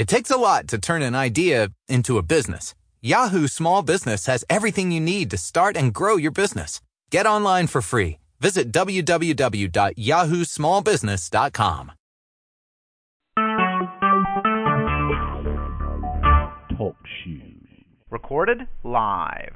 It takes a lot to turn an idea into a business. Yahoo Small Business has everything you need to start and grow your business. Get online for free. Visit www.yahoosmallbusiness.com. Talk shoes. Recorded live.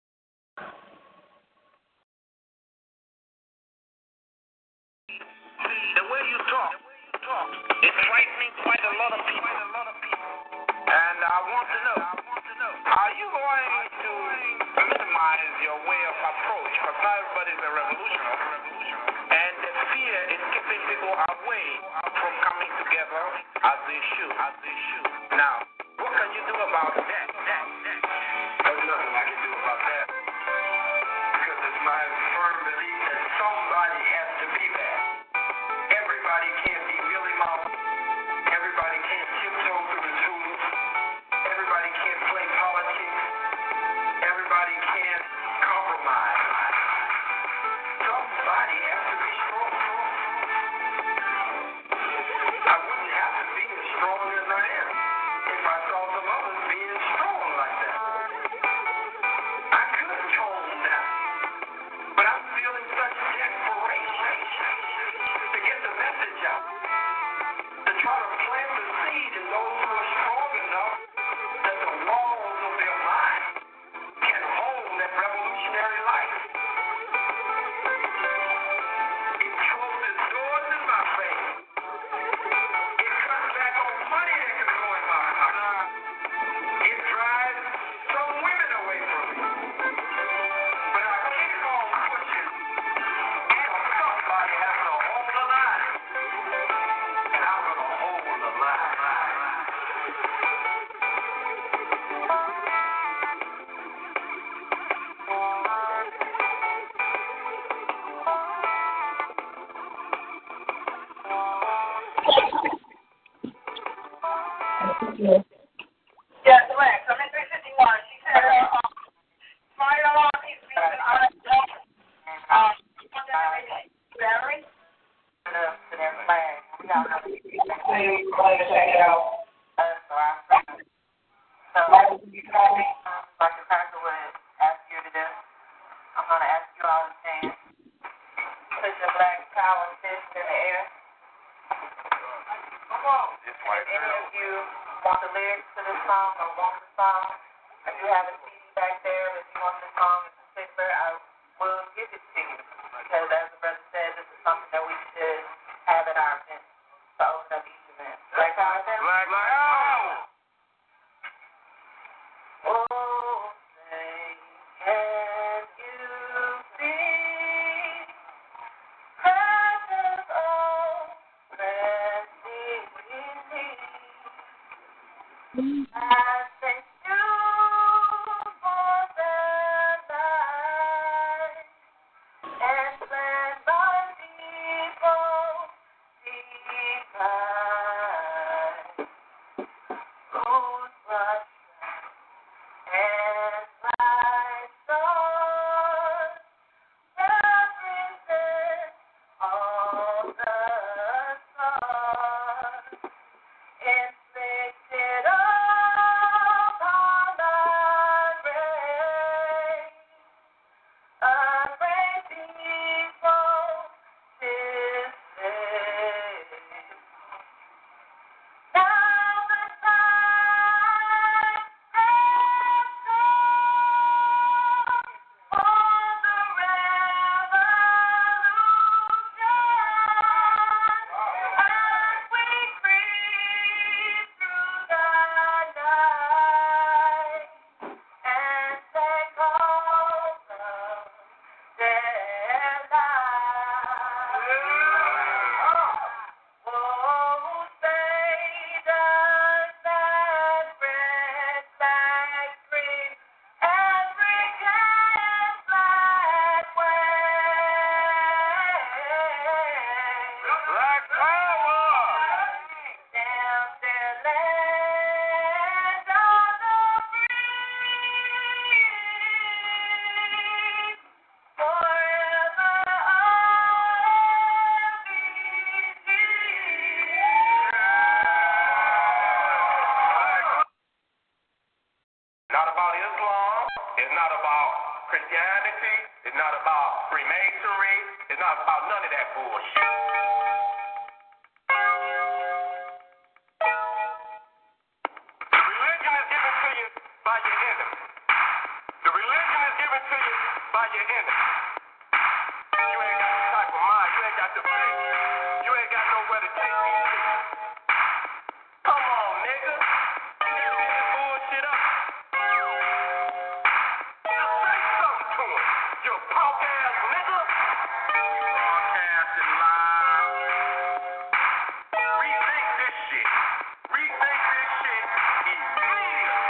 The way you talk, it's frightening quite a lot of people. And I want to know, are you going to minimize your way of approach? Because not everybody's a revolutionary. And the fear is keeping people away from coming together as they should. Now, what can you do about that? There's nothing I can do about that. Because it's my firm belief that somebody has to be there. Everybody can't be Billy Mama. Everybody can't tiptoe through the tulips. Everybody can't play politics. Everybody can't compromise. Somebody has to be strong. I wouldn't have to be as strong as I am if I saw some others being strong like that. I could tone down, but I'm feeling such desperation to get the message out, to try to plant the seed in those who are strong enough that the walls of their mind can hold that revolutionary life. It closes doors in my face. It cuts back on money that can go in my pocket. It drives some women away from me. But I keep on pushing until somebody has to hold the line. And I'm going to hold the line. Yeah, correct. I'm in 351. She said, smart alarm needs to be an honest battery. Check it out. So, like the pastor would ask you to do, I'm going to ask you all to stand. Put your black power fist in the air. Come on. If any of you want the lyrics to this song or want the song, or you have a CD back there, if you want the song in particular, I will give it to you. Because as the brother said, this is something that we should have at our event to open up each event. Black power fist? Black power. Oh, say, can you see presence of blessing in me? I thank you for the light and let my people divine. Whose rush and my soul represent all the stars inflicted on Christianity. It's not about Freemasonry. It's not about none of that bullshit. Religion is given to you by your enemy. The religion is given to you by your enemy. You ain't got the type of mind. You ain't got the faith. You ain't got nowhere to take these people. Come on, nigga. You never did this bullshit up. Just say something to him. You punk ass nigga. Broadcasting live. Rethink this shit. Rethink this shit immediately.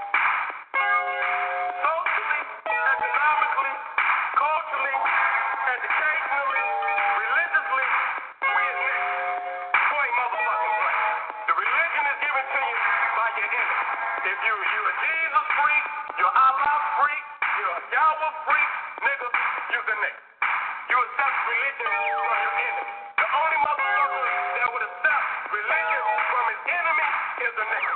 Socially, economically, culturally, educationally, religiously, we is niggas. Point motherfucking blank. The religion is given to you by your enemy. If you a Jesus freak, you're Allah freak, you're a Yahweh freak, nigga, you's a nigga. You accept religion from your enemy. The only motherfucker that would accept religion from his enemy is a nigga.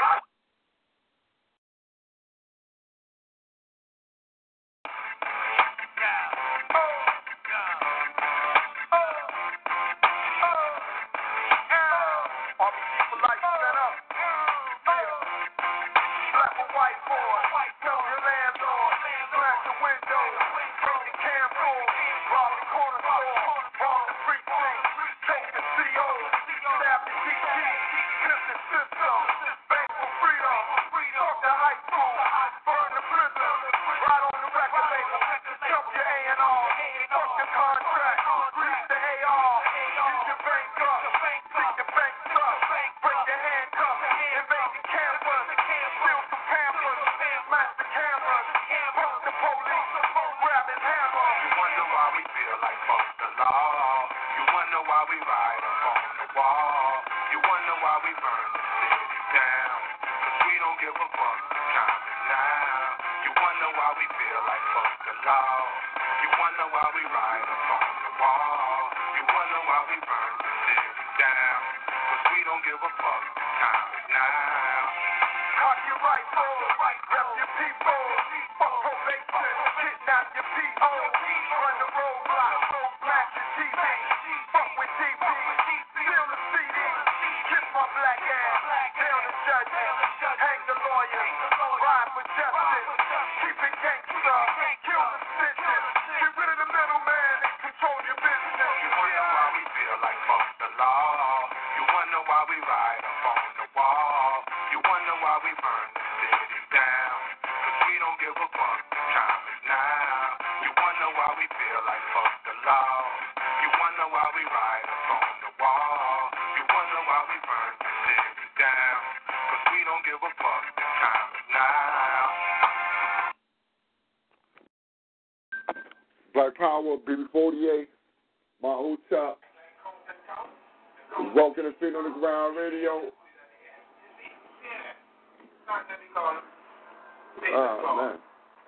Black Power, BB48, my hotel. Welcome to Feet on the Ground Radio. Oh, man.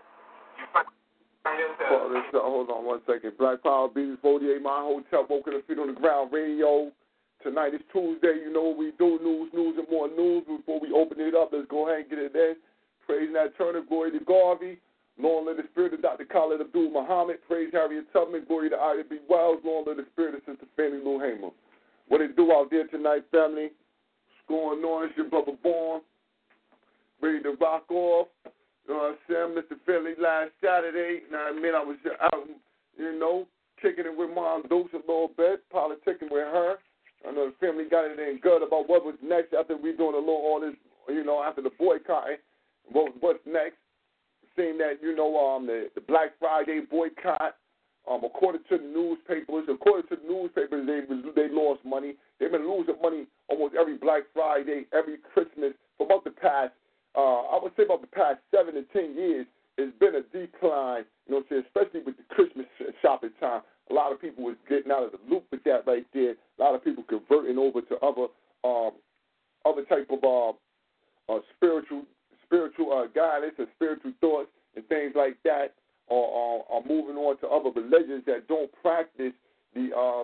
Hold on one second. Black Power, BB48, my hotel. Welcome to Feet on the Ground Radio. Tonight is Tuesday. You know what we do. News, and more news. Before we open it up, let's go ahead and get it in. Praise Nat Turner, glory to Garvey. Long live the spirit of Dr. Khalid Abdul Muhammad. Praise Harriet Tubman. Glory to Ida B. Wells. Long live the spirit of Sister Fannie Lou Hamer. What it do out there tonight, family? What's going on? It's your brother Born. Ready to rock off. You know what I'm saying? Mr. Philly last Saturday. Now, I mean, I was out, kicking it with Mom Dukes a little bit, politicking with her. I know the family got it in good about what was next after we doing a little all this, after the boycotting. What's next? Seeing that, the Black Friday boycott, according to the newspapers, they lost money. They've been losing money almost every Black Friday, every Christmas for about the past, I would say about the past 7 to 10 years. It's been a decline, especially with the Christmas shopping time. A lot of people was getting out of the loop with that right there. A lot of people converting over to other type of spiritual guidance and spiritual thoughts and things like that, or are moving on to other religions that don't practice those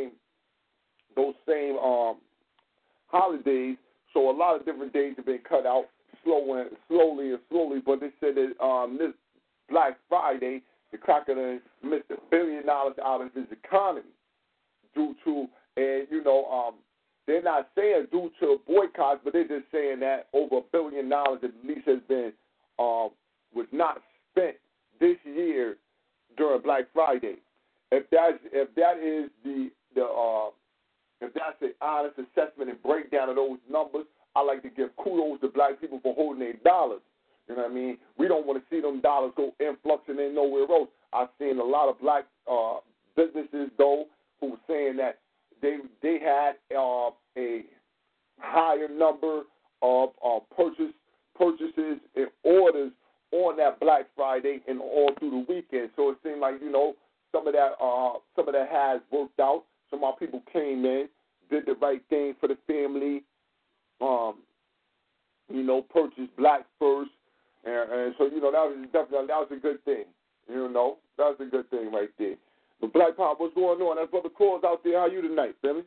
same holidays. So a lot of different days have been cut out slowly, but they said that Black Friday, the cracker missed $1 billion out of his economy due to, and they're not saying due to boycotts, but they're just saying that over $1 billion at least has been was not spent this year during Black Friday. If that's an honest assessment and breakdown of those numbers, I like to give kudos to black people for holding their dollars. You know what I mean? We don't want to see them dollars go influxing in nowhere else. I've seen a lot of black businesses, though, who were saying that they had a higher number of purchases and orders on that Black Friday and all through the weekend. So it seemed like, some of that has worked out. Some of our people came in, did the right thing for the family, purchased black first. And so, that was a good thing. That was a good thing right there. But Black Pop, what's going on? That's Brother Cause out there. How you tonight, Billy?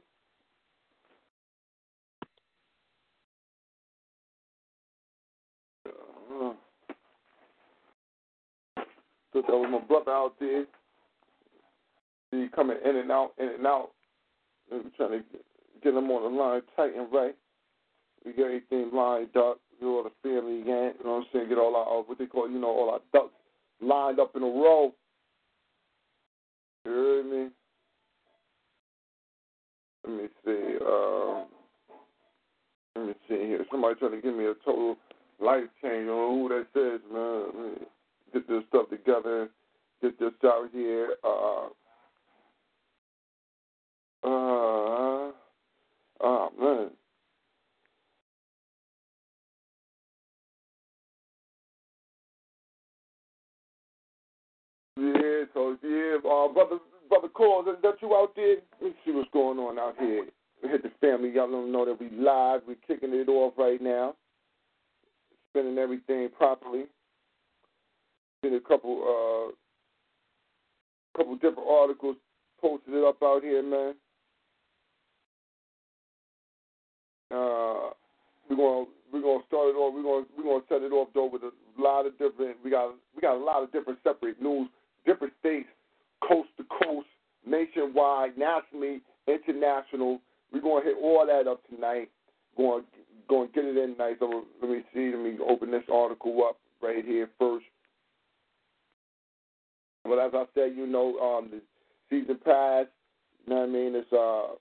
So that was my brother out there. He coming in and out. We're trying to get him on the line tight and right. We got everything lined up. Get all the family again. You know what I'm saying? Get all our, what they call, all our ducks lined up in a row. You heard me? Let me see here. Somebody trying to give me a total life change. I don't know who that says, man. Let me get this stuff together. Get this out here. Man. Yeah, Brother Cole, is that you out there? Let's see what's going on out here. We hit the family. Y'all don't know that we live. We're kicking it off right now. Spinning everything properly. Seen a couple different articles posted it up out here, man. We're gonna start it off. We're gonna set it off though with a lot of different. We got a lot of different separate news, different states, coast to coast, nationwide, nationally, international. We're gonna hit all that up tonight. Going to get it in tonight. So let me see. Let me open this article up right here first. But as I said, the season passed. You know what I mean? It's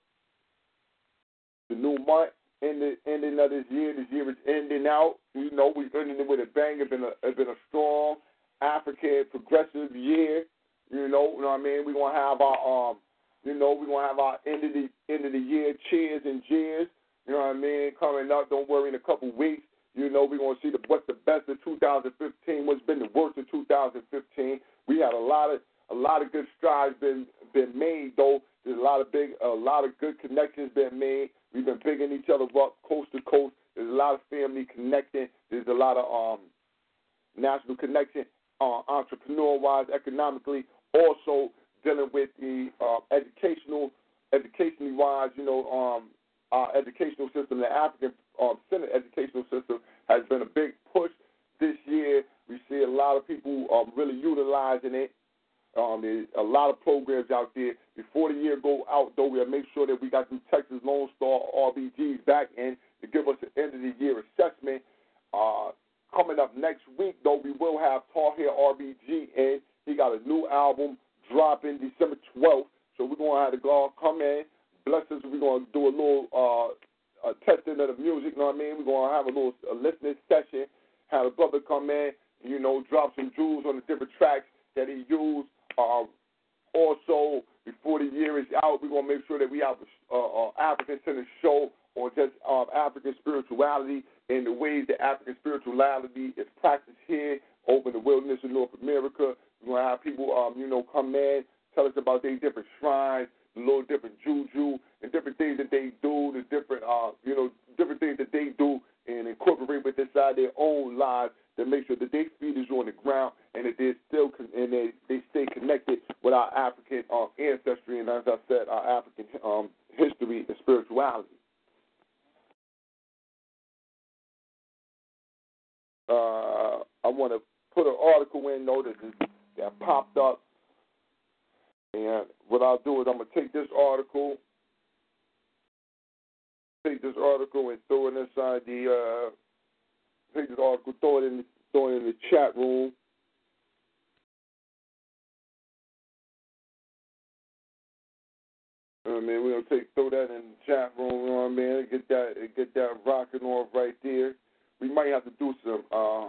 the new month. Ending of this year. This year is ending out. We're ending it with a bang. It's been a strong African progressive year. You know what I mean? We're gonna have our we're gonna have our end of the year cheers and jeers. You know what I mean? Coming up. Don't worry. In a couple weeks, we're gonna see what's the best of 2015. What's been the worst of 2015. We had a lot of good strides been made though. There's a lot of good connections been made. We've been bigging each other up coast to coast. There's a lot of family connecting. There's a lot of national connection, entrepreneur-wise, economically. Also dealing with the educationally wise. Our educational system, the African Center educational system, has been a big push this year. We see a lot of people really utilizing it. There's a lot of programs out there. Before the year go out, though, we'll make sure that we got some Texas Lone Star RBGs back in to give us an end of the year assessment. Coming up next week, though, we will have Tahir RBG in. He got a new album dropping December 12th. So we're going to have the God come in, bless us. We're going to do a little testing of the music, you know what I mean? We're going to have a little listening session, have a brother come in, drop some jewels on the different tracks that he used. Also, before the year is out, we're going to make sure that we have an African-centered show on just African spirituality and the ways that African spirituality is practiced here over in the wilderness of North America. We're going to have people, come in, tell us about their different shrines, the little different juju, and different things that they do, the different, different things that they do and incorporate with inside their own lives to make sure that their feet is on the ground and that they're still they stay connected with our African ancestry and, as I said, our African history and spirituality. I want to put an article in though that popped up, and what I'll do is I'm gonna take this article and throw it inside the take this article, throw it in the chat room. I mean, we're gonna throw that in the chat room, you know what I mean? Get that rocking off right there. We might have to do some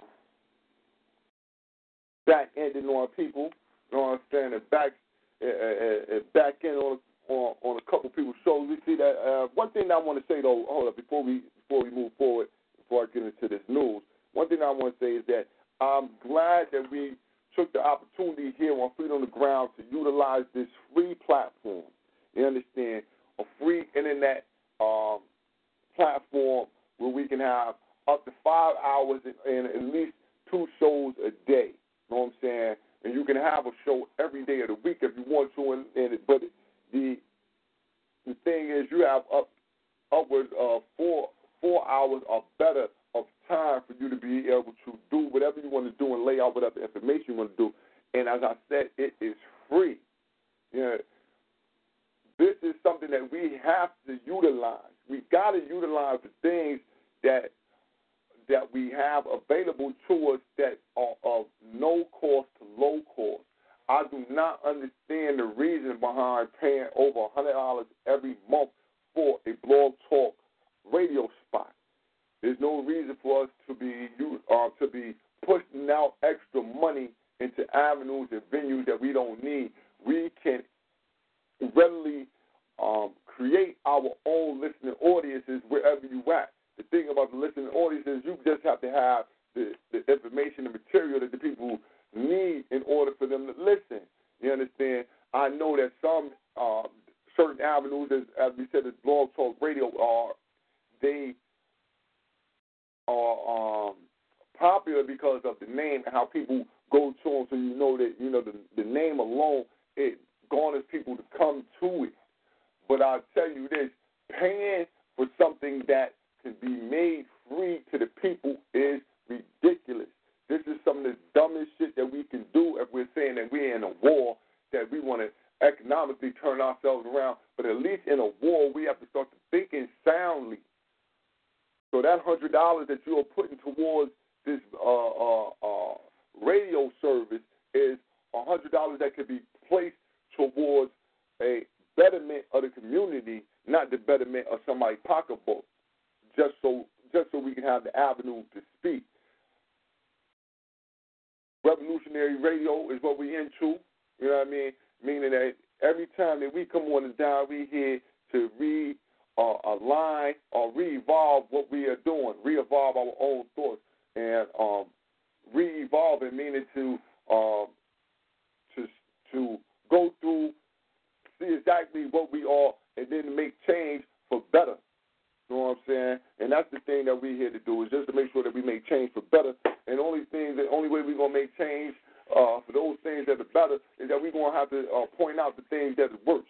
back ending on people, you know what I'm saying? And back end on a couple people's shows. We see that one thing I want to say though, hold up, before we move forward, before I get into this news, one thing I want to say is that I'm glad that we took the opportunity here on Freedom on the Ground to utilize this free platform. You understand? A free internet platform where we can have up to 5 hours and at least 2 shows a day. You know what I'm saying? And you can have a show every day of the week if you want to. But the thing is, you have upwards of 4 hours or better of time for you to be able to do whatever you want to do and lay out whatever information you want to do. And as I said, it is free. Yeah. This is something that we have to utilize. We got to utilize the things that we have available to us that are of no cost to low cost. I do not understand the reason behind paying over $100 every month for a Blog Talk radio spot. There's no reason for us to be pushing out extra money into avenues and venues that we don't need. We can readily create our own listening audiences wherever you at. The thing about the listening audience is you just have to have the information and material that the people need in order for them to listen. You understand? I know that some certain avenues, as we said, as Blog Talk Radio, they are popular because of the name and how people go to them. So you know that the name alone, it garners people to come to it. But I'll tell you this, paying for something that can be made free to the people is ridiculous. This is some of the dumbest shit that we can do if we're saying that we're in a war, that we want to economically turn ourselves around. But at least in a war, we have to start thinking soundly. So that $100 that you're putting towards this radio service is $100 that could be placed towards a betterment of the community, not the betterment of somebody's pocketbook, just so we can have the avenue to speak. Revolutionary radio is what we into, you know what I mean? Meaning that every time that we come on the dial, we here to realign or re-evolve what we are doing, re-evolve our own thoughts, and re-evolving meaning to go through, see exactly what we are, and then make change for better. You know what I'm saying? And that's the thing that we're here to do, is just to make sure that we make change for better. And the only way we're going to make change for those things that are better is that we're going to have to point out the things that are worse.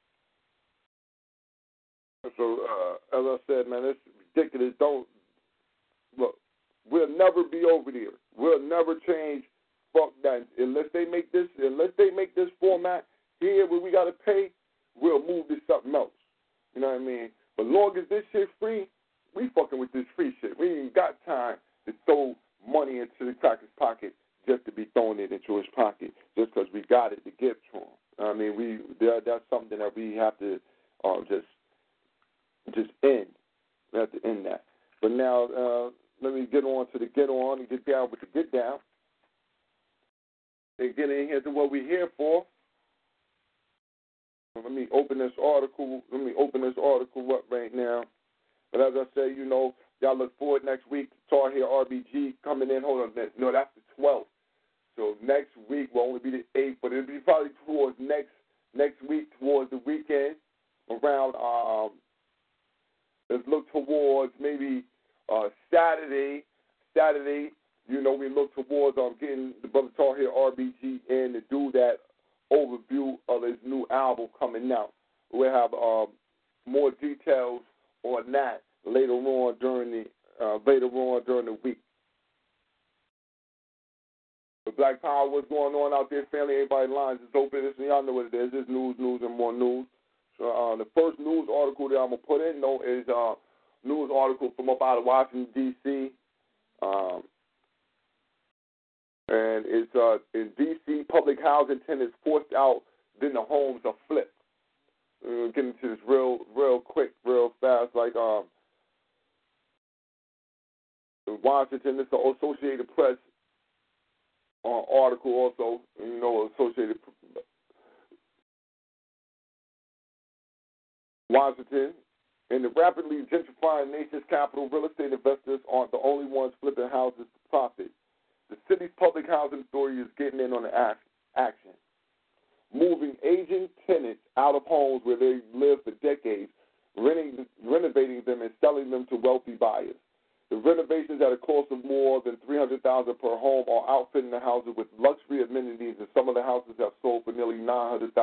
So, as I said, man, it's ridiculous. Look, we'll never be over there. We'll never change. Fuck that. Unless they make this format here where we got to pay, we'll move to something else. You know what I mean? But long as this shit free, we fucking with this free shit. We ain't got time to throw money into the cracker's pocket just to be throwing it into his pocket just because we got it to give to him. I mean, that's something that we have to just end. We have to end that. But now let me get on to the get on and get down with the get down. And get in here to what we're here for. Let me open this article up right now. But as I say, y'all look forward next week to Tar Heel RBG coming in. Hold on, no, that's the 12th. So next week will only be the 8th, but it'll be probably towards next week, towards the weekend, around. Let's look towards maybe Saturday. We look towards getting the brother Tar Heel RBG in to do that overview of his new album coming out. We'll have more details on that later on during the week. Black Power, what's going on out there, family? Everybody lines is open. Y'all know what it is. It's news, and more news. So the first news article that I'm going to put in, though, is a news article from up out of Washington, D.C., and it's in D.C., public housing tenants forced out, then the homes are flipped. We're getting into this real quick, real fast. Like in Washington, this is the Associated Press article also. You know, Associated Washington. In the rapidly gentrifying nation's capital, real estate investors aren't the only ones flipping houses to profit. The city's public housing authority is getting in on the action, moving aging tenants out of homes where they lived for decades, renovating them and selling them to wealthy buyers. The renovations at a cost of more than $300,000 per home are outfitting the houses with luxury amenities, and some of the houses have sold for nearly $900,000.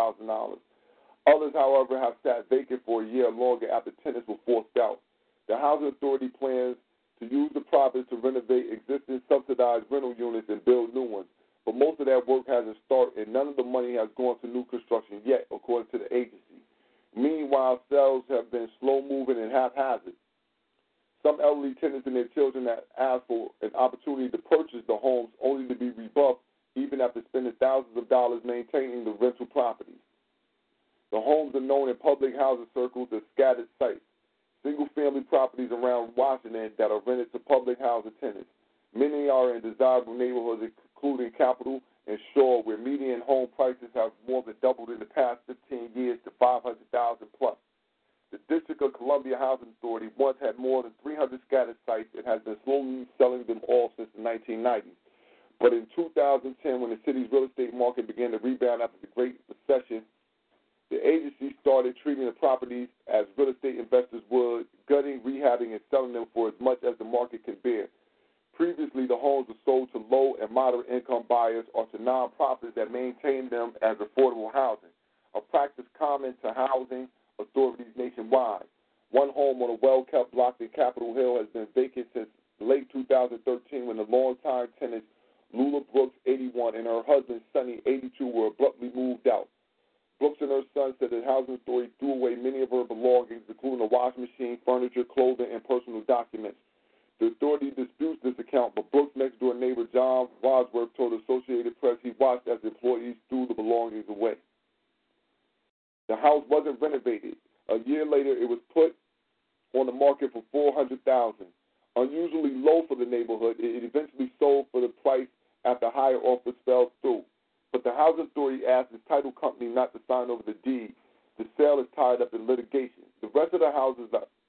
Others, however, have sat vacant for a year or longer after tenants were forced out. The housing authority plans to use the profits to renovate existing subsidized rental units and build new ones. But most of that work hasn't started, and none of the money has gone to new construction yet, according to the agency. Meanwhile, sales have been slow-moving and haphazard. Some elderly tenants and their children have asked for an opportunity to purchase the homes only to be rebuffed even after spending thousands of dollars maintaining the rental properties. The homes are known in public housing circles as scattered sites, single-family properties around Washington that are rented to public housing tenants. Many are in desirable neighborhoods, including Capitol and Shore, where median home prices have more than doubled in the past 15 years to $500,000 plus. The District of Columbia Housing Authority once had more than 300 scattered sites and has been slowly selling them all since the 1990s. But in 2010, when the city's real estate market began to rebound after the Great Recession, the agency started treating the properties as real estate investors would, gutting, rehabbing, and selling them for as much as the market can bear. Previously, the homes were sold to low and moderate income buyers or to nonprofits that maintained them as affordable housing, a practice common to housing authorities nationwide. One home on a well-kept block in Capitol Hill has been vacant since late 2013 when the longtime tenants Lula Brooks, 81, and her husband, Sonny, 82, were abruptly moved out. Brooks and her son said the housing authority threw away many of her belongings, including a washing machine, furniture, clothing, and personal documents. The authority disputes this account, but Brooks' next-door neighbor, John Wadsworth, told Associated Press he watched as employees threw the belongings away. The house wasn't renovated. A year later, it was put on the market for $400,000. Unusually low for the neighborhood, it eventually sold for the price after higher offers fell through. But the housing authority asked its title company not to sign over the deed. The sale is tied up in litigation. The rest of the houses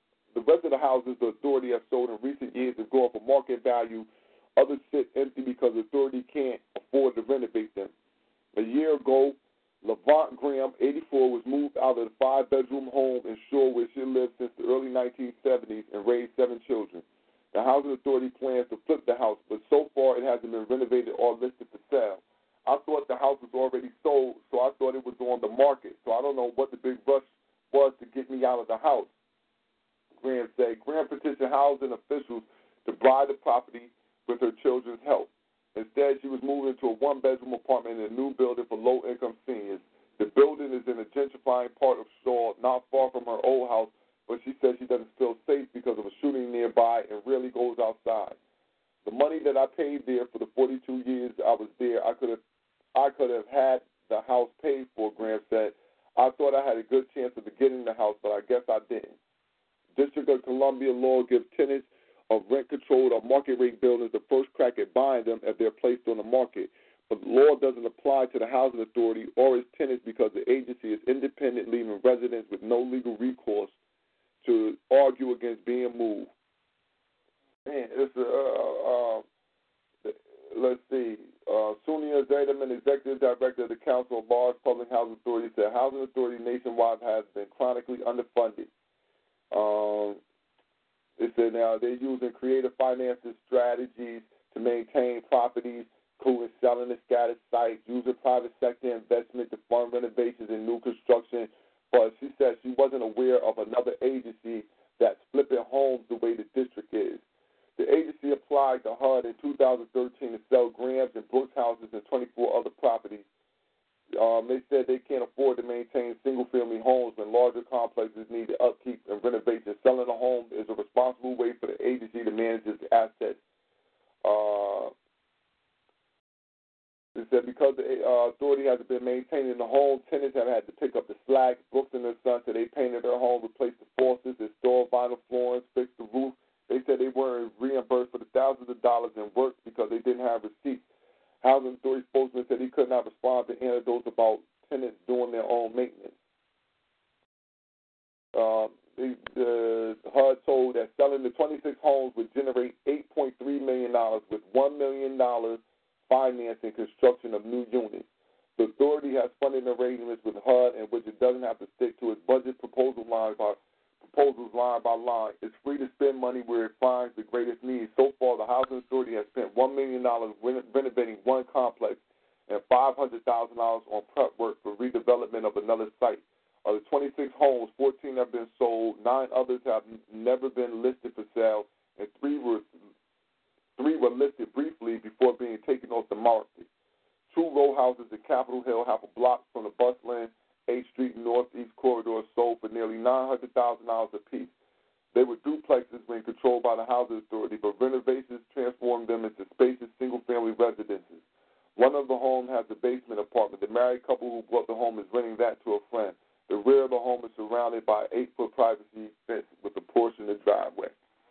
the authority has sold in recent years have gone for market value. Others sit empty because the authority can't afford to renovate them. A year ago, Levant Graham, 84, was moved out of the 5-bedroom home in Shore where she lived since the early 1970s and raised 7 children. The housing authority plans to flip the house, but so far it hasn't been renovated or listed for sale. I thought the house was already sold, so I thought it was on the market. So I don't know what the big rush was to get me out of the house, Graham said. Graham petitioned housing officials to buy the property with her children's help. Instead, she was moved into a 1-bedroom apartment in a new building for low-income seniors. The building is in a gentrifying part of Shaw, not far from her old house, but she said she doesn't feel safe because of a shooting nearby and rarely goes outside. The money that I paid there for the 42 years I was there, I could have had the house paid for, Graham said. I thought I had a good chance of getting the house, but I guess I didn't. District of Columbia law gives tenants of rent-controlled or market-rate buildings the first crack at buying them if they're placed on the market. But the law doesn't apply to the housing authority or its tenants because the agency is independent, leaving residents with no legal recourse to argue against being moved. Man, it's let's see. Sonia Zederman, Executive Director of the Council of Large Public Housing Authorities, said housing authority nationwide has been chronically underfunded. They said now they're using creative financing strategies to maintain properties, including selling the scattered sites, using private sector investment to fund renovations and new construction. But she said she wasn't aware of another agency that's flipping homes the way the district is. The agency applied to HUD in 2013 to sell Graham's and Brooks houses and 24 other properties. They said they can't afford to maintain single-family homes when larger complexes need the upkeep and renovation. Selling a home is a responsible way for the agency to manage its assets. They said because the authority hasn't been maintaining the home, tenants have had to pick up the slack. Brooks and their son said they painted their home, replaced the faucets, installed vinyl flooring, fixed the roof. They said they weren't reimbursed for the thousands of dollars in work because they didn't have receipts. Housing authority spokesman said he could not respond to anecdotes about tenants doing their own maintenance. The HUD told that selling the 26 homes would generate $8.3 million with $1 million financing construction of new units. The authority has funding arrangements with HUD in which it doesn't have to stick to its budget proposals line by line. It's free to spend money where it finds the greatest need. So far, the Housing Authority has spent $1 million renovating one complex and $500,000 on prep work for redevelopment of another site. Of the 26 homes, 14 have been sold, 9 others have never been listed for sale, and 3 were listed briefly before being taken off the market. 2 row houses in Capitol Hill, half a block from the bus lane, 8th Street Northeast Corridor, sold for nearly $900,000 apiece. They were duplexes when controlled by the Housing Authority, but renovations transformed them into spacious single-family residences. One of the homes has a basement apartment. The married couple who bought the home is renting that to a friend. The rear of the home is surrounded by an 8-foot privacy fence with a portion of the driveway.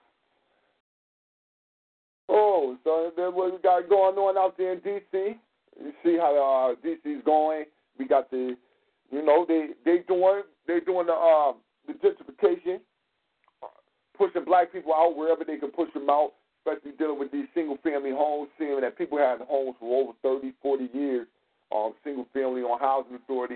Oh, so then what we got going on out there in D.C.? You see how D.C.'s going. We got the, you know, they doing the gentrification, pushing black people out wherever they can push them out, especially dealing with these single-family homes, seeing that people have homes for over 30, 40 years, single-family on Housing Authority.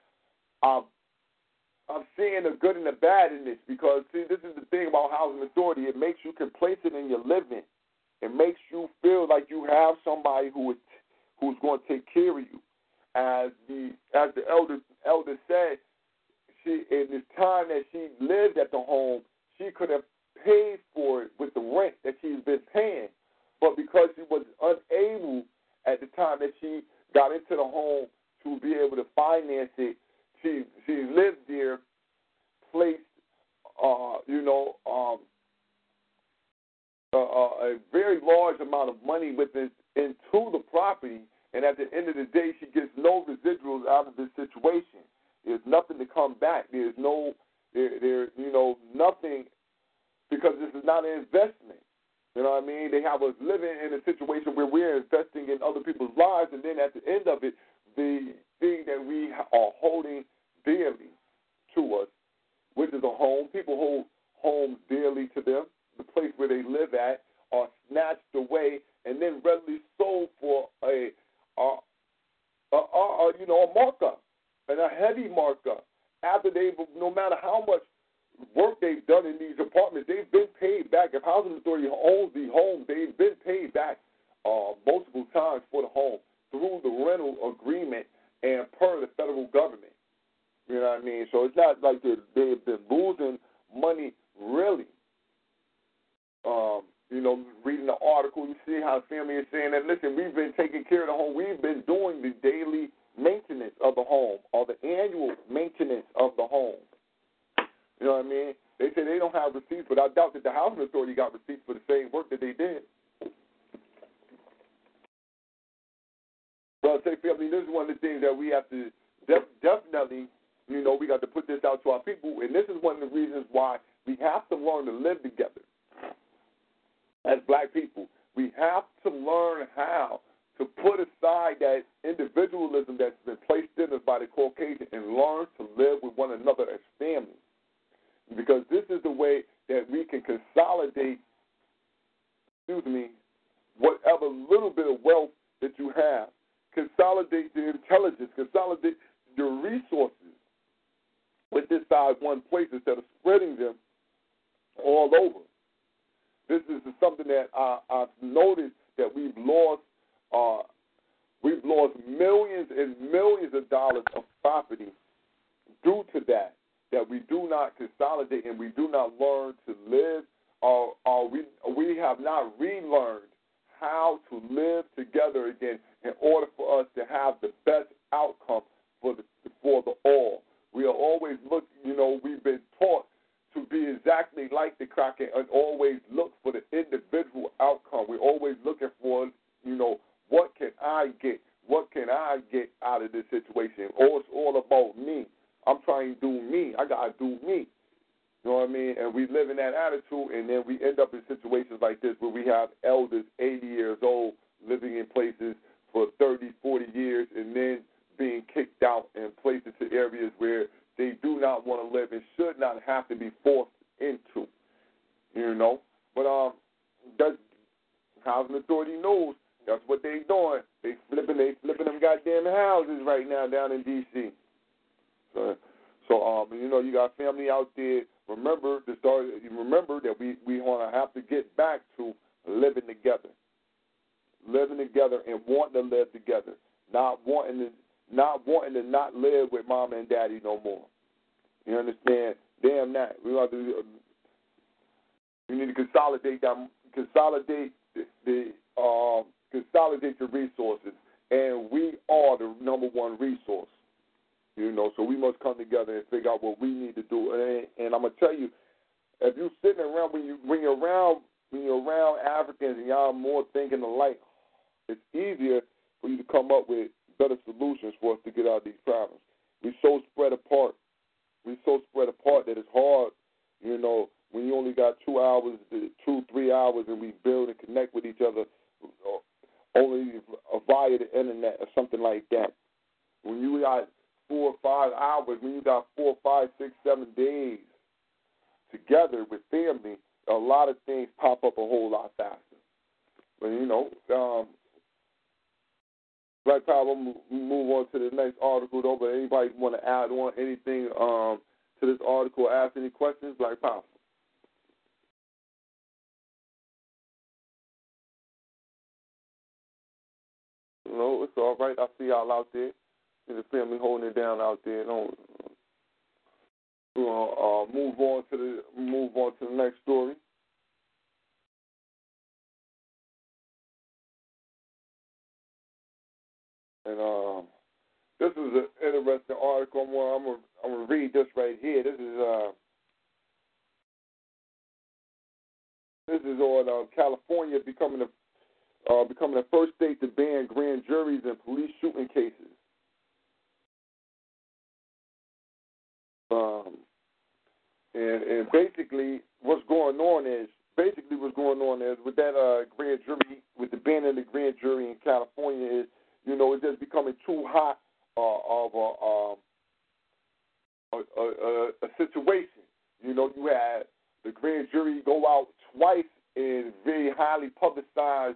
I'm seeing the good and the bad in this because, see, this is the thing about Housing Authority. It makes you complacent in your living. It makes you feel like you have somebody who's going to take care of you. As the elder said, she in this time that she lived at the home, she could have paid for it with the rent that she's been paying. But because she was unable at the time that she got into the home to be able to finance it, she lived there, placed, a very large amount of money into the property, and at the end of the day, she gets no residuals out of this situation. There's nothing to come back. There's nothing, because this is not an investment. You know what I mean? They have us living in a situation where we're investing in other people's lives, and then at the end of it, the thing that we are holding dearly to us, which is a home. People hold homes dearly to them. The place where they live at are snatched away and then readily sold for a markup, and a heavy markup. After no matter how much work they've done in these apartments, they've been paid back. If Housing Authority owns the home, they've been paid back multiple times for the home through the rental agreement and per the federal government. You know what I mean? So it's not like they've been losing money, really. Reading the article, you see how the family is saying that, listen, we've been taking care of the home. We've been doing the daily maintenance of the home or the annual maintenance of the home. You know what I mean? They say they don't have receipts, but I doubt that the Housing Authority got receipts for the same work that they did. So I say, family, this is one of the things that we have to definitely, we got to put this out to our people, and this is one of the reasons why we have to learn to live together. As black people, we have to learn how to put aside that individualism that's been placed in us by the Caucasian and learn to live with one another as family. Because this is the way that we can consolidate, whatever little bit of wealth that you have. Consolidate the intelligence, consolidate your resources with this side one place instead of spreading them all over. This is something that I've noticed that we've lost millions and millions of dollars of property due to that we do not consolidate and we do not learn to live we have not relearned how to live together again in order for us to have the best outcome for the all. We are always we've been taught to be exactly like the Kraken and always look for the individual outcome. We're always looking for, what can I get? What can I get out of this situation? Or it's all about me. I'm trying to do me. I got to do me. You know what I mean? And we live in that attitude, and then we end up in situations like this where we have elders 80 years old living in places for 30, 40 years and then being kicked out and placed into areas where they do not want to live and should not have to be forced into, But that's Housing Authority knows that's what they doing. They flipping them goddamn houses right now down in D.C. So you got family out there. Remember that we want to have to get back to living together and wanting to live together, not wanting to not live with mama and daddy no more. You understand? Damn that. We need to consolidate your resources, and we are the number one resource. So we must come together and figure out what we need to do. And I'm gonna tell you, if you're sitting around when you're around Africans and y'all more thinking alike, it's easier for you to come up with better solutions for us to get out of these problems. We're so spread apart. That it's hard, when you only got 2 hours, 3 hours, and we build and connect with each other only via the internet or something like that. When you got 4 or 5 hours, when you got 4, 5, 6, 7 days together with family, a lot of things pop up a whole lot faster. But, Black Power, we'll move on to the next article, though. But anybody want to add on anything to this article or ask any questions? Black Power. No, it's all right. I see y'all out there. See the family holding it down out there. We'll move on to the next story. And this is an interesting article. I'm gonna read this right here. This is on California becoming the first state to ban grand juries in police shooting cases. And basically what's going on is with that grand jury, with the ban of the grand jury in California is, it's just becoming too hot of a situation. You had the grand jury go out twice in very highly publicized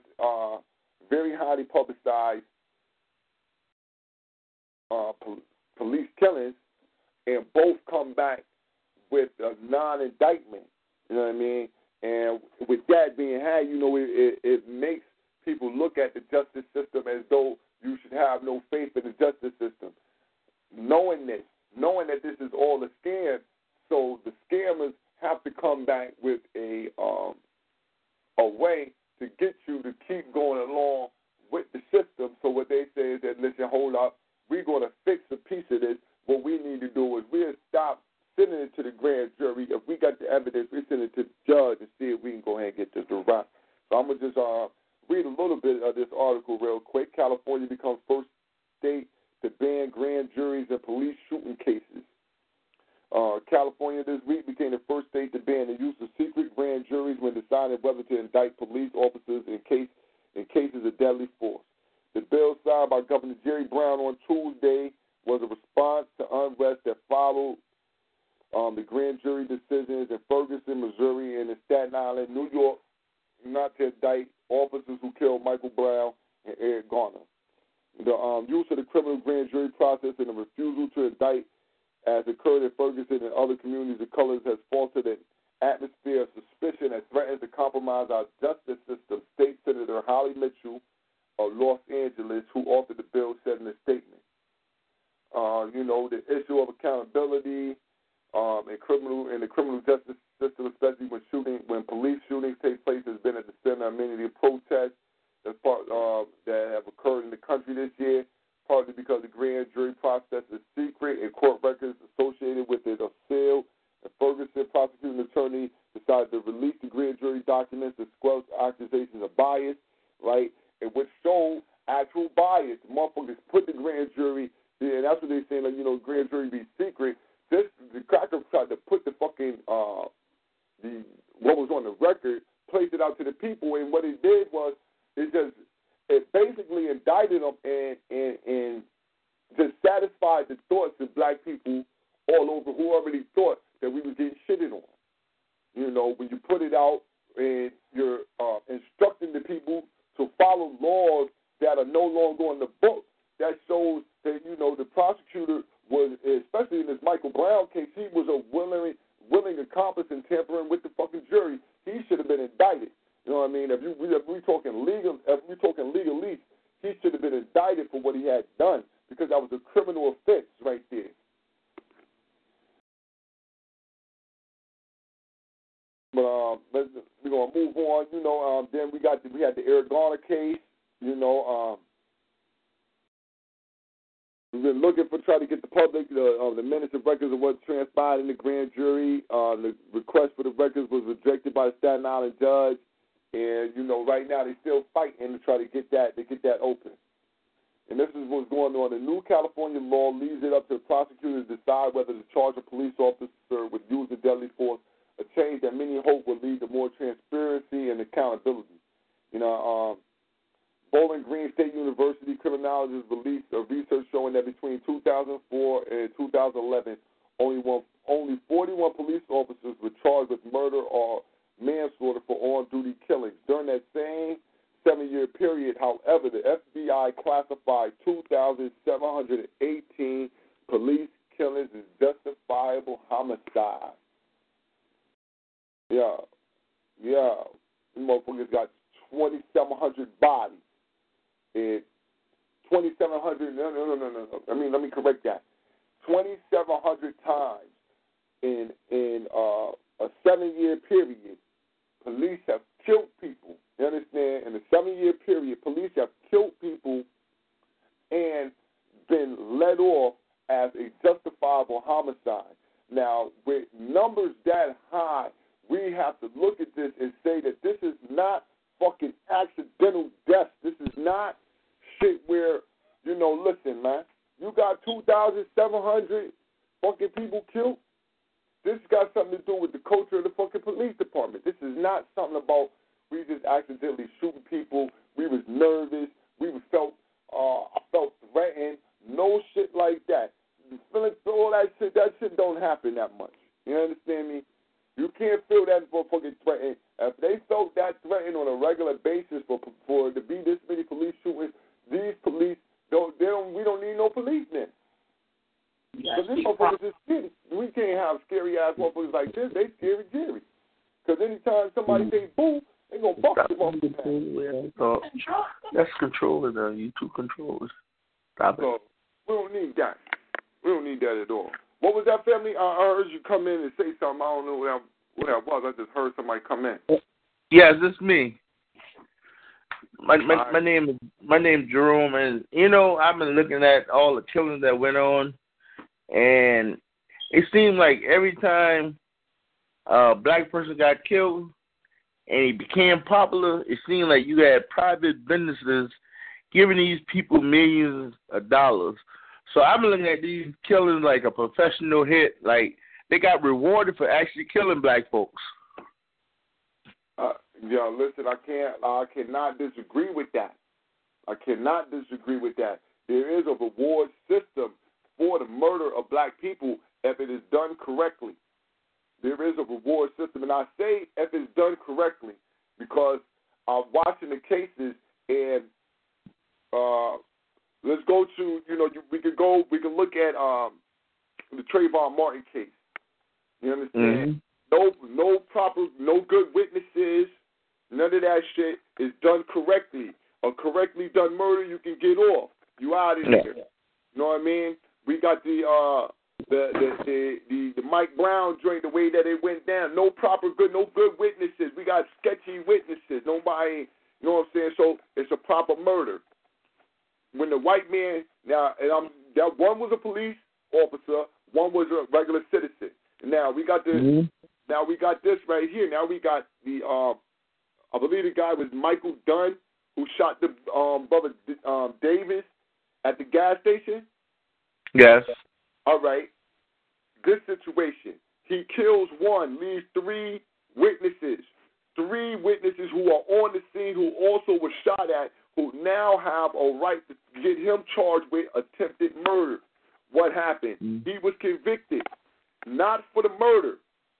police killings, and both come back with a non-indictment. You know what I mean? And with that being had, it makes people look at the justice system as though you should have no faith in the justice system. Knowing that this is all a scam, so the scammers have to come back with a way to get you to keep going along with the system. So what they say is that, listen, hold up, we're going to fix a piece of this. What we need to do is we'll stop sending it to the grand jury. If we got the evidence, we send it to the judge and see if we can go ahead and get this to right. So I'm going to just read a little bit of this article real quick. California becomes first state to ban grand juries in police shooting cases. California this week became the first state to ban the use of secret grand juries when deciding whether to indict police officers in cases of deadly force. The bill signed by Governor Jerry Brown on Tuesday was a response to unrest that followed the grand jury decisions in Ferguson, Missouri, and in Staten Island, New York, not to indict officers who killed Michael Brown and Eric Garner. The use of the criminal grand jury process and the refusal to indict, as occurred in Ferguson and other communities of colors, has fostered an atmosphere of suspicion that threatens to compromise our justice system, State Senator Holly Mitchell of Los Angeles, who authored the bill, said in a statement. The issue of accountability in the criminal justice system, especially when police shootings take place, has been at the center of many of the protests that have occurred in the country this year, partly because the grand jury process is secret and court records associated with it are sealed. And Ferguson, prosecuting attorney, decided to release the grand jury documents to squelch accusations of bias, right? And which showed actual bias. The motherfuckers put the grand jury, and that's what they're saying, like, grand jury be secret. The crackers tried to put the fucking, what was on the record, placed it out to the people, and what it did was, it basically indicted them and just satisfied the thoughts of black people all over who already thought that we was getting shitted on. When you put it out and you're instructing the people to follow laws that are no longer on the book, that shows that, the prosecutor was, especially in this Michael Brown case, he was a willing accomplice in tampering with the fucking jury. He should have been indicted. You know what I mean? If we're talking legalese, he should have been indicted for what he had done, because that was a criminal offense right there. But we're gonna move on. Then we had the Eric Garner case. We've been looking for trying to get the public the minutes and records of what transpired in the grand jury. The request for the records was rejected by the Staten Island judge, and right now they're still fighting to try to get that open. And this is what's going on. The new California law leaves it up to the prosecutor to decide whether to charge a police officer with use of deadly force, a change that many hope will lead to more transparency and accountability. Bowling Green State University criminologists released a research showing that between 2004 and 2011, only 41 police officers were charged with murder or manslaughter for on-duty killings. During that same 7-year period, however, the FBI classified 2,718 police killings as justifiable homicide. Yeah. These motherfuckers got 2,700 bodies. And 2,700, no. Let me correct that. 2,700 times in a 7-year period, police have killed people. You understand? In a 7-year period, police have killed people and been let off as a justifiable homicide. Now, with numbers that high, we have to look at this and say that this is not fucking accidental deaths. This is not shit where, listen, man, you got 2,700 fucking people killed. This got something to do with the culture of the fucking police department. This is not something about we just accidentally shooting people. We was nervous. I felt threatened. No shit like that. All that shit don't happen that much. You understand me? You can't feel that motherfucking threatened. If they felt that threatened on a regular basis for to be this many police shootings, these police we don't need no police then. Because these motherfuckers is scary. We can't have scary ass motherfuckers like this. They scary Jerry. Because anytime somebody say boo, they gonna fuck the motherfucker. So that's controller though. You two controllers. Stop it. We don't need that. We don't need that at all. What was that, family? I heard you come in and say something. I don't know what that was. I just heard somebody come in. Yes, it's me. My name is Jerome, and I've been looking at all the killings that went on, and it seemed like every time a black person got killed and he became popular, it seemed like you had private businesses giving these people millions of dollars. So I've been looking at these killings like a professional hit. Like, they got rewarded for actually killing black folks. Listen, I cannot disagree with that. There is a reward system for the murder of black people if it is done correctly. There is a reward system, and I say if it's done correctly because I'm watching the cases, and let's go to, we can look at the Trayvon Martin case. You understand? Mm-hmm. No good witnesses. None of that shit is done correctly. A correctly done murder, you can get off. You out of here. You know what I mean? We got the the Mike Brown joint, the way that it went down. No good witnesses. We got sketchy witnesses. Nobody, you know what I'm saying? So it's a proper murder. When the white man that one was a police officer, one was a regular citizen. Now we got this. Mm-hmm. Now we got this right here. Now we got the I believe the guy was Michael Dunn who shot the brother Davis at the gas station. Yes. All right. This situation. He kills one, leaves three witnesses who are on the scene who also were shot at, who now have a right to get him charged with attempted murder. What happened? Mm-hmm. He was convicted, not for the murder.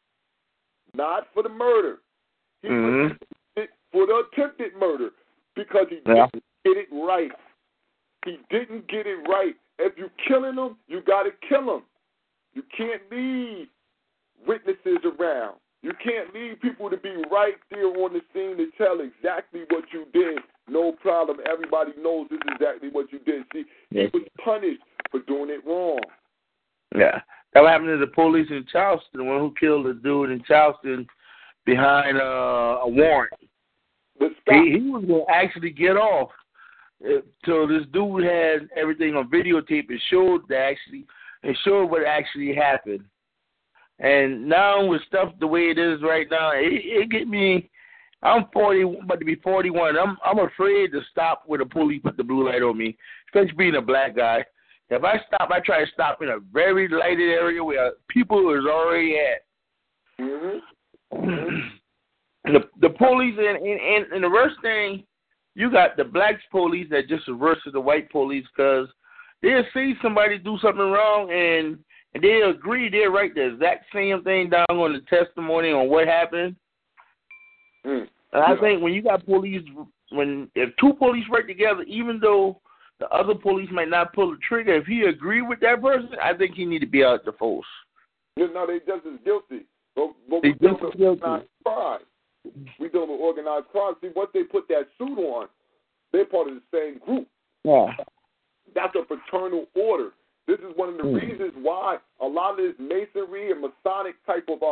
He was convicted for the attempted murder because he didn't get it right. He didn't get it right. If you're killing them, you got to kill them. You can't leave witnesses around. You can't leave people to be right there on the scene to tell exactly what you did. No problem. Everybody knows this is exactly what you did. See, he was punished for doing it wrong. Yeah. That happened to the police in Charleston, the one who killed the dude in Charleston behind a warrant. He was going to actually get off. So this dude had everything on videotape and showed what actually happened. And now with stuff the way it is right now, it get me. I'm 40, about to be 41. I'm afraid to stop when the police put the blue light on me, especially being a black guy. If I stop, I try to stop in a very lighted area where people is already at. Mm-hmm. The police and the worst thing, you got the black police that just reverse the white police because they'll see somebody do something wrong and they agree they'll write the exact same thing down on the testimony on what happened. And I think when you got police, if two police work together, even though the other police might not pull the trigger, if he agree with that person, I think he need to be out the force. No, they just as guilty. But we dealing with organized crime. We dealing with organized crime. See, once they put that suit on, they're part of the same group. Yeah. That's a fraternal order. This is one of the reasons why a lot of this Masonry and Masonic type of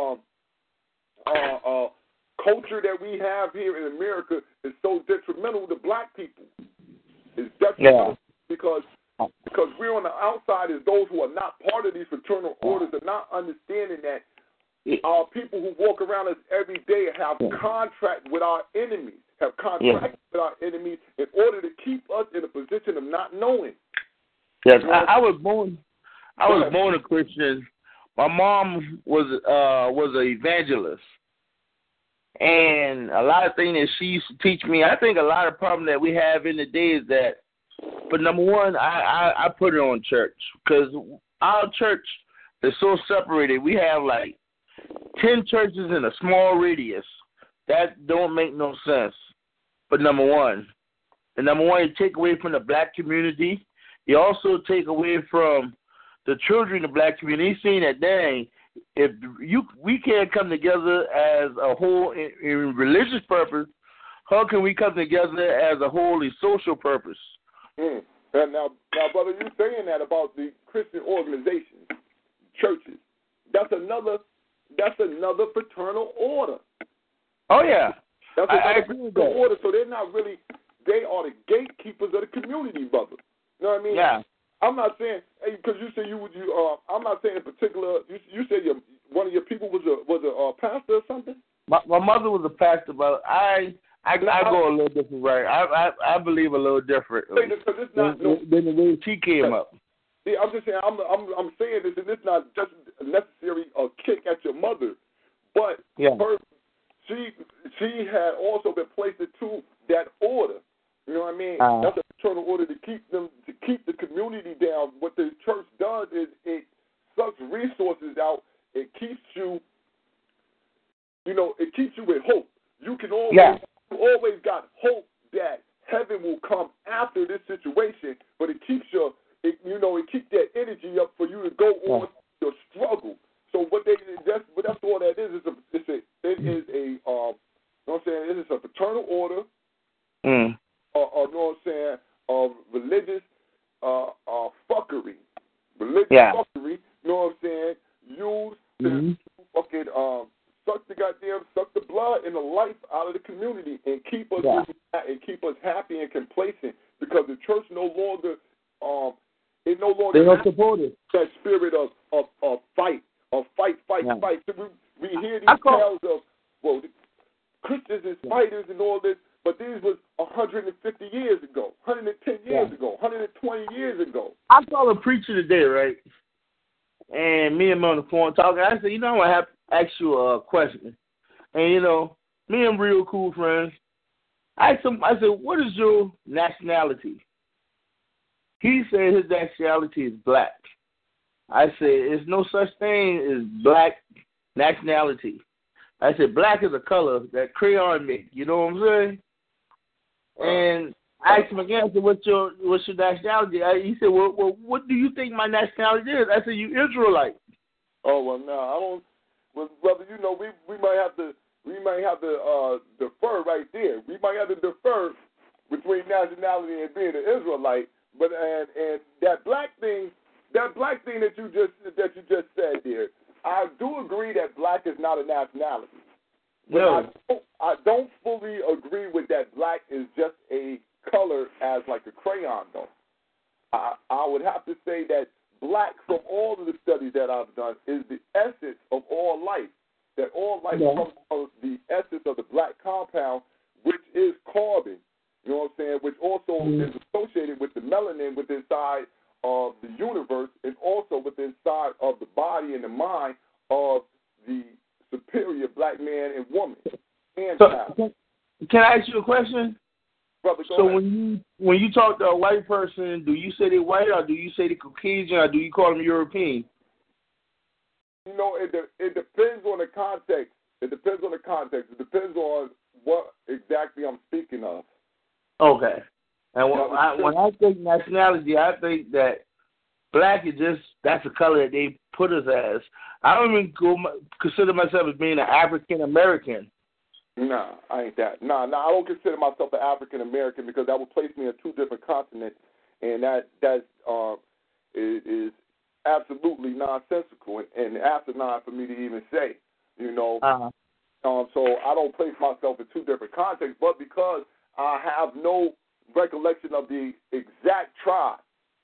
culture that we have here in America is so detrimental to black people. It's detrimental because we're on the outside as those who are not part of these fraternal orders are not understanding that our people who walk around us every day have contract with our enemies, with our enemies in order to keep us in a position of not knowing. Yes, I was born a Christian. My mom was an evangelist. And a lot of things that she used to teach me, I think a lot of problem that we have in the day is that, but number one, I put it on church because our church is so separated. We have like 10 churches in a small radius. That don't make no sense. But number one, you take away from the black community. You also take away from the children in the black community. Seeing that, dang, if we can't come together as a whole in religious purpose, how can we come together as a whole in social purpose? And now, brother, you're saying that about the Christian organizations, churches. That's another fraternal order. Oh yeah, that's another fraternal order. So they're not really. They are the gatekeepers of the community, brother. You know what I mean? Yeah. I'm not saying because you said I'm not saying in particular. You said one of your people was a pastor or something. My mother was a pastor, but I go a little different way. I believe a little different because it's not than the way she came up. See, I'm just saying I'm saying this, and it's not just necessarily a kick at your mother, but she had also been placed into that order. You know what I mean? That's a fraternal order to keep the community down. What the church does is it sucks resources out. It keeps you, it keeps you with hope. You can always got hope that heaven will come after this situation, but it keeps it keeps that energy up for you to go on your struggle. So that's all that is. It is a fraternal order. You know what I'm saying, of religious fuckery. Fuckery, you know what I'm being complacent because the church no longer it no longer they don't support it. That spirit of fight, Yeah. fight. So we hear these tales of the Christians and fighters and all this, but these was 150 years ago, 110 years ago, 120 years ago. I saw a preacher today, right? And me and him on the phone talking. I said, I want to have ask you a question. And me and him real cool friends. I asked him. I said, "What is your nationality?" He said his nationality is black. I said, "There's no such thing as black nationality." I said, "Black is a color that crayon make." You know what I'm saying? And I asked him again. I said, "What's your nationality?" He said, "Well, what do you think my nationality is?" I said, "You Israelite." Oh well, no, I don't. Well, brother, we might have to defer right there. We might have to defer between nationality and being an Israelite. But and that black thing that you just said there, I do agree that black is not a nationality. But no. I don't fully agree with that black is just a color as like a crayon though. I would have to say that black, from all of the studies that I've done, is the essence of all life. That all life comes from the essence of the black compound, which is carbon. You know what I'm saying? Which also is associated with the melanin within inside of the universe, and also within inside of the body and the mind of the superior black man and woman and child. Can I ask you a question? Brother, go so ahead. when you talk to a white person, do you say they're white, or do you say they're Caucasian, or do you call them European? It depends on the context. It depends on what exactly I'm speaking of. Okay. And when I think nationality, I think that black is that's a color that they put us as. I don't even consider myself as being an African American. Nah, I ain't that. Nah, I don't consider myself an African American because that would place me in two different continents, and that is absolutely nonsensical and asinine for me to even say. So I don't place myself in two different contexts, but because I have no recollection of the exact tribe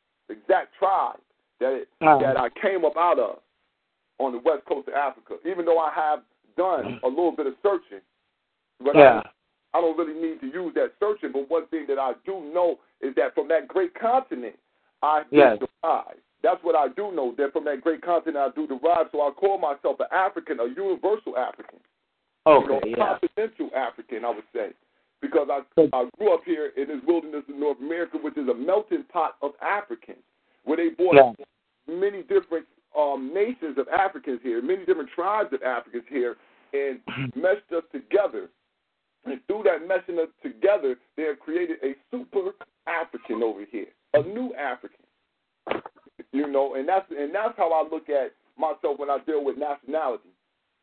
that I came up out of on the west coast of Africa, even though I have done a little bit of searching. But I don't really need to use that searching. But one thing that I do know is that from that great continent, I do derive. That's what I do know, that from that great continent I do derive. So I call myself an African, a universal African. Okay, continental African, I would say. Because I grew up here in this wilderness of North America, which is a melting pot of Africans, where they brought many different nations of Africans here, many different tribes of Africans here, and meshed us together. And through that meshing us together, they have created a super African over here, a new African. And that's how I look at myself when I deal with nationality.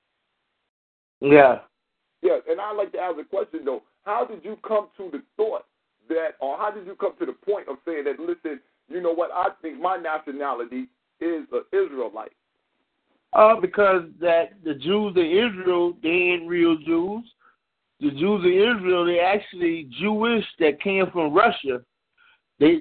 Yeah. Yeah, and I'd like to ask a question, though. How did you come to the thought that, or how did you come to the point of saying that, listen, you know what, I think my nationality is an Israelite? Because that the Jews in Israel, they ain't real Jews. The Jews in Israel, they actually Jewish that came from Russia. They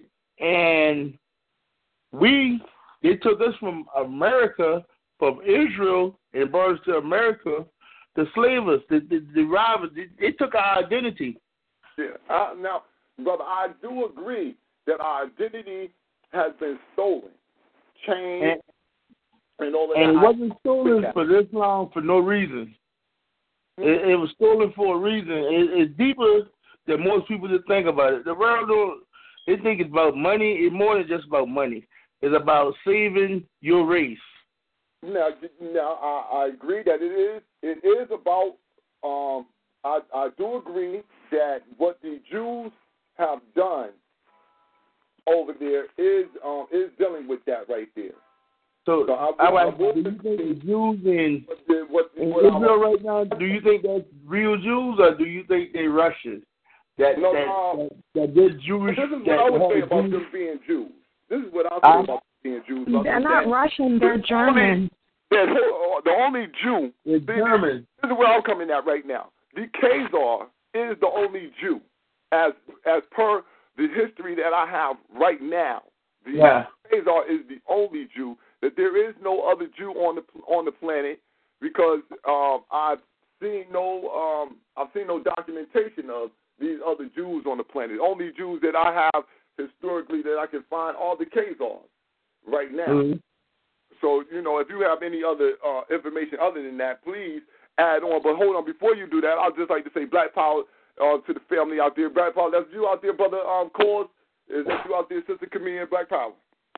took us from America, from Israel, and brought us to America to slave us, to rob us. They took our identity. Yeah. Now, brother, I do agree that our identity has been stolen, changed, and all of that. And it wasn't stolen for this long for no reason. It was stolen for a reason. It's deeper than most people just think about it. The world, they think it's about money. It's more than just about money. It's about saving your race. Now, I agree that it is about. I do agree that what the Jews have done over there is dealing with that right there. So do you think the Jews in Israel right now, do you think that's real Jews, or do you think they're Russians? That they're Jewish. This is what I would say about them being Jews. This is what I say about being Jews. They're not Russian, they're German. The only Jew. They're German. This is where I'm coming at right now. The Khazar is the only Jew as per the history that I have right now, the Khazar is the only Jew. That there is no other Jew on the planet, because I've seen no documentation of these other Jews on the planet. Only Jews that I have historically that I can find are the Khazars right now. Mm-hmm. So, if you have any other information other than that, please add on. But hold on, before you do that, I'd just like to say Black Power to the family out there. Black Power, that's you out there, brother Cause. Is that you out there, Sister Camille, Black Power?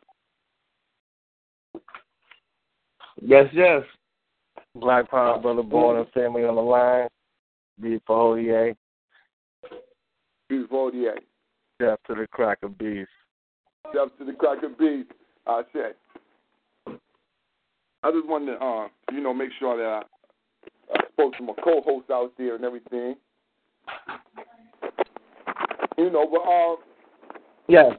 Yes. Black Power, Brother Born and family on the line. Beautiful OEA. Beautiful OEA. Death to the cracker beast. Death to the cracker beast. I said. I just wanted to, make sure that I spoke to my co-hosts out there and everything. But yes.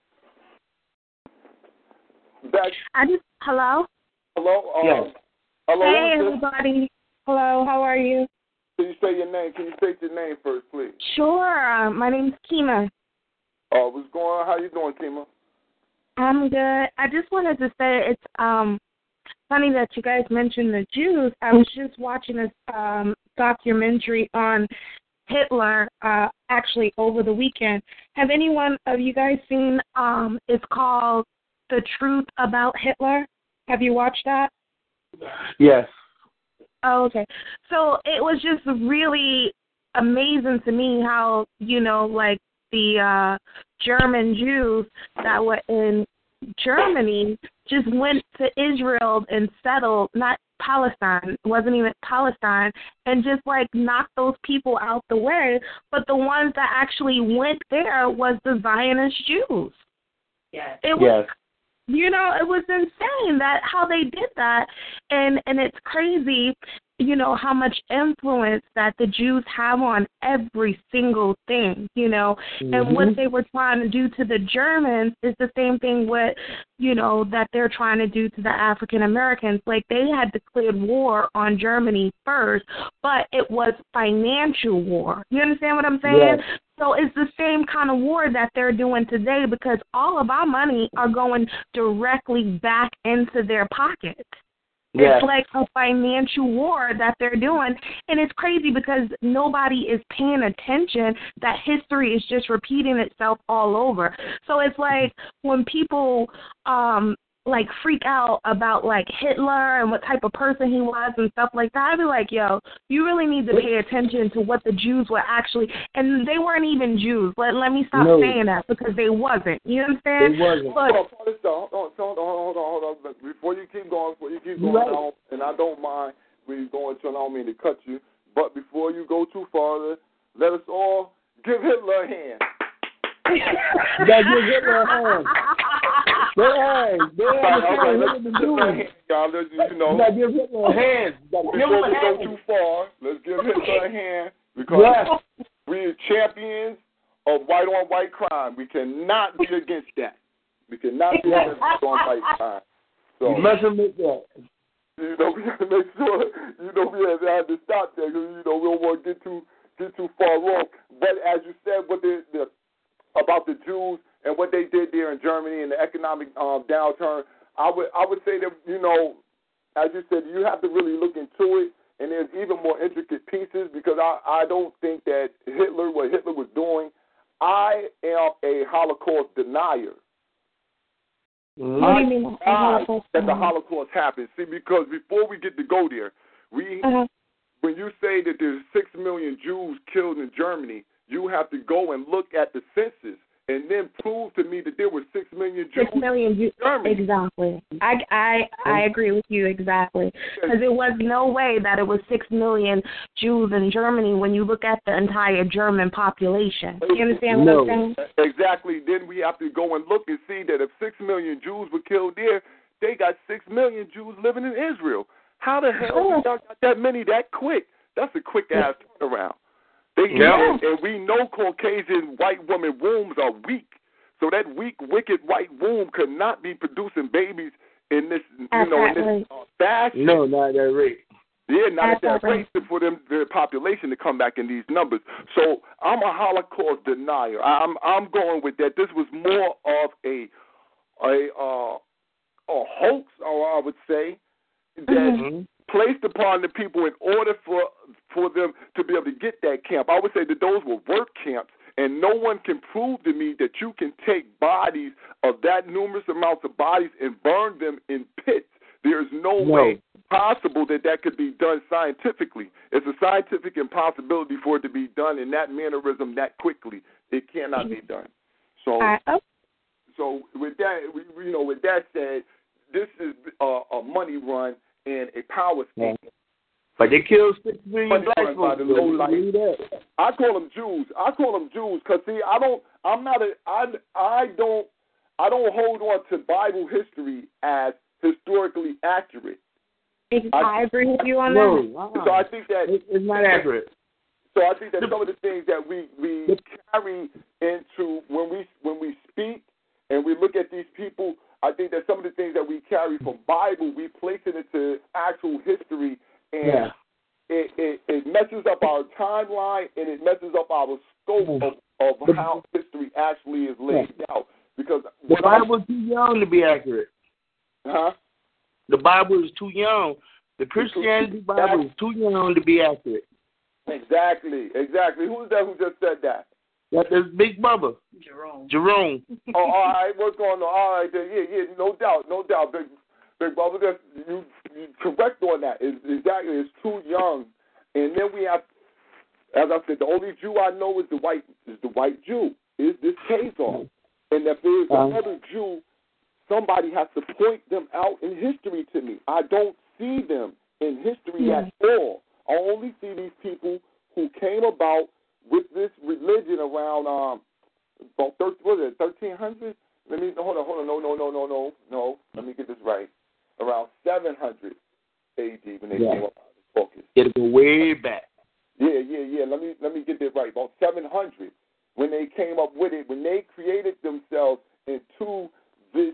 Hello. Hello. Yes. Hello. Hey, everybody. Hello. How are you? Can you say your name? Can you state your name first, please? Sure. My name's Kima. What's going on? How you doing, Kima? I'm good. I just wanted to say it's funny that you guys mentioned the Jews. I was just watching this documentary on Hitler actually over the weekend. Have any one of you guys seen it's called The Truth About Hitler? Have you watched that? Yes. Oh, okay. So it was just really amazing to me how, like the German Jews that were in Germany just went to Israel and settled, not Palestine, it wasn't even Palestine, and just knocked those people out the way. But the ones that actually went there was the Zionist Jews. Yes. It was, it was insane that how they did that, and it's crazy, how much influence that the Jews have on every single thing, Mm-hmm. and what they were trying to do to the Germans is the same thing what, that they're trying to do to the African Americans. They had declared war on Germany first, but it was financial war. You understand what I'm saying? Yes. So it's the same kind of war that they're doing today, because all of our money are going directly back into their pockets. Yes. It's like a financial war that they're doing, and it's crazy because nobody is paying attention that history is just repeating itself all over. So it's like when people freak out about Hitler and what type of person he was and stuff like that, I'd be like, yo, you really need to pay attention to what the Jews were actually, and they weren't even Jews. Let me stop saying that, because they wasn't. You understand? They wasn't. Hold on. Before you keep going, right. and I don't mind when you're going to, I don't mean to cut you, but before you go too far, let us all give Hitler a hand. You gotta give Hitler a hand. You gotta give Hitler a hand. Before we go too far, let's give Hitler a hand, because we are champions of white-on-white crime. We cannot be against that. We cannot be against white-on-white crime. So, you mustn't make that. We have to make sure, we have to stop that, because, we don't want to get too far wrong. But as you said, about the Jews and what they did there in Germany and the economic downturn, I would say that, as you said, you have to really look into it, and there's even more intricate pieces, because I don't think that what Hitler was doing, I am a Holocaust denier. What do you mean that the Holocaust happened? See, because before we get to go there, when you say that there's 6 million Jews killed in Germany, you have to go and look at the census and then prove to me that there were 6 million Jews. 6 million Jews. Exactly. I agree with you exactly. Because there was no way that it was 6 million Jews in Germany when you look at the entire German population. You understand what I'm saying? Exactly. Then we have to go and look and see that if 6 million Jews were killed there, they got 6 million Jews living in Israel. How the hell y'all got that many that quick? That's a quick-ass turnaround. And we know Caucasian white women wombs are weak. So that weak, wicked white womb could not be producing babies in this, in this fashion. No, not that rate. Yeah, not at that rate for them, their population to come back in these numbers. So I'm a Holocaust denier. I'm going with that. This was more of a hoax, or I would say, that placed upon the people in order for them to be able to get that camp. I would say that those were work camps, and no one can prove to me that you can take bodies of that numerous amounts of bodies and burn them in pits. There's no way possible that could be done scientifically. It's a scientific impossibility for it to be done in that mannerism that quickly. It cannot be done. So, so with that, with that said, this is a money run and a power scheme. But they killed 6 million black folks. I call them Jews. Because see, I don't hold on to Bible history as historically accurate. I agree with you on that. So I think that it's not accurate. So I think that some of the things that we carry into when we speak and we look at these people, I think that some of the things that we carry from Bible, we place it into actual history, and it messes up our timeline and it messes up our scope of how history actually is laid out. Because the Bible is too young to be accurate. Huh? The Bible is too young. The Christianity Bible is too young to be accurate. Exactly. Who's that who just said that? That's Big Bubba. Jerome. Oh, all right. What's going on? All right. Yeah. No doubt. Big Bubba, you correct on that. Exactly. It's too young. And then we have, as I said, the only Jew I know is the white Jew. Is this Khazar? And if there's another Jew, somebody has to point them out in history to me. I don't see them in history at all. I only see these people who came about with this religion around about 1300. Hold on. No. Let me get this right. Around 700 A.D. when they came up with this focus. It'll go way back. Yeah. Let me get that right. About 700 when they came up with it, when they created themselves into this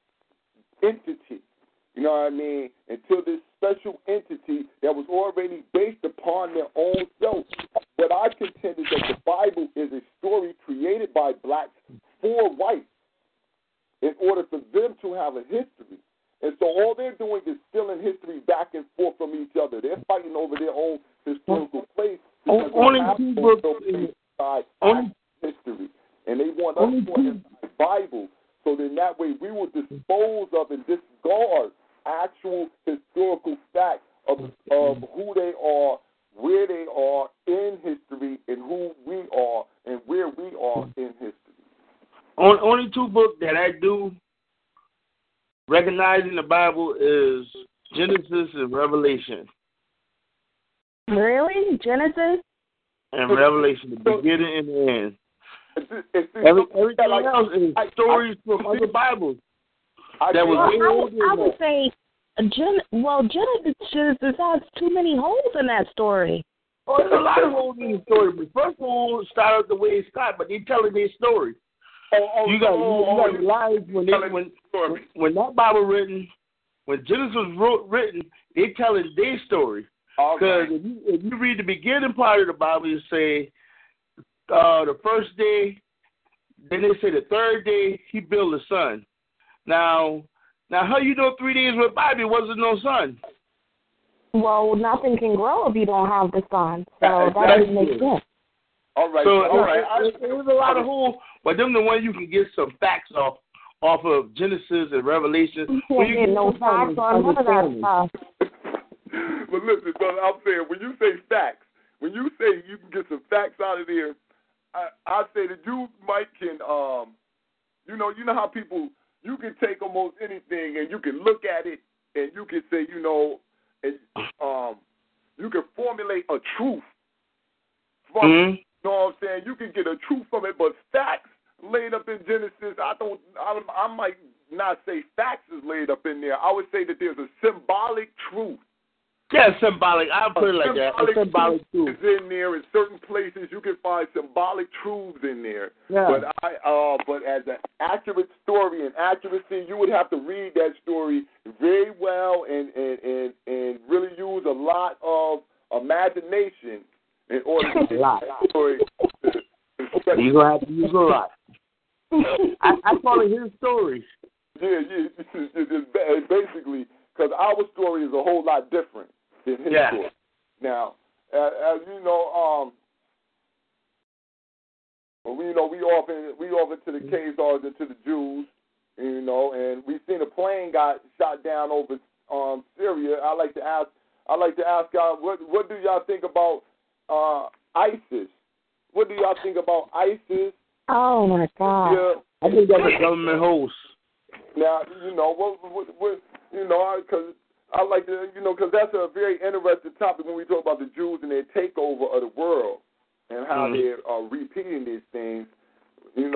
entity. You know what I mean? Until this special entity that was already based upon their own self. What I contend is that the Bible is a story created by blacks for whites in order for them to have a history. And so all they're doing is stealing history back and forth from each other. They're fighting over their own historical place. Only two books in history. And they want us to inside the Bible. So then that way we will dispose of and discard actual historical facts of who they are, where they are in history, and who we are and where we are in history. Only two books that I do recognize in the Bible is Genesis and Revelation. Really? Genesis? And Revelation, the beginning and the end. Everything else is stories from other Bibles. I would say, Genesis has too many holes in that story. Oh, there's a lot of holes in the story. The first one started the way it started, but they're telling their story. You got to realize when that Bible written, when Genesis was written, they telling their story. Because if you read the beginning part of the Bible, you say the first day, then they say the third day he built the sun. Now how you know 3 days went by there wasn't no sun? Well, nothing can grow if you don't have the sun. So that doesn't make sense. All right. There's a lot of holes, but them the ones you can get some facts off of Genesis and Revelation. You can't get no facts on none of that stuff. But listen, brother, I'm saying when you say facts, when you say you can get some facts out of there, I say that you might can, you know how people, you can take almost anything and you can look at it and you can say, you can formulate a truth from it. You know what I'm saying? You can get a truth from it, but facts laid up in Genesis, I might not say facts is laid up in there. I would say that there's a symbolic truth. Yeah, symbolic. I'll put it like that. Symbolic truth is in there. In certain places, you can find symbolic truths in there. Yeah. But as an accurate story and accuracy, you would have to read that story very well and really use a lot of imagination in order to get the story. You're gonna have to use a lot. I call it his stories. Yeah. Basically, because our story is a whole lot different than his story. Now, as you know, we often to the Khazars and to the Jews, and we've seen a plane got shot down over Syria. I like to ask y'all, what do y'all think about ISIS? What do y'all think about ISIS? Oh my God! Yeah, I think that's a government host. Now, because I like to, because that's a very interesting topic when we talk about the Jews and their takeover of the world and how they're repeating these things, and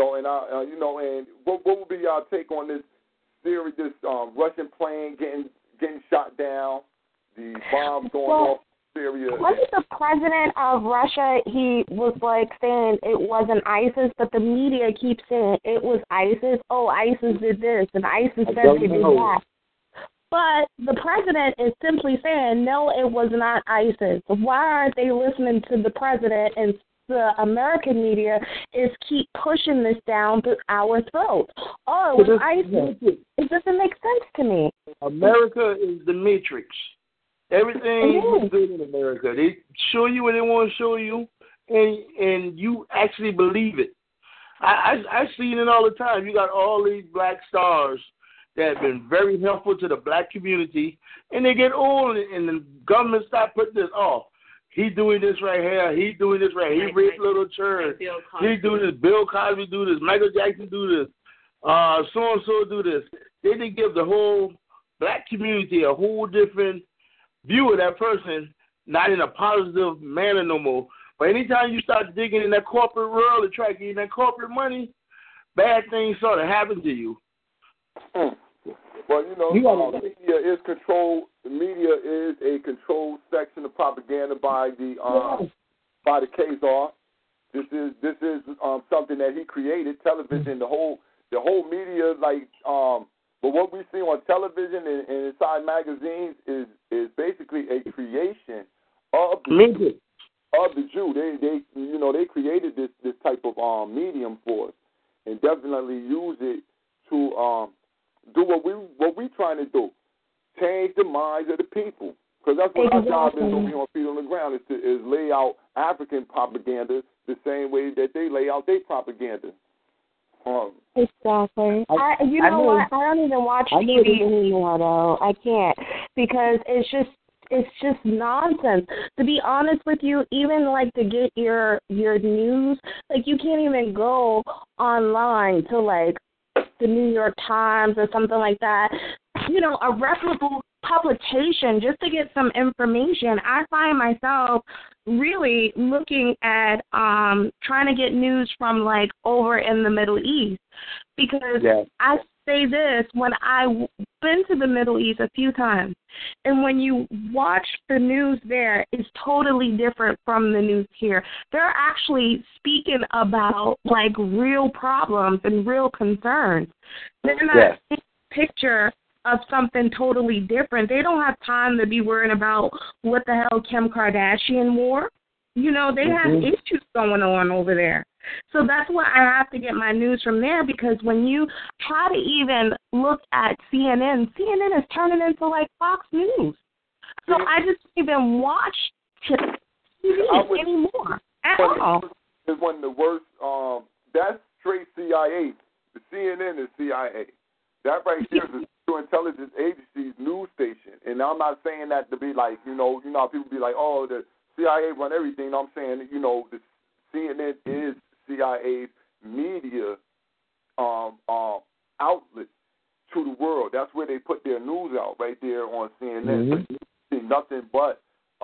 what would be y'all take on this theory, this Russian plane getting shot down, the bombs going off in Syria? Wasn't the president of Russia, he was like saying it wasn't ISIS, but the media keeps saying it was ISIS. Oh, ISIS did this, and ISIS said they did that. But the president is simply saying, no, it was not ISIS. Why aren't they listening to the president, and the American media is keep pushing this down through our throats? Oh, it was ISIS. It doesn't make sense to me. America is the matrix. Everything is good in America. They show you what they want to show you, and you actually believe it. I see it all the time. You got all these black stars that have been very helpful to the black community, and they get old, and the government start putting this, he's doing this right here, he's doing this right here, he raped little children, he's doing this, Bill Cosby do this, Michael Jackson do this, so-and-so do this. They didn't give the whole black community a whole different view of that person, not in a positive manner no more. But anytime you start digging in that corporate world and try to get that corporate money, bad things sort of happen to you. Well, media is controlled. The media is a controlled section of propaganda by the Khazar. This is something that he created. Television, the whole media, but what we see on television and inside magazines is basically a creation of the Jew. They created this type of medium for us, and definitely use it to do what we trying to do, change the minds of the people. Because that's what our job is when we on feet on the ground, is lay out African propaganda the same way that they lay out their propaganda. Exactly. I don't even watch TV anymore, though. I can't, because it's just nonsense. To be honest with you, even to get your news, you can't even go online to the New York Times or something like that, a reputable publication, just to get some information. I find myself really looking at trying to get news from over in the Middle East, because I say this, when I've been to the Middle East a few times, and when you watch the news there, it's totally different from the news here. They're actually speaking about real problems and real concerns. They're not taking a picture of something totally different. They don't have time to be worrying about what the hell Kim Kardashian wore. They have issues going on over there. So that's why I have to get my news from there, because when you try to even look at CNN is turning into Fox News. So I just don't even watch TV anymore at all. It's one of the worst. That's straight CIA. The CNN is CIA. That right there is the intelligence agency's news station. And I'm not saying that to be how people be the CIA run everything. I'm saying, the CNN is CIA's media outlet to the world. That's where they put their news out, right there on CNN. See nothing but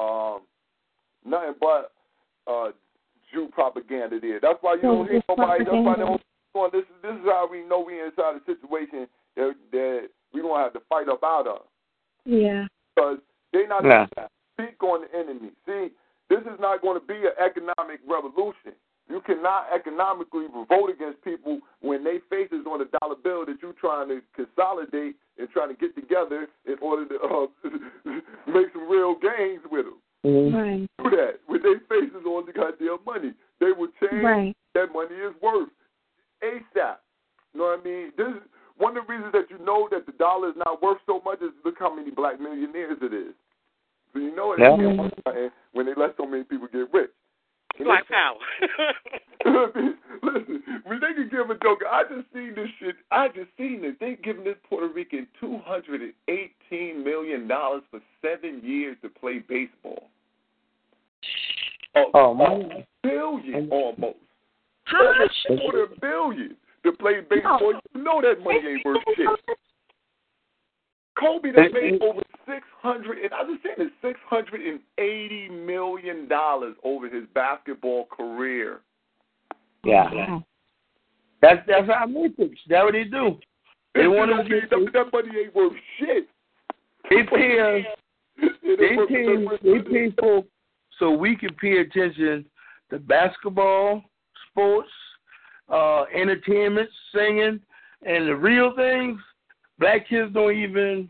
Jew propaganda there. That's why you don't hear nobody. That's why they don't. This is how we know we inside a situation that we gonna have to fight up out of. Yeah. Because they not going to be an economic revolution. You cannot economically vote against people when they face is on a dollar bill that you're trying to consolidate and trying to get together in order to make some real gains with them. Right. Do that when they faces on the goddamn money. They will change that money is worth ASAP. You know what I mean? This is one of the reasons that you know that the dollar is not worth so much is look how many black millionaires it is. So you know it when they let so many people get rich. Black power. Listen, when they can give a joke, I just seen this shit. I just seen it. They giving this Puerto Rican $218 million for 7 years to play baseball. A billion almost. How much? $250 million to play baseball. You know that money ain't worth shit. Kobe that made over $680 million over his basketball career. Yeah. That's how mythics. That's what they do. They want to get that money ain't worth shit. They pay folks so we can pay attention to basketball, sports, entertainment, singing, and the real things. Black kids don't even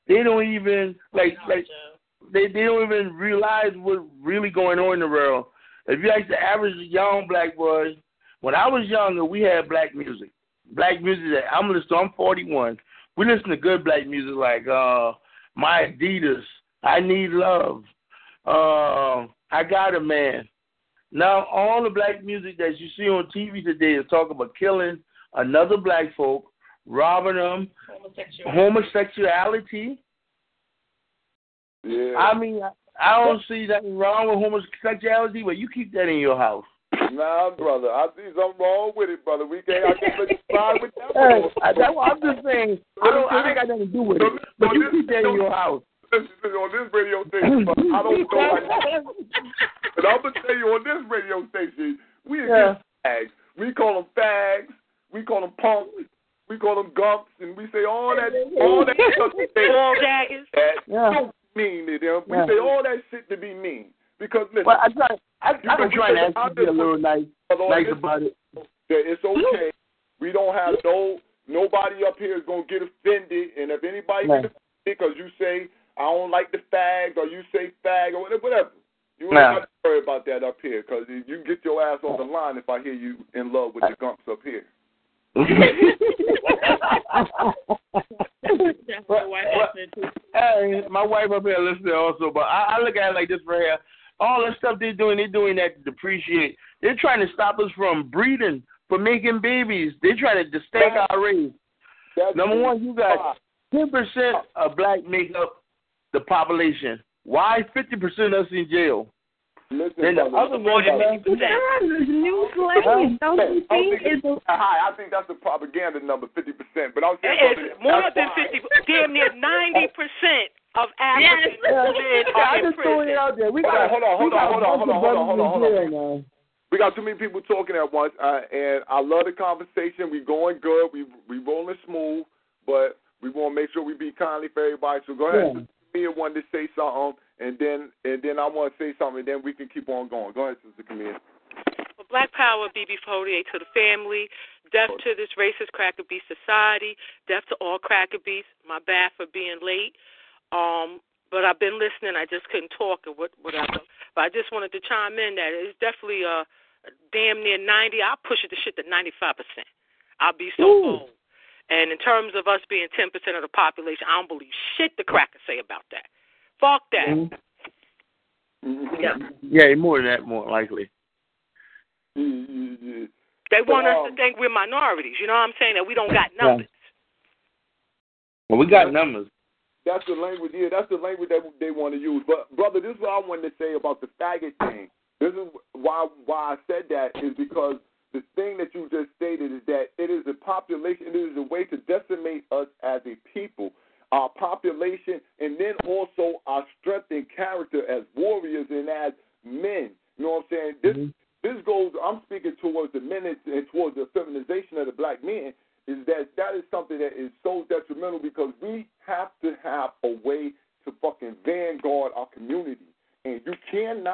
realize what's really going on in the world. If you ask the average young black boy, when I was younger, we had black music. Black music that I'm 41. We listen to good black music like My Adidas, I Need Love, I Got a Man. Now all the black music that you see on TV today is talking about killing another black folk, robbing them, homosexuality. Yeah. I mean, I don't see nothing wrong with homosexuality, but you keep that in your house. Nah, brother, I see something wrong with it, brother. I can't let you slide with that. That's what I'm just saying. I ain't got nothing to do with it, but you keep that in your house. Listen, on this radio station, but I don't know. But I'm gonna tell you, on this radio station, we against fags. We call them fags. We call them punks. We call them gumps, and we say all that stuff. All daggers. Don't mean to them. We say all that shit to be mean. Because listen, well, I've been trying to ask you to be a little nice about it. It's okay. We don't have nobody up here is gonna get offended, and if anybody gets offended because you say I don't like the fags or you say fag or whatever, you don't have to worry about that up here because you can get your ass on the line if I hear you in love with the gumps up here. My wife up here listening also, but I look at it like this right here. All the stuff they're doing that to depreciate. They're trying to stop us from breeding, from making babies. They're trying to stake our race. Number one, you got 10% of black make up the population. Why 50% of us in jail? Listen, then the other more than 50%. New slaves. I think that's the propaganda number, 50%. But I was saying it's more than 50. Damn near 90% of Africans live in prison. Out there. Hold on. We got too many people talking at once, and I love the conversation. We going good. We rolling smooth, but we want to make sure we be kindly for everybody. So go ahead. Me and one to say something, and then I want to say something, and then we can keep on going. Go ahead, Sister Camille. Well, Black Power, BB48 to the family. Death to this racist cracker beast society. Death to all cracker beasts. My bad for being late. But I've been listening. I just couldn't talk or whatever. But I just wanted to chime in that it's definitely damn near 90. I'll push it to shit to 95%. I'll be so old. And in terms of us being 10% of the population, I don't believe shit the crackers say about that. Fuck that. Yeah, more than that, more likely. They want us to think we're minorities. You know what I'm saying? That we don't got numbers. Well, we got numbers. That's the language. Yeah, that's the language that they want to use. But brother, this is what I wanted to say about the faggot thing. This is why I said that is because the thing that you just stated is that it is a population, it is a way to decimate us as a people, our population, and then also our strength and character as warriors and as men. You know what I'm saying? This goes, I'm speaking towards the men and towards the feminization of the black men, is that is something that is so detrimental because we have to have a way to fucking vanguard our community. And you cannot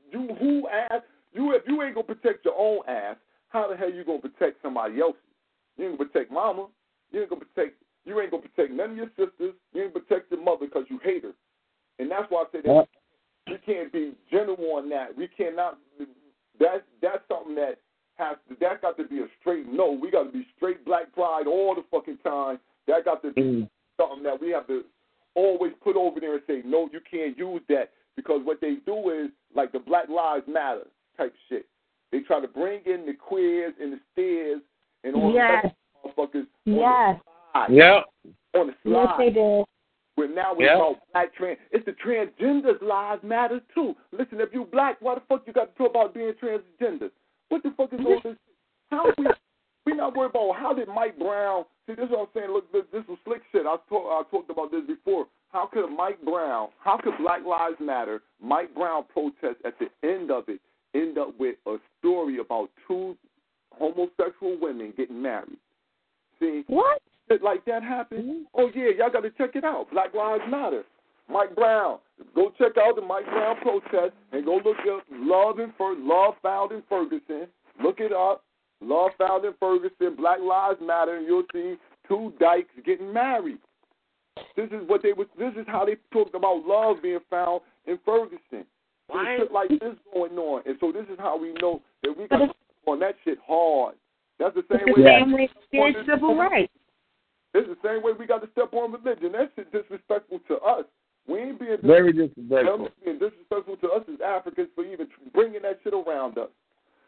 who ass you if you ain't gonna protect your own ass, how the hell you gonna protect somebody else's? You ain't gonna protect mama. You ain't gonna protect none of your sisters. You ain't protect your mother because you hate her. And that's why I say that we can't be general on that. We cannot. That's something that got to be a straight no. We got to be straight black pride all the fucking time. That got to be something that we have to always put over there and say, no, you can't use that, because what they do is like the Black Lives Matter type shit. They try to bring in the queers and the stairs and all the motherfuckers on the slide. On the slide. Yes, they did. But now it's about black trans. It's the transgenders' lives matter too. Listen, if you black, why the fuck you got to talk about being transgender? What the fuck is all this? How we not worried about how did Mike Brown? See, this is what I'm saying. Look, this was slick shit. I talked about this before. How could Black Lives Matter, Mike Brown protest at the end of it end up with a story about two homosexual women getting married? See, what? Shit like that happened. Oh yeah, y'all got to check it out. Black Lives Matter. Mike Brown. Go check out the Mike Brown protest and go look up Love Found in Ferguson. Look it up. Love Found in Ferguson. Black Lives Matter, and you'll see two dykes getting married. This is how they talked about love being found in Ferguson. There's shit like this going on, and so this is how we know that we got to on that shit hard. That's the same way. Civil rights. It's the same way we got to step on religion. That shit disrespectful to us. We ain't being very disrespectful. Being disrespectful to us as Africans for even bringing that shit around us.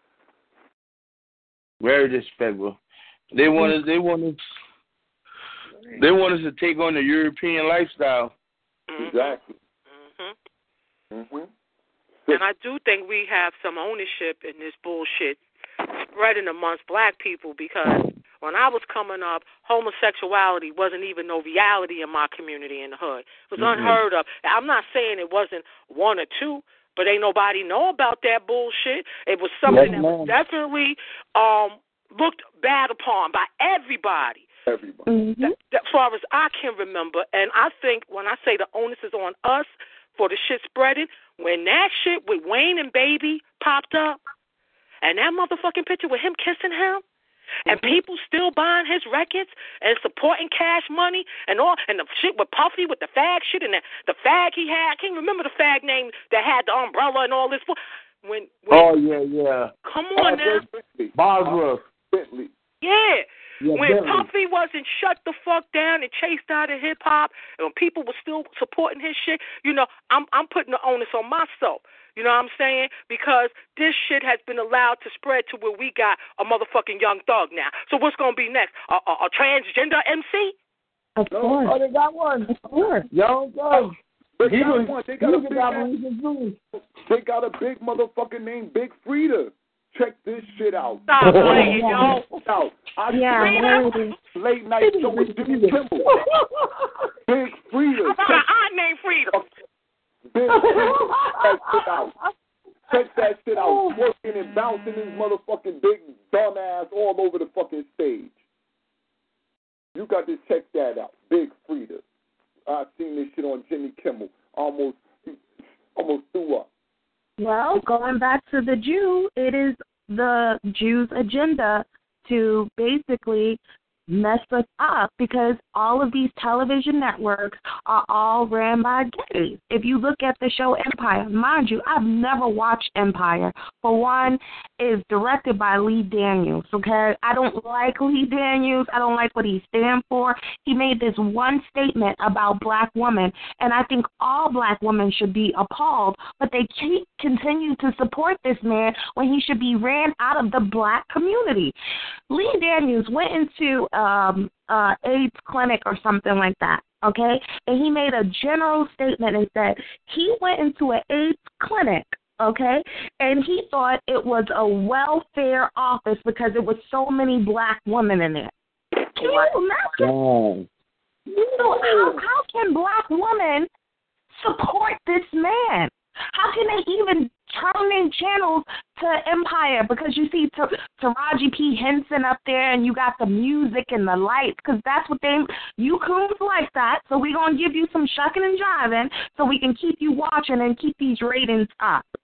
Very disrespectful. They want us to take on the European lifestyle. Exactly. And I do think we have some ownership in this bullshit spreading amongst black people, because when I was coming up, homosexuality wasn't even no reality in my community in the hood. It was unheard of. I'm not saying it wasn't one or two, but ain't nobody know about that bullshit. It was something that was definitely looked bad upon by everybody. As far as I can remember. And I think when I say the onus is on us for the shit spreading, when that shit with Wayne and Baby popped up, and that motherfucking picture with him kissing him, and people still buying his records and supporting Cash Money and all, and the shit with Puffy with the fag shit and the fag he had. I can't remember the fag name that had the umbrella and all this. When come on now. Bosworth. Yeah. When Puffy wasn't shut the fuck down and chased out of hip hop, and when people were still supporting his shit, I'm putting the onus on myself. You know what I'm saying? Because this shit has been allowed to spread to where we got a motherfucking Young Thug now. So what's going to be next? A transgender MC? Of course. Oh, they got one. Of course. Young Thug. They got a big motherfucker named Big Frida. Check this shit out. Stop playing, yo. Late night show with Jimmy Kimmel. Big Frida. I got an aunt named Frida. Big Frida. Check that shit out. Working and bouncing his motherfucking big dumb ass all over the fucking stage. You got to check that out. Big Frida. I've seen this shit on Jimmy Kimmel. Almost threw up. Well, going back to the Jew, it is the Jews' agenda to basically mess us up, because all of these television networks are all ran by gays. If you look at the show Empire, mind you, I've never watched Empire. For one, it's directed by Lee Daniels, okay? I don't like Lee Daniels. I don't like what he stands for. He made this one statement about black women, and I think all black women should be appalled, but they continue to support this man when he should be ran out of the black community. Lee Daniels went into AIDS clinic or something like that, okay? And he made a general statement and said he went into an AIDS clinic, okay, and he thought it was a welfare office because there was so many black women in there. Can you imagine? So how can black women support this man? How can they even turn in channels to Empire? Because you see Taraji P. Henson up there, and you got the music and the lights, because that's what you coons like that. So we're going to give you some shucking and jiving so we can keep you watching and keep these ratings up.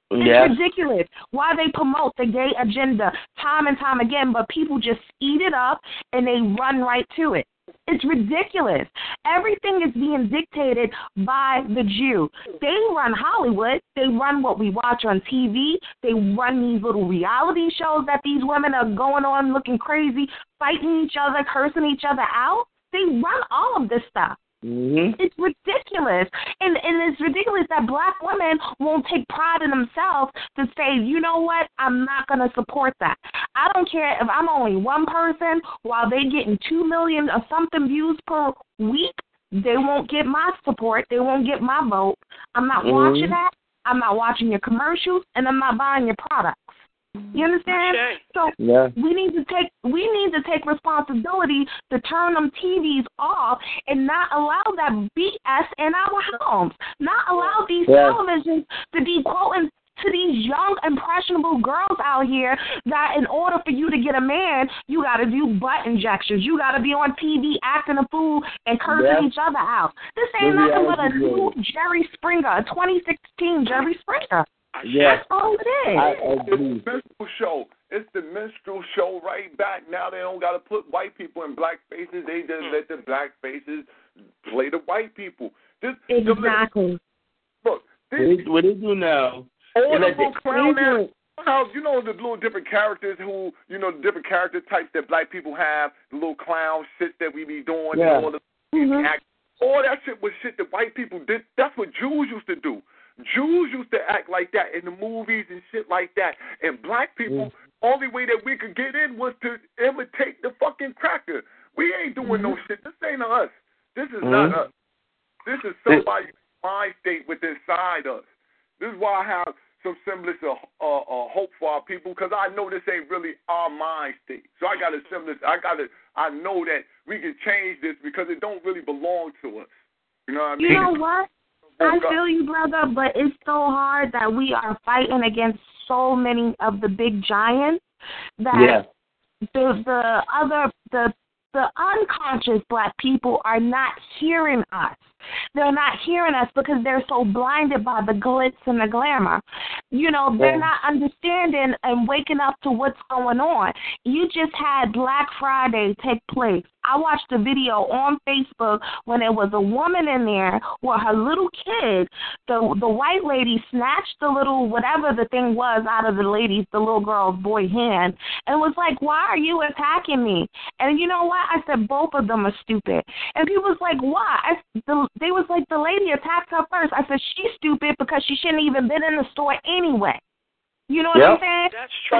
It's ridiculous why they promote the gay agenda time and time again, but people just eat it up and they run right to it. It's ridiculous. Everything is being dictated by the Jew. They run Hollywood. They run what we watch on TV. They run these little reality shows that these women are going on looking crazy, fighting each other, cursing each other out. They run all of this stuff. Mm-hmm. It's ridiculous. And it's ridiculous that black women won't take pride in themselves to say, you know what, I'm not going to support that. I don't care if I'm only one person, while they getting 2 million or something views per week, they won't get my support. They won't get my vote. I'm not watching that. I'm not watching your commercials, and I'm not buying your products. You understand? Okay. So we need to take responsibility to turn them TVs off and not allow that BS in our homes. Not allow these televisions to be quoting to these young, impressionable girls out here that in order for you to get a man, you got to do butt injections. You got to be on TV acting a fool and cursing each other out. This ain't nothing but a new Jerry Springer, a 2016 Jerry Springer. Yes. That's all it is. I agree. It's the minstrel show. It's the minstrel show right back. Now they don't got to put white people in black faces. They just let the black faces play the white people. Exactly. Look, what they do now. All the little clown now, you know the little different characters who, you know, the different character types that black people have, the little clown shit that we be doing, and all all that shit was shit that white people did. That's what Jews used to do. Jews used to act like that in the movies and shit like that. And black people, only way that we could get in was to imitate the fucking cracker. We ain't doing no shit. This ain't us. This is not us. This is somebody's mind state within inside us. This is why I have some semblance of hope for our people, because I know this ain't really our mind state. So I got a semblance. I know that we can change this because it don't really belong to us. You know what I mean? You know what? I feel you, brother, but it's so hard that we are fighting against so many of the big giants that the unconscious black people are not hearing us. They're not hearing us because they're so blinded by the glitz and the glamour. You know, they're not understanding and waking up to what's going on. You just had Black Friday take place. I watched a video on Facebook when there was a woman in there with her little kid. The white lady snatched the little whatever the thing was out of the little girl's boy hand and was like, why are you attacking me? And you know what? I said, both of them are stupid. And people was like, why? They was like, the lady attacked her first. I said, she's stupid because she shouldn't even been in the store anyway. You know what I'm saying? That's true.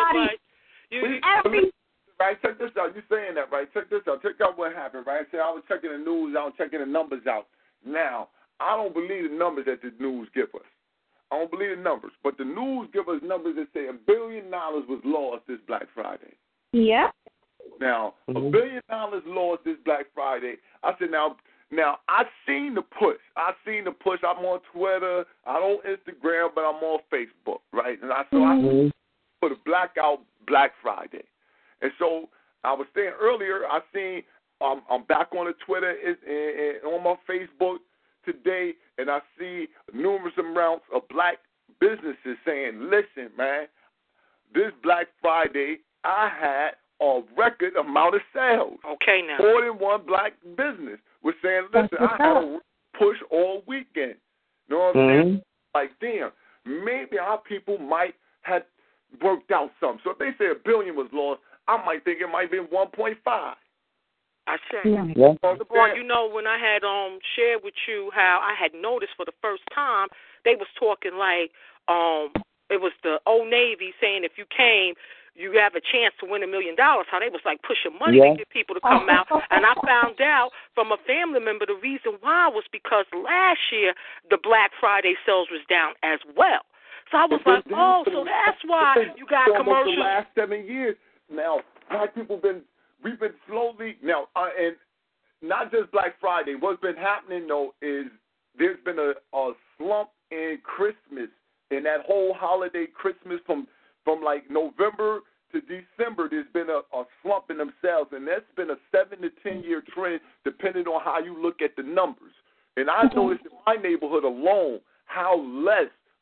Everybody, Right, check this out. You saying that, right? Check this out. Check out what happened, right? I was checking the news out, checking the numbers out. Now, I don't believe the numbers that the news give us. I don't believe the numbers. But the news give us numbers that say $1 billion was lost this Black Friday. Yeah. Now, $1 billion lost this Black Friday. I said, now I seen the push. I'm on Twitter. I'm on Instagram, but I'm on Facebook, right? And I put a blackout Black Friday. And so I was saying earlier, I seen I'm back on the Twitter and on my Facebook today, and I see numerous amounts of black businesses saying, listen, man, this Black Friday I had a record amount of sales. Okay, now. More than one black business was saying, listen, I had a push all weekend. You know what I'm saying? Like, damn, maybe our people might have worked out something. So if they say $1 billion was lost, I might think it might be 1.5. I say. Well, you know, when I had shared with you how I had noticed for the first time, they was talking like it was the Old Navy saying if you came, you have a chance to win $1 million. How they was like pushing money to get people to come out. And I found out from a family member the reason why was because last year the Black Friday sales was down as well. So I was like, so that's why you got commercials. The last 7 years. Now, black people we've been slowly, now, and not just Black Friday, what's been happening, though, is there's been a slump in Christmas, in that whole holiday Christmas from like November to December, there's been a slump in themselves, and that's been a 7 to 10 year trend depending on how you look at the numbers. And I noticed in my neighborhood alone how less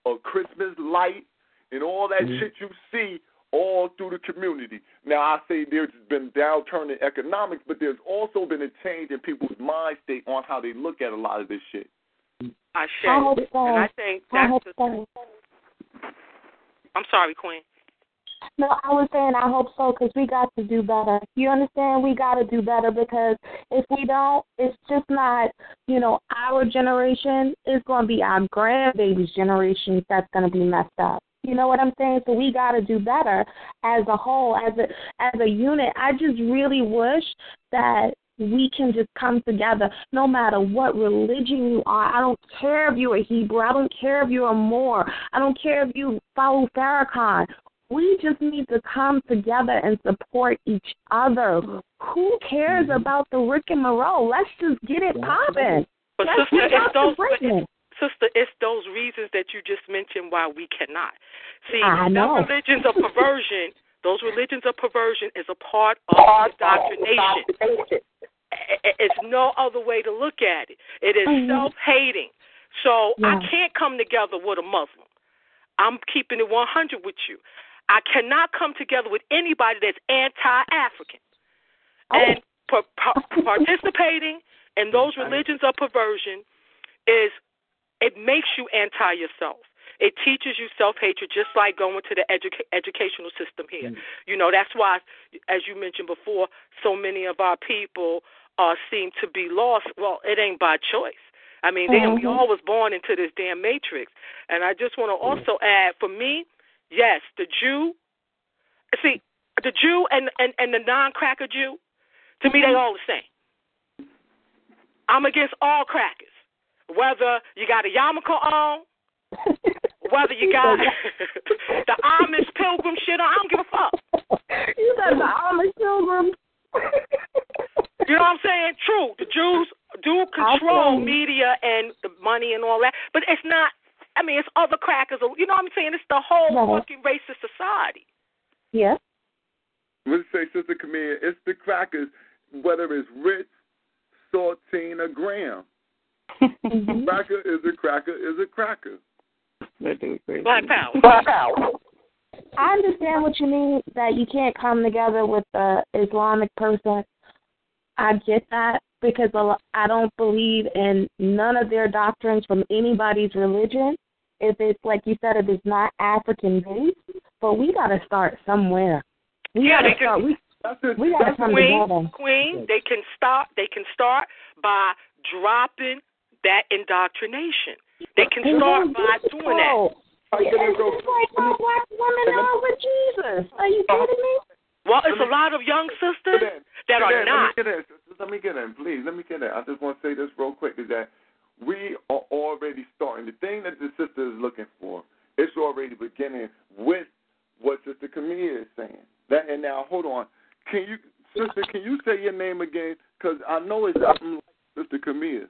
Christmas light, and all that shit you see all through the community. Now, I say there's been downturn in economics, but there's also been a change in people's mind state on how they look at a lot of this shit. I think that's I'm sorry, Queen. No, I was saying I hope so because we got to do better. You understand? We got to do better because if we don't, it's just not, our generation. It's going to be our grandbaby's generation that's going to be messed up. You know what I'm saying? So we got to do better as a whole, as a unit. I just really wish that we can just come together no matter what religion you are. I don't care if you're a Hebrew. I don't care if you're a Moor. I don't care if you follow Farrakhan. We just need to come together and support each other. Who cares about the Rick and Monroe? Let's just get it popping. But sister, it's those reasons that you just mentioned why we cannot. See, those religions of perversion is a part of indoctrination. It's no other way to look at it. It is self-hating. So I can't come together with a Muslim. I'm keeping it 100 with you. I cannot come together with anybody that's anti-African. And participating in those religions of perversion it makes you anti-yourself. It teaches you self-hatred, just like going to the educational system here. That's why, as you mentioned before, so many of our people seem to be lost. Well, it ain't by choice. I mean, we all was born into this damn matrix. And I just want to also add, for me, yes, the Jew and the non-cracker Jew, to me, they all the same. I'm against all crackers. Whether you got a yarmulke on, whether you got the Amish pilgrim shit on, I don't give a fuck. You got the Amish pilgrim. You know what I'm saying? True, the Jews do control media and the money and all that, but it's not. I mean, it's other crackers. You know what I'm saying? It's the whole fucking racist society. Yeah. Let's say, Sister Camille, it's the crackers, whether it's Ritz, Saltine, or Graham. Cracker is a cracker is a cracker. Black power. I understand what you mean, that you can't come together with the Islamic person. I get that because I don't believe in none of their doctrines from anybody's religion. If it's, like you said, if it's not African-based, but we got to start somewhere. We got to come together. Queen, they can start by dropping that indoctrination. They can start by doing that. It's just like how black women are with Jesus. Are you kidding me? Well, it's a lot of young sisters that are not. Let me get in, please. Let me get in. I just want to say this real quick, is that we are already starting. The thing that the sister is looking for, it's already beginning with what Sister Camille is saying. And now, hold on. Sister, can you say your name again? Because I know it's something like Sister Camille.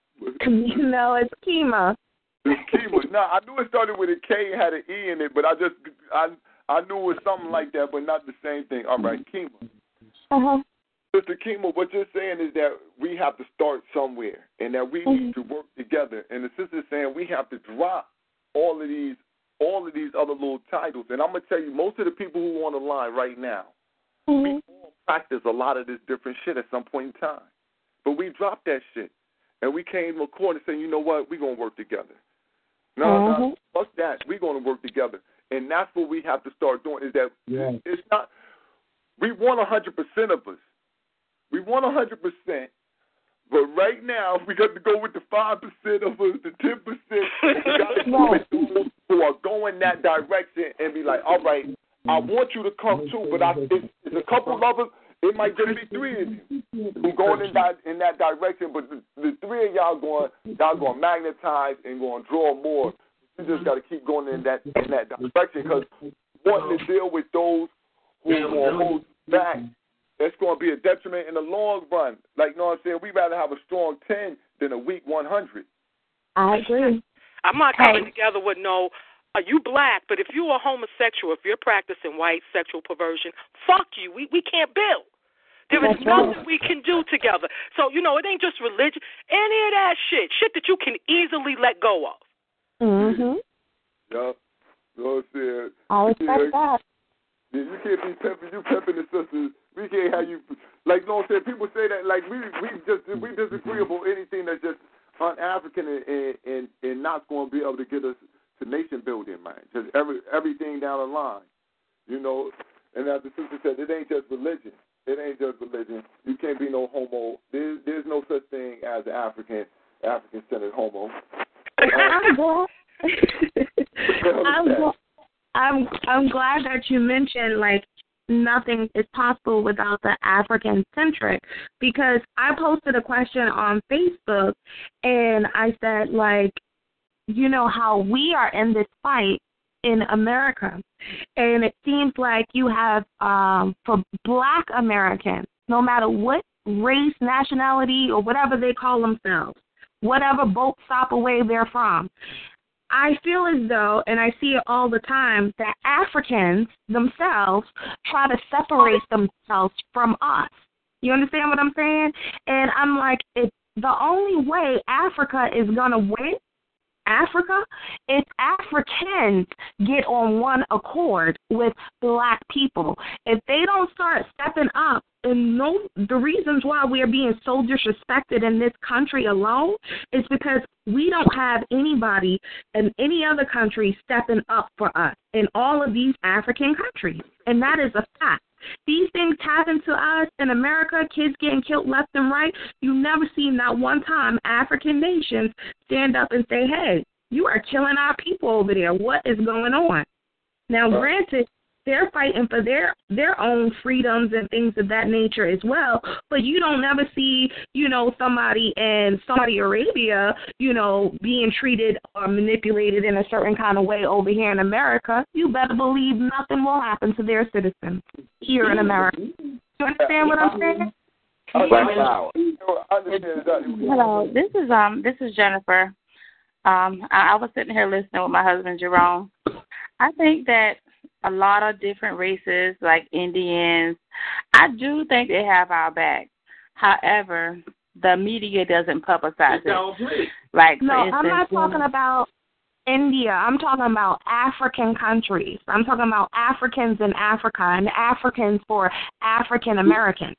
No, it's Kima. It's Kima. No, I knew it started with a K and had an E in it, but I knew it was something like that, but not the same thing. All right, Kima. Sister Kima, what you're saying is that we have to start somewhere and that we need to work together. And the sister's saying we have to drop all of these other little titles. And I'm going to tell you, most of the people who are on the line right now, we all practice a lot of this different shit at some point in time. But we dropped that shit. And we came to a court and said, you know what, we're going to work together. No, fuck that. We're going to work together. And that's what we have to start doing, is that it's not, we want 100% of us. We want 100%, but right now we got to go with the 5% of us, the 10%. We got to go with those who are going that direction and be like, all right, I want you to come too, but it's a couple of us. It might just be 3 of you who going in that direction, but the 3 of y'all going to magnetize and going to draw more. You just got to keep going in that direction, because wanting to deal with those who are going to hold you back, it's going to be a detriment in the long run. Like, you know what I'm saying? We'd rather have a strong 10 than a weak 100. I agree. I'm not coming together with you black, but if you're a homosexual, if you're practicing white sexual perversion, fuck you. We can't build. There is nothing we can do together. So, it ain't just religion. Any of that shit that you can easily let go of. Yeah. So said. I respect that. Yeah, you can't be pimping. You pimping the sisters. We can't have you like. You know what I'm saying? People say that like we disagree about anything that's just un-African and not going to be able to get us to nation building, man. Just everything down the line, you know. And as the sister said, it ain't just religion. It ain't just religion. You can't be no homo. There's no such thing as an African-centered homo. I'm glad that you mentioned like nothing is possible without the African-centric, because I posted a question on Facebook and I said, like, you know how we are in this fight in America, and it seems like you have for Black Americans, no matter what race, nationality, or whatever they call themselves, whatever boat stop away they're from, I feel as though, and I see it all the time, that Africans themselves try to separate themselves from us. You understand what I'm saying? And I'm like, it's the only way Africa is going to win Africa if Africans get on one accord with Black people. If they don't start stepping up and know the reasons why we are being so disrespected in this country alone is because we don't have anybody in any other country stepping up for us in all of these African countries. And that is a fact. These things happen to us in America, kids getting killed left and right. You never see not one time African nations stand up and say, hey, you are killing our people over there. What is going on? Now, granted, they're fighting for their own freedoms and things of that nature as well, but you don't never see, you know, somebody in Saudi Arabia, you know, being treated or manipulated in a certain kind of way over here in America. You better believe nothing will happen to their citizens here in America. You understand what I'm saying? Hello, this is Jennifer. I was sitting here listening with my husband Jerome. I think that a lot of different races, like Indians, I do think they have our back. However, the media doesn't publicize it. Like, no, instance, I'm not talking about India. I'm talking about African countries. I'm talking about Africans in Africa and Africans for African Americans.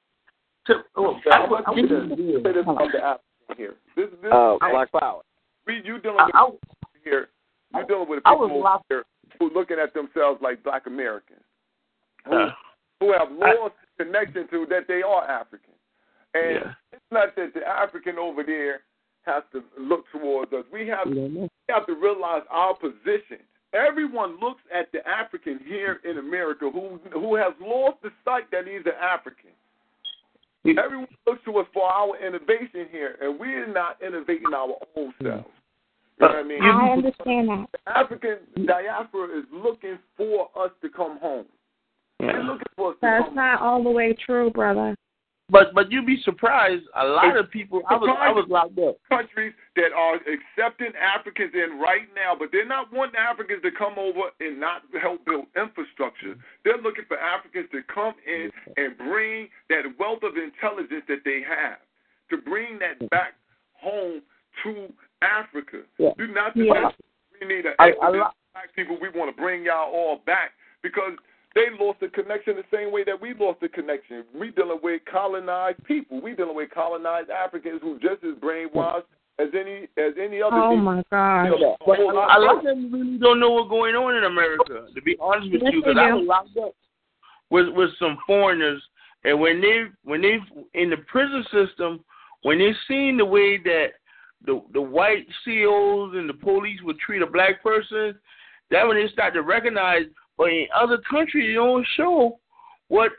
Black power. You dealing with here. You dealing with people here who looking at themselves like Black Americans, who have lost the connection to that they are African. And it's not that the African over there has to look towards us. We have to realize our position. Everyone looks at the African here in America who has lost the sight that he's an African. Everyone looks to us for our innovation here, and we're not innovating our own selves. You know what I mean? I understand that. The African diaspora is looking for us to come home. They're looking for us to That's come not home. all the way true, brother. But you'd be surprised. A lot of people. I was locked up. Countries that are accepting Africans in right now, but they're not wanting Africans to come over and not help build infrastructure. They're looking for Africans to come in and bring that wealth of intelligence that they have, to bring that back home to Africa. Do not just we need an Black people. We want to bring y'all all back because they lost the connection the same way that we lost the connection. We dealing with colonized people. We dealing with colonized Africans who just as brainwashed as any other. Oh people. my God! A lot of them really don't know what's going on in America. To be honest with you, because I was locked up with some foreigners, and when they in the prison system, when they seen the way that the white COs and the police would treat a Black person, that when they start to recognize. But in other countries, they don't show what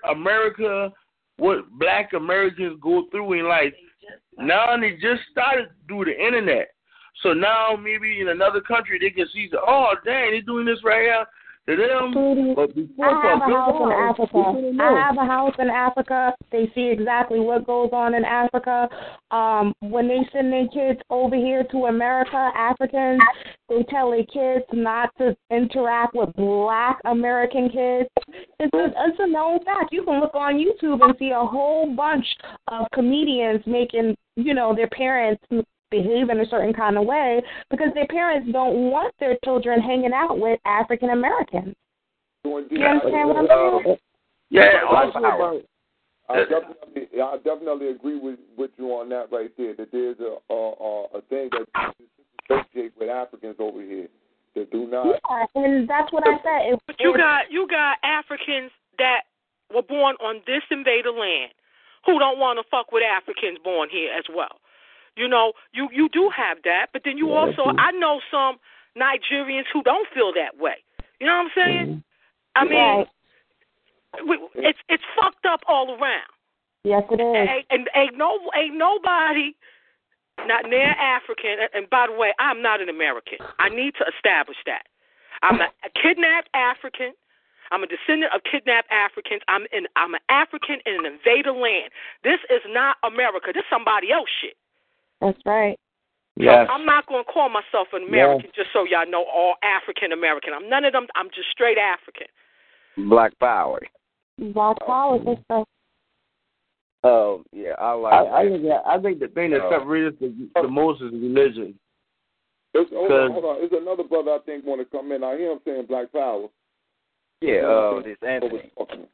Black Americans go through in life. Now they just started through the internet. So now maybe in another country they can see, oh, dang, they're doing this right here to them. But before I have a house in Africa. I have a house in Africa. They see exactly what goes on in Africa. When they send their kids over here to America, Africans, they tell their kids not to interact with Black American kids. It's a known fact. You can look on YouTube and see a whole bunch of comedians making, their parents behave in a certain kind of way because their parents don't want their children hanging out with African Americans. You understand what I'm saying? Yeah, I definitely agree with you on that right there. That there's a thing that associate with Africans over here that do not. Yeah, and that's what I said. But you got Africans that were born on this invader land who don't want to fuck with Africans born here as well. You know, you do have that, but then you also, I know some Nigerians who don't feel that way. You know what I'm saying? I mean, it's fucked up all around. Yes, it is. And ain't nobody not near African. And by the way, I'm not an American. I need to establish that. I'm a kidnapped African. I'm a descendant of kidnapped Africans. I'm an African in an invader land. This is not America. This is somebody else shit. That's right. Yes. So I'm not going to call myself an American, just so y'all know, all African American. I'm none of them. I'm just straight African. Black power. Black power, sister. Oh, yeah, I think the thing that separates the most is religion. Hold on. There's another brother I think want to come in. I hear him saying black power. Yeah, this Anthony.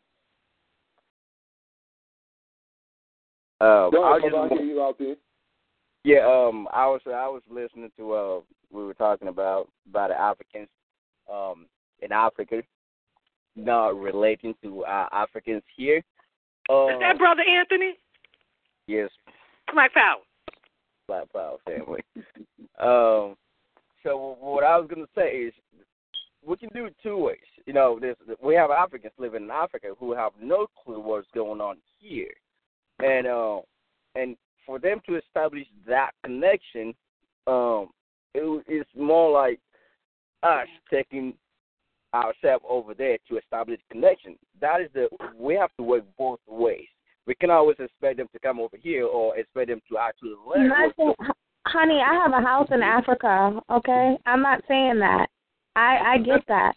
I hear you out there. Yeah, I was listening to we were talking about the Africans in Africa, not relating to Africans here. Is that Brother Anthony? Yes. Black Power. Black Power family. So what I was going to say is we can do it two ways. You know, we have Africans living in Africa who have no clue what's going on here. And for them to establish that connection, it's more like us taking ourselves over there to establish connection. That is we have to work both ways. We can always expect them to come over here or expect them to actually learn. Honey, I have a house in Africa, okay? I'm not saying that. I get that.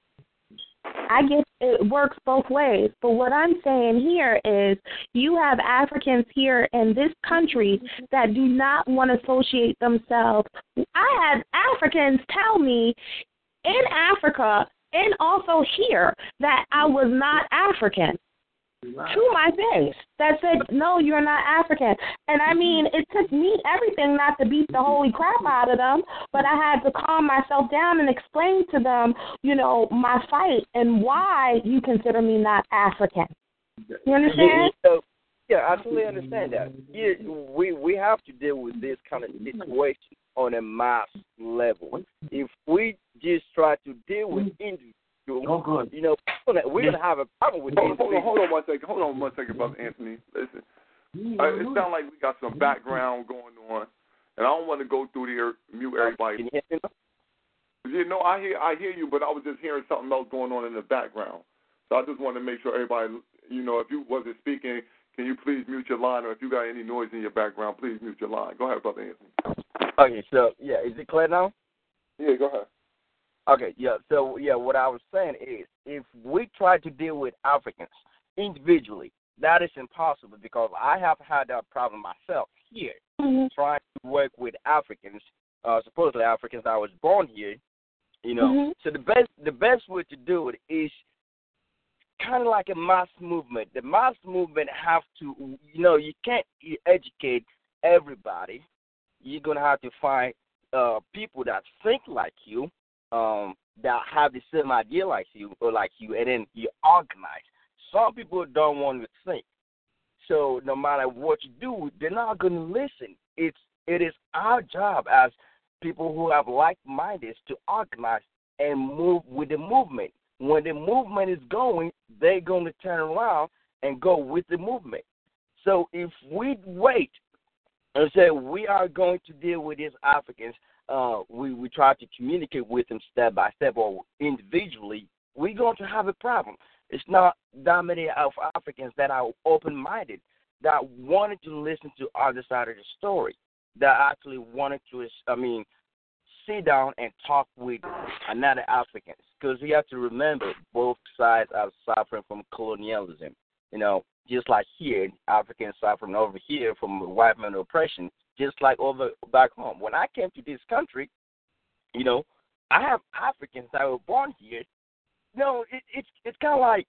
I get it works both ways. But what I'm saying here is you have Africans here in this country that do not want to associate themselves. I had Africans tell me in Africa and also here that I was not African. To my face, that said, no, you're not African. And I mean, it took me everything not to beat the holy crap out of them, but I had to calm myself down and explain to them, you know, my fight and why you consider me not African. You understand? Yeah, I totally understand that. Yeah, we have to deal with this kind of situation on a mass level. If we just try to deal with individuals, you know, we're going to have a problem with this. Hold on one second, Brother Anthony. Listen, it sounds like we got some background going on, and I don't want to go through there, mute everybody. Can you hear me? You know, I hear you, but I was just hearing something else going on in the background. So I just want to make sure everybody, you know, if you wasn't speaking, can you please mute your line, or if you got any noise in your background, please mute your line. Go ahead, Brother Anthony. Okay, so, yeah, is it clear now? Yeah, go ahead. Okay, yeah, so, yeah, what I was saying is if we try to deal with Africans individually, that is impossible because I have had that problem myself here, trying to work with Africans, supposedly Africans that was born here, you know. So the best way to do it is kind of like a mass movement. The mass movement have to, you know, you can't educate everybody. You're going to have to find people that think like you, that have the same idea like you, and then you organize. Some people don't want to think. So no matter what you do, they're not going to listen. It is our job as people who have like-minded to organize and move with the movement. When the movement is going, they're going to turn around and go with the movement. So if we wait and say we are going to deal with these Africans, we try to communicate with them step by step or individually, we're going to have a problem. It's not that many of Africans that are open-minded, that wanted to listen to other side of the story, that actually wanted to, sit down and talk with another Africans. Because we have to remember both sides are suffering from colonialism. You know, just like here, Africans suffering over here from white man oppression, just like over back home. When I came to this country, I have Africans that were born here. It's kind of like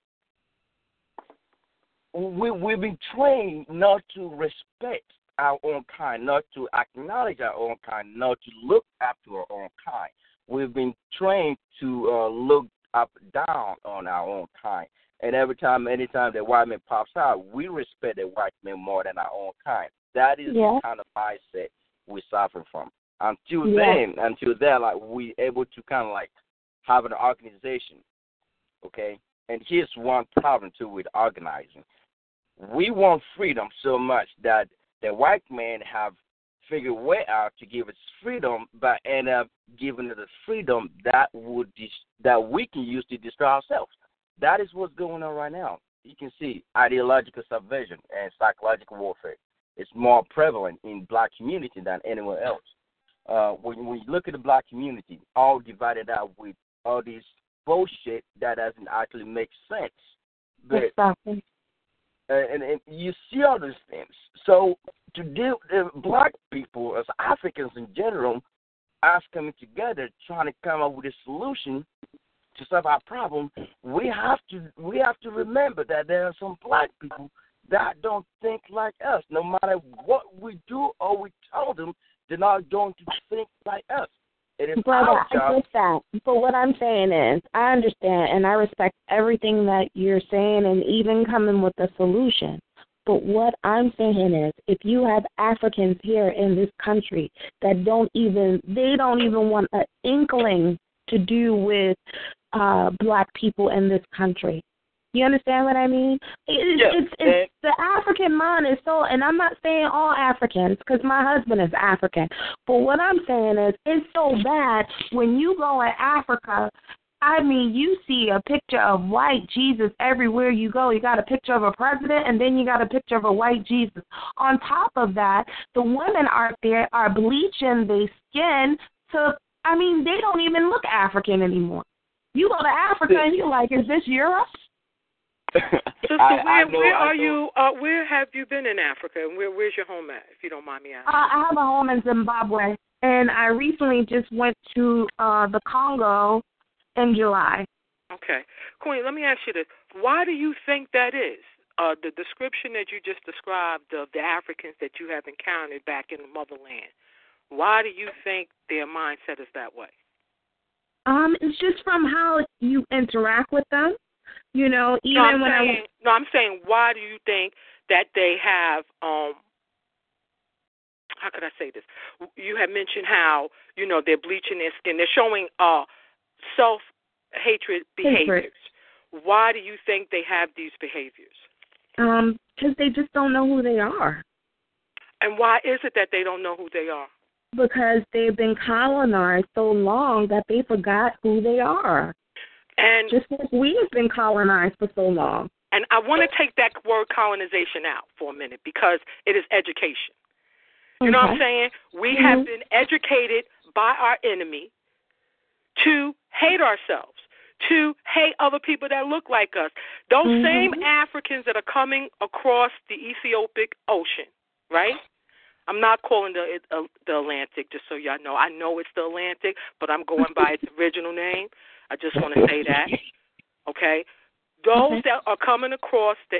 we've been trained not to respect our own kind, not to acknowledge our own kind, not to look after our own kind. We've been trained to look up down on our own kind. And anytime the white man pops out, we respect the white man more than our own kind. That is the kind of mindset we suffer from. Until then, like we able to kind of like have an organization, okay? And here's one problem too with organizing. We want freedom so much that the white man have figured a way out to give us freedom, but end up giving us the freedom that we can use to destroy ourselves. That is what's going on right now. You can see ideological subversion and psychological warfare. It's more prevalent in black community than anywhere else. When you look at the black community, all divided out with all this bullshit that doesn't actually make sense. But, exactly. And you see all these things. So to deal with black people as Africans in general, us coming together trying to come up with a solution to solve our problem, we have to remember that there are some black people that don't think like us. No matter what we do or we tell them, they're not going to think like us. It is our job. I get that. But what I'm saying is, I understand and I respect everything that you're saying and even coming with a solution. But what I'm saying is, if you have Africans here in this country that don't even want an inkling to do with black people in this country. You understand what I mean? It's the African mind is so, and I'm not saying all Africans because my husband is African, but what I'm saying is it's so bad when you go in Africa. I mean, you see a picture of white Jesus everywhere you go. You got a picture of a president, and then you got a picture of a white Jesus. On top of that, the women out there are bleaching their skin to, I mean, they don't even look African anymore. You go to Africa, and you're like, is this Europe? Sister, where are you? Where have you been in Africa, and where's your home at, if you don't mind me asking? I have a home in Zimbabwe, and I recently just went to the Congo in July. Okay. Queen, let me ask you this. Why do you think that is? The description that you just described of the Africans that you have encountered back in the motherland, why do you think their mindset is that way? It's just from how you interact with them. You know, I'm saying, why do you think that they have, how could I say this? You have mentioned how, they're bleaching their skin. They're showing self-hatred behaviors. Why do you think they have these behaviors? Because they just don't know who they are. And why is it that they don't know who they are? Because they've been colonized so long that they forgot who they are. And just like we have been colonized for so long. And I want to take that word colonization out for a minute because it is education. You know what I'm saying? We have been educated by our enemy to hate ourselves, to hate other people that look like us. Those same Africans that are coming across the Ethiopic Ocean, right? I'm not calling the Atlantic, just so y'all know. I know it's the Atlantic, but I'm going by its original name. I just want to say that, okay? Those that are coming across the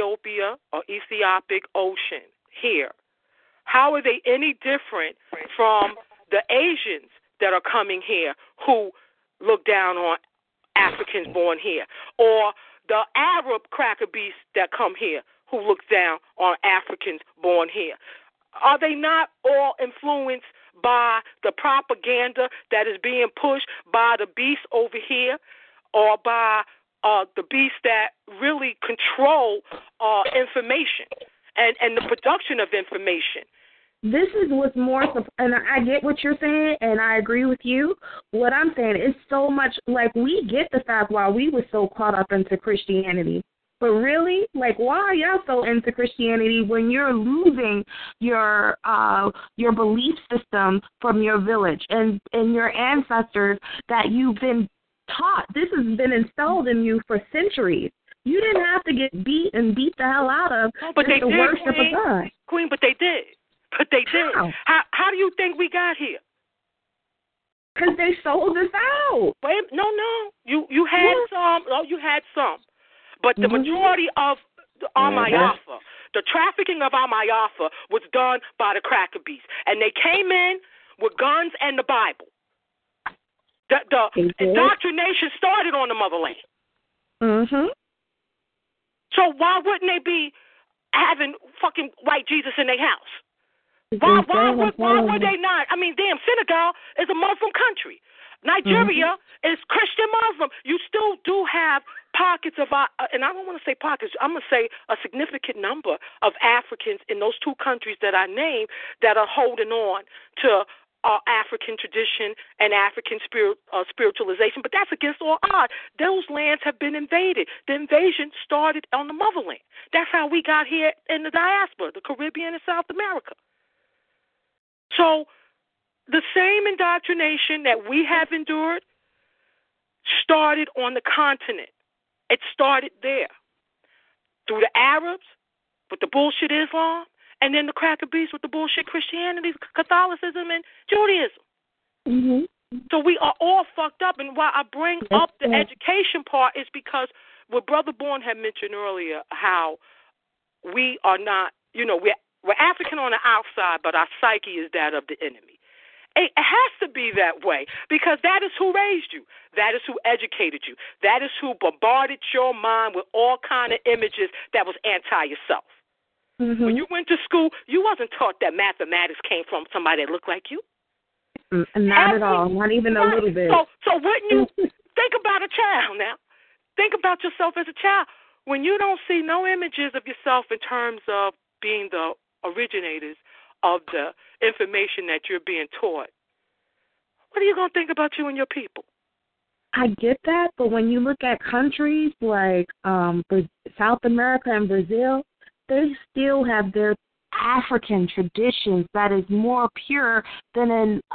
Ethiopic Ocean here, how are they any different from the Asians that are coming here who look down on Africans born here, or the Arab cracker beasts that come here who look down on Africans born here? Are they not all influenced by the propaganda that is being pushed by the beasts over here, or by the beasts that really control information and the production of information? This is what's more, and I get what you're saying, and I agree with you. What I'm saying is so much, like, we get the fact why we were so caught up into Christianity. But really, like, why are y'all so into Christianity when you're losing your belief system from your village and your ancestors that you've been taught? This has been installed in you for centuries. You didn't have to get beat the hell out of but they to did, worship Queen. a God. Queen, but they did. But they did. How do you think we got here? Because they sold us out. Wait, no. You had some. Oh, you had some. But the majority of our Mayafa, the trafficking of our Mayafa was done by the cracker beasts. And they came in with guns and the Bible. The indoctrination started on the motherland. Mm-hmm. So why wouldn't they be having fucking white Jesus in their house? Why would they not? I mean, damn, Senegal is a Muslim country. Nigeria is Christian Muslim. You still do have pockets of and I don't want to say pockets, I'm going to say a significant number of Africans in those two countries that I named that are holding on to African tradition and African spiritualization, but that's against all odds. Those lands have been invaded. The invasion started on the motherland. That's how we got here in the diaspora, the Caribbean and South America. So the same indoctrination that we have endured started on the continent. It started there through the Arabs with the bullshit Islam, and then the cracker beasts with the bullshit Christianity, Catholicism, and Judaism. Mm-hmm. So we are all fucked up. And why I bring up the education part is because what Brother Bourne had mentioned earlier, how we are not, we're African on the outside, but our psyche is that of the enemy. It has to be that way because that is who raised you. That is who educated you. That is who bombarded your mind with all kind of images that was anti-yourself. Mm-hmm. When you went to school, you wasn't taught that mathematics came from somebody that looked like you. Not at all. Not even a little bit. So wouldn't you think about a child now? Think about yourself as a child. When you don't see no images of yourself in terms of being the originators of the information that you're being taught, what are you going to think about you and your people? I get that, but when you look at countries like South America and Brazil, they still have their African traditions that is more pure than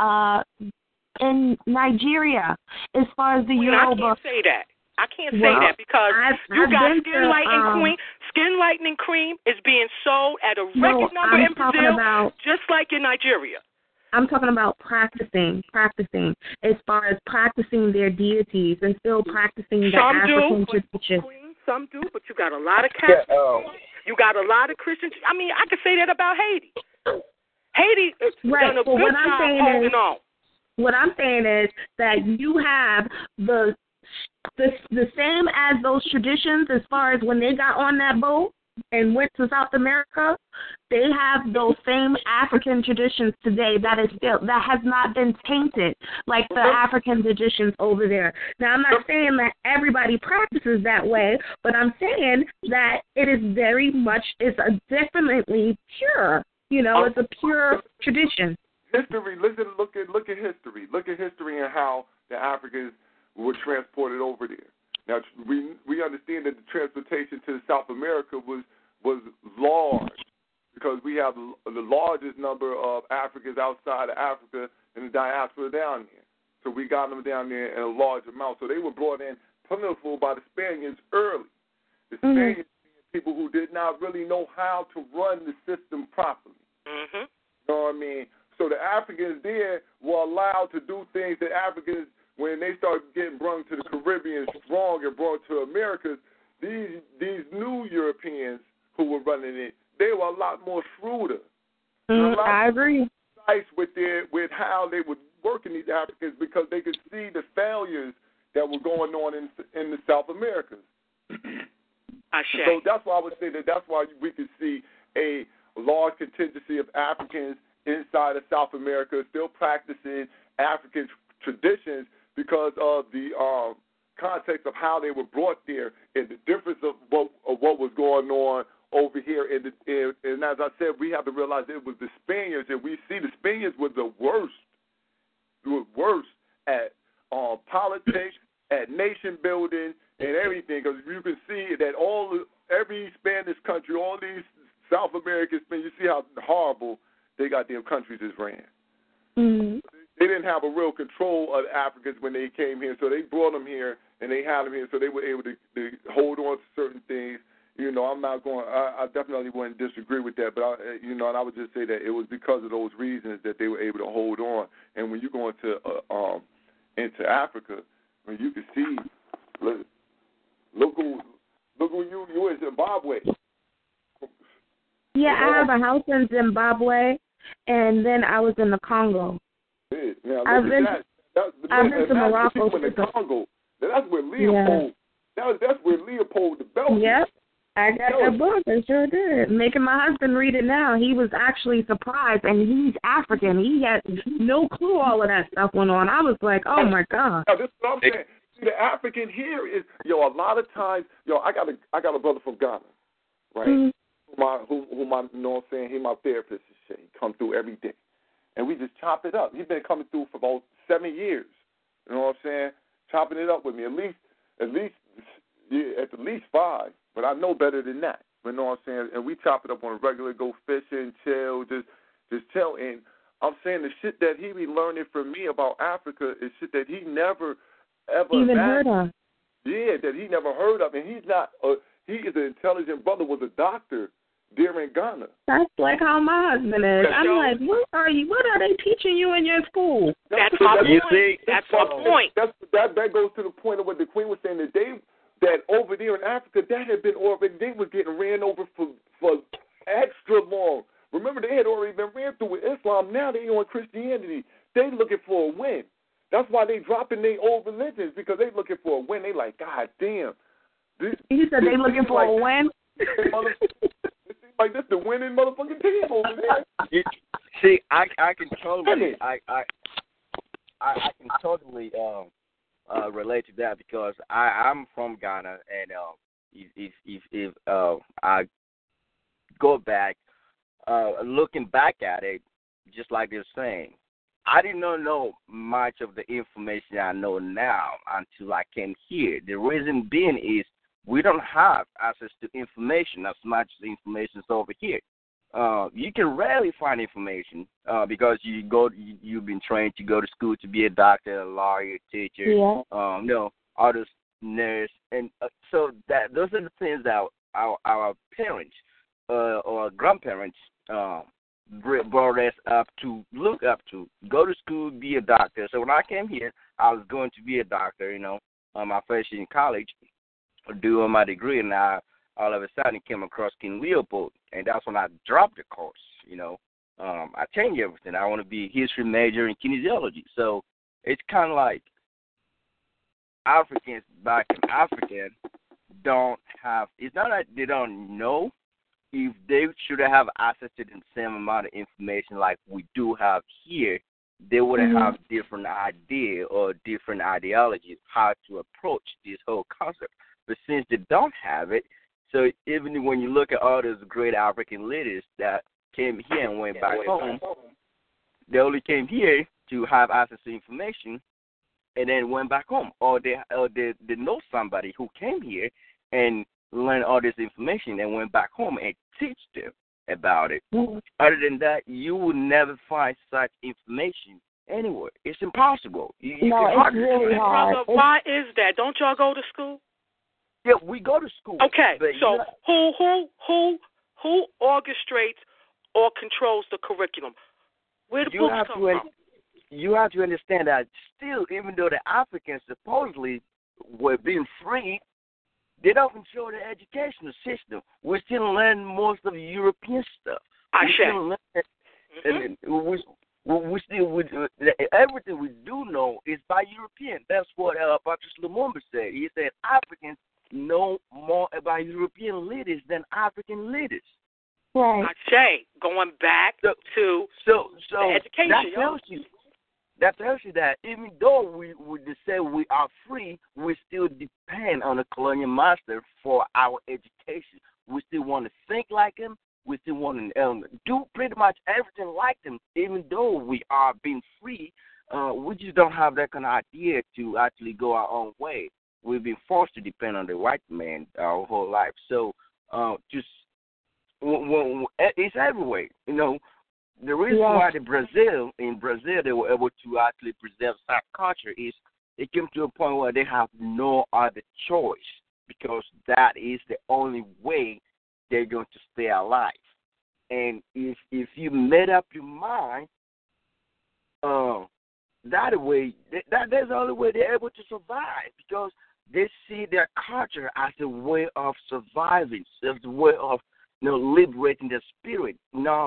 in Nigeria, as far as the Yoruba. I can't say that because you got skin lightening cream is being sold at a record number in Brazil, just like in Nigeria. I'm talking about practicing, as far as practicing their deities and still practicing the African tradition. Some do, but you got a lot of Catholics. You got a lot of Christians. I mean, I could say that about Haiti. Haiti has done a good job holding on. What I'm saying is that you have the same as those traditions as far as when they got on that boat and went to South America, they have those same African traditions today that has not been tainted like the African traditions over there. Now, I'm not saying that everybody practices that way, but I'm saying that it is very much, definitely pure. It's a pure tradition. History, look at history. Look at history and how the Africans were transported over there. Now, we understand that the transportation to South America was large because we have the largest number of Africans outside of Africa in the diaspora down there. So we got them down there in a large amount. So they were brought in plentiful by the Spaniards early. The Spaniards being people who did not really know how to run the system properly. Mm-hmm. You know what I mean? So the Africans there were allowed to do things that Africans, when they started getting brought to the Caribbean strong and brought to Americas, these new Europeans who were running it, they were a lot more shrewder. I agree. Precise with how they were working these Africans because they could see the failures that were going on in the South Americas. So that's why I would say that's why we could see a large contingency of Africans inside of South America still practicing African traditions because of the context of how they were brought there and the difference of what was going on over here. And as I said, we have to realize it was the Spaniards, and we see the Spaniards were the worst. They were worse at politics, at nation building, and everything. Because you can see that every Spanish country, all these South American Spaniards, you see how horrible they got their countries is ran. Mm-hmm. They didn't have a real control of the Africans when they came here, so they brought them here and they had them here, so they were able to hold on to certain things I'm not going. I definitely wouldn't disagree with that. But and I would just say that it was because of those reasons that they were able to hold on. And when you go into Africa, when you can see, look who you in Zimbabwe. Yeah, I have a house in Zimbabwe, and then I was in the Congo. Now, I've been to Morocco. In the Congo. That's where Leopold. Yeah. That's where Leopold the Belgian. Yep, I got that book. I sure did. Making my husband read it now. He was actually surprised, and he's African. He had no clue all of that stuff went on. I was like, oh my God. Now, this is what I'm saying. See, the African here is, a lot of times, I got a brother from Ghana, right? Mm-hmm. Whom I know what I'm saying, he my therapist and shit. He come through every day. And we just chop it up. He's been coming through for about 7 years. You know what I'm saying? Chopping it up with me. At least 5. But I know better than that. You know what I'm saying? And we chop it up on a regular, go fishing, chill, just chill. And I'm saying the shit that he be learning from me about Africa is shit that he never ever even heard of. Yeah, that he never heard of. And he's not he is an intelligent brother, was a doctor there in Ghana. That's like how my husband is. I'm like, what are they teaching you in your school? That's my point. That's my point. That goes to the point of what the Queen was saying, that over there in Africa, that had been already, they was getting ran over for extra long. Remember, they had already been ran through with Islam. Now they on Christianity. They looking for a win. That's why they dropping their old religions, because they looking for a win. They like, God damn. He said they looking for a win? It seems like this the winning motherfucking team over there. See, I can totally I can totally relate to that, because I'm from Ghana, and if I go back, looking back at it, just like they're saying, I did not know much of the information I know now until I came here. The reason being is we don't have access to information as much as information is over here. You can rarely find information because you've been trained to go to school to be a doctor, a lawyer, teacher, artist, nurse, and so those are the things that our parents or grandparents brought us up to look up to. Go to school, be a doctor. So when I came here, I was going to be a doctor. My first year in college, doing my degree, and I all of a sudden came across King Leopold, and that's when I dropped the course. I changed everything. I want to be a history major in kinesiology. So it's kind of like Africans back in Africa don't have. It's not that they don't know. If they should have access to the same amount of information like we do have here, they would have different idea or different ideologies how to approach this whole concept. But since they don't have it, so even when you look at all those great African leaders that came here and went back home, they only came here to have access to information and then went back home. Or they know somebody who came here and learned all this information and went back home and teach them about it. Other than that, you will never find such information anywhere. It's impossible. It's really hard. Brother, why is that? Don't y'all go to school? Yeah, we go to school. Okay, so who orchestrates or controls the curriculum? Where do books come from? You have to understand that still, even though the Africans supposedly were being freed, they don't control the educational system. We're still learning most of the European stuff. We still everything we do know is by European. That's what Patrice Lumumba said. He said Africans know more about European leaders than African leaders. Right. Going back to the education. That tells you that even though we would say we are free, we still depend on the colonial master for our education. We still want to think like him. We still want to do pretty much everything like them, even though we are being free. We just don't have that kind of idea to actually go our own way. We've been forced to depend on the white man our whole life. So it's everywhere, The reason why in Brazil, they were able to actually preserve such culture is it came to a point where they have no other choice because that is the only way they're going to stay alive. And if you made up your mind, that way, that's the only way they're able to survive, because they see their culture as a way of surviving, as a way of liberating their spirit, not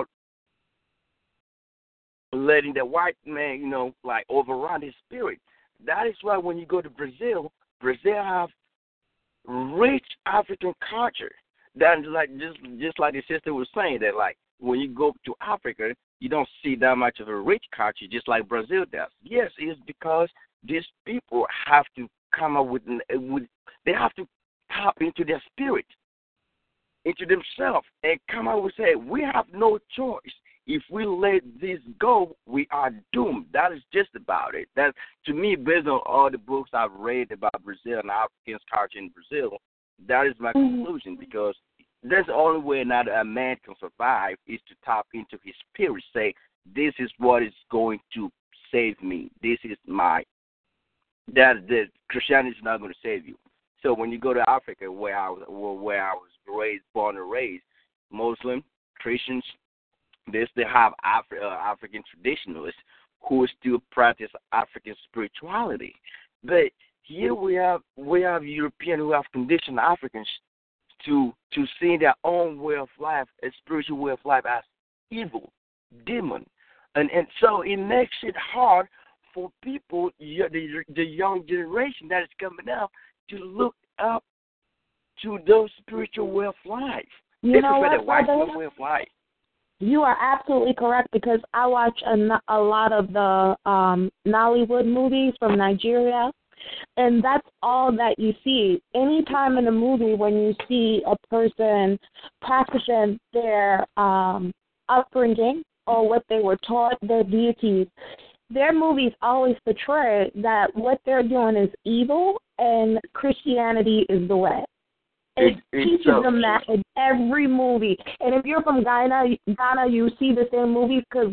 letting the white man, like overrun his spirit. That is why when you go to Brazil, Brazil have rich African culture. That's like just like the sister was saying, that like when you go to Africa, you don't see that much of a rich culture, just like Brazil does. Yes, it's because these people have to come up with they have to tap into their spirit, into themselves, and come out and say, we have no choice. If we let this go, we are doomed. That is just about it. That, to me, based on all the books I've read about Brazil and African culture in Brazil, that is my conclusion, because that's the only way now that a man can survive is to tap into his spirit, say, this is what is going to save me. This is that Christianity is not going to save you. So when you go to Africa, where I was born and raised, Muslim, Christians, they still have African traditionalists who still practice African spirituality. But here we have Europeans who have conditioned Africans to see their own way of life, a spiritual way of life, as evil, demon. And so it makes it hard for people, the young generation that is coming up, to look up to those spiritual way of life. You know what, the white way of life. You are absolutely correct, because I watch a lot of the Nollywood movies from Nigeria, and that's all that you see. Anytime in a movie when you see a person practicing their upbringing or what they were taught, their deities, their movies always portray that what they're doing is evil and Christianity is the way. It teaches them that in every movie. And if you're from Ghana, you see the same movies, because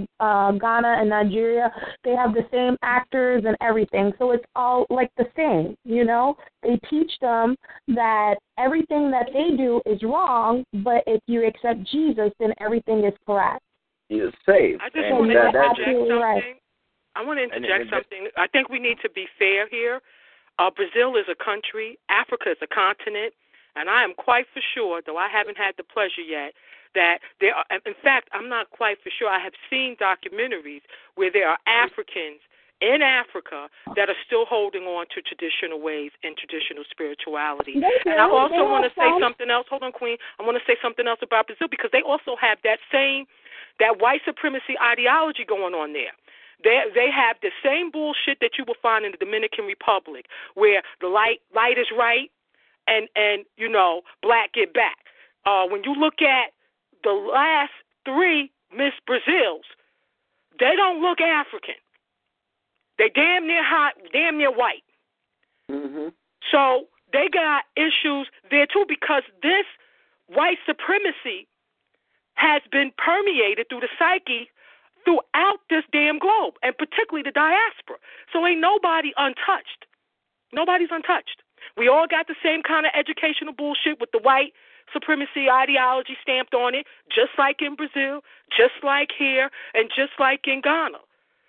Ghana and Nigeria, they have the same actors and everything. So it's all like the same, They teach them that everything that they do is wrong, but if you accept Jesus, then everything is correct. You're saved. I just want to interject something. Right. I want to interject something. I think we need to be fair here. Brazil is a country. Africa is a continent. And I am quite for sure, though I haven't had the pleasure yet, that there are, in fact, I'm not quite for sure. I have seen documentaries where there are Africans in Africa that are still holding on to traditional ways and traditional spirituality. And I also want to say something else. Hold on, Queen. I want to say something else about Brazil, because they also have that white supremacy ideology going on there. They have the same bullshit that you will find in the Dominican Republic, where the light is right, and black get back. When you look at the last 3 Miss Brazils, they don't look African. They damn near white. Mm-hmm. So they got issues there too, because this white supremacy has been permeated through the psyche throughout this damn globe, and particularly the diaspora. So ain't nobody untouched. Nobody's untouched. We all got the same kind of educational bullshit with the white supremacy ideology stamped on it, just like in Brazil, just like here, and just like in Ghana.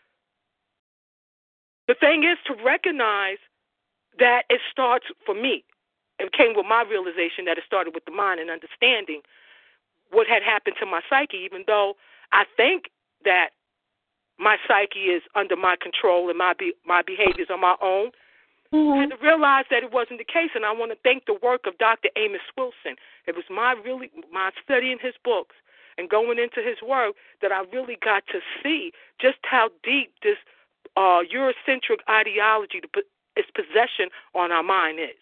The thing is to recognize that it starts, for me, it came with my realization that it started with the mind and understanding what had happened to my psyche, even though I think that my psyche is under my control and my behaviors are my own. I had to realize that it wasn't the case, and I want to thank the work of Dr. Amos Wilson. It was my studying his books and going into his work that I really got to see just how deep this Eurocentric ideology, its possession on our mind is.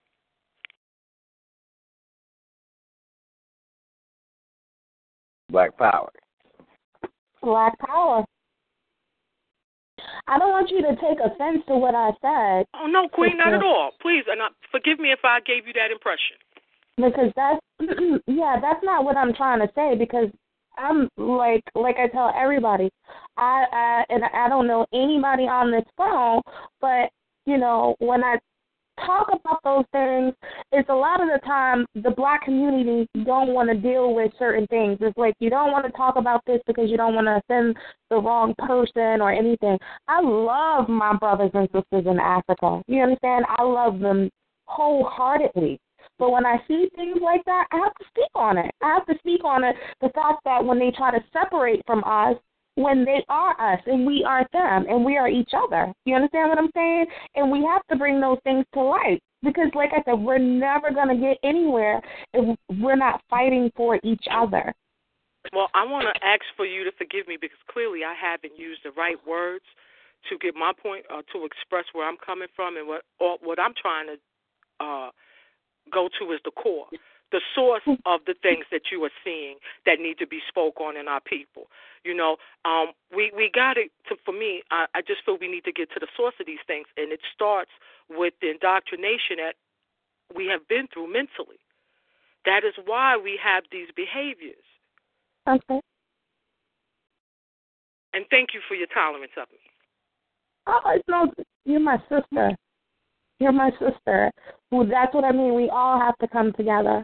Black power. Black power. I don't want you to take offense to what I said. Oh, no, Queen, not at all. Please, and forgive me if I gave you that impression. Because that's not what I'm trying to say, because I'm like I tell everybody, I don't know anybody on this phone, but, when I talk about those things, it's a lot of the time the Black community don't want to deal with certain things. It's like you don't want to talk about this because you don't want to offend the wrong person or anything. I love my brothers and sisters in Africa. You understand? I love them wholeheartedly. But when I see things like that, I have to speak on it. I have to speak on it, the fact that when they try to separate from us, when they are us and we are them and we are each other. You understand what I'm saying? And we have to bring those things to light because, like I said, we're never going to get anywhere if we're not fighting for each other. Well, I want to ask for you to forgive me because clearly I haven't used the right words to get my point or to express where I'm coming from and what I'm trying to go to is the core, the source of the things that you are seeing that need to be spoke on in our people. You know, we got it. For me, I just feel we need to get to the source of these things, and it starts with the indoctrination that we have been through mentally. That is why we have these behaviors. Okay. And thank you for your tolerance of me. Oh, no, you're my sister. You're my sister. Well, that's what I mean. We all have to come together.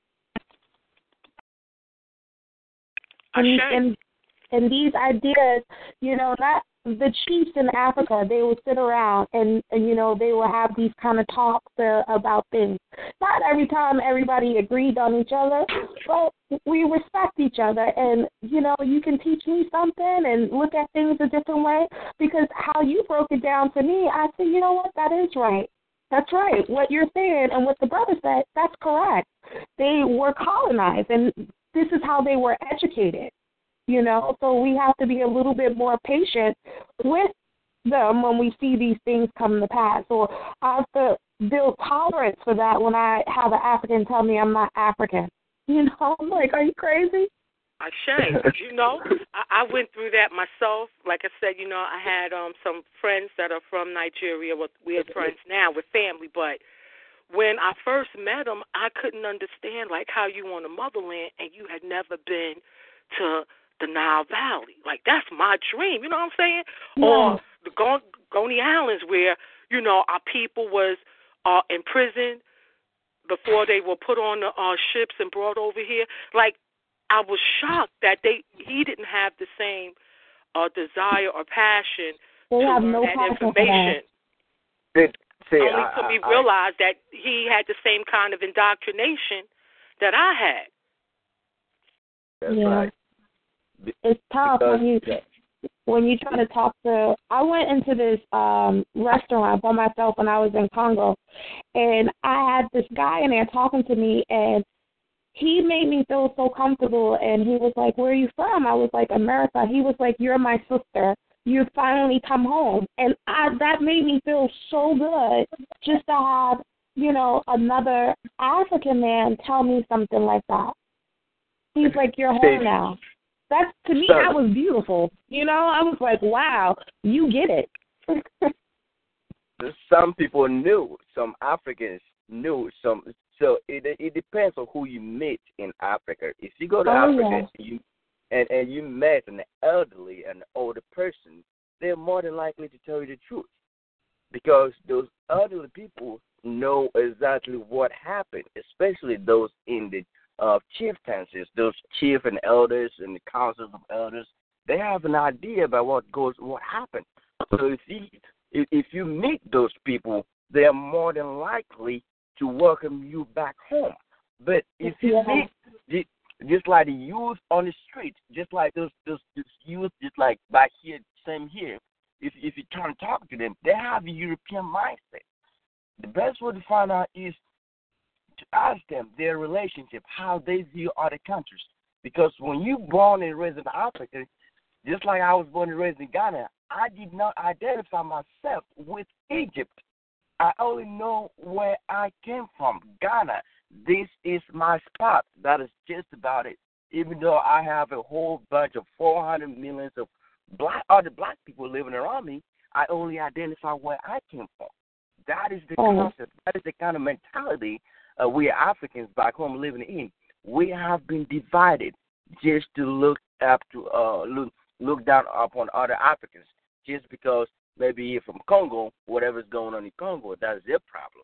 And these ideas, you know, not the chiefs in Africa, they would sit around and you know, they would have these kind of talks about things. Not every time everybody agreed on each other, but we respect each other. And, you know, you can teach me something and look at things a different way because how you broke it down to me, I said, you know what, that is right. That's right. What you're saying and what the brother said, that's correct. They were colonized, and this is how they were educated, you know. So we have to be a little bit more patient with them when we see these things come to pass. Or I have to build tolerance for that when I have an African tell me I'm not African. You know, I'm like, are you crazy? Ashamed. You know, I went through that myself. Like I said, you know, I had some friends that are from Nigeria. Well, we're friends now with family, but when I first met them, I couldn't understand, like, how you on the motherland and you had never been to the Nile Valley. Like, that's my dream, you know what I'm saying? Yeah. Or the Coney Islands where, you know, our people was in prison before they were put on the ships and brought over here. Like, I was shocked that he didn't have the same desire or passion to learn that information. Only to me realize that he had the same kind of indoctrination that I had. That's right. It's tough when you try to talk to. I went into this restaurant by myself when I was in Congo, and I had this guy in there talking to me, and he made me feel so comfortable. And he was like, "Where are you from?" I was like, "America." He was like, "You're my sister. You finally come home." And that made me feel so good just to have, you know, another African man tell me something like that. He's like, "You're home now." That's, to me, that was beautiful. You know, I was like, wow, you get it. Some people knew, some Africans knew, so it depends on who you meet in Africa. If you go to Africa and you met an elderly, an older person, they're more than likely to tell you the truth because those elderly people know exactly what happened, especially those in the chieftaincies, those chief and elders and the councils of elders. They have an idea about what happened. So if you meet those people, they are more than likely to welcome you back home. But if you meet just like the youth on the street, just like those youth, just like back here, same here. If you try to talk to them, they have a European mindset. The best way to find out is to ask them their relationship, how they view other countries. Because when you born and raised in Africa, just like I was born and raised in Ghana, I did not identify myself with Egypt. I only know where I came from, Ghana. This is my spot. That is just about it. Even though I have a whole bunch of 400 million of other black people living around me, I only identify where I came from. That is the concept. That is the kind of mentality we Africans back home living in. We have been divided just to look down upon other Africans, just because maybe you're from Congo, whatever's going on in Congo, that's their problem.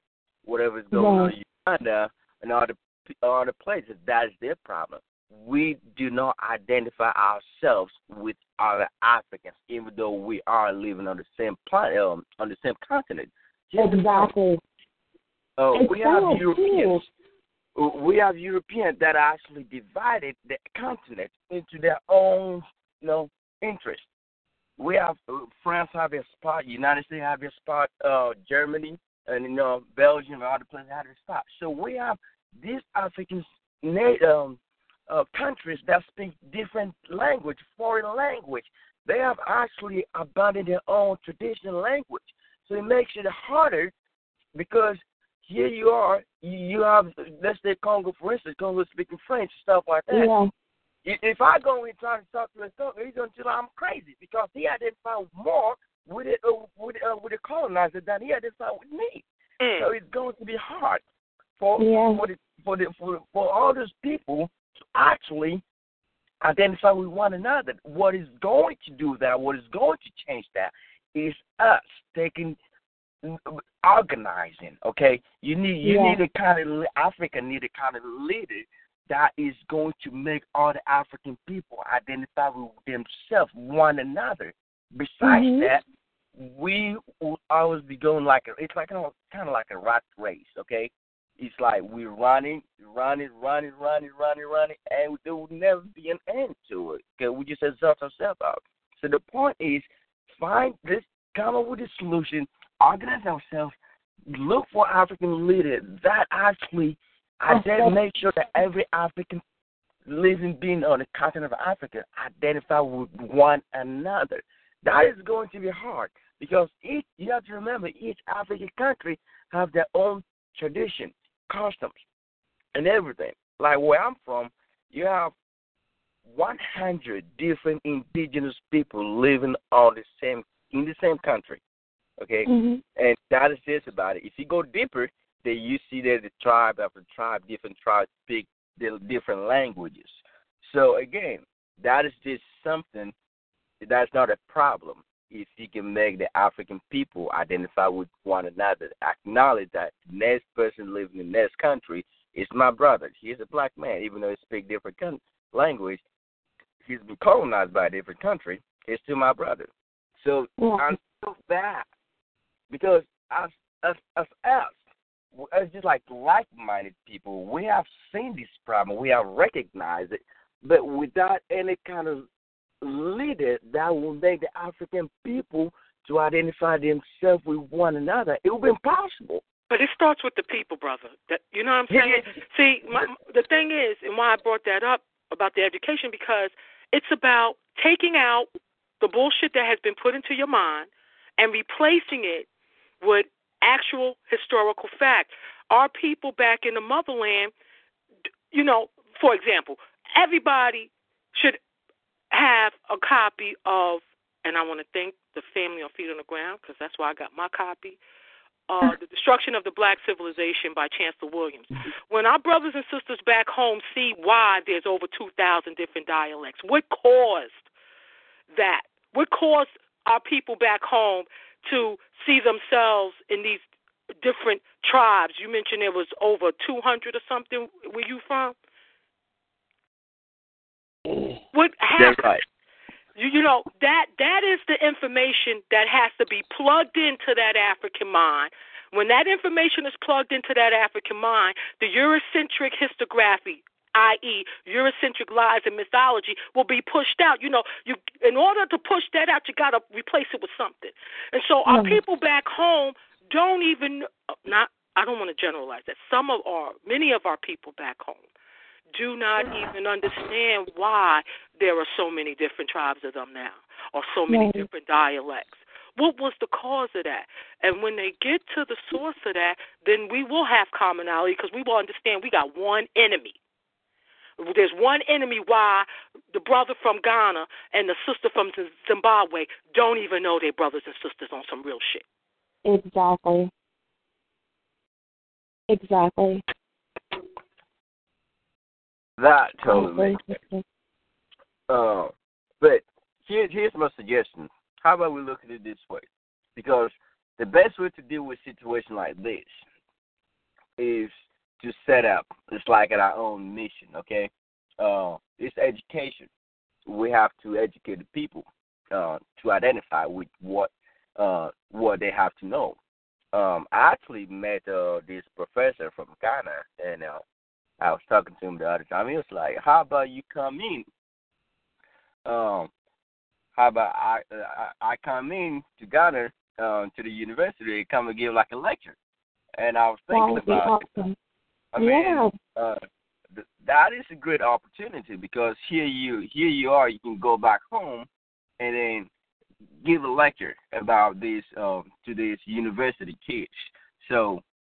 whatever's going on in Uganda and other places. That's their problem. We do not identify ourselves with other Africans, even though we are living on the same planet, on the same continent. Exactly. We have Europeans. We have Europeans that actually divided the continent into their own, interests. We have France have a spot, United States have a spot, Germany, and Belgium and other places have a spot. So we have these African countries that speak different language, foreign language. They have actually abandoned their own traditional language. So it makes it harder because here you are, you have, let's say Congo, for instance, Congo speaking French, stuff like that. Yeah. If I go and try to talk to a Congo, he's going to tell I'm crazy because he identified more with the colonizer than he identified with me. So it's going to be hard for all those people to actually identify with one another. What is going to do that, what is going to change that, is us organizing. Okay, you need a kind of Africa need a kind of leader that is going to make all the African people identify with themselves, one another. Besides that, we will always be going it's like kind of like a rat race. Okay, it's like we're running, and there will never be an end to it. Okay, we just exhaust ourselves out. So the point is, come up with a solution, organize ourselves, look for African leaders that actually make sure that every African living being on the continent of Africa identify with one another. That is going to be hard because you have to remember each African country have their own tradition, customs, and everything. Like where I'm from, you have 100 different indigenous people living in the same country. Okay, and that is just about it. If you go deeper, then you see that the tribe after tribe, different tribes speak the different languages. So again, that is just something that's not a problem. If you can make the African people identify with one another, acknowledge that the next person living in the next country is my brother. He's a black man, even though he speaks different language. He's been colonized by a different country. He's still my brother. So I'm so bad because as just like like-minded people, we have seen this problem, we have recognized it, but without any kind of leader that will make the African people to identify themselves with one another, it will be impossible. But it starts with the people, brother. You know what I'm saying? See, the thing is, and why I brought that up about the education, because it's about taking out the bullshit that has been put into your mind and replacing it with actual historical fact. Our people back in the motherland, for example, everybody should have a copy of, and I want to thank the family on Feet on the Ground because that's why I got my copy, The Destruction of the Black Civilization by Chancellor Williams. When our brothers and sisters back home see why there's over 2,000 different dialects, what caused that? What caused our people back home to see themselves in these different tribes? You mentioned there was over 200 or something. Where you from? What happened? That's right. That is the information that has to be plugged into that African mind. When that information is plugged into that African mind, the Eurocentric historiography, i.e., Eurocentric lies and mythology, will be pushed out. In order to push that out, you got to replace it with something. And so our people back home don't even, I don't want to generalize that. Many of our people back home do not even understand why there are so many different tribes of them now, or so many different dialects. What was the cause of that? And when they get to the source of that, then we will have commonality because we will understand we got one enemy. There's one enemy why the brother from Ghana and the sister from Zimbabwe don't even know they're brothers and sisters on some real shit. Exactly. That totally makes sense. But here's my suggestion. How about we look at it this way? Because the best way to deal with a situation like this is to set up. It's like our own mission, okay? It's education. We have to educate the people to identify with what they have to know. I actually met this professor from Ghana, and I was talking to him the other time. He was like, "How about you come in? How about I come in to Ghana to the university and come and give like a lecture?" And I was thinking about it. I mean, that is a great opportunity because here you are. You can go back home and then give a lecture about this to these university kids. So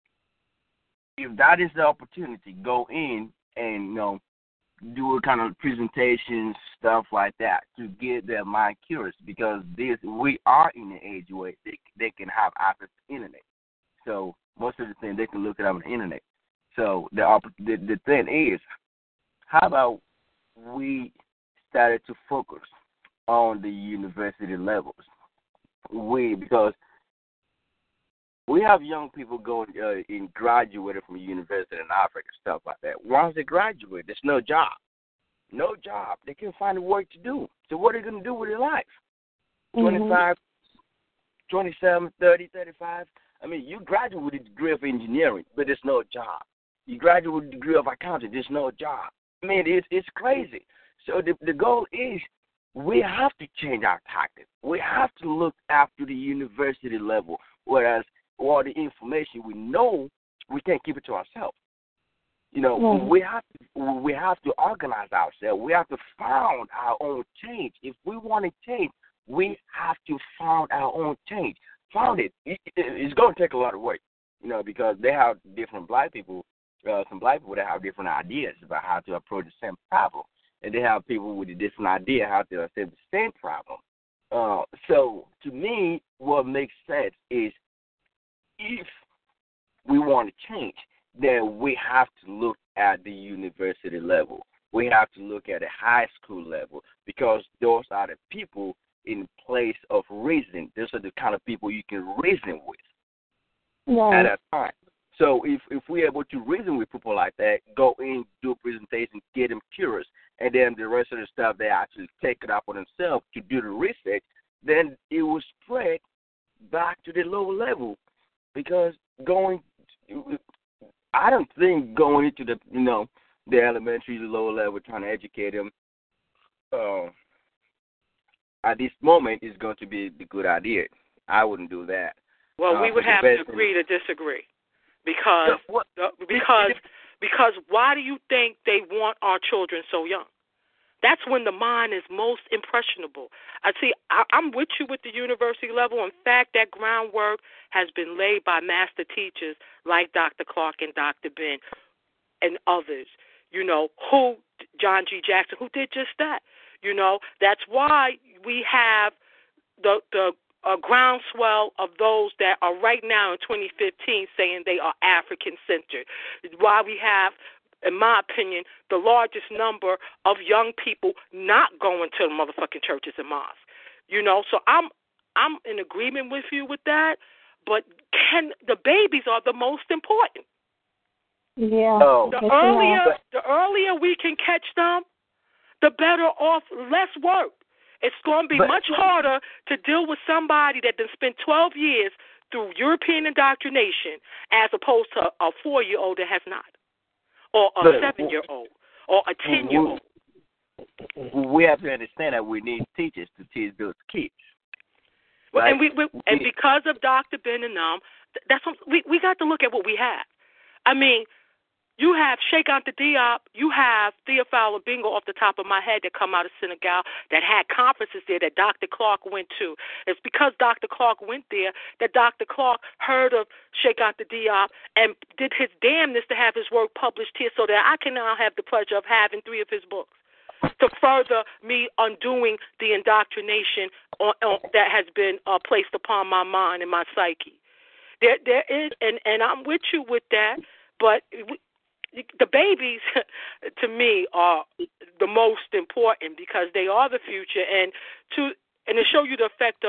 if that is the opportunity, go in and do a kind of presentations, stuff like that, to get their mind curious, because we are in an age where they can have access to the internet. So most of the things they can look it up on the internet. So the thing is, how about we started to focus on the university levels? Because we have young people going in graduated from university in Africa, stuff like that. Once they graduate, there's no job. No job. They can't find work to do. So what are they going to do with their life? 25, 27, 30, 35. I mean, you graduate with a degree of engineering, but there's no job. You graduate with a degree of accounting, there's no job. I mean, it's crazy. So the goal is we have to change our tactics. We have to look after the university level, whereas all the information we know, we can't keep it to ourselves. We have to organize ourselves. We have to find our own change. If we want to change, we have to find our own change. Found it. It's going to take a lot of work, because they have different black people, some black people that have different ideas about how to approach the same problem. And they have people with a different idea how to solve the same problem. So to me, what makes sense is if we want to change, then we have to look at the university level. We have to look at the high school level, because those are the people in place of reason. Those are the kind of people you can reason with at that time. So if we're able to reason with people like that, go in, do a presentation, get them curious, and then the rest of the stuff, they actually take it up on themselves to do the research, then it will spread back to the lower level. Because I don't think going into the elementary, the lower level, trying to educate them at this moment is going to be the good idea. I wouldn't do that. Well, we would have to agree to disagree, because why do you think they want our children so young? That's when the mind is most impressionable. I'm with you with the university level. In fact, that groundwork has been laid by master teachers like Dr. Clark and Dr. Ben and others, who, John G. Jackson, who did just that. That's why we have the groundswell of those that are right now in 2015 saying they are African-centered. Why we have, in my opinion, the largest number of young people not going to the motherfucking churches and mosques. So I'm in agreement with you with that, but the babies are the most important. Yeah. The earlier we can catch them, the better off, less work. It's going to be much harder to deal with somebody that done spent 12 years through European indoctrination as opposed to a 4-year-old that has not, or a 7-year-old, or a 10-year-old. We have to understand that we need teachers to teach those kids. Right? And because of Dr. Ben and them, we got to look at what we have. I mean, you have Sheikh Anta Diop, you have Theophile Bingo off the top of my head that come out of Senegal that had conferences there that Dr. Clark went to. It's because Dr. Clark went there that Dr. Clark heard of Sheikh Anta Diop and did his damnness to have his work published here so that I can now have the pleasure of having 3 of his books to further me undoing the indoctrination that has been placed upon my mind and my psyche. There is, and I'm with you with that, but the babies, to me, are the most important because they are the future. And to show you the effect of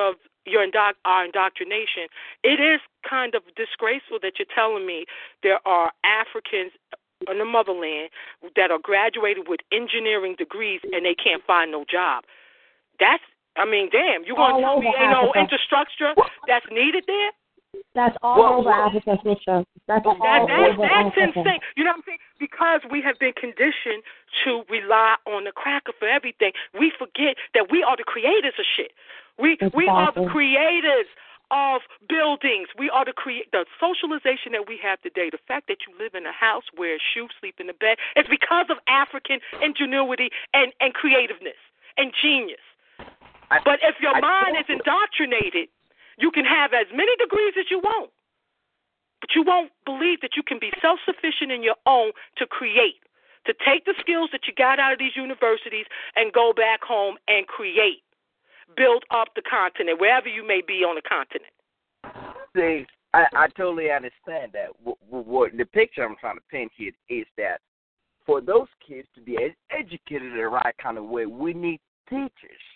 our indoctrination, it is kind of disgraceful that you're telling me there are Africans in the motherland that are graduated with engineering degrees and they can't find no job. Damn, you want to tell me ain't no infrastructure that's needed there? That's all over Africa, sister. That's insane. You know what I'm saying? Because we have been conditioned to rely on the cracker for everything, we forget that we are the creators of shit. We are the creators of buildings. We are the socialization that we have today. The fact that you live in a house, wear a shoe, sleep in the bed, it's because of African ingenuity and creativeness and genius. But if your mind is indoctrinated, you can have as many degrees as you want, but you won't believe that you can be self-sufficient in your own to create, to take the skills that you got out of these universities and go back home and create, build up the continent, wherever you may be on the continent. See, I totally understand that. What the picture I'm trying to paint here is that for those kids to be educated the right kind of way, we need teachers.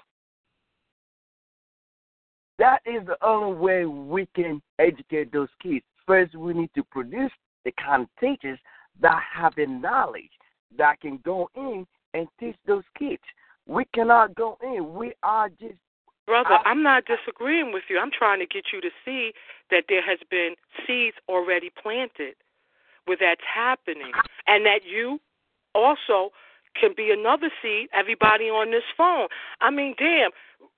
That is the only way we can educate those kids. First, we need to produce the kind of teachers that have the knowledge that can go in and teach those kids. We cannot go in. We are just... Brother, I'm not disagreeing with you. I'm trying to get you to see that there has been seeds already planted where that's happening, and that you also can be another seed, everybody on this phone. Damn...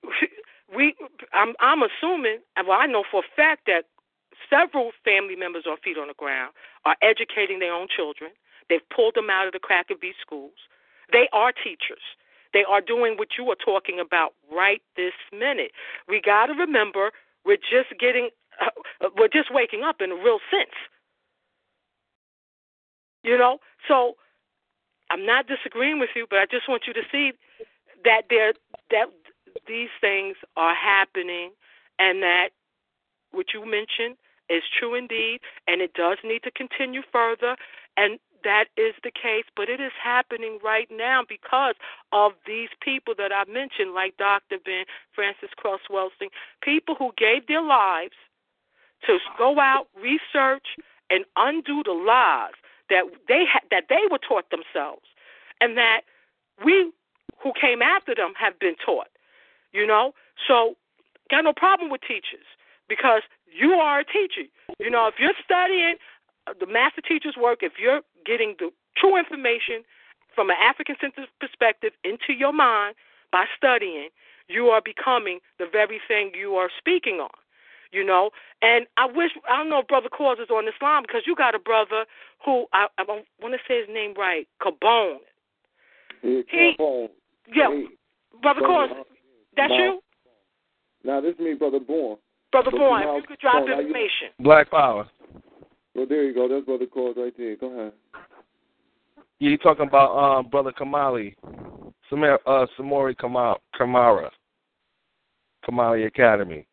I'm assuming, well, I know for a fact that several family members on Feet on the Ground are educating their own children. They've pulled them out of the crack of these schools. They are teachers. They are doing what you are talking about right this minute. We got to remember we're just waking up in a real sense. You know? So I'm not disagreeing with you, but I just want you to see that these things are happening, and that what you mentioned is true indeed, and it does need to continue further, and that is the case, but it is happening right now because of these people that I mentioned, like Dr. Ben, Francis Cress Welsing, people who gave their lives to go out, research, and undo the lies that they were taught themselves, and that we who came after them have been taught. You know, so got no problem with teachers because you are a teacher. You know, if you're studying the master teacher's work, if you're getting the true information from an African-centered perspective into your mind by studying, you are becoming the very thing you are speaking on. You know, and I don't know if Brother Cause is on this line because you got a brother who, I want to say his name right, Cabone. Cabone. Yeah, Brother Cause. That's you? No, this is me, Brother Bourne. Brother Bourne, if you could drop information. Black Power. Well, there you go. That's Brother Cause right there. Go ahead. Yeah, you talking about Brother Kamali, Samori Kamara, Kamali Academy.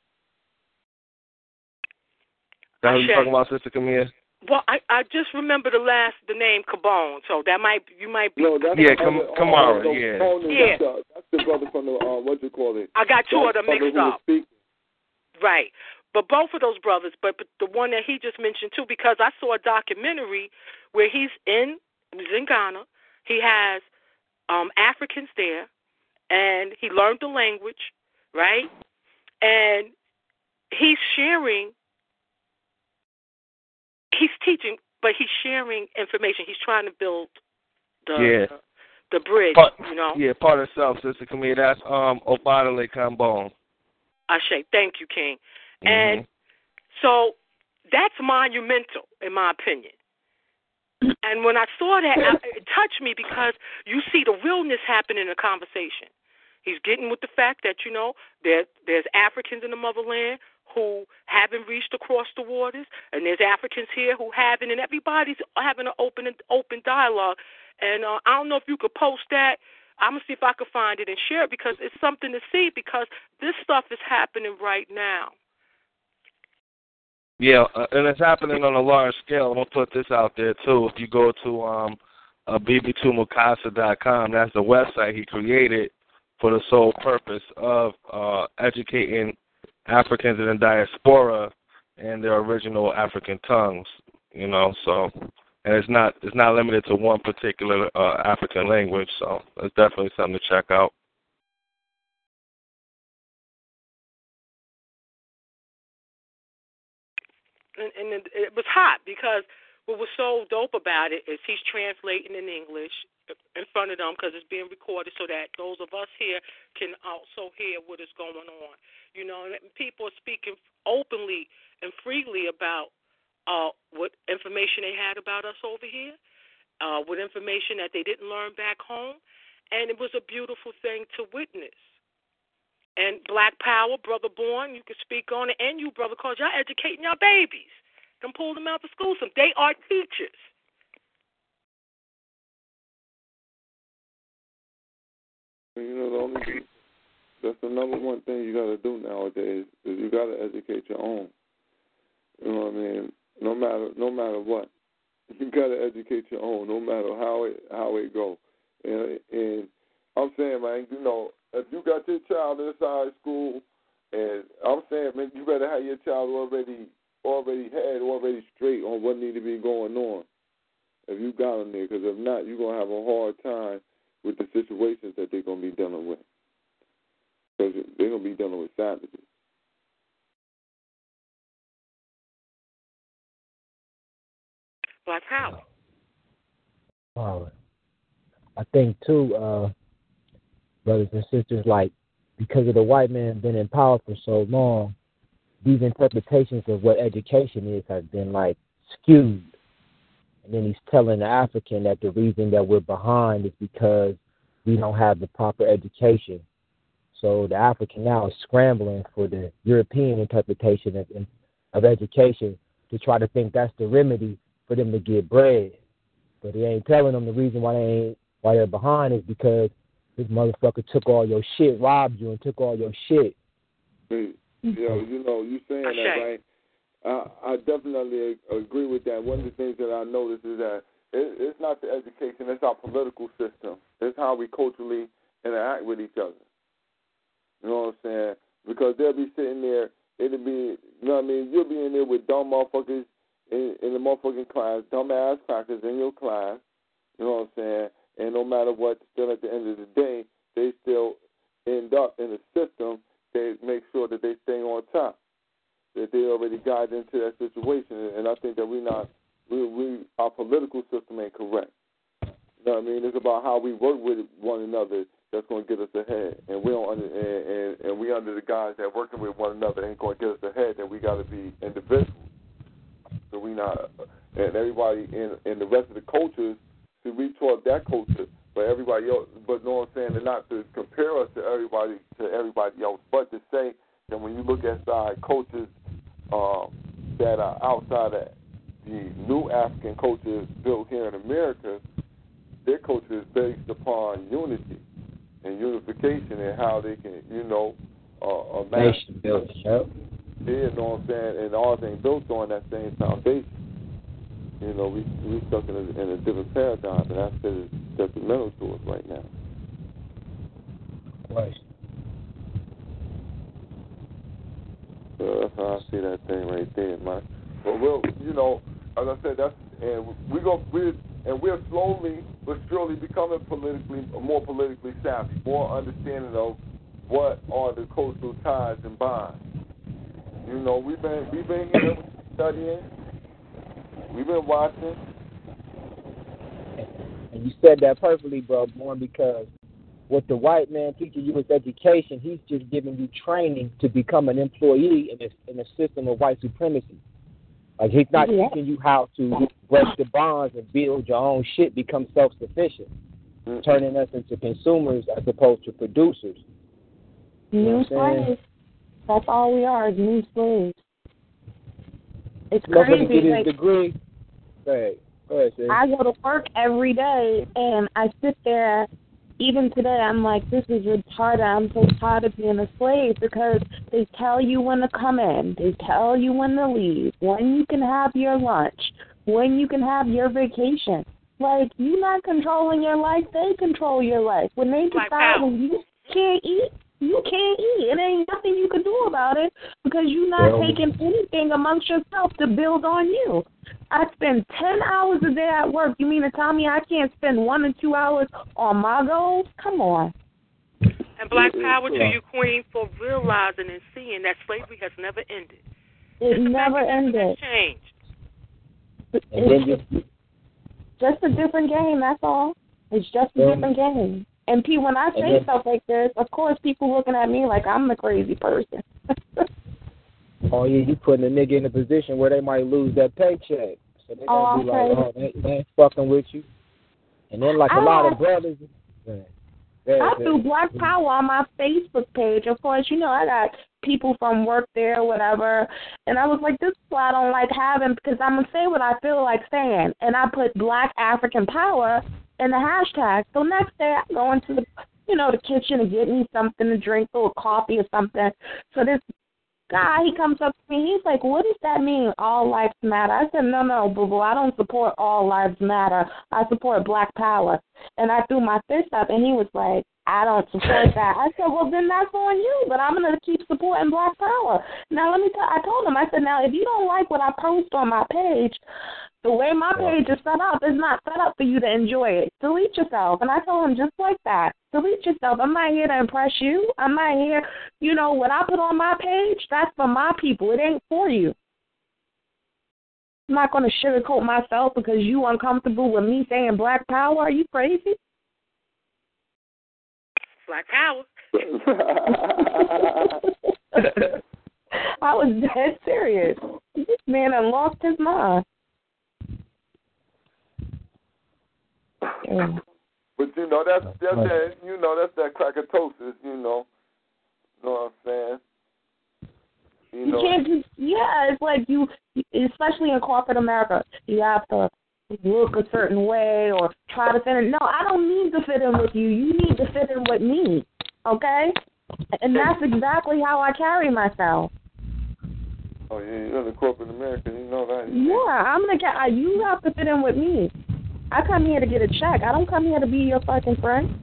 That's who you talking about, Sister Camille? Well, I just remember the name Cabone, so you might be. No, that's Kamara, yeah. That's the brother from the what you call it. I got two of them mixed up. Right, but both of those brothers, but the one that he just mentioned too, because I saw a documentary where he's in Ghana. He has Africans there, and he learned the language, right, and he's sharing. He's teaching, but he's sharing information. He's trying to build the bridge, you know. Yeah, part of self, Sister Camille. That's Obadale Kambone. Ashe, thank you, King. Mm-hmm. And so that's monumental, in my opinion. And when I saw that, it touched me because you see the realness happen in the conversation. He's getting with the fact that, you know, there's Africans in the motherland who haven't reached across the waters, and there's Africans here who haven't, and everybody's having an open dialogue. And I don't know if you could post that. I'm going to see if I could find it and share it because it's something to see because this stuff is happening right now. Yeah, and it's happening on a large scale. I'm going to put this out there, too. If you go to bb2mukasa.com, that's the website he created for the sole purpose of educating Africans in the diaspora and their original African tongues, so, and it's not limited to one particular African language, so it's definitely something to check out. And it was hot because what was so dope about it is he's translating in English in front of them because it's being recorded so that those of us here can also hear what is going on. And people are speaking openly and freely about what information they had about us over here, what information that they didn't learn back home, and it was a beautiful thing to witness. And Black Power, Brother Born, you can speak on it, and you, Brother, because y'all educating y'all babies. Don't pull them out of school. They are teachers. That's the number one thing you got to do nowadays is you got to educate your own. You know what I mean? No matter what, you got to educate your own, no matter how it go. And I'm saying, man, if you got your child inside school, and I'm saying, man, you better have your child already straight on what need to be going on. If you got them there, because if not, you're gonna have a hard time with the situations that they're gonna be dealing with. Because they're gonna be dealing with savages. Black Power. I think too, brothers and sisters, like because of the white man been in power for so long, these interpretations of what education is have been like skewed. And then he's telling the African that the reason that we're behind is because we don't have the proper education. So the African now is scrambling for the European interpretation of education to try to think that's the remedy for them to get bread. But he ain't telling them the reason why they're behind is because this motherfucker took all your shit, robbed you, and took all your shit. You saying that, right? I definitely agree with that. One of the things that I noticed is that it's not the education, it's our political system. It's how we culturally interact with each other. You know what I'm saying? Because they'll be sitting there, it'll be, you'll be in there with dumb motherfuckers in the motherfucking class, dumb-ass crackers in your class, you know what I'm saying? And no matter what, still at the end of the day, they still end up in the system. They make sure that they stay on top, that they already got into that situation. And I think that our political system ain't correct. You know what I mean? It's about how we work with one another that's going to get us ahead. And we don't and we under the guys that working with one another ain't going to get us ahead. Then we got to be individuals. So we not, and everybody in the rest of the cultures. See, we taught that culture, but everybody else. But know what I'm saying? And not to compare us to everybody else, but to say that when you look at side cultures that are outside of the new African culture built here in America, their culture is based upon unity and unification and how they can, nation built. Yep. Yeah, you know what I'm saying? And all things built on that same foundation. We stuck in a different paradigm, and that's detrimental to us right now. Right. So that's how I see that thing right there, man. But as I said, we're slowly but surely becoming more politically savvy, more understanding of what are the cultural ties and bonds. We've been here studying. We've been watching. And you said that perfectly, bro, Born, because what the white man teaches you is education. He's just giving you training to become an employee in a system of white supremacy. Like, he's not teaching you how to break the bonds and build your own shit, become self-sufficient, turning us into consumers as opposed to producers. New slaves. That's all we are, is new slaves. It's crazy. Get his degree. Go ahead, sis. I go to work every day, and I sit there. Even today, I'm like, this is retarded. I'm so tired of being a slave because they tell you when to come in. They tell you when to leave, when you can have your lunch, when you can have your vacation. Like, you're not controlling your life. They control your life. When they decide when you can't eat, you can't eat. It ain't nothing you can do about it because you're not taking anything amongst yourself to build on you. I spend 10 hours a day at work. You mean to tell me I can't spend 1 or 2 hours on my goals? Come on. And black power to you, Queen, for realizing and seeing that slavery has never ended. It never ended. Changed. It's just a different game, that's all. It's just a different game. And when I say stuff like this, of course people looking at me like I'm the crazy person. Oh, yeah, you putting a nigga in a position where they might lose that paycheck. So they gonna be like, oh, they ain't fucking with you. And then, like, a lot of brothers... I do Black Power on my Facebook page. Of course, you know, I got people from work there or whatever. And I was like, this is why I don't like having, because I'm going to say what I feel like saying. And I put Black African Power in the hashtag. So next day I go into the, the kitchen and get me something to drink or coffee or something. So this guy, he comes up to me, he's like, what does that mean, all lives matter? I said, no, boo-boo, I don't support all lives matter. I support Black Power. And I threw my fist up, and he was like, I don't support that. I said, well, then that's on you, but I'm going to keep supporting Black Power. Now, I told him, I said, now, if you don't like what I post on my page, the way my page is set up is not set up for you to enjoy it. Delete yourself. And I told him just like that. Delete yourself. I'm not here to impress you. I'm not here. What I put on my page, that's for my people. It ain't for you. I'm not going to sugarcoat myself because you uncomfortable with me saying Black Power. Are you crazy? Black Power. I was dead serious. This man done lost his mind. Yeah. But that's that crackatosis, you know what I'm saying? You can't just, it's like you, especially in corporate America, you have to look a certain way or try to fit in. No, I don't need to fit in with you. You need to fit in with me, okay? And that's exactly how I carry myself. Oh, yeah, you're the corporate American, you know that. Yeah, you have to fit in with me. I come here to get a check. I don't come here to be your fucking friend.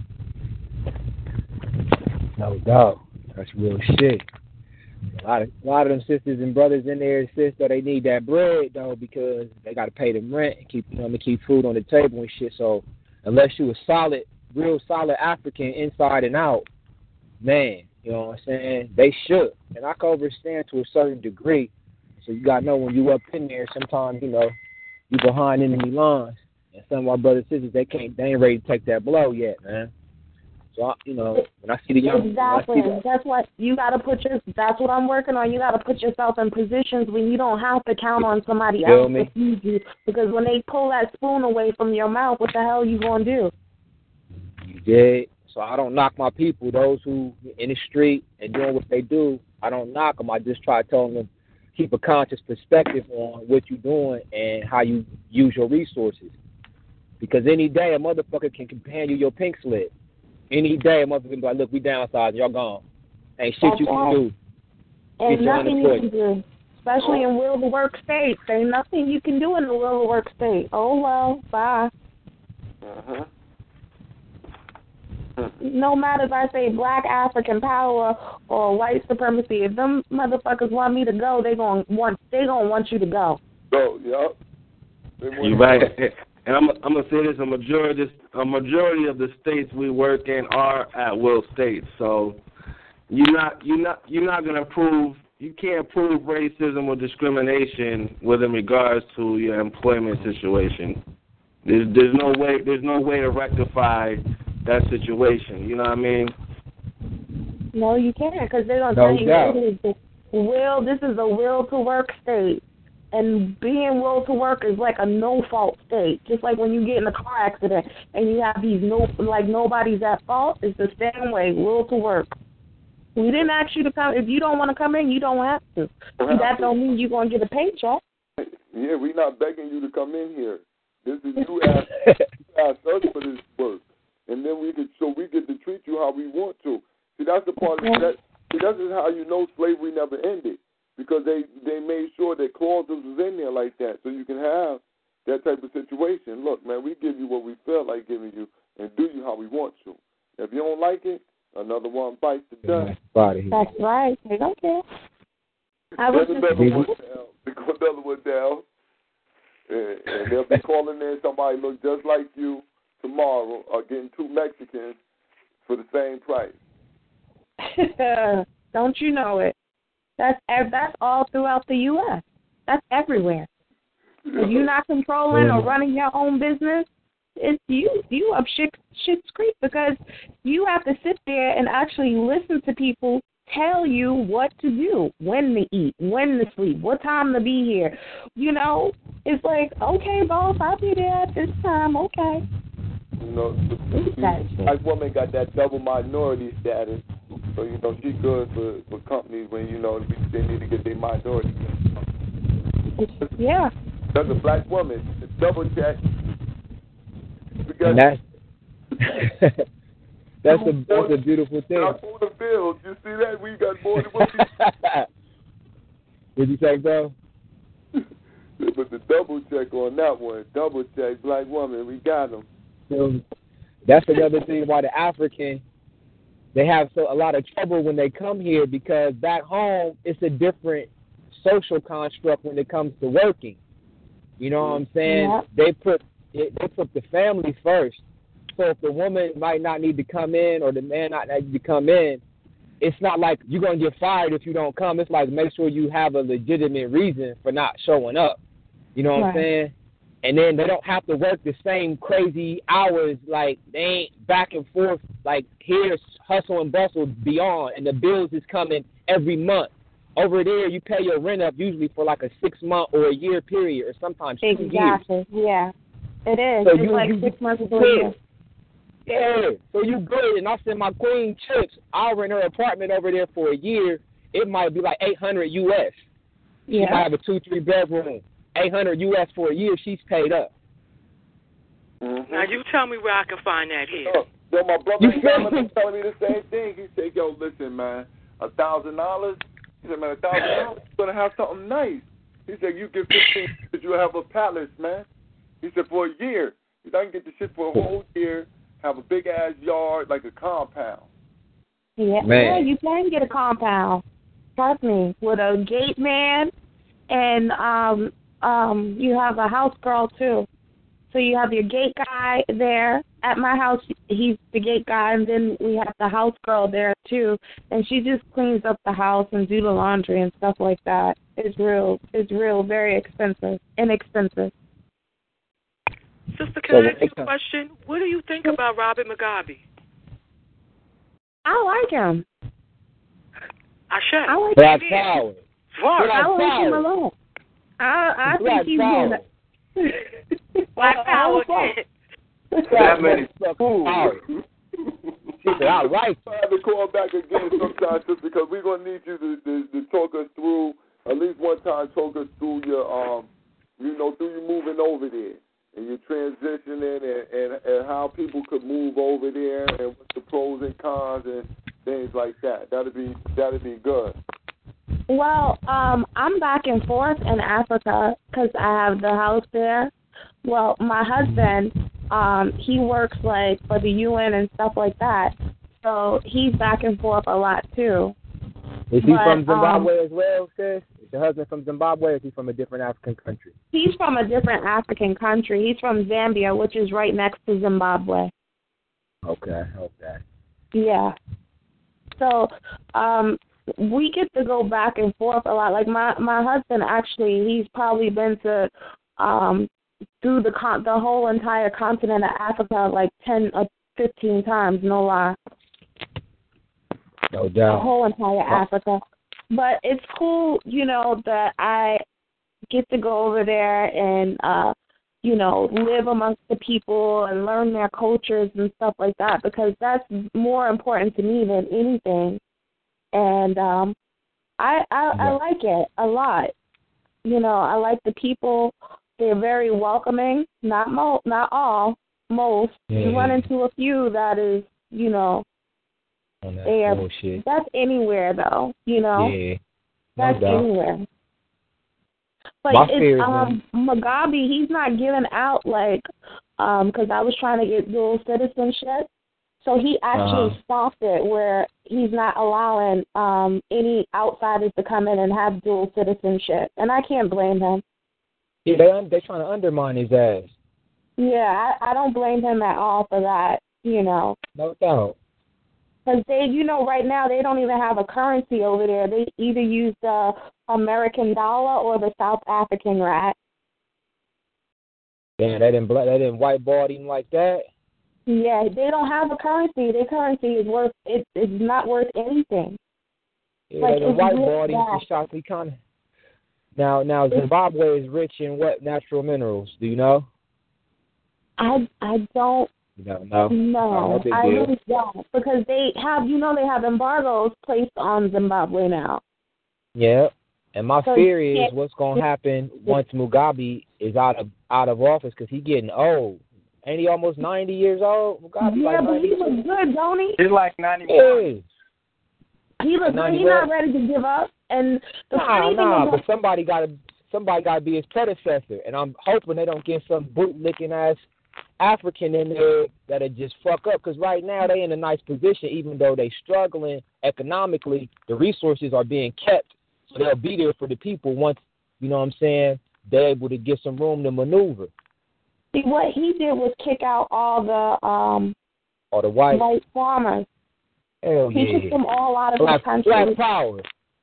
No doubt. That's real shit. A lot of them sisters and brothers in there, though, they need that bread, though, because they got to pay them rent and keep food on the table and shit. So unless you a real solid African inside and out, man, you know what I'm saying, they should. And I can understand to a certain degree. So you got to know when you up in there, sometimes, you behind enemy lines. And some of our brothers and sisters, they ain't ready to take that blow yet, man. So, when I see the young... Exactly. That's what you got to that's what I'm working on. You got to put yourself in positions where you don't have to count on somebody else to feed you. Because when they pull that spoon away from your mouth, what the hell are you going to do? You did. So I don't knock my people, those who in the street and doing what they do. I don't knock them. I just try to tell them keep a conscious perspective on what you're doing and how you use your resources. Because any day a motherfucker can hand you your pink slip. Any day a motherfucker can be like, look, we downsizing, y'all gone. Ain't shit you can do. And nothing you can do. Especially in will to work states. Ain't nothing you can do in the will to work state. Oh, well, bye. Uh-huh. No matter if I say Black African Power or white supremacy, if them motherfuckers want me to go, they gonna want you to go. Go, yup. You right. And I'm gonna say this: a majority of the states we work in are at will states. So you're not gonna prove, you can't prove racism or discrimination within regards to your employment situation. There's no way to rectify that situation. You know what I mean? No, you can't, because they're gonna tell you this is a will to work state. And being will to work is like a no-fault state. Just like when you get in a car accident and you have these nobody's at fault, it's the same way, will to work. We didn't ask you to come. If you don't want to come in, you don't have to. That don't mean you're going to get a paycheck. Yeah, we're not begging you to come in here. This is you asked us for this work. And then we get to treat you how we want to. See, that's the part of that. See, that is how you know slavery never ended. Because they made sure that clauses was in there like that, so you can have that type of situation. Look, man, we give you what we feel like giving you and do you how we want to. If you don't like it, another one bites the dust. That's right. They don't care. I was There's just another one down. They go another one down. And they'll be calling in somebody look just like you tomorrow or getting two Mexicans for the same price. Don't you know it? That's all throughout the U.S. That's everywhere. If you're not controlling or running your own business, it's you up shit's creek because you have to sit there and actually listen to people tell you what to do, when to eat, when to sleep, what time to be here. You know, it's like, okay, boss, I'll be there at this time, okay. You know, the black woman got that double minority status, so, you know, she's good for companies when, you know, they need to get their minority. Yeah. That's a black woman. Double check. And that's a beautiful thing. On the field, you see that? We got more than what What'd you say, bro? But the double check on that one, double check, black woman, we got them. So that's another thing why the African, they have a lot of trouble when they come here because back home it's a different social construct when it comes to working. You know what I'm saying? Yeah. They put the family first. So if the woman might not need to come in or the man not need to come in, it's not like you're going to get fired if you don't come. It's like make sure you have a legitimate reason for not showing up. You know what I'm saying? And then they don't have to work the same crazy hours. Like they ain't back and forth. Like here's hustle and bustle beyond, and the bills is coming every month. Over there, you pay your rent up usually for like a 6-month or a year period, or sometimes 2 years. Exactly. Yeah, it is. So it's like 6 months to a year. Yeah, so you good, and I send my queen chips. I'll rent her apartment over there for a year. It might be like $800 US. She might have a 2-3 bedroom. $800 US for a year. She's paid up. Mm-hmm. Now you tell me where I can find that here. Yo, my brother was telling me the same thing. He said, "Yo, listen, man, $1,000." He said, "Man, $1,000, you're gonna have something nice." He said, "You get 15, because you have a palace, man." He said, "For a year, you can get the shit for a whole year." Have a big ass yard like a compound. Yeah, yeah, you can get a compound. Trust me, with a gate man, and you have a house girl too. So you have your gate guy there. At my house, he's the gate guy, and then we have the house girl there too, and she just cleans up the house and do the laundry and stuff like that. It's real, very inexpensive. Sister, can I ask you a question? What do you think about Robert Mugabe? I like him. I like Black him. power. I like him a lot. I think he's power. Black power. That many power. She said, I like I have to call back again sometime, sister, because we're gonna need you to talk us through at least one time. Talk us through your through you moving over there. And you're transitioning and how people could move over there and what the pros and cons and things like that. That'd be good. Well, I'm back and forth in Africa because I have the house there. Well, my husband, he works like for the UN and stuff like that. So he's back and forth a lot too. Is he from Zimbabwe as well, sis? Is your husband from Zimbabwe, or is he from a different African country? He's from a different African country. He's from Zambia, which is right next to Zimbabwe. Okay. Yeah. So we get to go back and forth a lot. Like my husband, actually, he's probably been to through the whole entire continent of Africa like 10 or 15 times, no lie. No doubt. The whole entire Africa. But it's cool, that I get to go over there and, live amongst the people and learn their cultures and stuff like that, because that's more important to me than anything. And I like it a lot. I like the people. They're very welcoming. Not all, most. Yeah. You run into a few that is, bullshit. That's anywhere, though, Yeah, no that's doubt. anywhere. Like, Mugabe, he's not giving out, like, because I was trying to get dual citizenship. So he actually stopped it where he's not allowing any outsiders to come in and have dual citizenship. And I can't blame him. Yeah, they're trying to undermine his ass. Yeah, I don't blame him at all for that, you know. No doubt. Because they, you know, right now they don't even have a currency over there. They either use the American dollar or the South African rand. Damn, they didn't whiteball him like that. Yeah, they don't have a currency. Their currency is not worth anything. Yeah, like, they didn't whiteball him really to shock the economy. Now Zimbabwe is rich in what natural minerals? Do you know? I don't. You don't know? No, No, I really don't, because they have embargoes placed on Zimbabwe now. Yeah, and my So fear is what's gonna happen once Mugabe is out of office, because he's getting old. Ain't he almost 90 years old? Mugabe, yeah, like but 90. he looks good, don't he? He's like 91. Yeah. He looks good. He's not ready to give up. And the funny thing is, but somebody gotta be his predecessor, and I'm hoping they don't get some bootlicking ass African in there that'll just fuck up, because right now they in a nice position, even though they struggling economically. The resources are being kept, so they'll be there for the people once, you know what I'm saying, they're able to get some room to maneuver. See, what he did was kick out all the white farmers. Hell yeah. He kicked them all out of the country. Black power.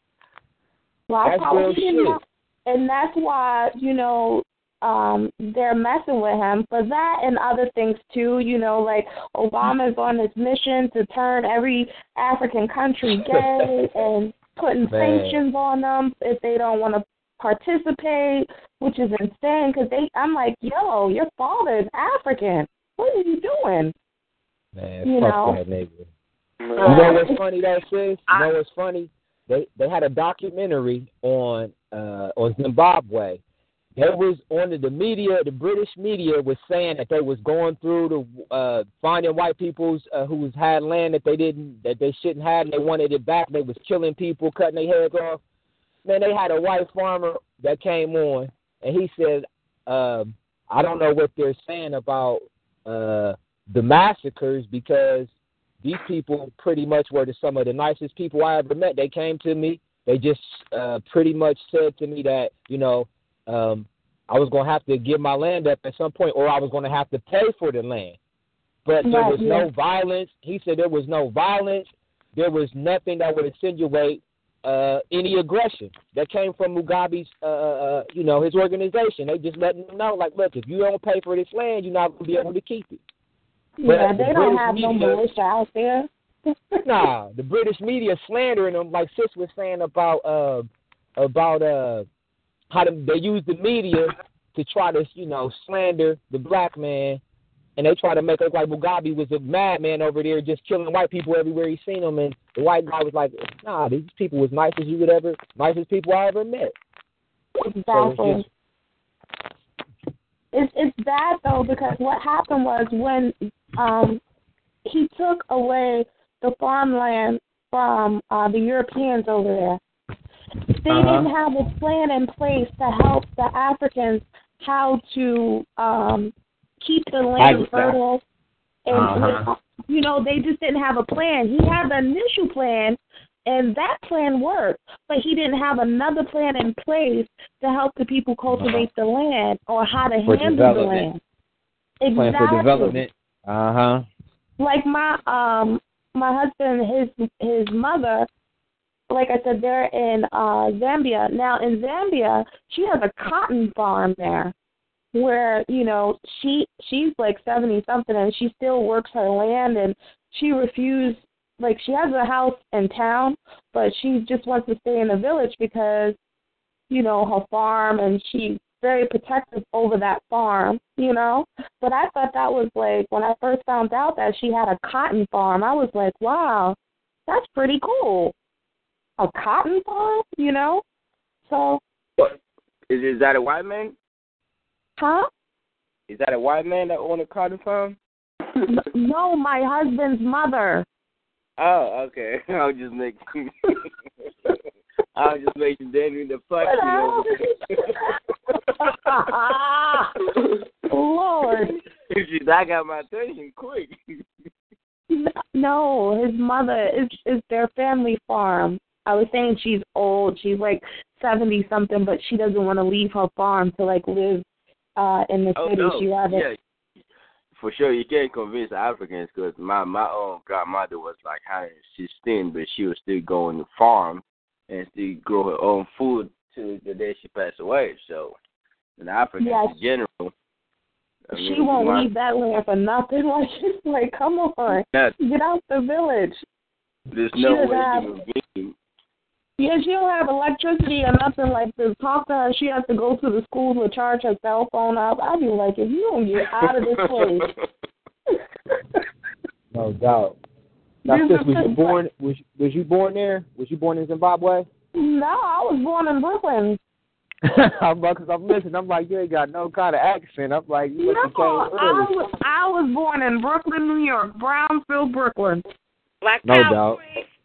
Black That's power. real shit. And that's why, you know, they're messing with him for that and other things too. You know, like Obama's on this mission to turn every African country gay and putting sanctions on them if they don't want to participate, which is insane. Because I'm like, yo, your father is African. What are you doing? Man, you fuck know? that nigga. You know what's funny though, sis? You know what's funny? They had a documentary on Zimbabwe. They was on the media, the British media was saying that they was going through the finding white peoples who had land that they shouldn't have, and they wanted it back. They was killing people, cutting their heads off. Man, they had a white farmer that came on, and he said, I don't know what they're saying about the massacres, because these people pretty much were some of the nicest people I ever met. They came to me. They just pretty much said to me that, you know, I was going to have to give my land up at some point, or I was going to have to pay for the land. But there was no violence. He said there was no violence. There was nothing that would insinuate any aggression that came from Mugabe's, you know, his organization. They just letting them know, like, look, if you don't pay for this land, you're not going to be able to keep it. Yeah, they don't have no militia out there. Nah, the British media slandering them, like Sis was saying about how they use the media to try to, you know, slander the black man, and they try to make it like Mugabe was a madman over there just killing white people everywhere he seen them, and the white guy was like, nah, these people was nicest people I ever met. Exactly. So it's bad though, because what happened was when he took away the farmland from the Europeans over there, they didn't have a plan in place to help the Africans how to keep the land fertile. And, you know, they just didn't have a plan. He had the initial plan, and that plan worked, but he didn't have another plan in place to help the people cultivate the land or how to handle the land. Exactly. Plan for development. Like my husband, his mother, like I said, they're in Zambia. Now, in Zambia, she has a cotton farm there where, you know, she's like 70-something, and she still works her land, and she refused, like, she has a house in town, but she just wants to stay in the village because, you know, her farm, and she's very protective over that farm, you know. But I thought that was, like, when I first found out that she had a cotton farm, I was like, wow, that's pretty cool. A cotton farm, you know? So. What? Is that a white man? Huh? Is that a white man that owned a cotton farm? No, my husband's mother. Oh, okay. I was just making Danny the fuck. Lord. That got my attention quick. No, his mother is their family farm. I was saying she's old. She's like 70 something, but she doesn't want to leave her farm to like live in the city. No. She rather. Yeah, for sure. You can't convince Africans because my own grandmother was like 116, but she was still going to farm and still grow her own food till the day she passed away. So, in Africans in general, she won't leave that land for nothing. Like, she's like, come on, get out the village. There's no way human being. Yeah, she don't have electricity or nothing like to talk to her. She has to go to the school to charge her cell phone up. I'd be like, if you don't get out of this place. No doubt. Now, sis, was you born? Was you born there? Was you born in Zimbabwe? No, I was born in Brooklyn. Because I'm listening, I'm like, you ain't got no kind of accent. I'm like, you must have came early. I was born in Brooklyn, New York, Brownsville, Brooklyn. No doubt.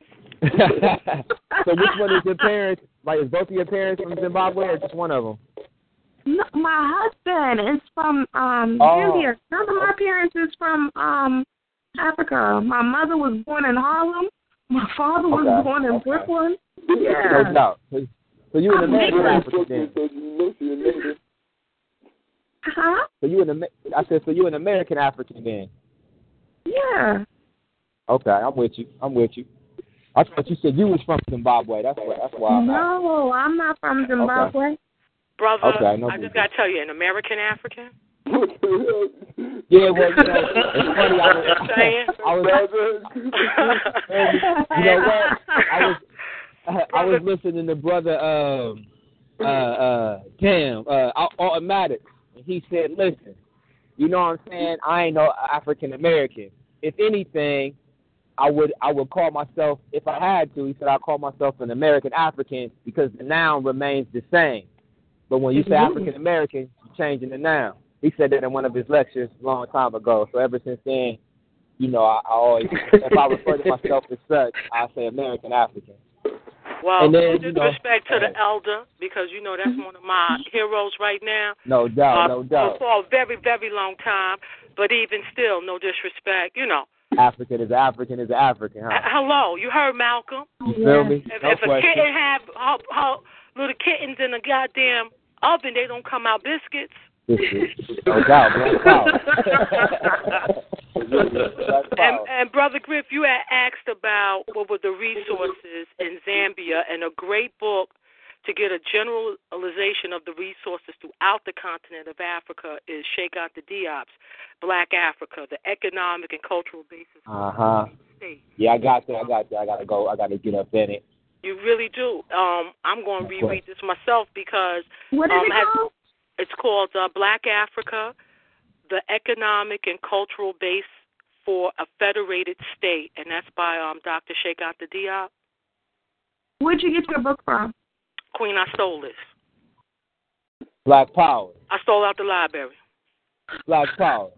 So which one is your parents? Like, is both of your parents from Zimbabwe or just one of them? No, my husband is from Zambia. None of my parents is from Africa. My mother was born in Harlem. My father was born in Brooklyn. Yeah. No doubt. So you an American African then? Huh? So you an American African then? Yeah. Okay, I'm with you. I thought you said you was from Zimbabwe. That's why. No, I'm not from Zimbabwe. Okay. Brother, no I just got to tell you, an American African? Yeah, well, it's funny. I was listening to brother Automatic, and he said, listen, you know what I'm saying? I ain't no African American. If anything, I would call myself, if I had to, he said, I'd call myself an American African because the noun remains the same. But when you say African American, you're changing the noun. He said that in one of his lectures a long time ago. So ever since then, you know, I always, if I refer to myself as such, I say American African. Well, and then, respect to the elder, because, you know, that's one of my heroes right now. No doubt, no doubt. For a very, very long time, but even still, no disrespect, you know. African is African, huh? Hello, you heard Malcolm. You feel me? If a kitten have little kittens in a goddamn oven, they don't come out biscuits. No doubt, Black Power. And Brother Griff, you had asked about what were the resources in Zambia, and a great book to get a generalization of the resources throughout the continent of Africa is Sheikh Anta Diop's Black Africa, the economic and cultural basis of the state. Yeah, I got that. I got to go. I got to get up in it. You really do. I'm going to reread this myself because what is it called? It's called Black Africa, the economic and cultural base for a federated state, and that's by Dr. Sheikh Anta Diop. Where'd you get your book from? Queen, I stole this. Black Power. I stole out the library. Black Power.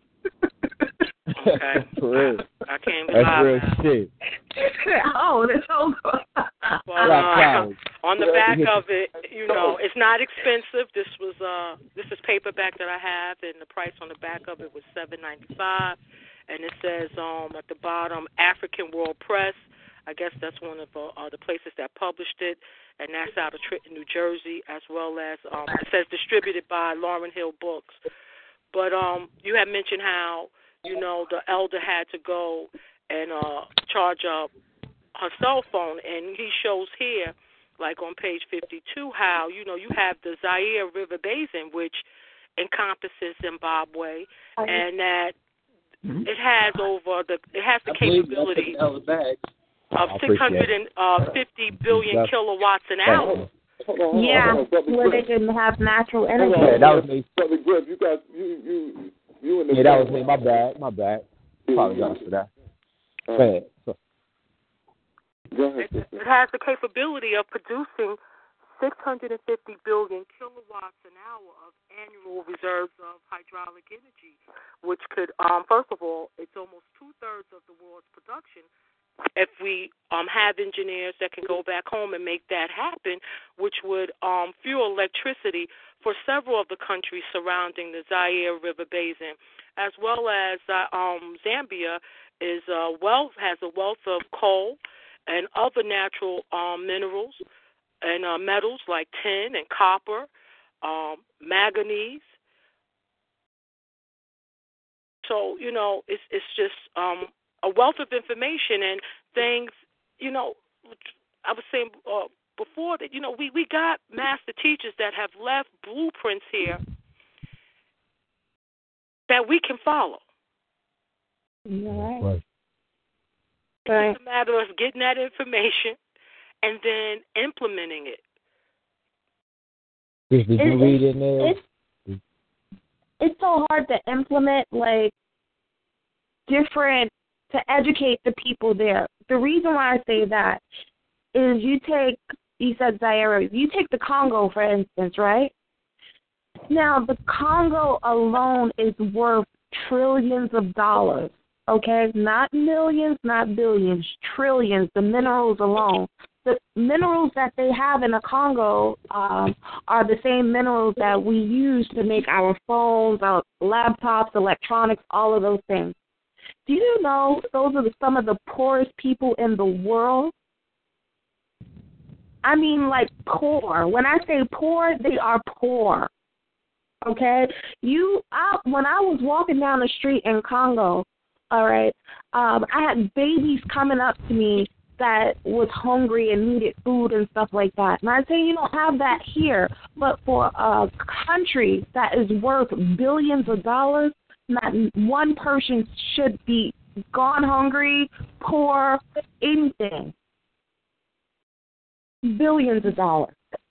Okay. For real. I came to That's real shit. Oh, that's so good. Well, on the back of it, you know, it's not expensive. This is paperback that I have, and the price on the back of it was $7.95, and it says at the bottom, African World Press. I guess that's one of the places that published it, and that's out of Trenton, New Jersey, as well as it says distributed by Lauryn Hill Books. But you had mentioned how, you know, the elder had to go and charge up her cell phone, and he shows here, like on page 52, how, you know, you have the Zaire River Basin, which encompasses Zimbabwe, and that it has the capability of 650 billion kilowatts an hour. Yeah, where they can have natural energy. Yeah, that was me. Yeah, that was me. My bad. Apologize for that. Go ahead. It has the capability of producing 650 billion kilowatts an hour of annual reserves of hydraulic energy, which could, first of all, it's almost 2/3 of the world's production. If we have engineers that can go back home and make that happen, which would fuel electricity for several of the countries surrounding the Zaire River Basin, as well as Zambia is has a wealth of coal and other natural minerals and metals like tin and copper, manganese. So it's just a wealth of information and things. You know, I was saying before that we got master teachers that have left blueprints here that we can follow. Right. It's a matter of getting that information and then implementing it. Did you read in there? It's so hard to implement, like, different, to educate the people there. The reason why I say that is you said Zaire, you take the Congo, for instance, right? Now, the Congo alone is worth trillions of dollars, okay? Not millions, not billions, trillions, the minerals alone. The minerals that they have in the Congo are the same minerals that we use to make our phones, our laptops, electronics, all of those things. Do you know those are some of the poorest people in the world? I mean, like, poor. When I say poor, they are poor. Okay? When I was walking down the street in Congo, all right, I had babies coming up to me that was hungry and needed food and stuff like that. And I say you don't have that here, but for a country that is worth billions of dollars, not one person should be gone hungry, poor, anything. Billions of dollars.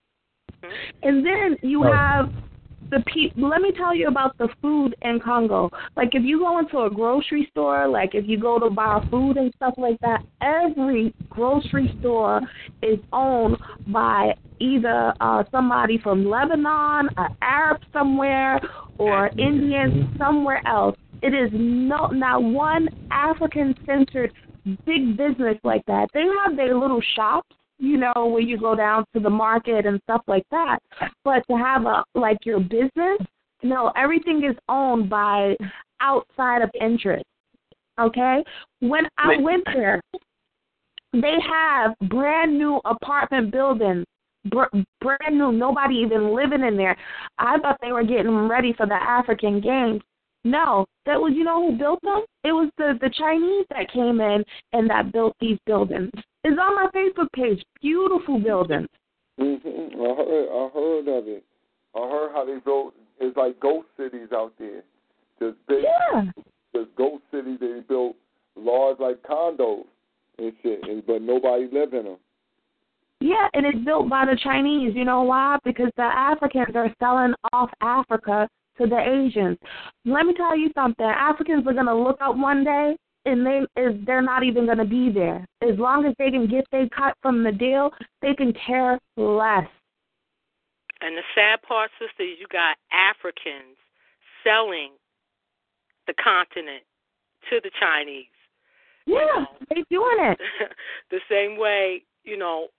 And then you have the people. Let me tell you about the food in Congo. Like, if you go into a grocery store, like if you go to buy food and stuff like that, every grocery store is owned by either somebody from Lebanon, an Arab somewhere, or Indian somewhere else. It is not one African-centered big business like that. They have their little shops, where you go down to the market and stuff like that. But to have your business, no, everything is owned by outside of interest. Okay? When I went there, they have brand new apartment buildings, brand new, nobody even living in there. I thought they were getting ready for the African Games. No, that was, who built them? It was the Chinese that came in and that built these buildings. It's on my Facebook page. Beautiful buildings. Mm-hmm. I heard of it. I heard how they built. It's like ghost cities out there. Just big, just ghost cities. They built large like condos and shit, but nobody live in them. Yeah, and it's built by the Chinese. You know why? Because the Africans are selling off Africa to the Asians. Let me tell you something. Africans are going to look up one day, and they're not even going to be there. As long as they can get their cut from the deal, they can care less. And the sad part, sister, is you got Africans selling the continent to the Chinese. Yeah, they're doing it. The same way, you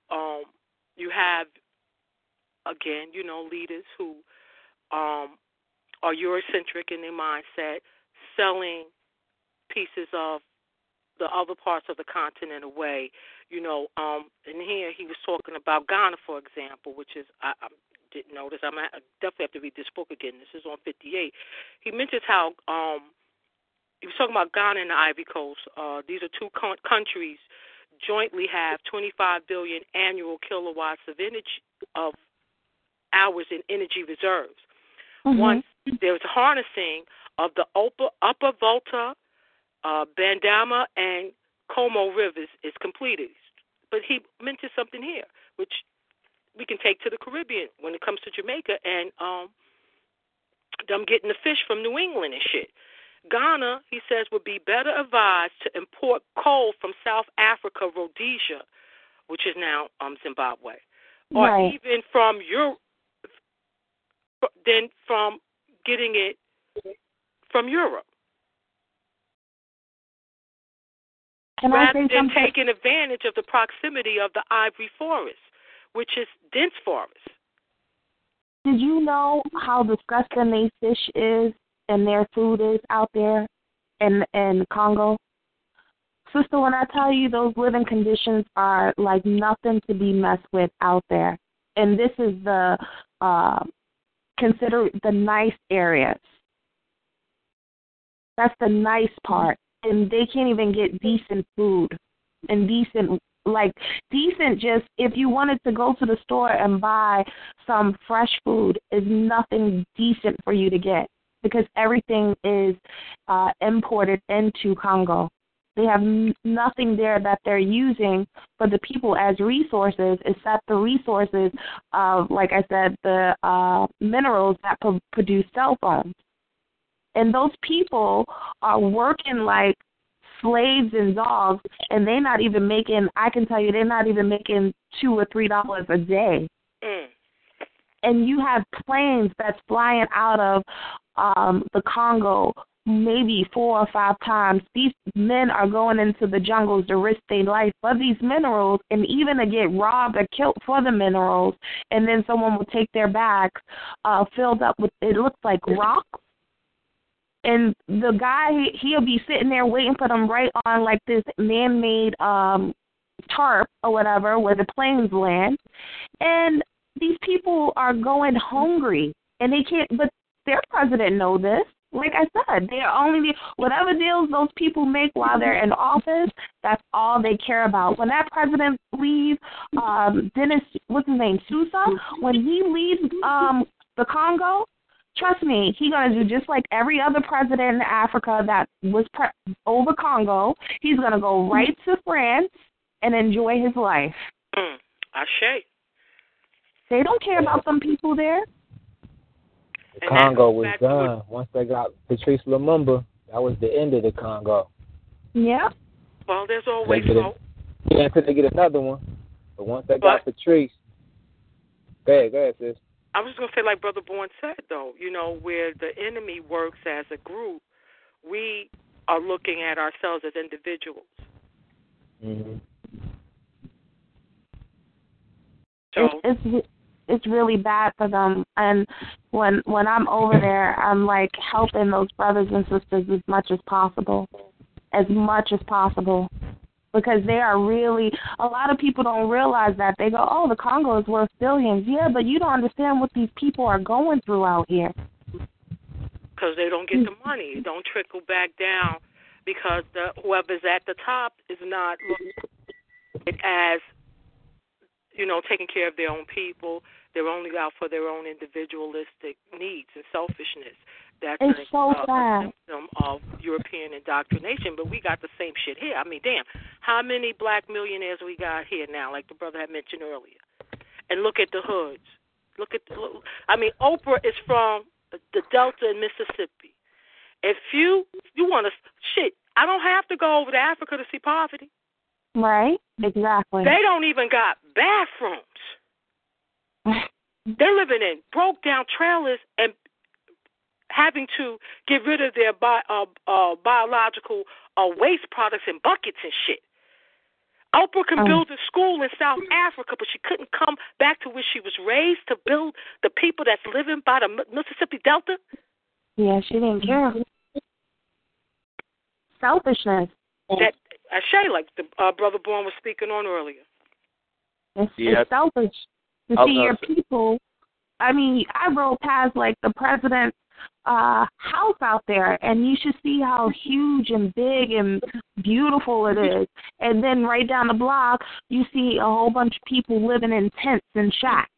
have, again, leaders who are Eurocentric in their mindset, selling pieces of the other parts of the continent away. And here he was talking about Ghana, for example, which is, I didn't notice. I definitely have to read this book again. This is on 58. He mentions how he was talking about Ghana and the Ivory Coast. These are two countries jointly have 25 billion annual kilowatts of energy of hours in energy reserves. Mm-hmm. Once there's harnessing of the Upper Volta, Bandama, and Como rivers is completed. But he mentioned something here, which we can take to the Caribbean when it comes to Jamaica and them getting the fish from New England and shit. Ghana, he says, would be better advised to import coal from South Africa, Rhodesia, which is now Zimbabwe, or even from Europe, than from getting it from Europe. Rather than taking advantage of the proximity of the ivory forest, which is dense forest. Did you know how disgusting their fish is and their food is out there in Congo? Sister, when I tell you those living conditions are like nothing to be messed with out there. And this is the consider the nice areas. That's the nice part. And they can't even get decent food and decent just if you wanted to go to the store and buy some fresh food is nothing decent for you to get because everything is imported into Congo. They have nothing there that they're using for the people as resources except the resources of, like I said, the minerals that produce cell phones. And those people are working like slaves and dogs, and they're not even making, I can tell you, they're not even making $2 or $3 a day. And you have planes that's flying out of the Congo maybe 4 or 5 times. These men are going into the jungles to risk their life for these minerals and even to get robbed or killed for the minerals, and then someone will take their bags filled up with, it looks like rocks. And the guy, he'll be sitting there waiting for them right on like this man-made tarp or whatever where the planes land. And these people are going hungry, and they can't, but their president knows this. Like I said, they're only, whatever deals those people make while they're in office, that's all they care about. When that president leaves, Denis, what's his name, Sousa, when he leaves the Congo, trust me, he's going to do just like every other president in Africa that was over Congo. He's going to go right to France and enjoy his life. Ashe. They don't care about some people there. The Congo was done. Once they got Patrice Lumumba, that was the end of the Congo. Yeah. Well, there's always hope. Yeah, until they get another one. But once they got Patrice, go ahead, sis. I was going to say, like Brother Bourne said, though, you know, where the enemy works as a group, we are looking at ourselves as individuals. Mm-hmm. So it's really bad for them. And when I'm over there, I'm like helping those brothers and sisters as much as possible, because they are really, a lot of people don't realize that. They go, oh, the Congo is worth billions. Yeah, but you don't understand what these people are going through out here. Because they don't get the money. It don't trickle back down because whoever's at the top is not looking at it as, you know, taking care of their own people. They're only out for their own individualistic needs and selfishness. That's a symptom of European indoctrination, but we got the same shit here. I mean, damn, how many black millionaires we got here now, like the brother had mentioned earlier? And look at the hoods. Oprah is from the Delta in Mississippi. If you want to, I don't have to go over to Africa to see poverty. Right, exactly. They don't even got bathrooms. They're living in broke-down trailers and having to get rid of their biological waste products in buckets and shit. Oprah can build a school in South Africa, but she couldn't come back to where she was raised to build the people that's living by the Mississippi Delta. Yeah, she didn't care. Selfishness. That Ashe, like the Brother Bourne was speaking on earlier. It's selfish to see your people. I mean, I rode past like the president's house out there, and you should see how huge and big and beautiful it is. And then right down the block, you see a whole bunch of people living in tents and shacks.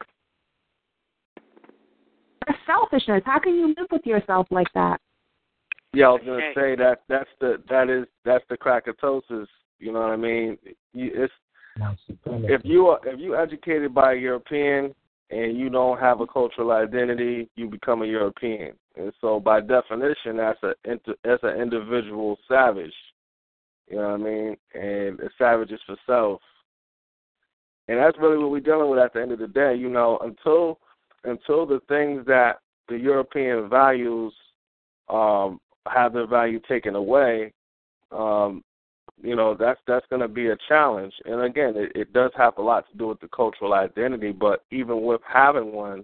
That's selfishness. How can you live with yourself like that? Yeah, I was gonna say that's the crackatosis. You know what I mean? If you educated by a European and you don't have a cultural identity, you become a European, and so by definition, that's an individual savage. You know what I mean? And a savage is for self, and that's really what we're dealing with at the end of the day. You know, until the things that the European values have their value taken away, you know, that's going to be a challenge. And again, it does have a lot to do with the cultural identity. But even with having one,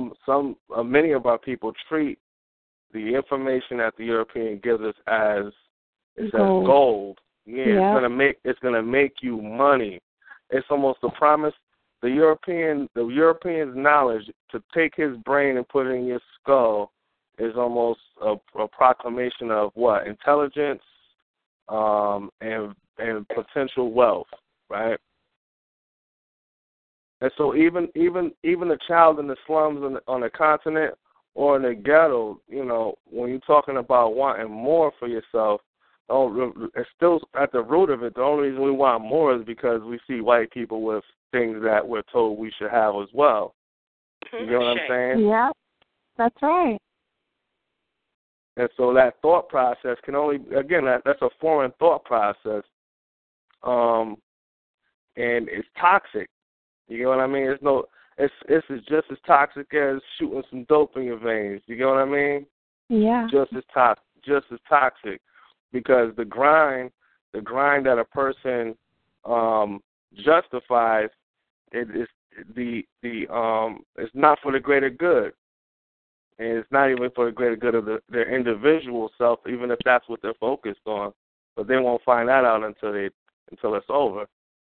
many of our people treat the information that the European gives us as It says gold. Yeah, it's gonna make you money. It's almost a promise. The European's knowledge to take his brain and put it in your skull is almost a proclamation of what? Intelligence, and potential wealth, right? And so even a child in the slums on the continent or in the ghetto, when you're talking about wanting more for yourself, it's still at the root of it. The only reason we want more is because we see white people with things that we're told we should have as well. You know what I'm saying? Yeah, that's right. And so that thought process can only, again, that's a foreign thought process, and it's toxic. You know what I mean? It's just as toxic as shooting some dope in your veins. You know what I mean? Yeah. Just as toxic, because the grind that a person justifies, it's not for the greater good. And it's not even for the greater good of their individual self, even if that's what they're focused on. But they won't find that out until it's over.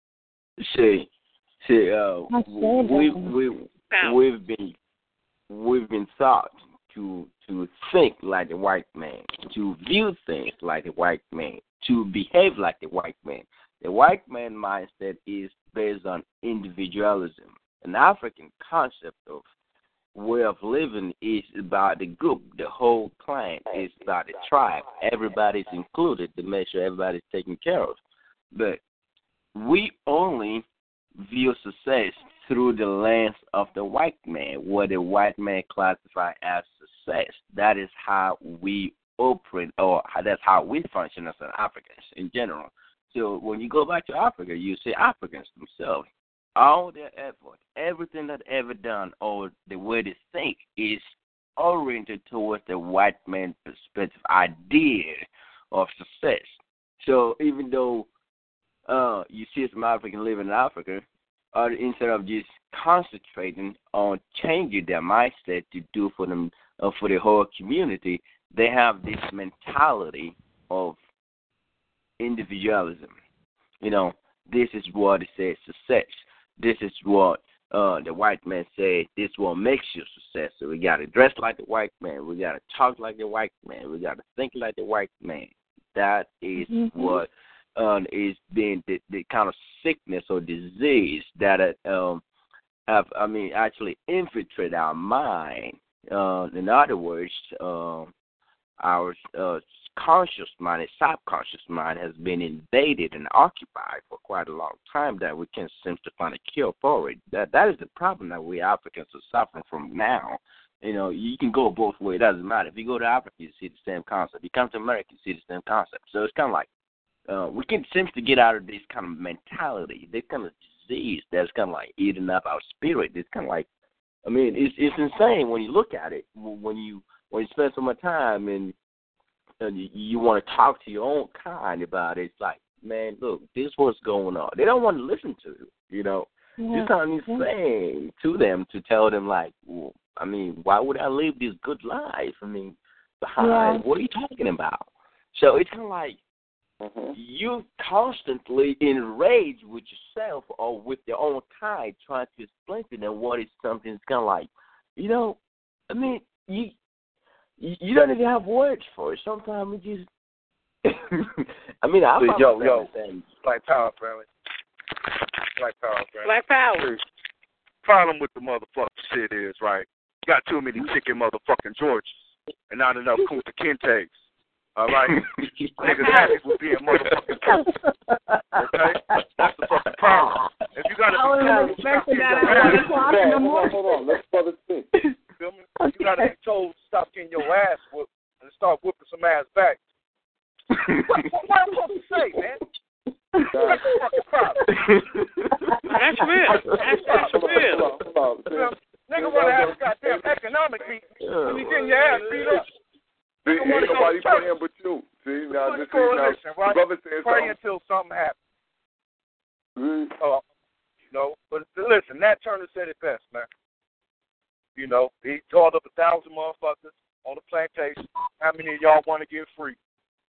We've been taught to think like the white man, to view things like the white man, to behave like the white man. The white man mindset is based on individualism. An African concept of way of living is about the group, the whole clan. It's about the tribe. Everybody's included to make sure everybody's taken care of. But we only view success through the lens of the white man, what the white man classifies as success. That is how we operate, or that's how we function as Africans in general. So when you go back to Africa, you see Africans themselves. All their effort, everything that ever done, or the way they think is oriented towards the white man's perspective idea of success. So even though you see some Africans living in Africa, instead of just concentrating on changing their mindset to do for them, for the whole community, they have this mentality of individualism. This is what it says success. This is what the white man said. This is what makes you success. So we got to dress like the white man. We got to talk like the white man. We got to think like the white man. That is what is being the kind of sickness or disease that actually infiltrate our mind. In other words, our conscious mind and subconscious mind has been invaded and occupied for quite a long time that we can't seem to find a cure for it. That is the problem that we Africans are suffering from now. You can go both ways. It doesn't matter. If you go to Africa, you see the same concept. You come to America, you see the same concept. So it's kind of like we can seem to get out of this kind of mentality, this kind of disease that's kind of like eating up our spirit. It's kind of like, it's insane when you look at it. When you spend so much time and you want to talk to your own kind about it, it's like, man, look, this is what's going on. They don't want to listen to you, It's not insane to them to tell them, like, well, why would I live this good life? Behind, what are you talking about? So it's kind of like you constantly enraged with yourself or with your own kind trying to explain to them what is something. It's kind of like, you don't even have words for it. Sometimes we just, yo, Black Power, family. Black Power. Problem with the motherfucking shit is, right, you got too many chicken motherfucking Georges and not enough Kunta Kintes. All right? Niggas happy with being motherfucking Kunta. Okay? That's the fucking problem. If you got to be told, hold on, let's brother think. Feel me? You got to be told to stop getting your ass whooped and start whooping some ass back. What am I supposed to say, man? That's the fucking problem. That's real. That's real. Nigga want to have a goddamn economic meeting and you getting your ass beat up. Ain't nobody praying but you. See, now this is now, brother saying pray until something happens. But listen, Nat Turner said it best, man. He called up 1,000 motherfuckers on the plantation. How many of y'all want to get free?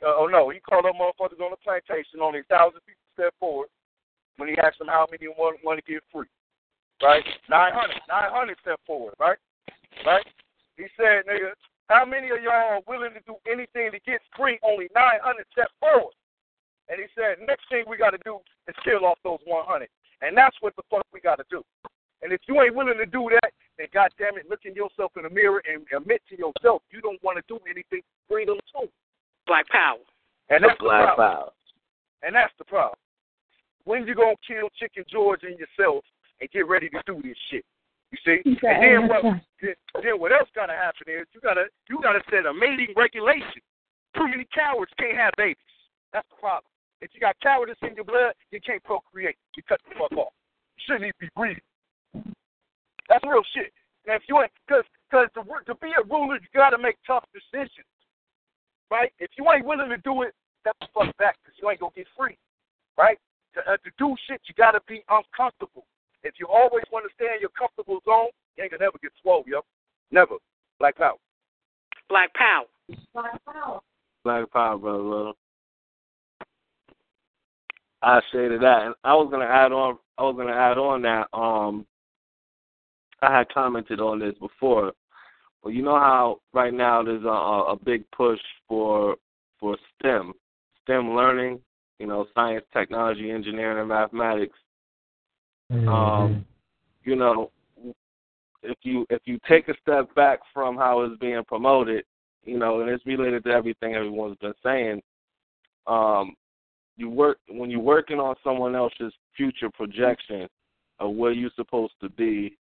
he called them motherfuckers on the plantation. Only 1,000 people stepped forward when he asked them how many want to get free. Right? 900 stepped forward. Right? He said, nigga, how many of y'all are willing to do anything to get free? Only 900 stepped forward. And he said, next thing we got to do is kill off those 100. And that's what the fuck we got to do. And if you ain't willing to do that, then goddamn it, look in yourself in the mirror and admit to yourself you don't want to do anything for freedom too. Black power. And that's Black the problem. power. And that's the problem. When you gonna kill Chicken George and yourself and get ready to do this shit? You see? And then what else gotta happen is you gotta set a mating regulation. Too many cowards can't have babies. That's the problem. If you got cowardice in your blood, you can't procreate. You cut the fuck off. You shouldn't even be breathing. That's real shit. Now, if you ain't, because to be a ruler, you got to make tough decisions, right? If you ain't willing to do it, step the fuck back because you ain't going to get free, right? To do shit, you got to be uncomfortable. If you always want to stay in your comfortable zone, you ain't going to never get swole, yo. Never. Black power. Black power. Black power. Black power, brother. Little. I say to that, and I was gonna add on that. I had commented on this before, but you know how right now there's a big push for STEM learning. You know, science, technology, engineering, and mathematics. Mm-hmm. You know, if you take a step back from how it's being promoted, you know, and it's related to everything everyone's been saying. When you're working on someone else's future projection of where you're supposed to be,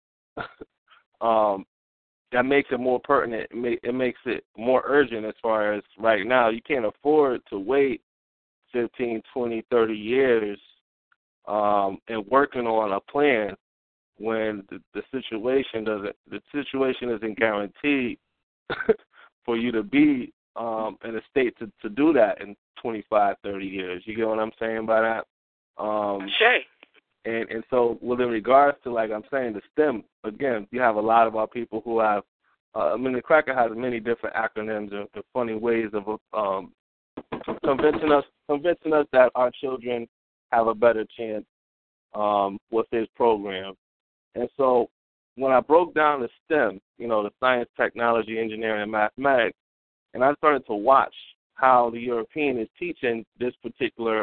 that makes it more pertinent. It makes it more urgent as far as right now. You can't afford to wait 15, 20, 30 years and working on a plan when the situation isn't guaranteed for you to be in a state to do that in 25, 30 years. You get what I'm saying by that? Sure. And so, well, in regards to, like I'm saying, the STEM, again, you have a lot of our people who have, the Cracker has many different acronyms and funny ways of convincing us that our children have a better chance with his program. And so when I broke down the STEM, you know, the science, technology, engineering, and mathematics, and I started to watch how the European is teaching this particular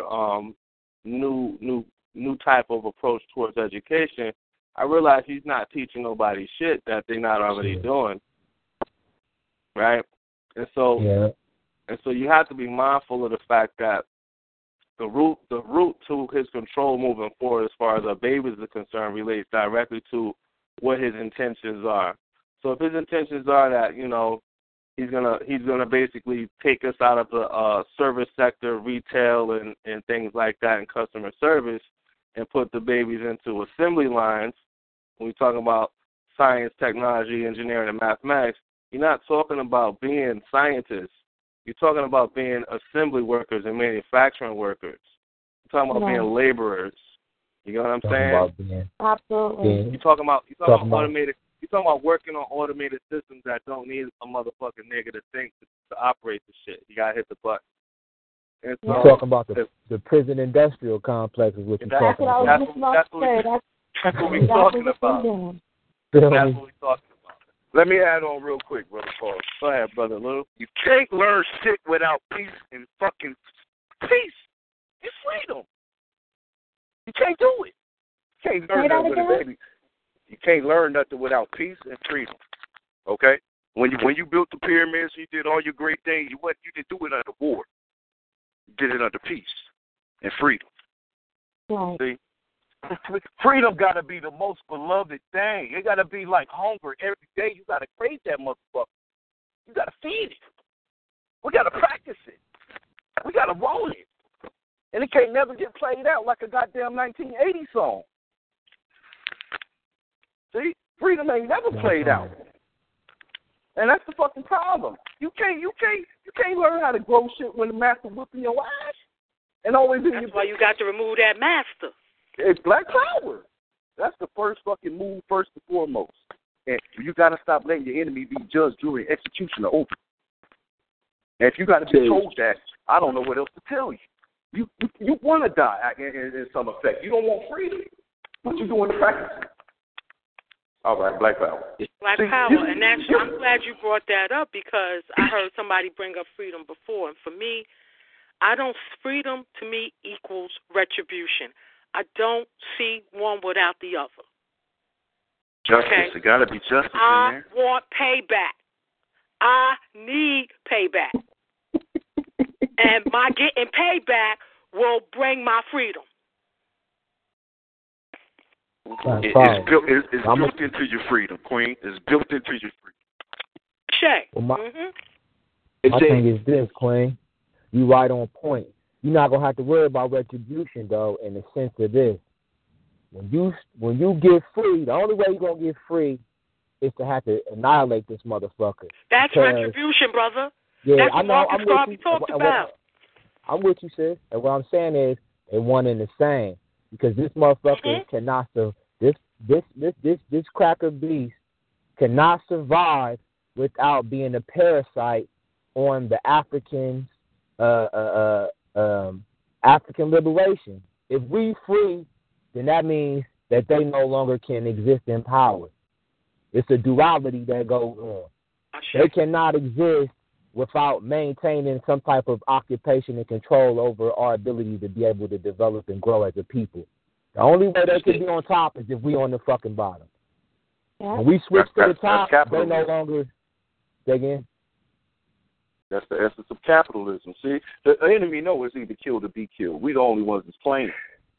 new type of approach towards education, I realized he's not teaching nobody shit that they're not already doing, right? And so you have to be mindful of the fact that the root to his control moving forward, as far as our babies are concerned, relates directly to what his intentions are. So if his intentions are that, you know, he's gonna basically take us out of the service sector, retail, and things like that, and customer service, and put the babies into assembly lines. When we talk about science, technology, engineering, and mathematics, you're not talking about being scientists. You're talking about being assembly workers and manufacturing workers. You're talking about being laborers. You know what I'm saying? Absolutely. You're talking about automated. You're talking about working on automated systems that don't need a motherfucking nigga to think to operate the shit. You gotta hit the button. And so, you're talking about the prison industrial complex is what you're talking about. That's what we're talking about. That's what we're talking about. Let me add on real quick, Brother Paul. Go ahead, Brother Lou. You can't learn shit without peace and fucking peace and freedom. You can't do it. You can't learn that with a baby. You can't learn nothing without peace and freedom. Okay? When you built the pyramids, you did all your great things. You didn't do it under war. You did it under peace and freedom. Right. See? Freedom got to be the most beloved thing. It got to be like hunger every day. You got to crave that motherfucker. You got to feed it. We got to practice it. We got to roll it. And it can't never get played out like a goddamn 1980 song. See? Freedom ain't never played out. And that's the fucking problem. You can't learn how to grow shit when the master whipping your ass. And always in That's why you got to remove that master. It's black power. That's the first fucking move, first and foremost. And you got to stop letting your enemy be judge, jury, executioner over. And if you got to be told that, I don't know what else to tell you. You want to die in some effect. You don't want freedom, but you're doing the practice. All right, Black Power. Black Power, and actually, I'm glad you brought that up because I heard somebody bring up freedom before, and for me, freedom to me equals retribution. I don't see one without the other. Justice, okay? It got to be justice in there. I want payback. I need payback. And my getting payback will bring my freedom. It's built into your freedom, Queen. It's built into your freedom. Shay. Well, my thing is this, Queen. You right on point. You're not going to have to worry about retribution, though, in the sense of this. When you get free, the only way you're going to get free is to have to annihilate this motherfucker. That's retribution, brother. Yeah, that's I know. I'm with you. Talked about. I'm with you, sis. And what I'm saying is they one and the same. Because this motherfucker cannot this cracker beast cannot survive without being a parasite on the African liberation. If we free, then that means that they no longer can exist in power. It's a duality that goes on. They cannot exist without maintaining some type of occupation and control over our ability to be able to develop and grow as a people. The only way they can be on top is if we on the fucking bottom. Yeah. When we switch to the top, they no longer. Say again? That's the essence of capitalism. See, the enemy knows it's either killed or be killed. We the only ones that's playing.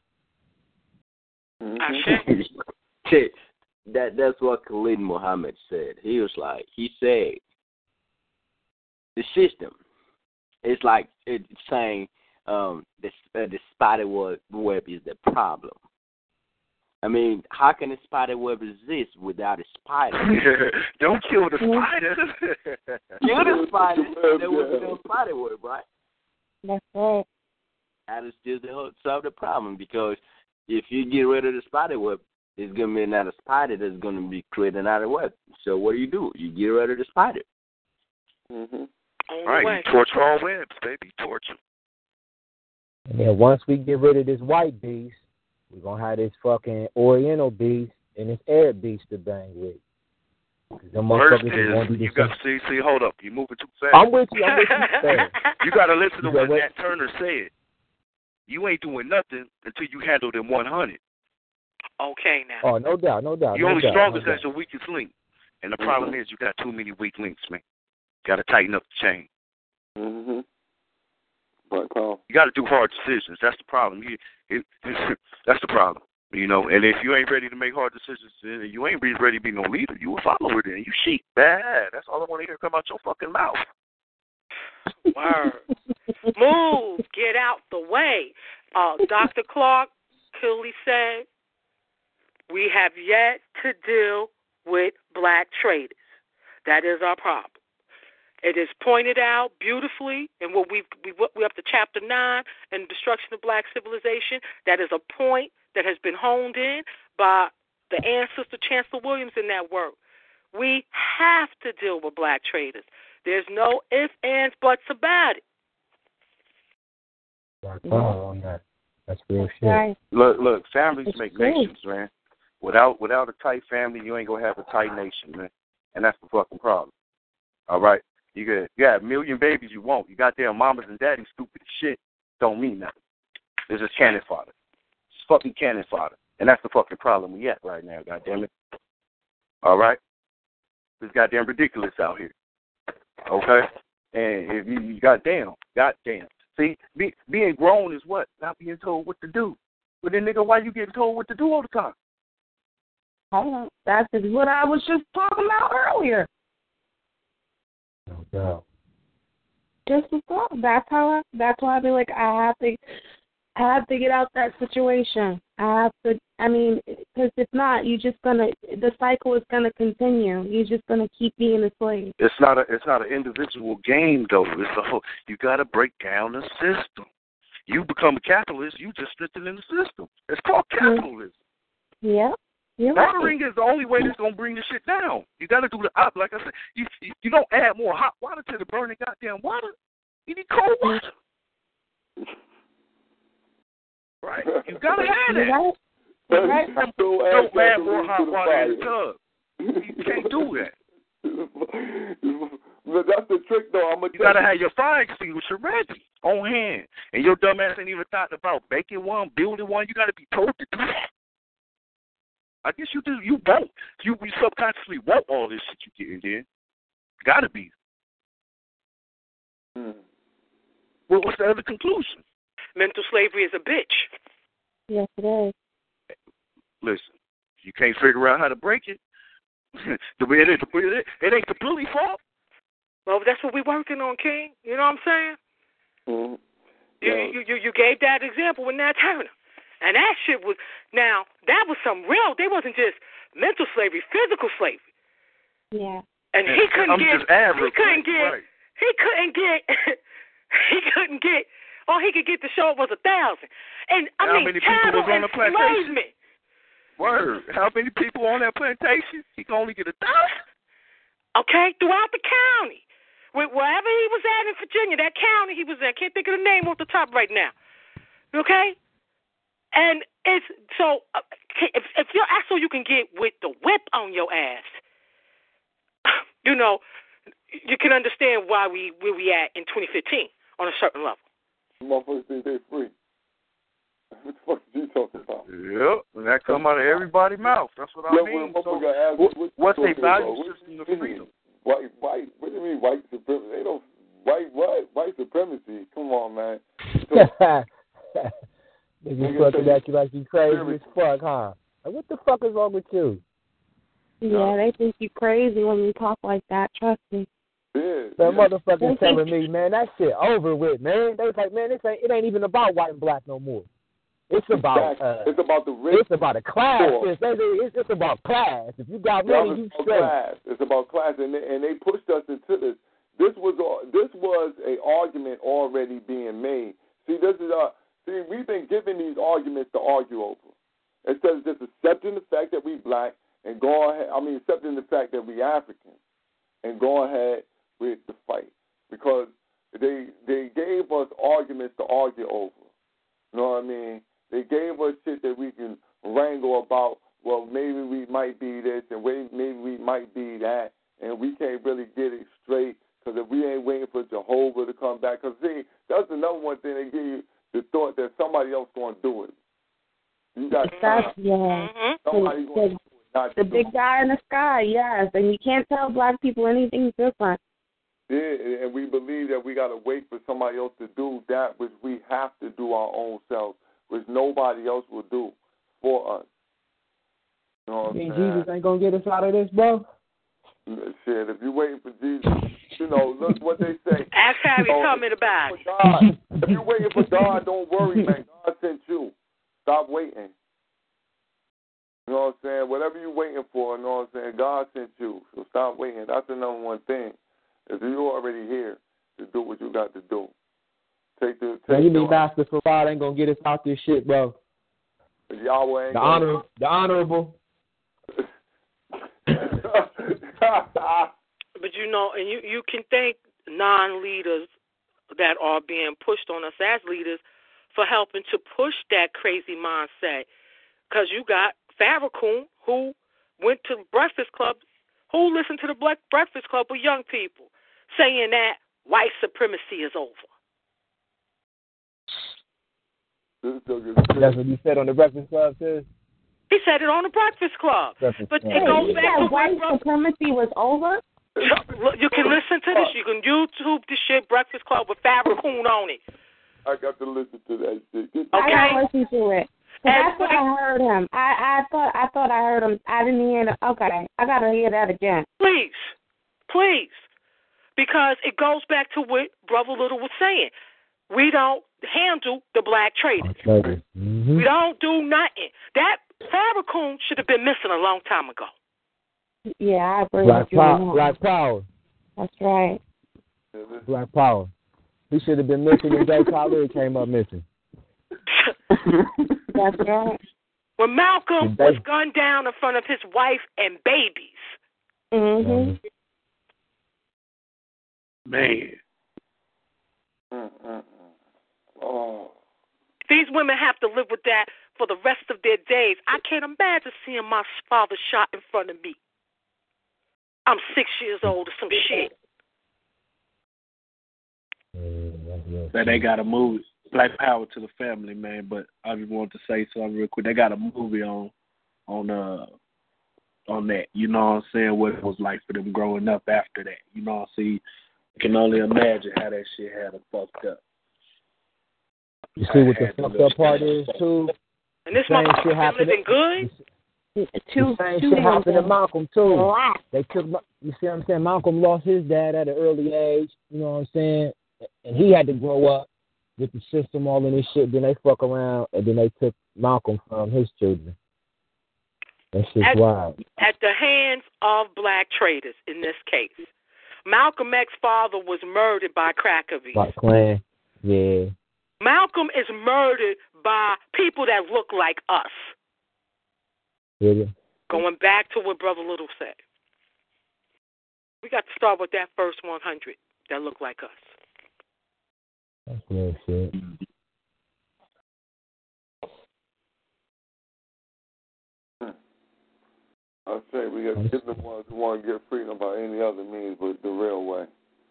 That's what Khalid Muhammad said. He said, the system, it's like it's saying the spider web is the problem. I mean, how can a spider web exist without a spider? Don't kill the spider. Kill the spider. There would be no spider web, right? That's right. That is just to solve the problem, because if you get rid of the spider web, it's going to be another spider that's going to be creating another web. So what do? You get rid of the spider. Right, you torture all webs, baby. Torture. And then once we get rid of this white beast, we're going to have this fucking Oriental beast and this Arab beast to bang with. First is, you got to see, hold up. You're moving too fast. I'm with you. You got to listen to what Nat Turner said. You ain't doing nothing until you handle them 100. Okay, now. Oh, no doubt. You're only strongest as your weakest link. And the problem is you got too many weak links, man. You got to tighten up the chain. You got to do hard decisions. That's the problem. That's the problem. You know, and if you ain't ready to make hard decisions, and you ain't ready to be no leader, you a follower then. You sheep. Bad. That's all I want to hear come out your fucking mouth. Word. Move. Get out the way. Dr. Clark clearly said, we have yet to deal with black traders. That is our problem. It is pointed out beautifully in what we're up to Chapter 9 in Destruction of Black Civilization. That is a point that has been honed in by the ancestor Chancellor Williams in that work. We have to deal with black traders. There's no ifs, ands, buts about it. On that. That's real shit. Look, families make nations, man. Without a tight family, you ain't gonna have a tight nation, man. And that's the fucking problem. All right? You got a million babies you want. You got their mamas and daddies stupid as shit. Don't mean nothing. It's just cannon fodder. It's fucking cannon fodder. And that's the fucking problem we at right now, goddammit. All right? It's goddamn ridiculous out here. Okay? And if you goddamn. See, being grown is what? Not being told what to do. But then, nigga, why you getting told what to do all the time? That's what I was just talking about earlier. No doubt. Just before. That's why I be like, I have to get out that situation. Because if not, the cycle is gonna continue. You're just gonna keep being a slave. It's not an individual game though. You gotta break down the system. You become a capitalist, you just fit in the system. It's called capitalism. Yeah. Watering is the only way that's going to bring the shit down. You got to do the op. Like I said, you don't add more hot water to the burning goddamn water. You need cold water. Right. You gotta have that. Right. Don't add more hot water in the tub. You can't do that. That's the trick, though. You gotta have your fire extinguisher ready on hand, and your dumb ass ain't even thought about making one, building one. You gotta be told to do that. I guess you do. You won't. You subconsciously want all this shit you getting there. Gotta be. Well, what's the other conclusion? Mental slavery is a bitch. Yes, it is. Listen, you can't figure out how to break it. It ain't completely fault. Well, that's what we're working on, King. You know what I'm saying? Mm-hmm. You gave that example with Nat Turner. And that shit was, now, that was some real, they wasn't just mental slavery, physical slavery. Yeah. And he couldn't get, all he could get to show it was 1,000. And I mean, many people was on the plantation? Enslavement. Word. How many people on that plantation? He can only get 1,000. Okay, throughout the county. Wherever he was at in Virginia, that county he was in, I can't think of the name off the top right now. Okay? And it's so if your asshole you can get with the whip on your ass, you know, you can understand why where we at in 2015 on a certain level. Motherfuckers think they're free. What the fuck are you talking about? Yep, and that come out of everybody's mouth. That's what I mean. So, what's a value system of freedom? White, what do you mean white supremacy? They don't, white supremacy? Come on, man. Niggas fucking at you like you crazy as fuck, huh? Like, what the fuck is wrong with you? Yeah, they think you crazy when you talk like that, trust me. Yeah. That motherfucker telling me, man, that shit over with, man. They was like, man, it ain't even about white and black no more. It's about it's about the rich. It's about a class. It's about class. If you got money, you straight. Class. It's about class, and they pushed us into this. This was a argument already being made. See, we've been given these arguments to argue over. Instead of just accepting the fact that we black and go ahead. I mean, accepting the fact that we African and go ahead with the fight, because they gave us arguments to argue over. You know what I mean? They gave us shit that we can wrangle about. Well, maybe we might be this and maybe we might be that, and we can't really get it straight because if we ain't waiting for Jehovah to come back. Because, see, that's another one thing they give you, the thought that somebody else going to do it. You got somebody going to do it. The big guy in the sky, yes, and you can't tell black people anything different. Yeah, and we believe that we got to wait for somebody else to do that which we have to do our own selves, which nobody else will do for us. You know what I'm saying? Jesus ain't going to get us out of this, bro? Shit, if you're waiting for Jesus, you know, look what they say. Ask Harry Tubman about it. God, if you're waiting for God, don't worry, man. God sent you. Stop waiting. You know what I'm saying? Whatever you're waiting for, you know what I'm saying? God sent you. So stop waiting. That's the number one thing. If you're already here, to do what you got to do. You mean Master Farad ain't gonna get us out this shit, bro? Yahweh ain't the honorable. But you know, and you can thank non-leaders that are being pushed on us as leaders for helping to push that crazy mindset. Because you got Farrakhan, who went to Breakfast Club, who listened to the Black Breakfast Club with young people, saying that white supremacy is over. That's what you said on the Breakfast Club, too? He said it on the Breakfast Club. But it goes back to white supremacy was over? You can listen to this. You can YouTube this shit, Breakfast Club with Farrakhan on it. I got to listen to that shit. Okay. I got to listen to it. That's what I heard him. I thought I heard him. I didn't hear it. Okay. I got to hear that again. Please. Because it goes back to what Brother Little was saying. We don't handle the black traders. Mm-hmm. We don't do nothing. That Farrakhan should have been missing a long time ago. Yeah, I agree Black with you. Black Power. That's right. Black Power. He should have been missing when Jay Khaled came up missing. That's right. When Malcolm was gunned down in front of his wife and babies. Mm-hmm. Man. Oh. These women have to live with that for the rest of their days. I can't imagine seeing my father shot in front of me. I'm 6 years old or some shit. That they got a movie, Black Power to the Family, man. But I just wanted to say something real quick. They got a movie on that. You know what I'm saying? What it was like for them growing up after that. You know what I'm saying? You can only imagine how that shit had them fucked up. You see what the fucked up part is too? And this motherfucker been living good? The same shit happened to Malcolm too. They took, you see what I'm saying? Malcolm lost his dad at an early age. You know what I'm saying? And he had to grow up with the system, all of this shit. Then they fuck around, and then they took Malcolm from his children. That shit's wild. At the hands of black traders, in this case. Malcolm X's father was murdered by Crackerbees. By Klan, yeah. Malcolm is murdered by people that look like us. Really? Going back to what Brother Little said. We got to start with that first 100 that look like us. That's real shit. I say we got to get the ones who want to get freedom by any other means but the real way.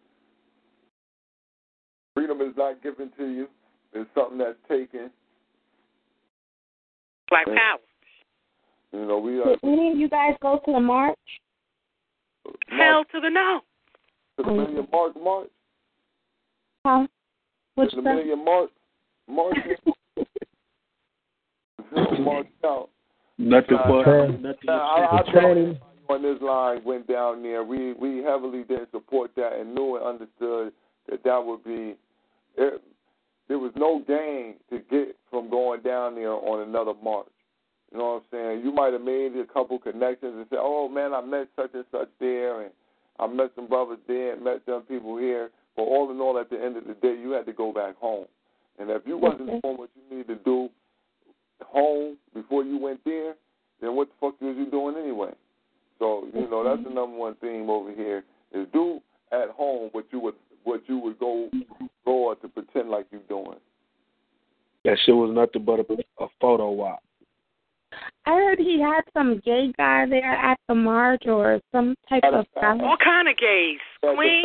Freedom is not given to you. It's something that's taken. Black power. You know, we are. Did any of you guys go to the march? Hell to the no. To the Million March? Huh? Which the Million March? March out. Nothing for nothing. I think on this line went down there. We heavily didn't support that and knew and understood that would be. There was no gain to get from going down there on another march. You know what I'm saying? You might have made a couple connections and said, "Oh man, I met such and such there, and I met some brothers there, and met some people here." But all in all, at the end of the day, you had to go back home. And if you wasn't doing what you needed to do home before you went there, then what the fuck was you doing anyway? So you know that's the number one theme over here is do at home what you would go abroad to pretend like you're doing. That shit was nothing but a photo op. I heard he had some gay guy there at the march or some type of all kind of gays. Queen.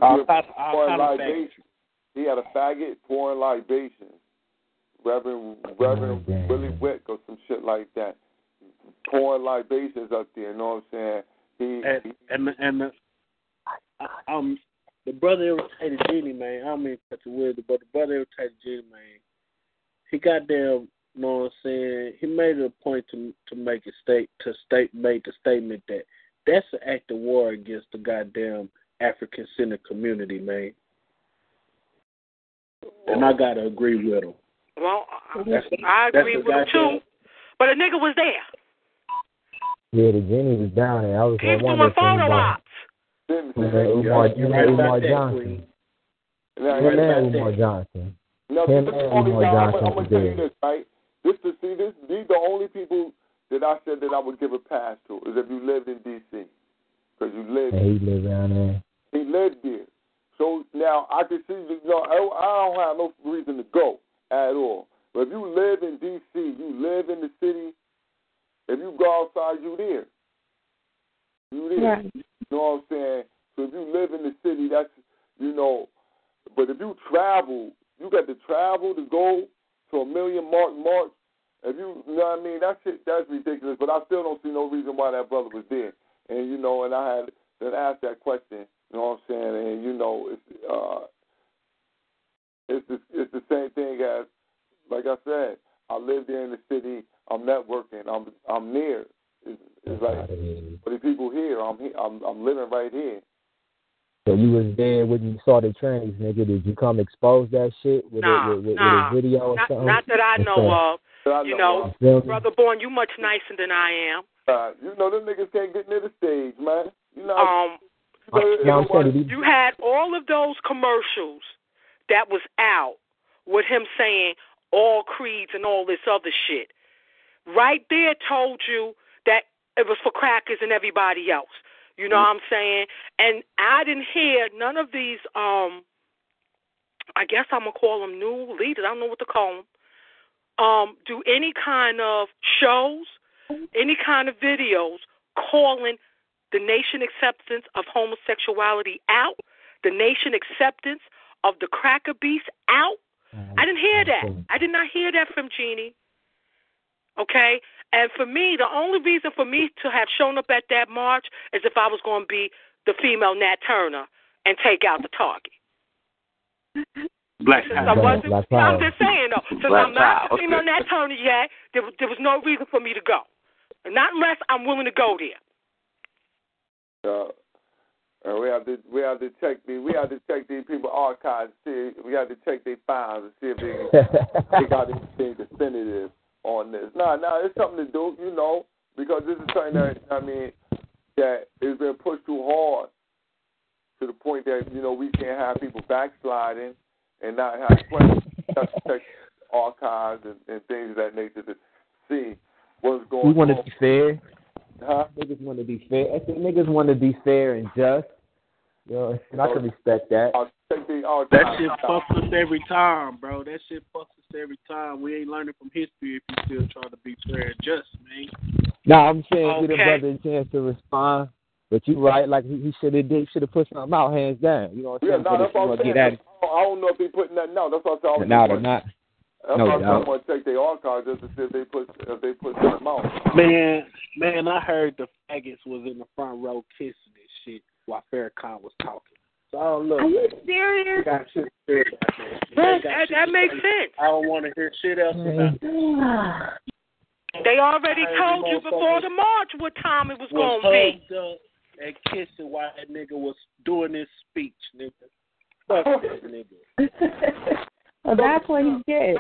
He had a faggot pouring libations. Reverend Willie Wick or some shit like that. Pouring libations up there, you know what I'm saying? The brother irritated Genie, man. I don't mean such a weird, but the brother irritated Genie, man. He goddamn, you know what I'm saying? He made it a point to make made the statement that that's an act of war against the goddamn African-centered community, man. And I gotta agree with him. Well, I agree with him too. But a nigga was there. Yeah, the Genie was down there. I was doing photo ops. Umar Johnson. Umar Johnson. No, I'm gonna tell you this, right? These are the only people that I said that I would give a pass to is if you lived in D.C. Because you lived. Yeah, he lived down there. He lived there. So now I can see, I don't have no reason to go at all. But if you live in D.C., you live in the city. If you go outside, you there. You there. Right. You know what I'm saying? So if you live in the city, that's, but if you travel, you got to travel to go to a Million March. If you know what I mean, that's ridiculous. But I still don't see no reason why that brother was there. And and I had to ask that question. You know what I'm saying? And it's the same thing as, like I said, I live there in the city. I'm networking. I'm near. It's like, for the people here, I'm living right here. So you was there when you saw the trannies, nigga. Did you come expose that shit with a video or something? Not that I know of. Brother Born, you much nicer than I am. Them niggas can't get near the stage, man. You had all of those commercials that was out with him saying all creeds and all this other shit. Right there told you that it was for crackers and everybody else. You know what I'm saying? And I didn't hear none of these I guess I'm going to call them new leaders. I don't know what to call them. Do any kind of shows, any kind of videos calling the nation acceptance of homosexuality out, the nation acceptance of the cracker beast out. I didn't hear that. I did not hear that from Jeannie. Okay? And for me, the only reason for me to have shown up at that march is if I was going to be the female Nat Turner and take out the target. Black Child. I'm just saying, though. Since I'm not the Child. female Nat Turner yet, there was no reason for me to go. Not unless I'm willing to go there. We have to check these people archives. See, we have to check their files and see if they got anything definitive on this. No, it's something to do, you know, because this is something that that has been pushed too hard to the point that we can't have people backsliding and not have plenty to check archives and things of that nature to see what's going on. We want to be fair. Huh? Niggas want to be fair. I think niggas want to be fair and just. And I can respect that. That shit fucks us every time, bro. That shit fucks us every time. We ain't learning from history if you still trying to be fair and just, man. Nah, I'm saying give the brother a chance to respond. But you right, like he should have put something out, hands down. You know what I'm saying? Yeah, that's what I'm saying. I don't know if they putting that. No, that's what I'm saying. No, they're not. That's why I'm going to check their archives just to see if they put something out. Man, I heard the faggots was in the front row kissing this shit while Farrakhan was talking. So look. Are you serious? That makes sense. I don't want to hear shit else about it. They already told you before the march what time it was going to be. And kissing while that nigga was doing his speech, nigga. Fuck that nigga. Well, that's what he did.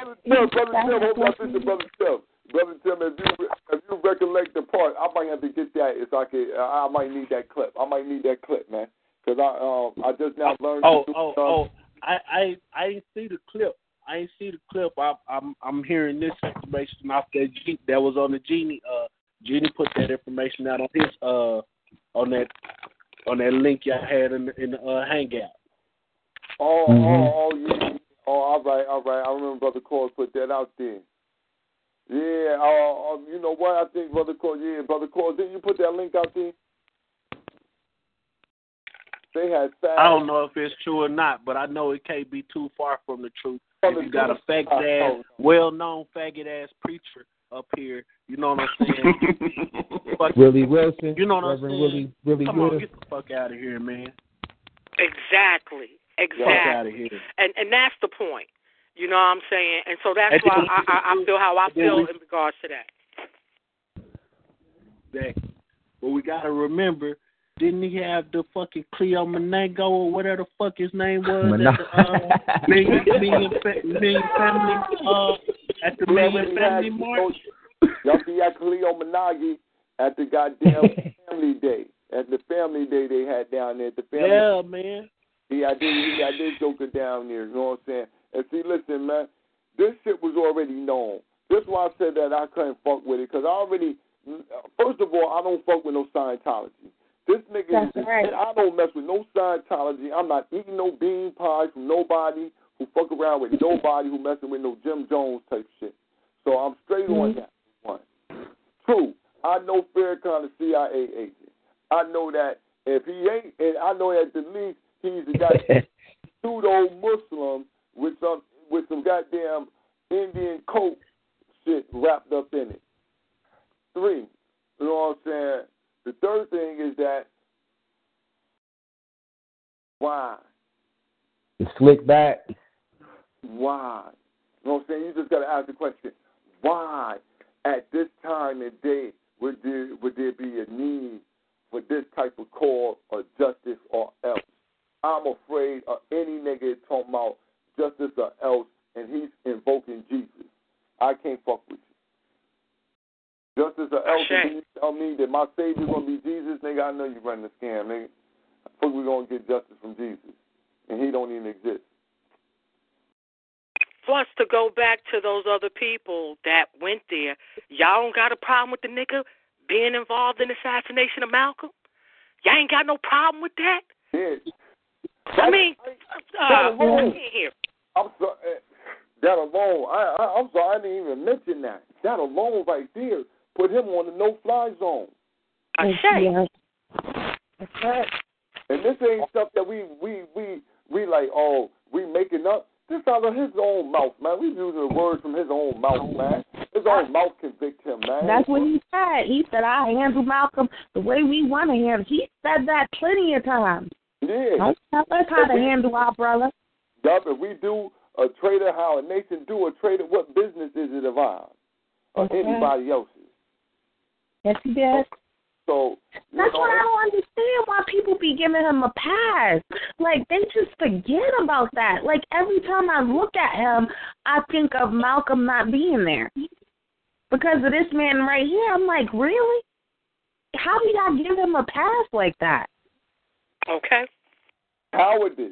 Brother Tim, if you recollect the part, I might have to get that. I might need that clip. Man, because I just now learned. I ain't see the clip. I'm hearing this information off that was on the Genie. Genie put that information out on his on that link y'all had in the Hangout. Yeah. All right. I remember Brother Cole put that out there. Yeah, you know what? I think Brother Cole, didn't you put that link out there? They had I don't know if it's true or not, but I know it can't be too far from the truth. If you got a faggot-ass, well-known faggot-ass preacher up here, you know what I'm saying? Willie Wilson. You know what I'm saying? Willie Come on, get the fuck out of here, man. Exactly. Fuck out of here. And that's the point. You know what I'm saying? And so that's why I feel how I feel in regards to that. But we got to remember, didn't he have the fucking Cleo Menango or whatever the fuck his name was at the Million Family at the Million Family March? Y'all see that Cleo Menagi at the goddamn Family Day. At the Family Day they had down there at the Family. Yeah, man. He had this joker down there, you know what I'm saying? And see, listen, man, this shit was already known. This is why I said that I couldn't fuck with it, because first of all, I don't fuck with no Scientology. This nigga, I don't mess with no Scientology. I'm not eating no bean pies from nobody who fuck around with nobody who messing with no Jim Jones type shit. So I'm straight on that one. Two, I know Farrakhan is a CIA agent. I know that if he ain't, and I know at the least he's a goddamn pseudo-Muslim with some goddamn Indian coat shit wrapped up in it. Three, you know what I'm saying? The third thing is that why? The slick back. Why? You know what I'm saying? You just got to ask the question, why at this time and day would there be a need for this type of call or justice or else? I'm afraid of any nigga talking about justice or else and he's invoking Jesus. I can't fuck with you. Justice or else, and you tell me that my Savior's going to be Jesus, nigga, I know you're running a scam, nigga. I think we're going to get justice from Jesus, and he don't even exist. Plus, to go back to those other people that went there, y'all don't got a problem with the nigga being involved in the assassination of Malcolm? Y'all ain't got no problem with that? Yeah. I mean, here. I'm sorry. That alone, I'm sorry, I didn't even mention that. That alone right there put him on the no-fly zone. Yeah. That's right. And this ain't stuff that we like, oh, we making up. This out of his own mouth, man. We using the words from his own mouth, man. His own mouth convict him, man. That's what he said. He said, I handle Malcolm the way we want to handle. He said that plenty of times. Yeah. Don't tell us how to handle our brother. Yup, if we do a trader how a nation do a trader, what business is it of ours or anybody else's? Yes, he did. So that's what I don't understand, why people be giving him a pass. Like, they just forget about that. Like, every time I look at him, I think of Malcolm not being there. Because of this man right here, I'm like, really? How do y'all give him a pass like that? Okay. Cowardice.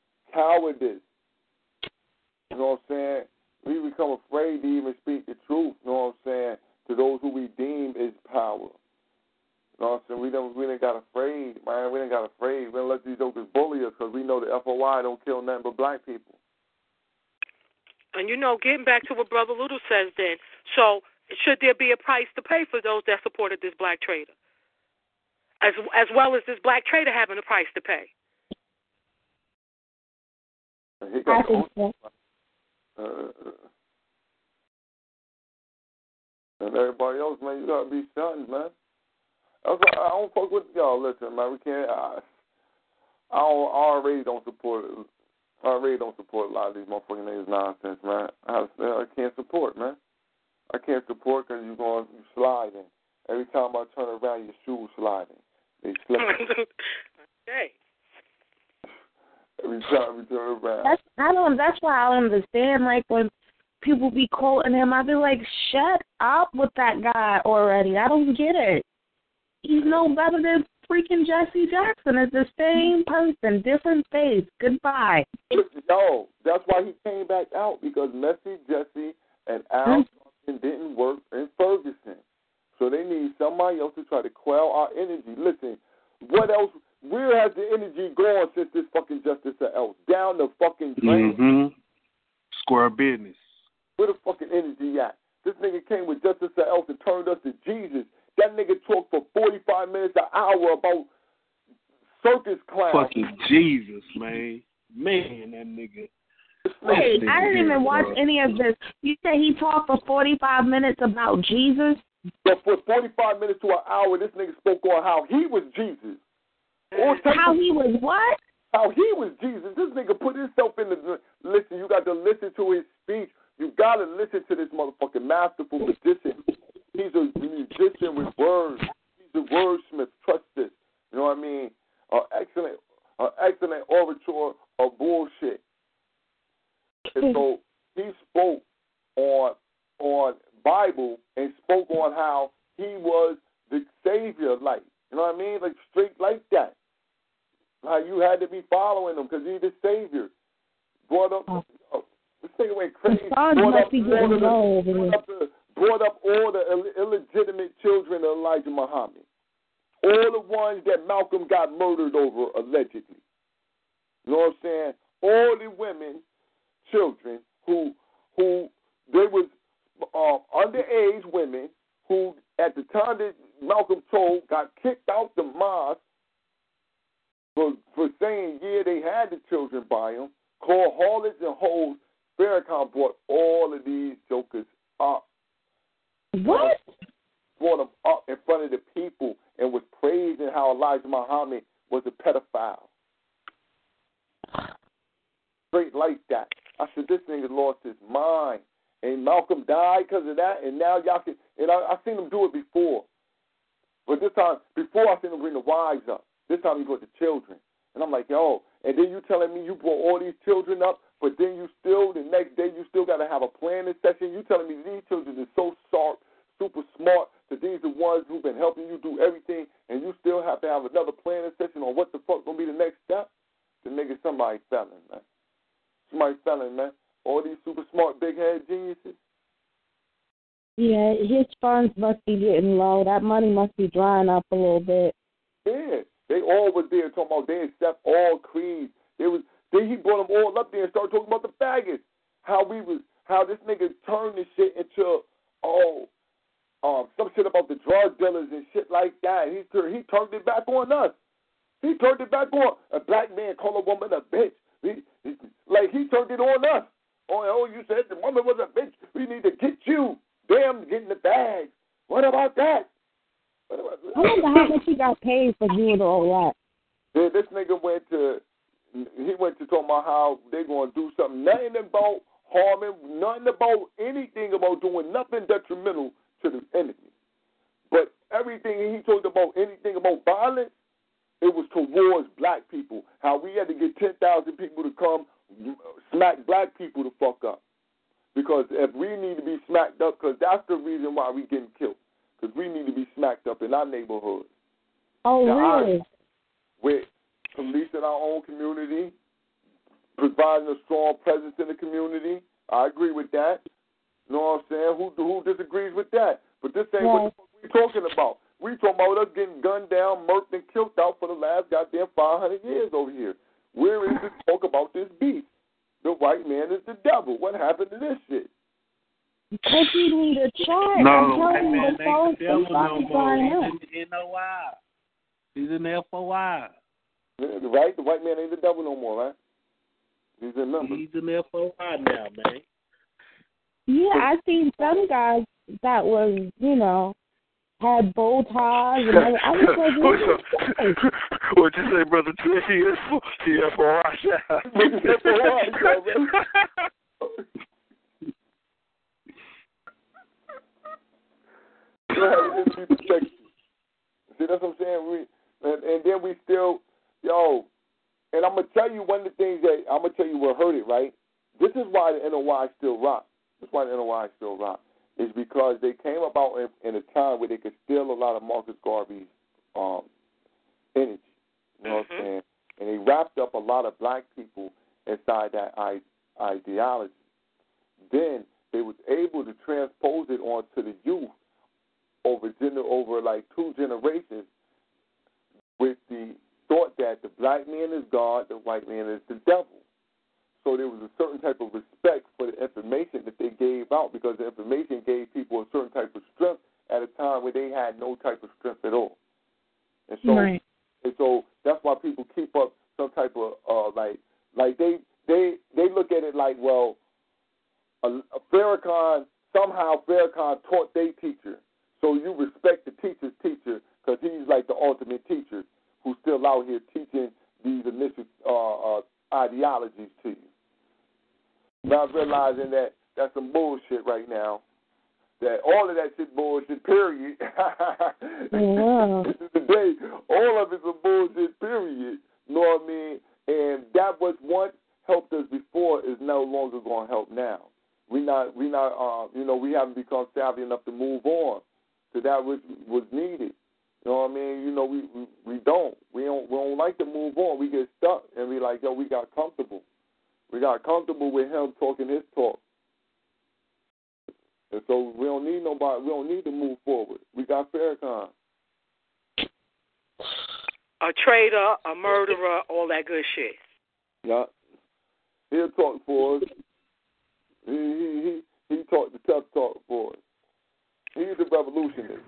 You know what I'm saying? We become afraid to even speak the truth, you know what I'm saying, to those who we deem is power. You know what I'm saying? We didn't got afraid, man. We didn't got afraid. We didn't let these jokers bully us because we know the FOI don't kill nothing but black people. And, getting back to what Brother Little says then, so should there be a price to pay for those that supported this black trader? As well as this black trader having a price to pay? I think so. And everybody else, man, you got to be shunned, man. I don't fuck with y'all. Listen, man, we can't. I already don't support it. I already don't support a lot of these motherfucking niggas nonsense, man. I can't support, man. I can't support because you sliding. Every time I turn around, your shoes sliding. They slipping. Okay. Every time we turn around. That's why I don't understand. Like, when people be quoting him, I be like, shut up with that guy already. I don't get it. He's no better than freaking Jesse Jackson. It's the same person, different face. Goodbye. No, that's why he came back out, because Messy, Jesse, and Al didn't work in Ferguson. So they need somebody else to try to quell our energy. Listen, what else? Where has the energy gone since this fucking Justice else? Down the fucking drain. Mm-hmm. Square business. Where the fucking energy at? This nigga came with Justice else and turned us to Jesus. That nigga talked for 45 minutes an hour about circus clowns. Fucking Jesus, man. Man, that nigga. Wait, I didn't even watch any of this. You said he talked for 45 minutes about Jesus? But for 45 minutes to an hour, this nigga spoke on how he was Jesus. How he was what? How he was Jesus. This nigga put himself in the... Listen, you got to listen to his speech. You got to listen to this motherfucking masterful musician. He's a musician with words. He's a wordsmith. Trust this. You know what I mean? Excellent orator of bullshit. And so he spoke on Bible and spoke on how he was the savior, like, you know what I mean? Like, straight like that. How you had to be following him because he's the savior. Brought up, this thing went crazy. Brought up all the illegitimate children of Elijah Muhammad. All the ones that Malcolm got murdered over, allegedly. You know what I'm saying? All the women, children, who they was underage women who, at the time that Malcolm told, got kicked out the mosque for saying, yeah, they had the children by them, called harlots and hoes. Farrakhan brought all of these jokers up. What? Brought them up in front of the people and was praising how Elijah Muhammad was a pedophile. Straight like that. I said, this nigga lost his mind. And Malcolm died because of that, and now y'all can... And I seen him do it before. But this time, before I seen him bring the wives up. This time he brought the children. And I'm like, yo, and then you telling me you brought all these children up, but then you still, the next day, you still got to have a planning session. You telling me these children are so sharp, super smart, that these are the ones who've been helping you do everything, and you still have to have another planning session on what the fuck going to be the next step? The nigga, somebody felon, man. Somebody felon, man. All these super smart, big-head geniuses. Yeah, his funds must be getting low. That money must be drying up a little bit. Yeah, they all was there talking about they accept all creeds. They was Then he brought them all up there and started talking about the faggots. How this nigga turned this shit into, some shit about the drug dealers and shit like that. He turned it back on us. He turned it back on. A black man call a woman a bitch. He turned it on us. Oh, you said the woman was a bitch. We need to get you. Damn, get in the bag. What about that? I wonder how much he got paid for doing all that. This nigga went to talk about how they're going to do something. Nothing about harming, nothing about anything about doing nothing detrimental to the enemy. But everything he talked about, anything about violence, it was towards black people. How we had to get 10,000 people to come smack black people the fuck up. Because if we need to be smacked up, because that's the reason why we getting killed. Because we need to be smacked up in our neighborhoods. Oh, now, really? With police in our own community, providing a strong presence in the community. I agree with that. You know what I'm saying? Who disagrees with that? But this ain't what we're talking about. We talking about us getting gunned down, murked, and killed out for the last goddamn 500 years over here. Where is the talk about this beef? The white man is the devil. What happened to this shit? Because you need a chart. No, the white man ain't the devil no more. He's in the NOI. He's in the FOI. Right? The white man ain't the devil no more, right? He's in numbers. He's in the FOI now, man. Yeah, I seen some guys that was, had bow ties and everything. I was like, what'd you say, Brother T? He FOI. See, that's what I'm saying. And then we still, and I'm going to tell you one of the things that, I'm going to tell you what hurt it, right? This is why the NOI still rock. This is why the NOI still rock. Is because they came about in a time where they could steal a lot of Marcus Garvey's energy. You know what I'm saying? And they wrapped up a lot of black people inside that ideology. Then they was able to transpose it onto the youth over like 2 generations with the thought that the black man is God, the white man is the devil. So there was a certain type of respect for the information that they gave out because the information gave people a certain type of strength at a time where they had no type of strength at all. And so, and so that's why people keep up some type of like they look at it like, well, somehow Farrakhan taught their teacher. So you respect the teacher's teacher because he's like the ultimate teacher who's still out here teaching these initial ideologies to you. Not realizing that that's some bullshit right now. That all of that shit bullshit, period. Today, all of it's a bullshit, period. You know what I mean? And that was what helped us before is no longer going to help now. We haven't become savvy enough to move on to that which was needed. You know what I mean? We don't like to move on. We get stuck and we like, we got comfortable. We got comfortable with him talking his talk. And so we don't need nobody. We don't need to move forward. We got Farrakhan. A traitor, a murderer, all that good shit. Yeah. He'll talk for us. He talked the tough talk for us. He's a revolutionist.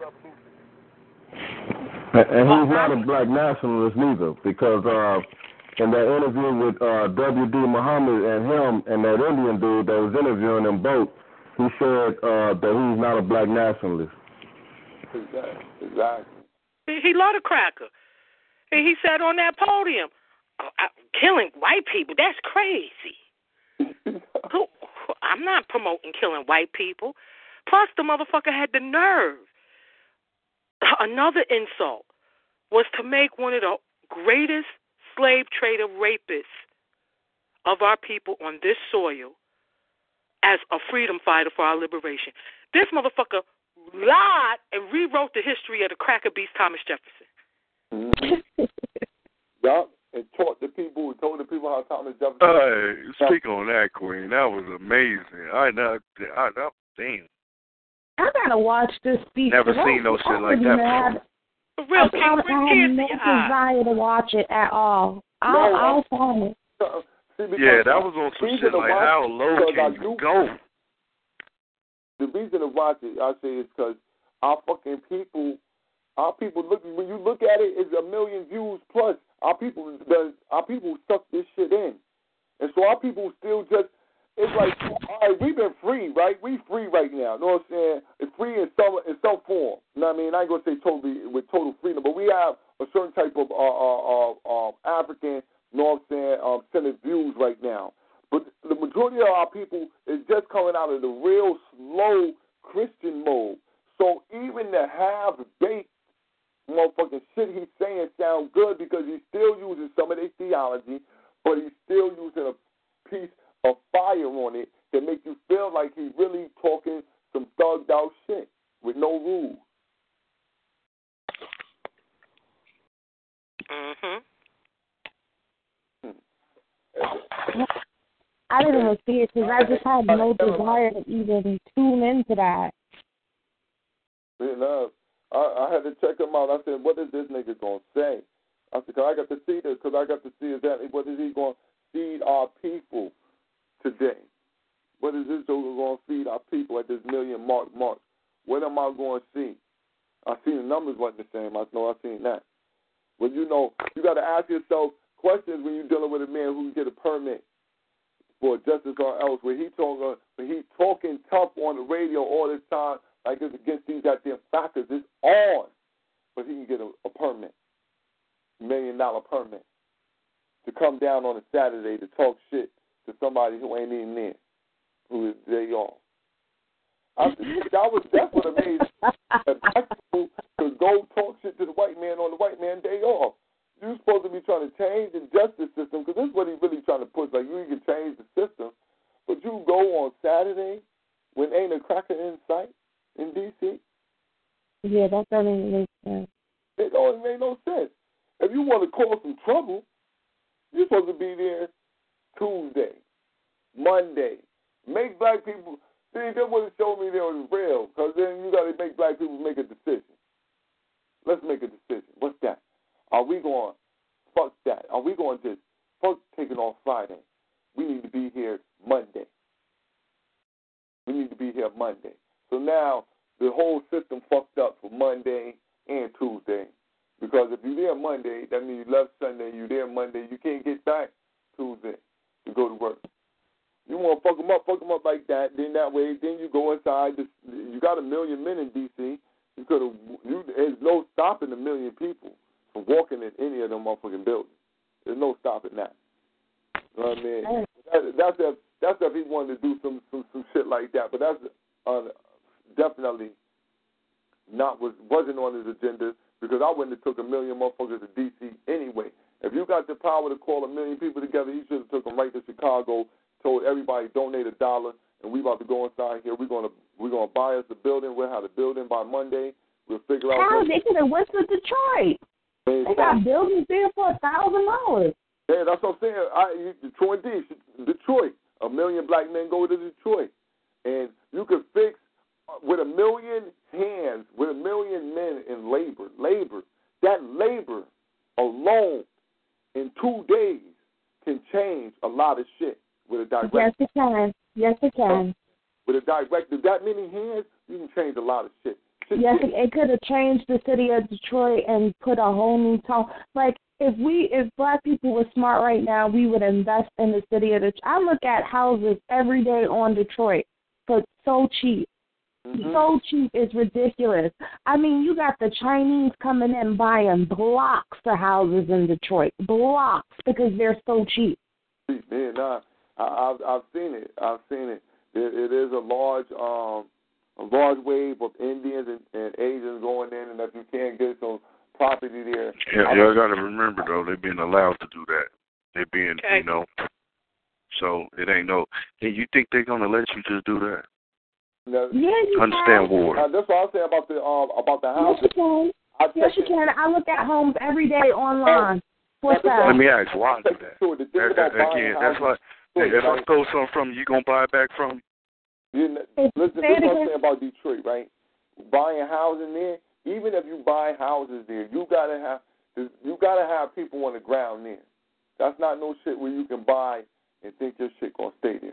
And he's not a black nationalist neither, because in that interview with W.D. Muhammad and him and that Indian dude that was interviewing them both, he said that he's not a black nationalist. Exactly. He loved a cracker. And he said on that podium, killing white people, that's crazy. I'm not promoting killing white people. Plus, the motherfucker had the nerve. Another insult was to make one of the greatest slave trader rapists of our people on this soil as a freedom fighter for our liberation. This motherfucker lied and rewrote the history of the cracker beast Thomas Jefferson. Mm-hmm. Yup, and told the people how Thomas Jefferson. Hey, speak on that, Queen. That was amazing. Damn. I gotta watch this speech. Never seen no shit like that before. Real I have no desire to watch it at all. I'll find it. Yeah, that was on some shit like how low can you go? The reason to watch it, I say, is because our people look. When you look at it, it's 1 million views plus. Our people suck this shit in, and so our people still just. It's like, all right, we've been free, right? We free right now. You know what I'm saying? It's free in some form. You know what I mean? I ain't gonna say totally with total freedom, but we have a certain type of African, you know what I'm saying, centered views right now. But the majority of our people is just coming out of the real slow Christian mode. So even the half-baked motherfucking shit he's saying sounds good because he's still using some of their theology, but he's still using a piece of fire on it that make you feel like he's really talking some thugged out shit with no rules. I didn't even see it because I just had no desire to even tune into that. You know, I had to check him out. I said, what is this nigga going to say? I said, because I got to see this, because I got to see exactly what is he going to feed our people today. What is this Joker going to feed our people at this million mark? What am I going to see? I seen the numbers wasn't the same. I know I seen that. But you know, you got to ask yourself questions when you're dealing with a man who can get a permit for justice or else. When he talking tough on the radio all this time, like it's against these goddamn factors, it's on. But he can get a permit, $1 million permit, to come down on a Saturday to talk shit to somebody who ain't even there, who is day off. That's what amazed that black people could go talk shit to the white man on the white man day off. You're supposed to be trying to change the justice system because this is what he's really trying to push. Like, you can change the system, but you go on Saturday when ain't a cracker in sight in D.C.? Yeah, that doesn't make sense. It don't make no sense. If you want to cause some trouble, you're supposed to be there Tuesday, Monday. Make black people, see, that would have shown me there was real, because then you got to make black people make a decision. Let's make a decision. What's that? Are we going, fuck that? Are we going to, fuck taking off Friday? We need to be here Monday. We need to be here Monday. So now the whole system fucked up for Monday and Tuesday. Because if you're there Monday, that means you left Sunday, you're there Monday, you can't get back Tuesday to go to work. You want to fuck them up like that, then that way, then you go inside. You got 1 million men in D.C. There's no stopping 1 million people from walking in any of them motherfucking buildings. There's no stopping that. You know what I mean? That's if he wanted to do some shit like that, but that's definitely wasn't on his agenda, because I wouldn't have took 1 million motherfuckers to D.C. anyway. If you got the power to call 1 million people together, you should have took them right to Chicago, told everybody donate $1, and we about to go inside here. We're gonna buy us a building. We'll have the building by Monday. We'll figure out. How they could have went to Detroit? They got buildings there for $1,000. Yeah, that's what I'm saying. Detroit. 1 million black men go to Detroit, and you could fix with 1 million hands, with 1 million men in labor. That labor alone in 2 days can change a lot of shit with a direct. Yes, it can. With a directive, that many hands, you can change a lot of shit. Yes, it could have changed the city of Detroit and put a whole new tone. Like, if black people were smart right now, we would invest in the city of Detroit. I look at houses every day on Detroit for so cheap. Mm-hmm. So cheap, it's ridiculous. I mean, you got the Chinese coming in buying blocks of houses in Detroit. Blocks, because they're so cheap. Man, I've seen it. It is a large wave of Indians and Asians going in, and if you can't get some property there. Yeah, y'all got to remember, though, they're being allowed to do that. They're being, so it ain't no. Hey, you think they're going to let you just do that? No, you understand can. war. That's what I'm saying about the house. Yes, you can. I look at homes every day online. What's that? Let me ask, why do that? Again, that's like, if I stole something from you, going to buy it back from you? Listen, this is what I'm saying about Detroit, right? Buying housing there, even if you buy houses there, you gotta have people on the ground there. That's not no shit where you can buy and think your shit gonna stay there.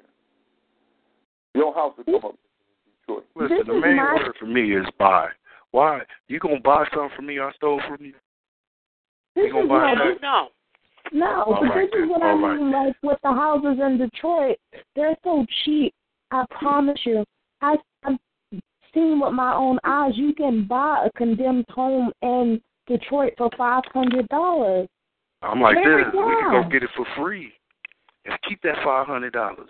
Your house will come up in Detroit. Listen, the main word for me is buy. Why? You gonna buy something from me I stole from you? You gonna buy that? No. No, but this is what I mean, like, with the houses in Detroit, they're so cheap. I promise you. I've seen with my own eyes, you can buy a condemned home in Detroit for $500. I'm like this. We can go get it for free and keep that $500.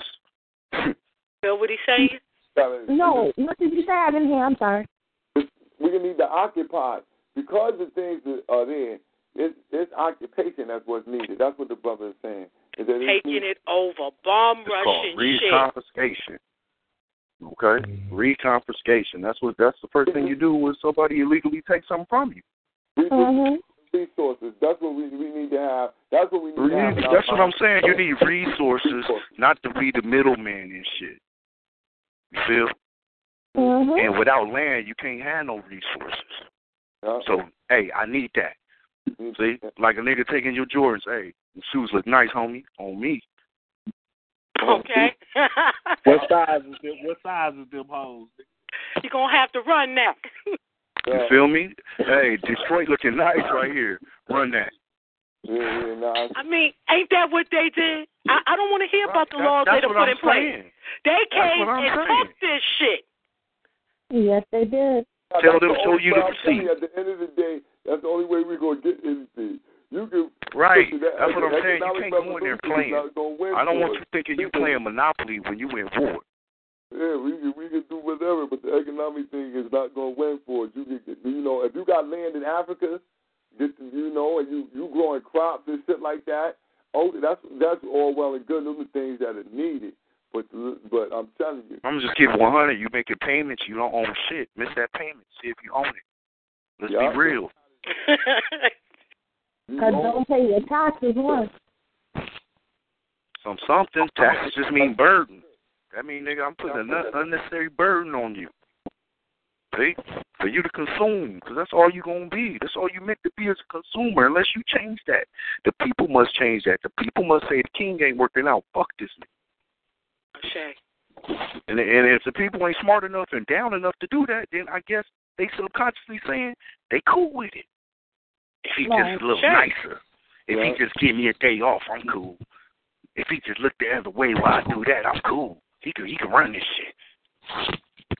Feel what he's saying? No, what did you say? I didn't hear. I'm sorry. We can need to occupy because the things that are there. It's occupation that's what's needed. That's what the brother is saying. Is that taking it over, bomb rushing shit. Reconfiscation. Okay, reconfiscation. That's the first thing you do when somebody illegally takes something from you. Resources. That's what we need to have. That's what we need to have. That's what I'm saying. You need resources, not to be the middleman and shit. You feel? And without land, you can't have no resources. So, hey, I need that. See, like a nigga taking your Jordans. Hey, the shoes look nice, homie. On me. Okay. What size is them hoes? You're gonna have to run now. You feel me? Hey, Detroit looking nice right here. Run that. I mean, ain't that what they did? I don't want to hear about the laws they put in place. They came and took this shit. Yes, they did. Tell them, show you the receipt. At the end of the day, that's the only way we're going to get anything. You can, right. That's what I'm saying. You can't go in there playing. I don't want you thinking you playing Monopoly when you in war. Yeah, we can do whatever, but the economic thing is not going to win for it. You can, if you got land in Africa, and you growing crops and shit like that, that's all well and good. Those are things that are needed. But I'm telling you, I'm just giving 100. You making payments, you don't own shit. Miss that payment. See if you own it. Let's be real. Because don't pay your taxes once. Something. Taxes just mean burden. That mean, nigga, I'm putting an unnecessary burden on you. See? For you to consume, because that's all you're going to be. That's all you meant to be as a consumer, unless you change that. The people must change that. The people must say the king ain't working out. Fuck this nigga. And if the people ain't smart enough and down enough to do that, then I guess they subconsciously saying they cool with it. If he just a little nicer, if he just give me a day off, I'm cool. If he just look the other way while I do that, I'm cool. He can run this shit.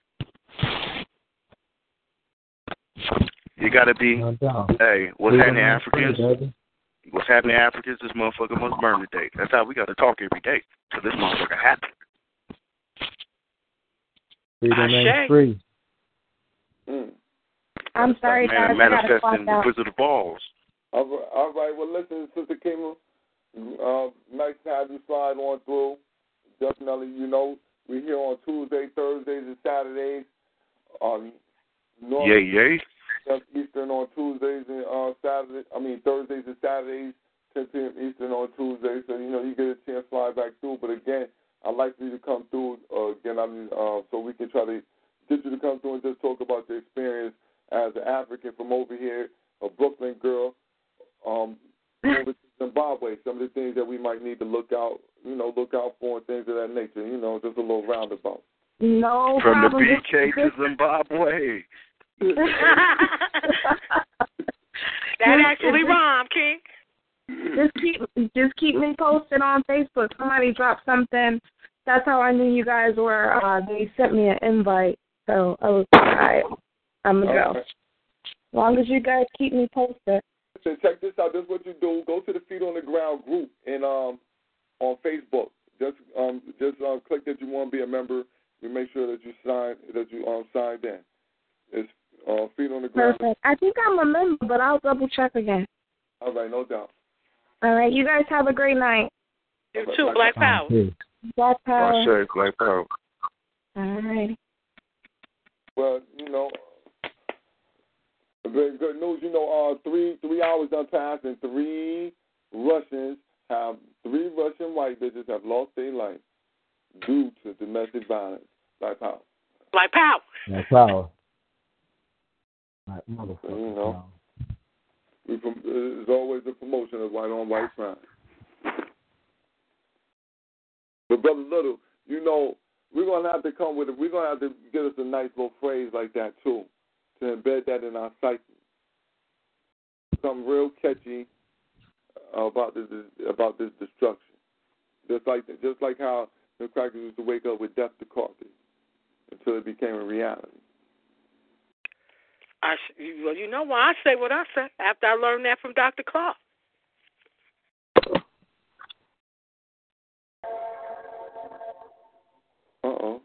You gotta be. Hey, what's happening, Africans? What's happening, Africans? This motherfucker must burn today. That's how we gotta talk every day. So this motherfucker happen. Freedom ain't free. I'm sorry, guys. Manifesting the Wizard of Balls. All right. Well, listen, Sister Kima, nice to have you slide on through. Definitely, we're here on Tuesday, Thursdays, and Saturdays. Yay. Eastern on Tuesdays and Thursdays and Saturdays, 10 p.m. Eastern on Tuesdays. So, you get a chance to slide back through. But again, I'd like for you to come through again. So we can try to get you to come through and just talk about your experience as an African from over here, a Brooklyn girl, over to Zimbabwe. Some of the things that we might need to look out for and things of that nature. Just a little roundabout. No from problem. the BK to Zimbabwe. That actually rhymed, King. Just keep me posted on Facebook. Somebody dropped something. That's how I knew you guys were. They sent me an invite, so I was all right. I'm gonna go. As long as you guys keep me posted. So check this out. This is what you do. Go to the Feet on the Ground group and on Facebook. Just click that you want to be a member. You make sure that you signed in. It's Feet on the Ground. Perfect. I think I'm a member, but I'll double check again. All right, no doubt. All right, you guys have a great night. You too, Black Power. Black Power. Sure, Black Power. All right. Well, very good news. 3 hours done passed, and three Russian white bitches have lost their life due to domestic violence. Black Power. Black Power. Black Power. Black motherfucker. There's always a promotion of white on white crime. So, Brother Little, we're going to have to come with it. We're going to have to get us a nice little phrase like that, too, to embed that in our psyche. Something real catchy about this destruction. Just like how the crackers used to wake up with death to coffee until it became a reality. Well, you know why I say what I say after I learned that from Dr. Clark. Uh-oh.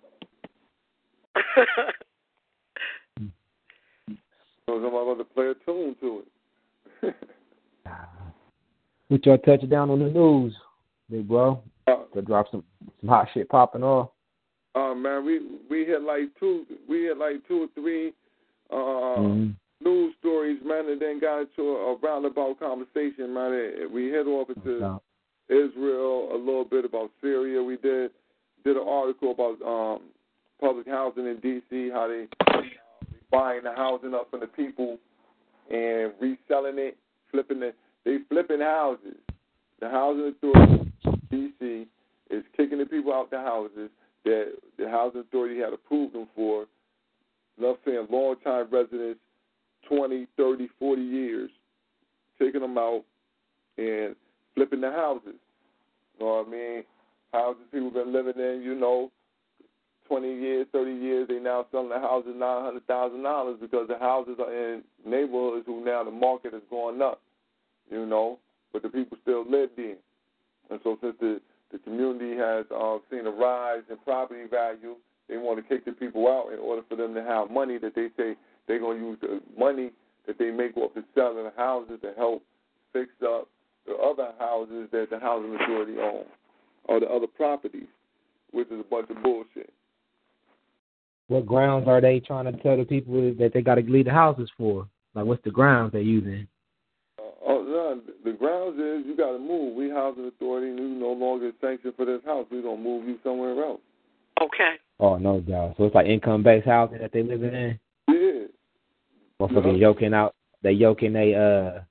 So I'm about to play a tune to it. Put your touchdown on the news, big bro. To drop some hot shit popping off. Man, we hit like two or three news stories, man, and then got into a roundabout conversation, man. We hit off into Israel, a little bit about Syria. We did an article about public housing in D.C., how they buying the housing up for the people and reselling it, they flipping houses. The housing authority in D.C. is kicking the people out the houses that the housing authority had approved them for. Love saying long-time residents, 20, 30, 40 years, taking them out and flipping the houses. You know what I mean? Houses people been living in, 20 years, 30 years, they now selling the houses $900,000 because the houses are in neighborhoods who now the market is going up, but the people still live there. And so since the community has seen a rise in property value, they want to kick the people out in order for them to have money that they say they're going to use the money that they make off the selling the houses to help fix up the other houses that the housing authority owns or the other properties, which is a bunch of bullshit. What grounds are they trying to tell the people that they got to leave the houses for? Like, what's the grounds they're using? The grounds is you got to move. We housing authority, you no longer sanctioned for this house. We're going to move you somewhere else. Okay. Oh, no doubt. So it's like income-based housing that they living in? Yeah. Motherfuckers yoking out. They yoking their,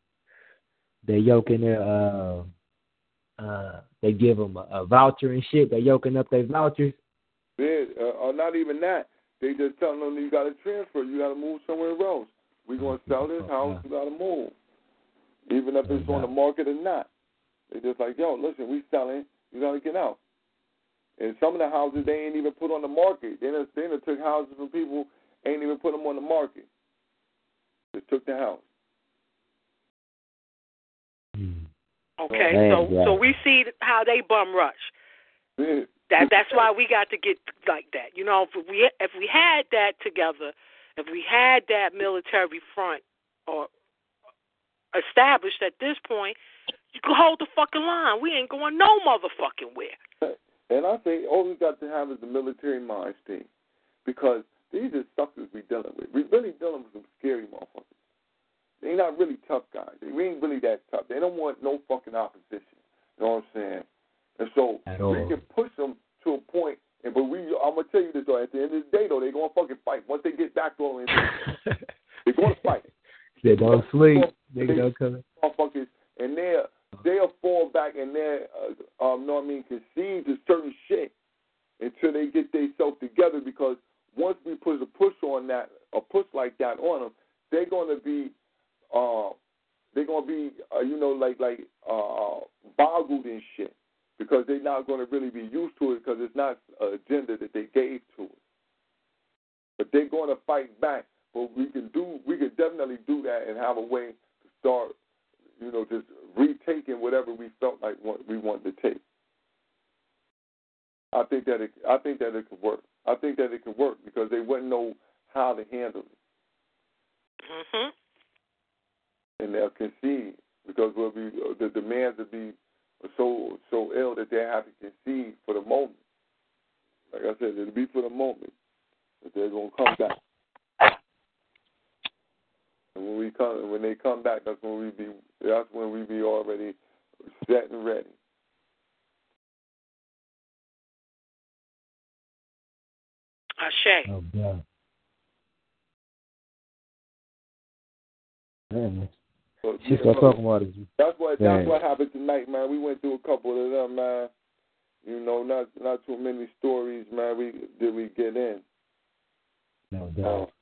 they give them a voucher and shit. They yoking up their vouchers. Yeah, or not even that. They just telling them you got to transfer. You got to move somewhere else. We're going to sell this house. You got to move. Even if it's on the market or not. They just like, yo, listen, we selling. You got to get out. And some of the houses they ain't even put on the market. They done took houses from people, ain't even put them on the market. Just took the house. Okay, so we see how they bum rush. Yeah. That's why we got to get like that. If we had that together, if we had that military front or established at this point, you can hold the fucking line. We ain't going no motherfucking where. And I think all we got to have is the military mind state, because these are suckers we dealing with. We really dealing with some scary motherfuckers. They not really tough guys. We ain't really that tough. They don't want no fucking opposition. You know what I'm saying? And so we can push them to a point. But I'm gonna tell you this though. At the end of the day, though, they're gonna fucking fight. Once they get back to them, they're gonna fight. They don't sleep. They don't come. Motherfuckers, and they'll fall back and concede to certain shit until they get themselves together. Because once we put a push on that, a push like that on them, they're gonna be boggled in shit, because they're not going to really be used to it, because it's not an agenda that they gave to it. But they're going to fight back. But we can definitely do that and have a way to start, just retaking whatever we felt like we wanted to take. I think that it could work. I think that it could work because they wouldn't know how to handle it. Mhm. And they'll concede because the demands will be so ill that they have to concede for the moment. Like I said, it'll be for the moment, but they're gonna come back. And when they come back, that's when we be already set and ready. Ashe. Oh God. Man. She's gonna talk about it. That's what happened tonight, man. We went through a couple of them, man. not too many stories, man. We get in. No doubt.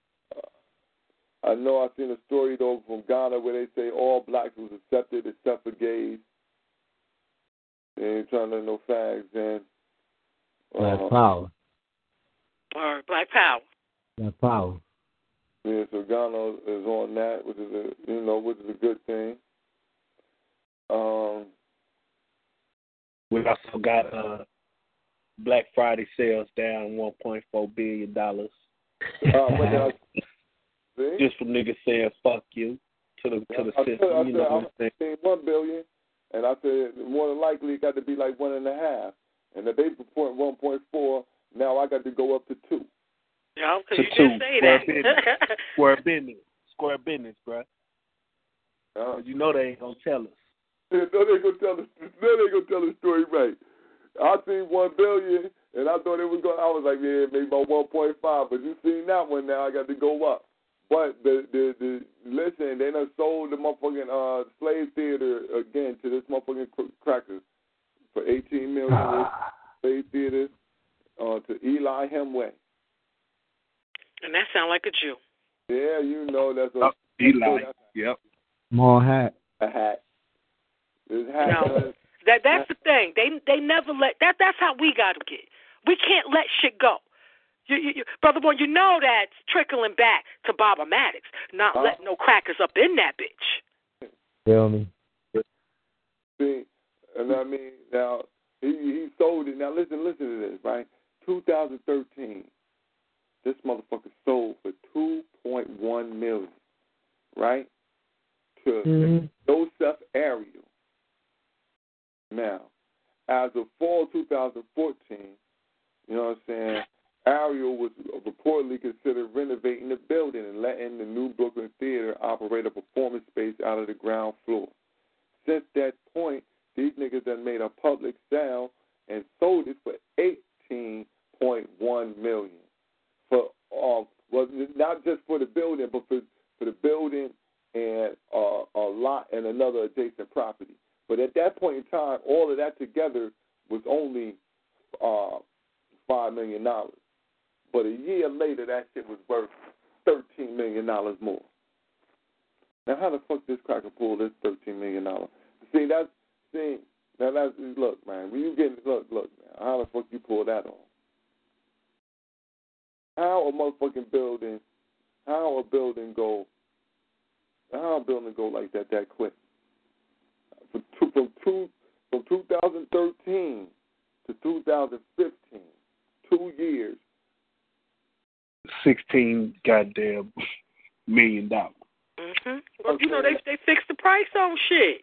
I know I seen a story though from Ghana where they say all blacks was accepted except for gays. They ain't trying to let no fags in. Black power. Or Black Power. Black power. Yeah, so Ghana is on that, which is a good thing. We also got Black Friday sales down $1.4 billion. Just for niggas saying "fuck you" to the system. I said $1 billion, and I said more than likely it got to be like 1.5, and if they report 1.4, now I got to go up to 2. Yeah, because you did say that. Square business, bro. You know they ain't gonna tell us. No, they gonna tell the story right. I seen 1 billion, and I thought it was going. I was like, yeah, maybe about 1.5. But you seen that one now? I got to go up. But the listen, they done sold the motherfucking slave theater again to this motherfucking crackers for $18 million. Slave theater to Eli Hemway. And that sound like a Jew. Yeah, you know that's Eli. Yep. Small hat. A hat. This hat. No, that's the thing. They never let that. That's how we gotta get. We can't let shit go. You, Brother Boy, you know that's trickling back to Baba Maddox, not letting no crackers up in that bitch. Feel me? See, and I mean, now, he sold it. Now, listen to this, right? 2013, this motherfucker sold for $2.1 million, right? To Joseph Ariel. Now, as of fall 2014, you know what I'm saying, Ariel was reportedly considered renovating the building and letting the New Brooklyn Theater operate a performance space out of the ground floor. Since that point, these niggas done made a public sale and sold it for $18.1 million. For not just for the building, but for the building and a lot and another adjacent property. But at that point in time, all of that together was only $5 million. But a year later, that shit was worth $13 million more. Now, how the fuck this cracker pull this $13 million? Look, man, when you get look, man, how the fuck you pull that off? How a building go like that quick? From 2013 to 2015, 2 years. 16 goddamn $million. Mhm. Well, you know they fixed the price on shit.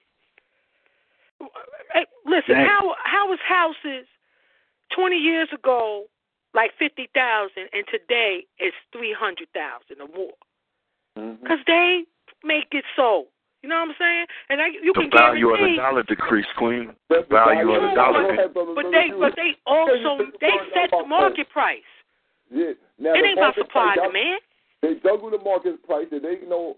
Hey, listen, how was houses 20 years ago like 50,000 and today it's 300,000 or more? Because they make it so. You know what I'm saying? And you can guarantee the value of the dollar decreased, Queen. The value of the dollar. But they also set the market price. Yeah. Now, it ain't about supply and demand. They juggle the market price. There ain't no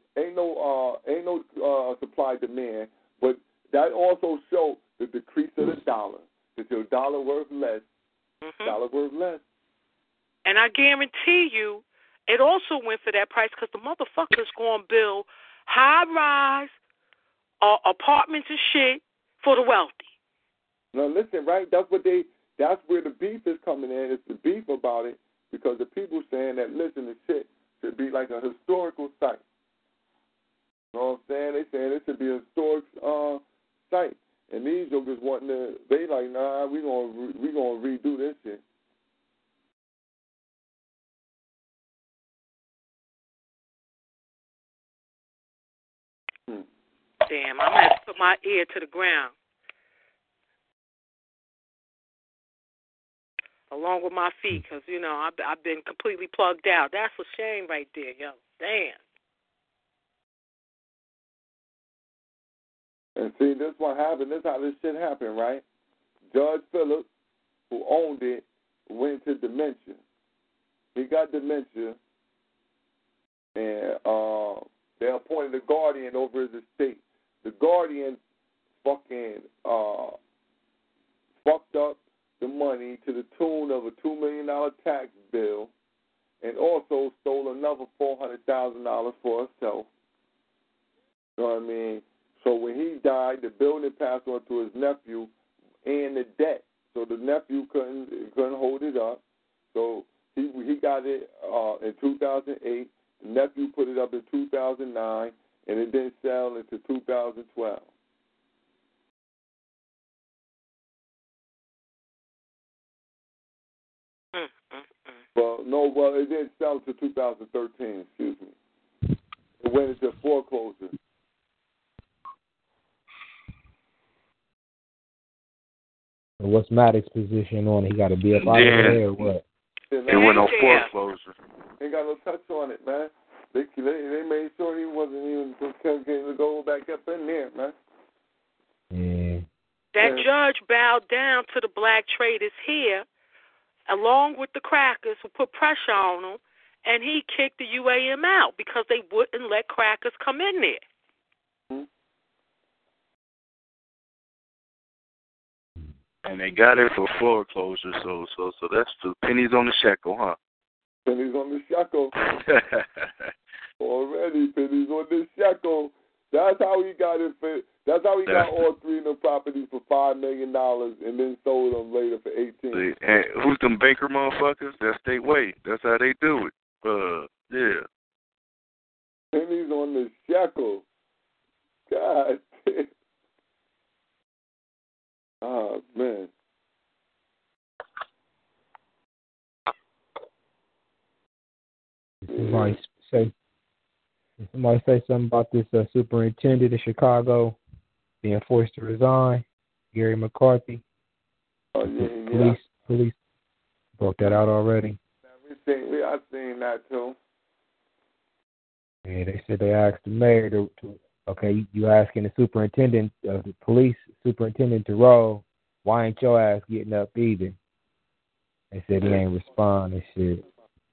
supply demand. But that also shows the decrease of the dollar. That your dollar worth less. Dollar worth less. And I guarantee you, it also went for that price because the motherfuckers going to build high-rise apartments and shit for the wealthy. Now listen, right? That's where the beef is coming in. It's the beef about it because the people saying that listen, the shit should be like a historical site. You know what I'm saying? They saying it should be a historic site, and these jokers wanting to. They like, nah, we gonna redo this shit. Damn, I'm going to have to put my ear to the ground. Along with my feet, because, you know, I've been completely plugged out. That's a shame right there, yo. Damn. And see, this what happened. This how this shit happened, right? Judge Phillips, who owned it, went to dementia. He got dementia, and they appointed a guardian over his estate. The guardian fucking fucked up money to the tune of a $2 million tax bill, and also stole another $400,000 for herself. You know what I mean? So when he died, the building passed on to his nephew and the debt. So the nephew couldn't hold it up. So he got it in 2008. The nephew put it up in 2009, and it didn't sell until 2012. Well, it didn't sell until 2013. Excuse me. It went into foreclosure. What's Maddox's position on it? He got to be up out of there or what? It went on foreclosure. Ain't got no touch on it, man. They made sure he wasn't even going to go back up in there, man. Yeah. That judge bowed down to the black traders here, along with the crackers who put pressure on them, and he kicked the UAM out because they wouldn't let crackers come in there. Mm-hmm. And they got it for foreclosure, so that's the pennies on the shekel, huh? Pennies on the shekel. Already, pennies on the shekel. That's how he got it. That's how he got all three of the properties for $5 million and then sold them later for $18. And who's them banker motherfuckers? That's their way. That's how they do it. Yeah. Pennies on the shekel. God damn. Oh, man. Somebody say something about this superintendent of Chicago being forced to resign, Gary McCarthy. Oh, yeah. Police broke that out already. I've seen that, too. Yeah, they said they asked the mayor to okay, you asking the superintendent of the police superintendent to roll, why ain't your ass getting up either? They said he ain't responding shit.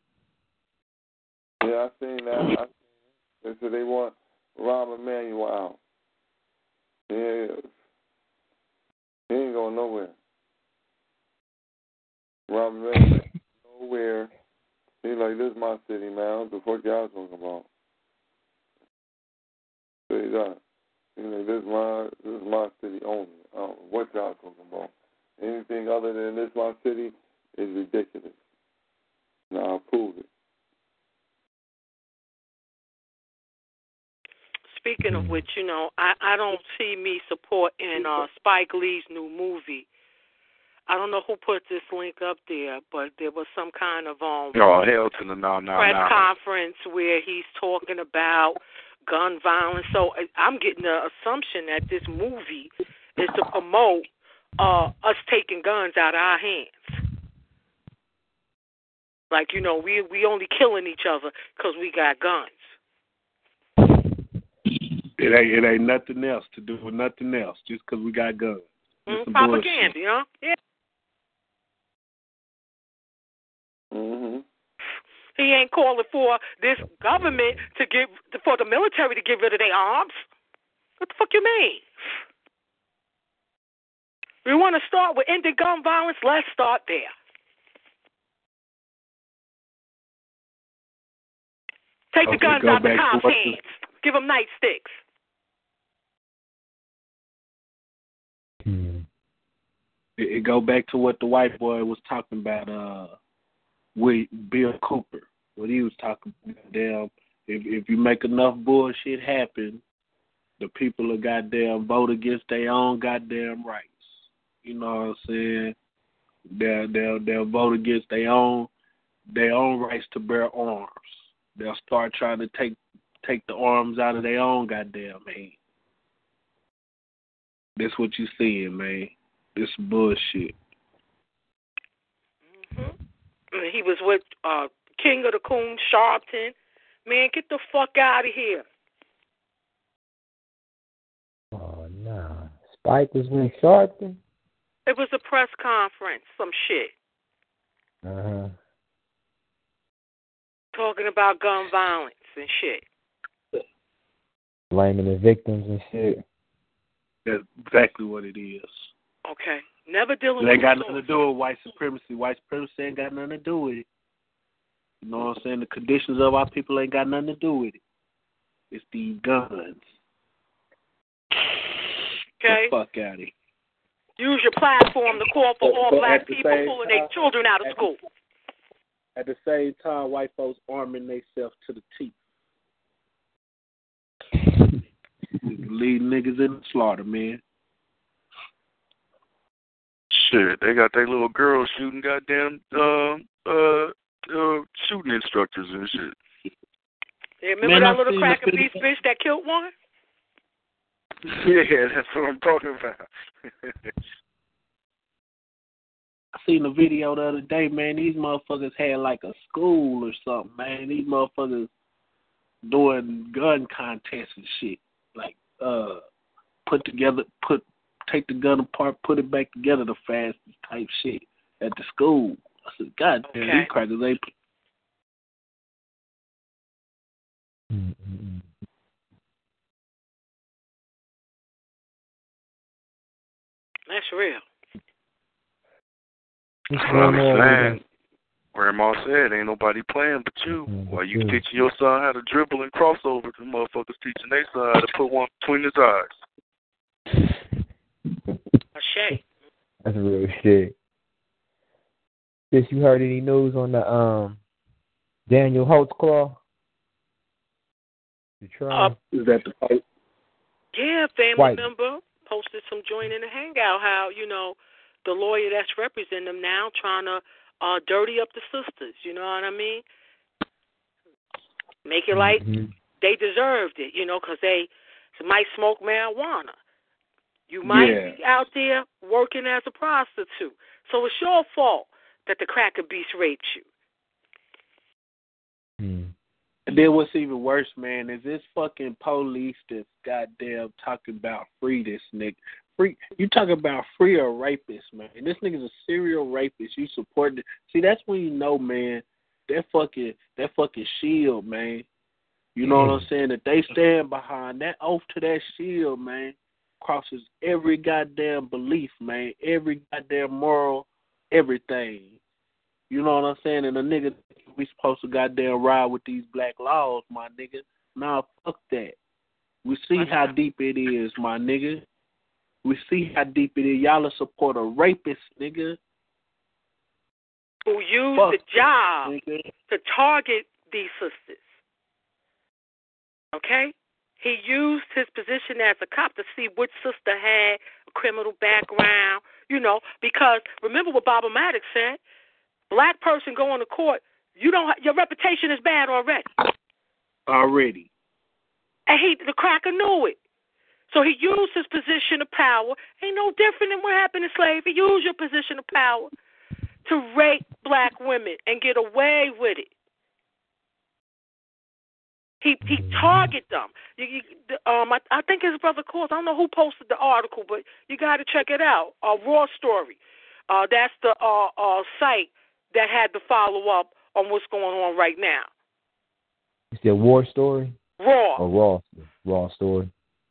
Yeah, I've seen that. They said they want Rahm Emanuel out. Yeah. He ain't going nowhere. Rahm Emanuel nowhere. He's like, this is my city, man. What the fuck y'all talking about? Say that. He's like, this is my city only. I don't know what y'all talking about. Anything other than this my city is ridiculous. Now I'll prove it. Speaking of which, I don't see me supporting Spike Lee's new movie. I don't know who put this link up there, but there was some kind of hell to the press conference where he's talking about gun violence. So I'm getting the assumption that this movie is to promote us taking guns out of our hands. Like, we only killing each other because we got guns. It ain't nothing else to do with nothing else just because we got guns. Propaganda, Yeah. Mm-hmm. He ain't calling for this government for the military to get rid of their arms. What the fuck you mean? We want to start with ending gun violence. Let's start there. Take the guns out of the cops' hands. Give them nightsticks. It go back to what the white boy was talking about with Bill Cooper. What he was talking about, damn, if you make enough bullshit happen, the people will goddamn vote against their own goddamn rights. You know what I'm saying? They'll vote against their own rights to bear arms. They'll start trying to take the arms out of their own goddamn hand. That's what you seeing, man. This bullshit. Mm-hmm. He was with King of the Coon, Sharpton. Man, get the fuck out of here. Oh, no. Spike was with Sharpton? It was a press conference, some shit. Uh-huh. Talking about gun violence and shit. Blaming the victims and shit. That's exactly what it is. Okay. Never dealing It with ain't got nothing to do with white supremacy. White supremacy ain't got nothing to do with it. You know what I'm saying? The conditions of our people ain't got nothing to do with it. It's these guns. Okay. The fuck out of here. Use your platform to call for all black people pulling their children out of school. At the same time, white folks arming themselves to the teeth. Lead niggas in the slaughter, man. Shit, they got their little girls shooting goddamn shooting instructors and shit. Yeah, remember that little crack and beef bitch that killed one? Yeah, that's what I'm talking about. I seen a video the other day, man. These motherfuckers had like a school or something, man. These motherfuckers doing gun contests and shit. Like, take the gun apart, put it back together the fastest type shit at the school. I said, God damn, these crackers ain't. That's real. Grandma said, ain't nobody playing but you. While you teaching your son how to dribble and cross over, the motherfuckers teaching their son how to put one between his eyes. A shame. That's real shit. Sis, you heard any news on the Daniel Holtzclaw? The trial? Is that the fight? Yeah, family member posted some joint in the hangout how, you know, the lawyer that's representing them now trying to dirty up the sisters, you know what I mean? Make it like they deserved it, you know, because they might smoke marijuana. You might be out there working as a prostitute. So it's your fault that the cracker beast raped you. And then what's even worse, man, is this fucking police that's goddamn talking about free this nigga. Free, you talking about free a rapist, man. This nigga's a serial rapist. You support it. See, that's when you know, man, that fucking shield, man. You know what I'm saying? That they stand behind that oath to that shield, man, crosses every goddamn belief, man. Every goddamn moral, everything. You know what I'm saying? And a nigga, we supposed to goddamn ride with these black laws, my nigga. Nah, fuck that. We see how deep it is, my nigga. We see how deep it is. Y'all will support a rapist, nigga. Who used the job to target these sisters. Okay? He used his position as a cop to see which sister had a criminal background, you know, because remember what Baba Maddox said, black person going to court, your reputation is bad already. And the cracker knew it. So he used his position of power. Ain't no different than what happened in slavery. Use your position of power to rape black women and get away with it. He targeted them. I think his brother calls. I don't know who posted the article, but you got to check it out. Raw Story. That's the site that had the follow-up on what's going on right now. It's the War Story? Raw. Or Raw Story.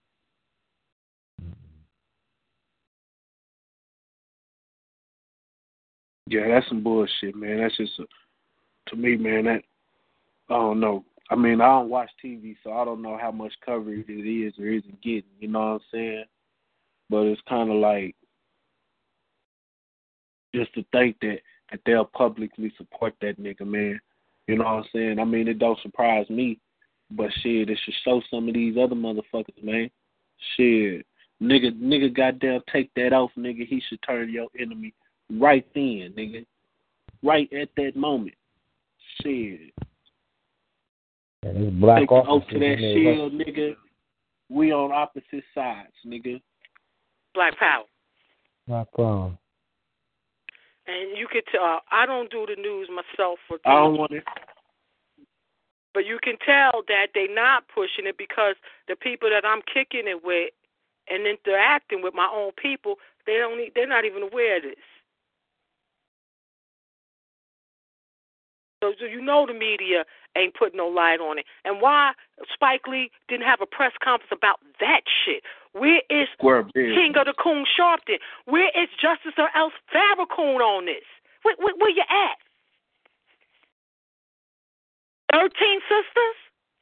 Yeah, that's some bullshit, man. That's just, to me, man, that, I don't know. I mean, I don't watch TV, so I don't know how much coverage it is or isn't getting, you know what I'm saying? But it's kind of like, just to think that they'll publicly support that nigga, man. You know what I'm saying? I mean, it don't surprise me, but shit, it should show some of these other motherfuckers, man. Shit. Nigga goddamn take that off, nigga. He should turn your enemy right then, nigga. Right at that moment. Shit. Black take off to that shield, nigga. We on opposite sides, nigga. Black power. Black power. And you could tell, I don't do the news myself. I don't want it. But you can tell that they're not pushing it because the people that I'm kicking it with and interacting with my own people, they're not even aware of this. So you know the media ain't putting no light on it. And why Spike Lee didn't have a press conference about that shit? Where is Square business. King of the Coon Sharpton. Where is Justice or else Farrakhan on this? Where you at? 13 Sisters?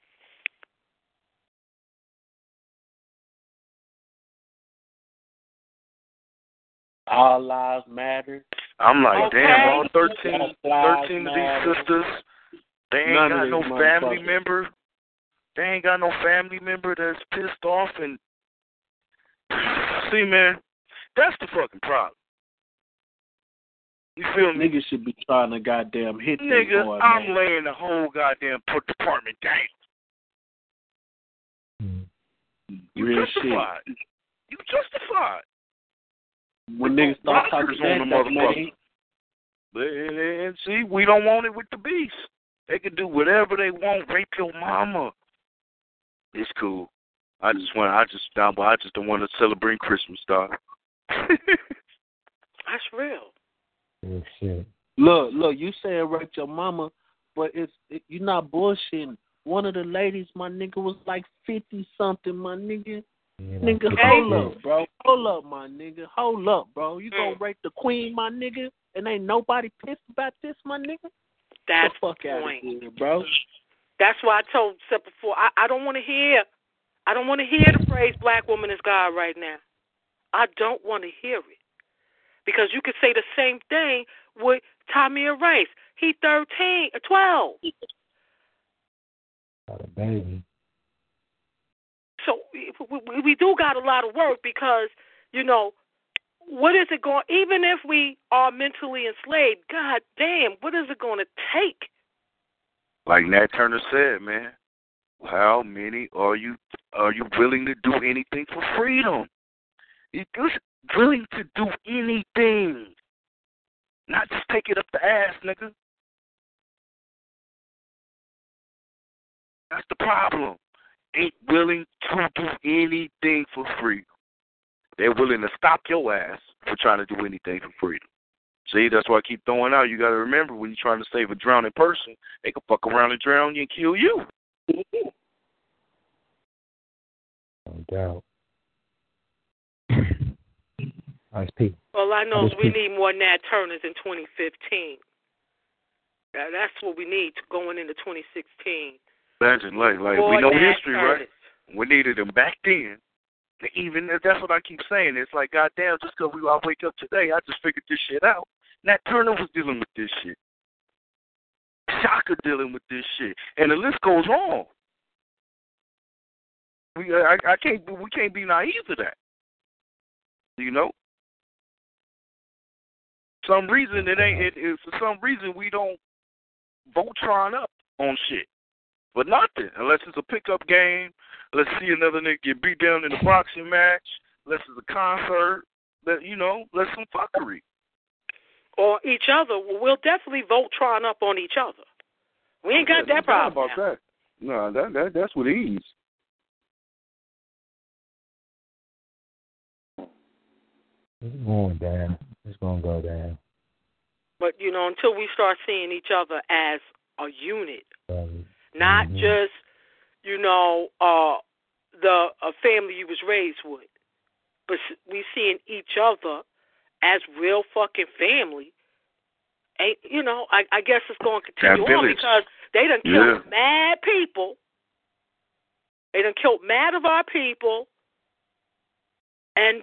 All Lives Matter. I'm like, Okay. damn, all 13 of these sisters, they ain't got no family member. They ain't got no family member that's pissed off. And see, man, that's the fucking problem. You feel me? Niggas should be trying to goddamn hit them. Nigga, I'm laying the whole goddamn department down. You Real justified. shit. You justified. When niggas start talking on the motherfucker. And see, we don't want it with the beast. They can do whatever they want. Rape your mama. It's cool. I just don't want to celebrate Christmas, dog. That's real. Oh, shit. Look, you said rape your mama, but you're not bullshitting. One of the ladies, my nigga, was like 50-something, my nigga. Yeah, Nigga, hold up, bro. Hold up, my nigga. Hold up, bro. You gonna rape the queen, my nigga, and ain't nobody pissed about this, my nigga? That's the fuck the out point. of here, bro. That's why I told Seth before, I don't want to hear the phrase black woman is God right now. I don't want to hear it. Because you could say the same thing with Tamir Rice. He 13 or 12. Got a baby. So we do got a lot of work because, you know, what is it going, even if we are mentally enslaved, god damn, what is it going to take? Like Nat Turner said, man, how many are you willing to do anything for freedom? You're willing to do anything. Not just take it up the ass, nigga. That's the problem. Ain't willing to do anything for freedom. They're willing to stop your ass for trying to do anything for freedom. See, that's why I keep throwing out. You got to remember, when you're trying to save a drowning person, they can fuck around and drown you and kill you. No doubt. Nice people. All I know is we need more Nat Turners in 2015. That's what we need going into 2016. Imagine, like we know history, right? We needed them back then. Even that's what I keep saying. It's like, goddamn, just because I wake up today, I just figured this shit out. Nat Turner was dealing with this shit. Shaka dealing with this shit, and the list goes on. We can't be naive to that. You know, for some reason we don't Voltron up on shit. But nothing, unless it's a pickup game. Let's see another nigga get beat down in a boxing match. Unless it's a concert. Let's some fuckery. Or each other. We'll definitely Voltron up on each other. We ain't got that problem about now. that. No, that's with ease. It's going down. It's going to go down. But, until we start seeing each other as a unit, not just, a family you was raised with, but we seeing each other as real fucking family. I guess it's going to continue on because they done killed mad people. They done killed mad of our people. And,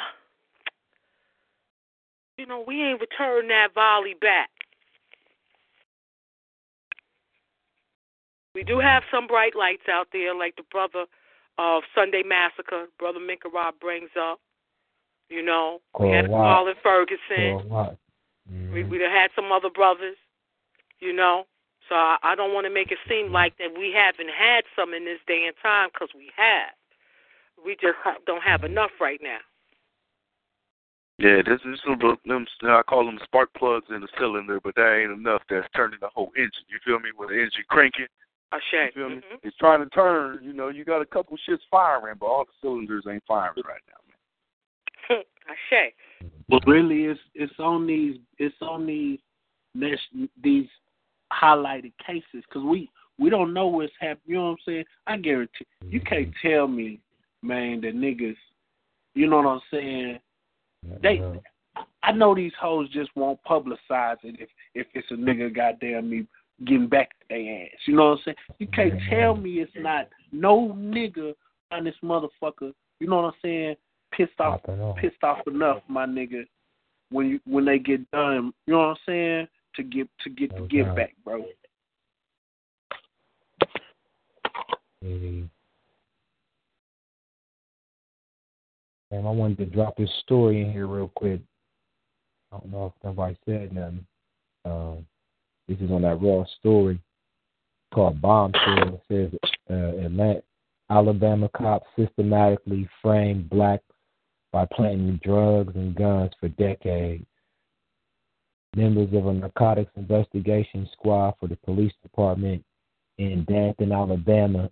we ain't returned that volley back. We do have some bright lights out there, like the brother of Sunday Massacre, Brother Minka Rob brings up. We had Colin Ferguson. We done had some other brothers, So I don't want to make it seem like that we haven't had some in this day and time, because we have. We just don't have enough right now. Yeah, this is them. I call them spark plugs in the cylinder, but that ain't enough. That's turning the whole engine. You feel me? With the engine cranking. You feel me? It's trying to turn. You got a couple shits firing, but all the cylinders ain't firing right now, man. But really, it's on these highlighted cases, because we don't know what's happening. You know what I'm saying? I guarantee you can't tell me, man, that niggas You know what I'm saying? I know these hoes just won't publicize it if it's a nigga goddamn me getting back to their ass. You know what I'm saying? You can't tell me it's not no nigga on this motherfucker. You know what I'm saying? Pissed off enough, my nigga. When they get done, you know what I'm saying? To get the give back, bro. And I wanted to drop this story in here real quick. I don't know if nobody said nothing. This is on that Raw story called Bombshell. It says Alabama cops systematically framed blacks by planting drugs and guns for decades. Members of a narcotics investigation squad for the police department in Danton, Alabama,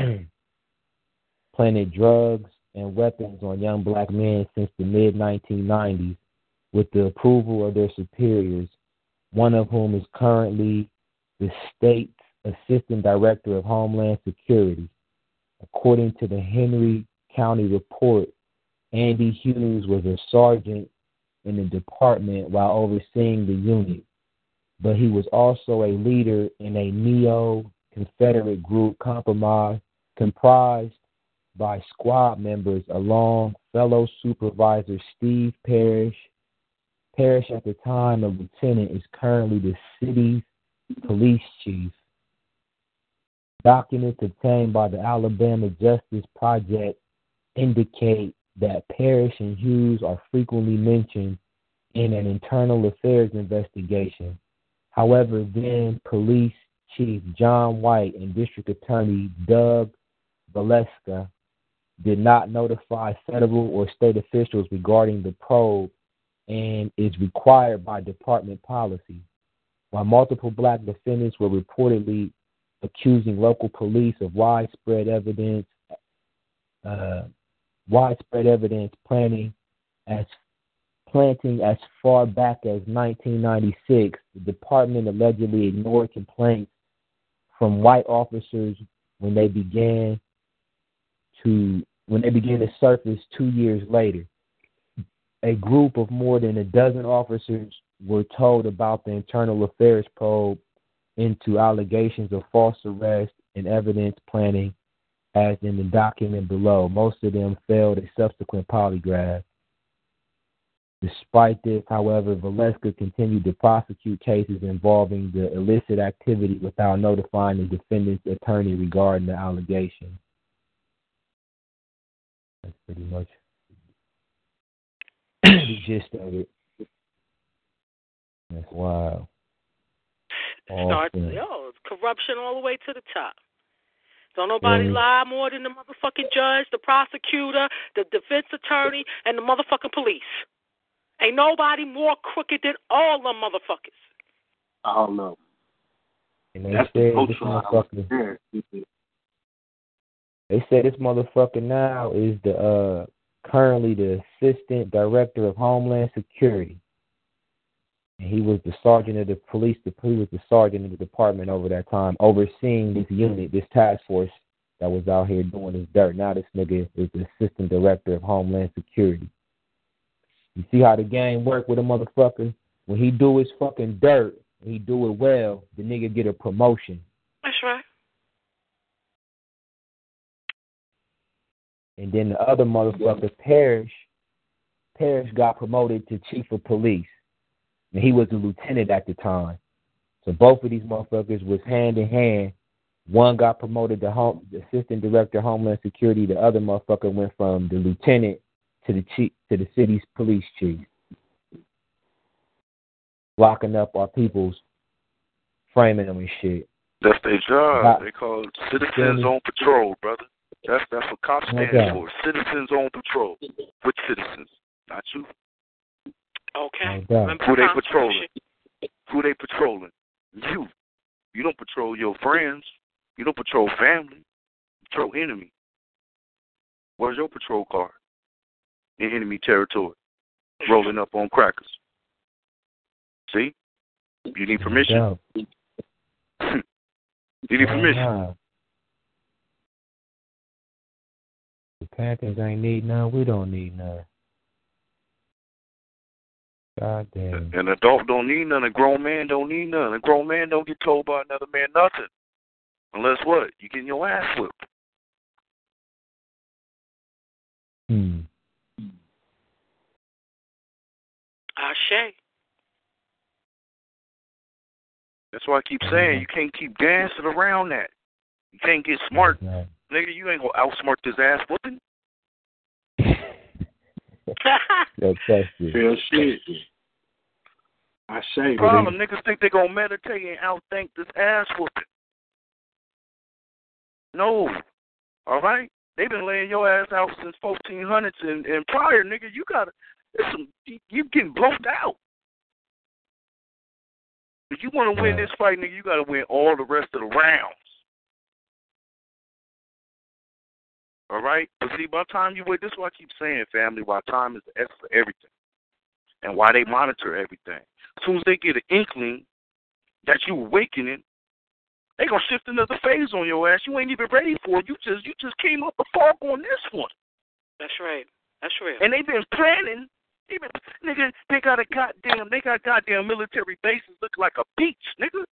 planted drugs and weapons on young black men since the mid-1990s with the approval of their superiors, one of whom is currently the state's assistant director of Homeland Security. According to the Henry County report, Andy Hughes was a sergeant in the department while overseeing the unit, but he was also a leader in a neo-Confederate group comprised by squad members along fellow supervisor Steve Parrish. Parrish, at the time a lieutenant, is currently the city's police chief. Documents obtained by the Alabama Justice Project indicate that Parrish and Hughes are frequently mentioned in an internal affairs investigation. However, then Police Chief John White and District Attorney Doug Valeska did not notify federal or state officials regarding the probe and is required by department policy. While multiple black defendants were reportedly accusing local police of widespread evidence planting as far back as 1996, the department allegedly ignored complaints from white officers when they began to surface 2 years later. A group of more than a dozen officers were told about the internal affairs probe into allegations of false arrest and evidence planting, as in the document below. Most of them failed a subsequent polygraph. Despite this, however, Valeska continued to prosecute cases involving the illicit activity without notifying the defendant's attorney regarding the allegation. That's pretty much the gist of it. That's wild. It's corruption all the way to the top. Don't nobody lie more than the motherfucking judge, the prosecutor, the defense attorney, and the motherfucking police. Ain't nobody more crooked than all them motherfuckers. I don't know. And they said this motherfucker now is the currently the assistant director of Homeland Security. And he was the sergeant of the police. He was the sergeant of the department over that time, overseeing this unit, this task force that was out here doing this dirt. Now this nigga is the assistant director of Homeland Security. You see how the game work with a motherfucker? When he do his fucking dirt, and he do it well, the nigga get a promotion. That's right. And then the other motherfucker, Parrish got promoted to chief of police. And he was a lieutenant at the time. So both of these motherfuckers was hand in hand. One got promoted to the assistant director of Homeland Security. The other motherfucker went from the lieutenant to the chief, to the city's police chief. Locking up our peoples, framing them and shit. That's their job. They call it citizens on patrol, brother. That's what cops stand for. Citizens on patrol. Which citizens? Not you. Okay. Who they patrolling? Who they patrolling? You. You don't patrol your friends. You don't patrol family. You patrol enemy. Where's your patrol car? In enemy territory. Rolling up on crackers. See? You need permission. You need permission. The Panthers ain't need none. We don't need none. God damn. An adult don't need none. A grown man don't need none. A grown man don't get told by another man nothing. Unless what? You getting your ass whipped. Ashe. That's why I keep saying you can't keep dancing around that. You can't get smart. Right. Nigga, you ain't gonna outsmart this ass whooping. Yo, trust you. Real shit. I say, Problem, niggas think they gonna meditate and outthink this ass whooping. No. All right? They been laying your ass out since 1400s and prior, nigga. You gotta, you getting blown out. If you want to win this fight, nigga, you got to win all the rest of the rounds. All right? But see, by the time you wait, this is what I keep saying, family, why time is the essence of everything. And why they monitor everything. As soon as they get an inkling that you awakening, they going to shift another phase on your ass. You ain't even ready for it. You just came up the fog on this one. That's right. That's real. And they've been planning. Nigga, they got goddamn military bases look like a beach, nigga.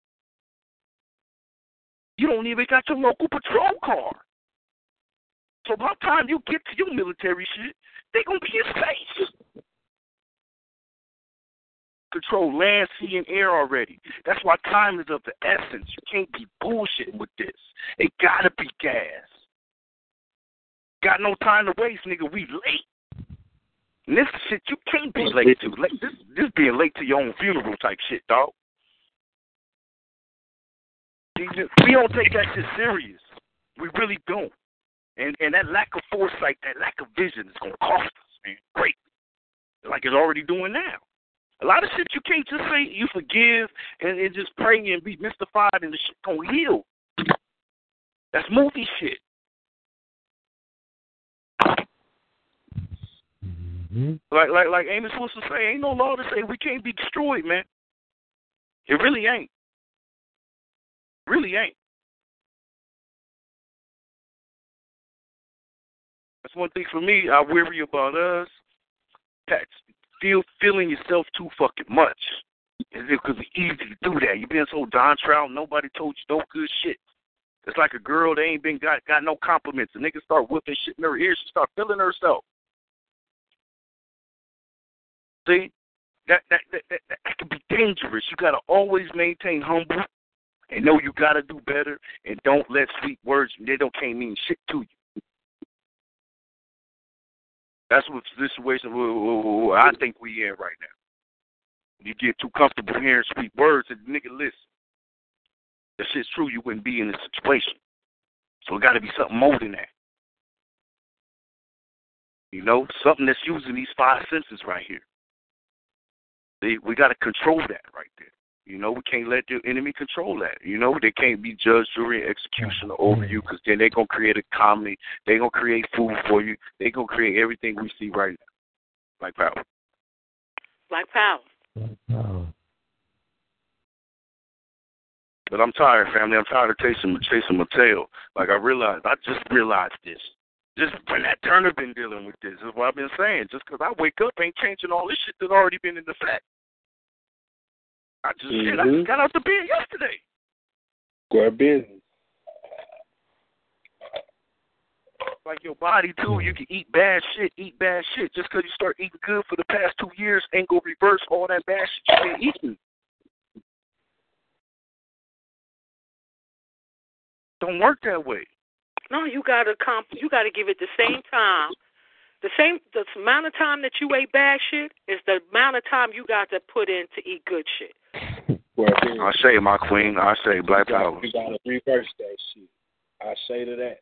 You don't even got your local patrol car. So by the time you get to your military shit, they gonna be in space. Control land, sea, and air already. That's why time is of the essence. You can't be bullshitting with this. It gotta be gas. Got no time to waste, nigga. We late. And this shit you can't be late to. Like, this being late to your own funeral type shit, dog. We don't take that shit serious. We really don't. And that lack of foresight, that lack of vision is going to cost us, man. Great. Like it's already doing now. A lot of shit you can't just say you forgive and just pray and be mystified and the shit going to heal. That's movie shit. Like Amos Wilson say, ain't no law to say we can't be destroyed, man. It really ain't. Really ain't. That's one thing for me. I worry about us. That's feeling yourself too fucking much. Because it's easy to do that. You been so downtrodden, nobody told you no good shit. It's like a girl that ain't been got no compliments. The nigga start whipping shit in her ear. She start feeling herself. See, that can be dangerous. You gotta always maintain humble and know you gotta do better, and don't let sweet words can't mean shit to you. That's what the situation I think we in right now. You get too comfortable hearing sweet words, and the nigga listen. If shit's true, you wouldn't be in this situation. So it gotta be something more than that. You know, something that's using these five senses right here. We got to control that right there. You know, we can't let the enemy control that. You know, they can't be judge, jury, and executioner over you because then they're going to create a comedy. They're going to create food for you. They're going to create everything we see right now. Black power. Black power. Oh. But I'm tired, family. I'm tired of chasing my tail. Like I just realized this. Just when that Turner been dealing with this, is what I've been saying. Just because I wake up ain't changing all this shit that's already been in effect. I just got out the bed yesterday. Grab business. Like your body, too, you can eat bad shit. Just because you start eating good for the past 2 years ain't going to reverse all that bad shit you've been eating. Don't work that way. No, you gotta give it the same time. The amount of time that you ate bad shit is the amount of time you got to put in to eat good shit. I say, my queen. I say, black power. You gotta reverse that shit. I say to that.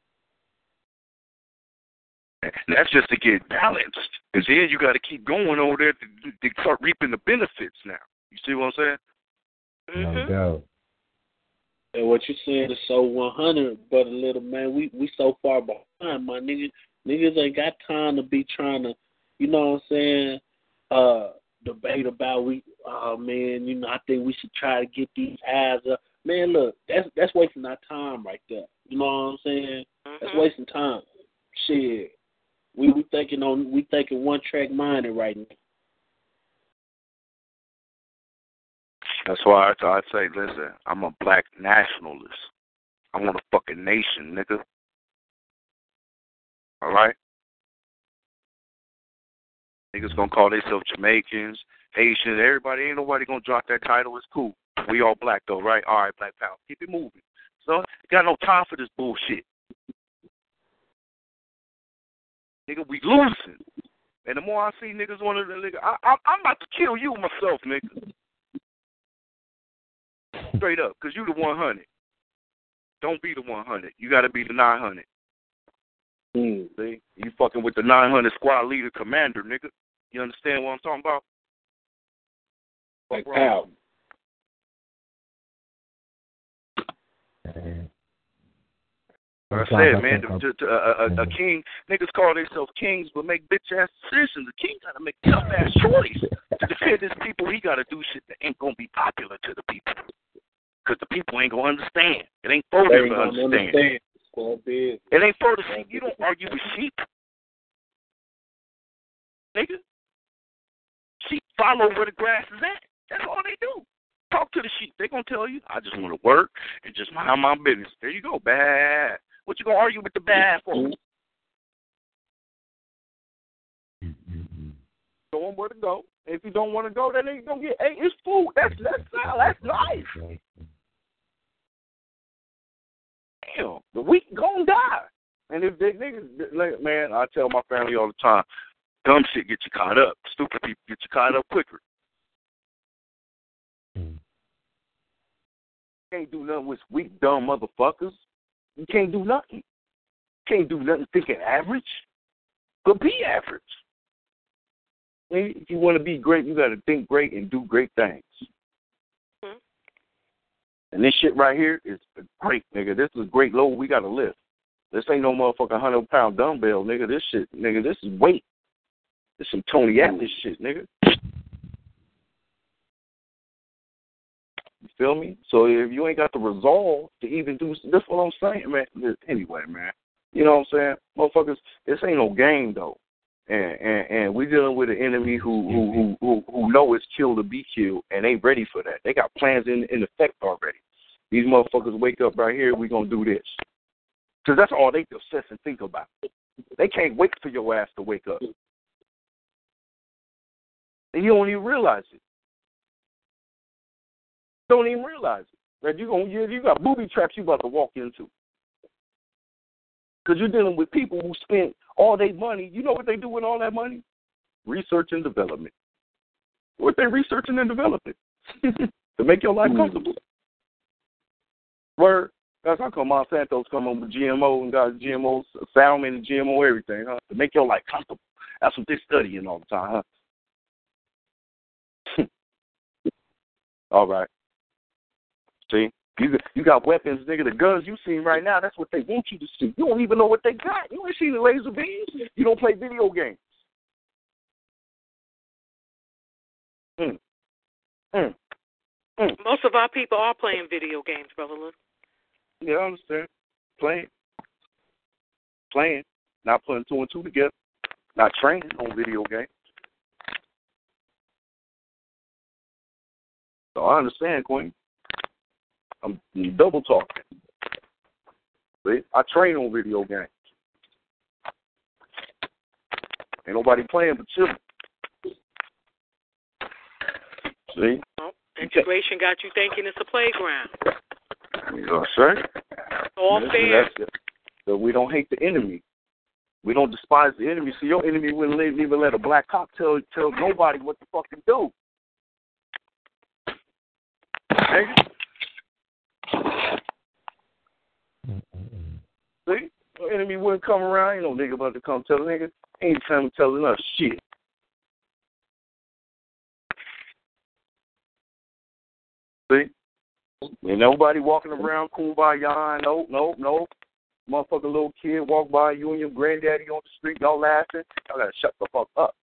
And that's just to get balanced. Because then you got to keep going over there to start reaping the benefits now. You see what I'm saying? No doubt. And what you saying is so 100, but a little man, we so far behind, my nigga. Niggas ain't got time to be trying to, you know what I'm saying, debate about man, you know, I think we should try to get these eyes up. Man, look, that's wasting our time right there. You know what I'm saying? That's wasting time. Shit. We thinking one track minded right now. That's why I say, listen, I'm a black nationalist. I want a fucking nation, nigga. All right? Niggas gonna call themselves Jamaicans, Haitians, everybody. Ain't nobody gonna drop that title. It's cool. We all black, though, right? All right, Black Power. Keep it moving. So, got no time for this bullshit. Nigga, we losing. And the more I see niggas want to, nigga, I'm about to kill you myself, nigga. Straight up, because you the 100. Don't be the 100. You got to be the 900. See? You fucking with the 900 squad leader commander, nigga. You understand what I'm talking about? Like how? Like I said, man, a king, niggas call themselves kings, but make bitch-ass decisions. A king got to make a tough-ass choice. To defend his people, he got to do shit that ain't going to be popular to the people. Because the people ain't going to understand. It ain't for them to understand. It ain't for the sheep. You don't argue with sheep. Nigga. Sheep follow where the grass is at. That's all they do. Talk to the sheep. They going to tell you, I just want to work and just mind my business. There you go. Bad. What you going to argue with the bad for? Show them where to go. If you don't want to go, then they going to get, hey, it's food. That's nice. Damn, the weak gonna die. And if they niggas, like, man, I tell my family all the time, dumb shit get you caught up. Stupid people get you caught up quicker. Can't do nothing with weak, dumb motherfuckers. You can't do nothing. Can't do nothing thinking average. But be average. If you want to be great, you got to think great and do great things. And this shit right here is great, nigga. This is a great load we got to lift. This ain't no motherfucking 100-pound dumbbell, nigga. This shit, nigga, this is weight. This some Tony Atlas shit, nigga. You feel me? So if you ain't got the resolve to even do this, what I'm saying, man. Anyway, man. You know what I'm saying? Motherfuckers, this ain't no game, though. And we dealing with an enemy who know it's kill to be killed, and they ready for that. They got plans in effect already. These motherfuckers wake up right here, we gonna do this. Because that's all they obsess and think about. They can't wait for your ass to wake up. And you don't even realize it. Don't even realize it. That you got booby traps you about to walk into. Because you're dealing with people who spend all their money. You know what they do with all that money? Research and development. What they researching and developing? To make your life comfortable. Word. That's how come Monsanto's come on with GMO and got GMO salmon and GMO everything, huh? To make your life comfortable. That's what they're studying all the time, huh? All right. See? You got weapons, nigga. The guns you seen right now, that's what they want you to see. You don't even know what they got. You ain't seen the laser beams. You don't play video games. Most of our people are playing video games, Brother Luke. Yeah, I understand. Playing. Not putting two and two together. Not training on video games. So I understand, Queen. I'm double talking. See? I train on video games. Ain't nobody playing but children. See? Well, integration got you thinking it's a playground. You know what I'm saying? All fair. So we don't hate the enemy. We don't despise the enemy. So your enemy wouldn't even let a black cop tell nobody what to fucking do. Nigga. See? The enemy wouldn't come around. Ain't no nigga about to come tell the nigga. Ain't time telling us shit. See? Ain't nobody walking around kumbaya. Nope. Motherfucking little kid walk by you and your granddaddy on the street, y'all laughing. Y'all gotta shut the fuck up.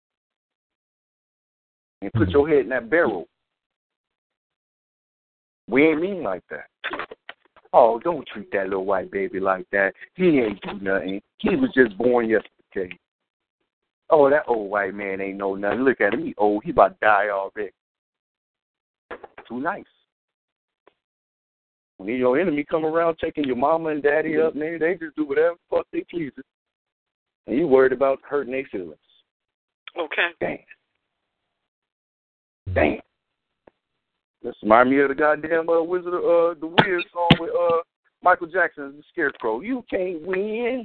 And put your head in that barrel. We ain't mean like that. Oh, don't treat that little white baby like that. He ain't do nothing. He was just born yesterday. Oh, that old white man ain't know nothing. Look at him. He old. He about to die already. Too nice. When your enemy come around taking your mama and daddy up, nigga, they just do whatever the fuck they please. And you worried about hurting their feelings. Okay. Damn. This reminds me of the goddamn Wizard of the Wiz song with Michael Jackson, The Scarecrow. You can't win.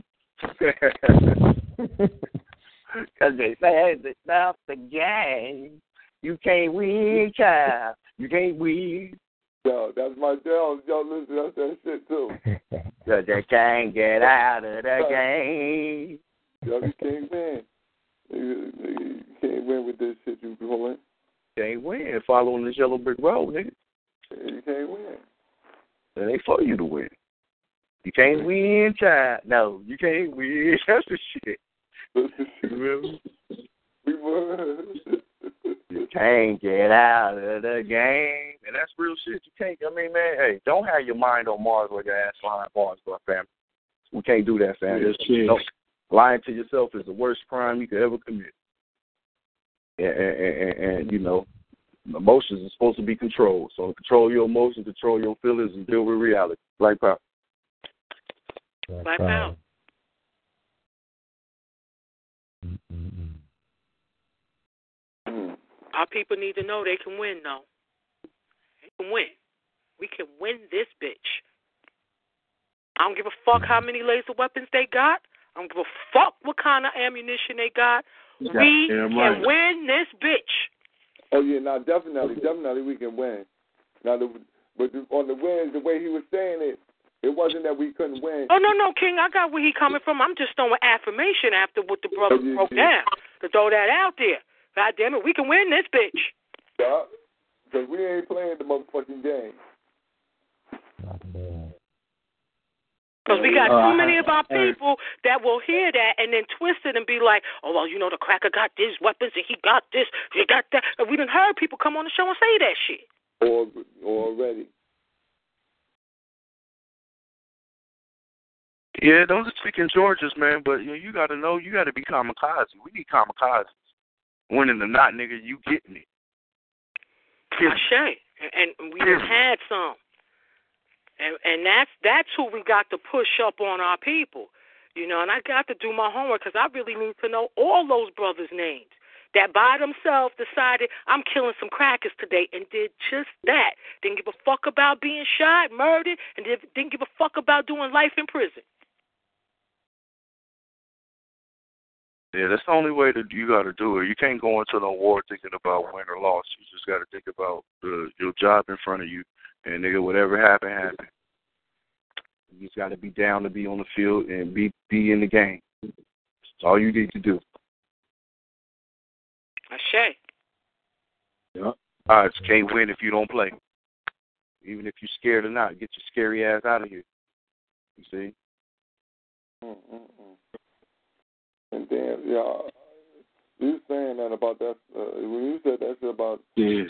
Because they said it's not the game. You can't win, child. You can't win. Yo, that's my Jones. Yo, listen, that's that shit, too. Because they can't get out of the game. Yo, you can't win. You can't win with this shit you doing. Can't win following this yellow brick road, nigga. You can't win. It ain't for you to win. You can't win, child. No, you can't win. That's the shit. Remember? You can't get out of the game. And that's real shit. You can't. I mean, man, hey, don't have your mind on Mars or your ass flying Mars, bro, fam. We can't do that, fam. No, lying to yourself is the worst crime you could ever commit. And you know, emotions are supposed to be controlled. So control your emotions, control your feelings, and deal with reality. Black power. Black power. Our people need to know they can win, though. They can win. We can win this bitch. I don't give a fuck how many laser weapons they got. I don't give a fuck what kind of ammunition they got. We can win this bitch. Oh, yeah, now definitely we can win. Now, on the wins, the way he was saying it, it wasn't that we couldn't win. Oh, no, King, I got where he coming from. I'm just throwing affirmation after what the brother broke down to throw that out there. God damn it, we can win this bitch. Yeah, because we ain't playing the motherfucking game. Because we got too many of our people that will hear that and then twist it and be like, oh, well, you know, the cracker got these weapons and he got this, he got that. And we done heard people come on the show and say that shit. Already. Yeah, those are speaking Georges, man, but you got to know, you got to be kamikaze. We need kamikazes. Winning or not, nigga, you getting it. Ashe. And we just had some. And that's who we got to push up on our people. You know, and I got to do my homework because I really need to know all those brothers' names that by themselves decided I'm killing some crackers today and did just that. Didn't give a fuck about being shot, murdered, and didn't give a fuck about doing life in prison. Yeah, that's the only way that you got to do it. You can't go into the war thinking about win or loss. You just got to think about your job in front of you. And, nigga, whatever happened. You just got to be down to be on the field and be in the game. That's all you need to do. Ashe. Yeah. All right, you can't win if you don't play. Even if you're scared or not, get your scary ass out of here. You see? And then, you saying that about that, when you said that shit about... Yes.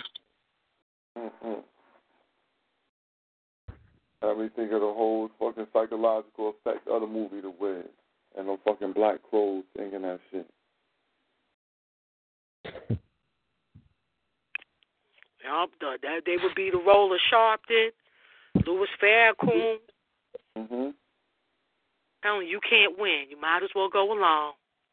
Had me think of the whole fucking psychological effect of the movie The Wiz and the fucking Black Crows thinking that shit. They would be the role of Sharpton, Louis Farrakhan. Telling you can't win. You might as well go along.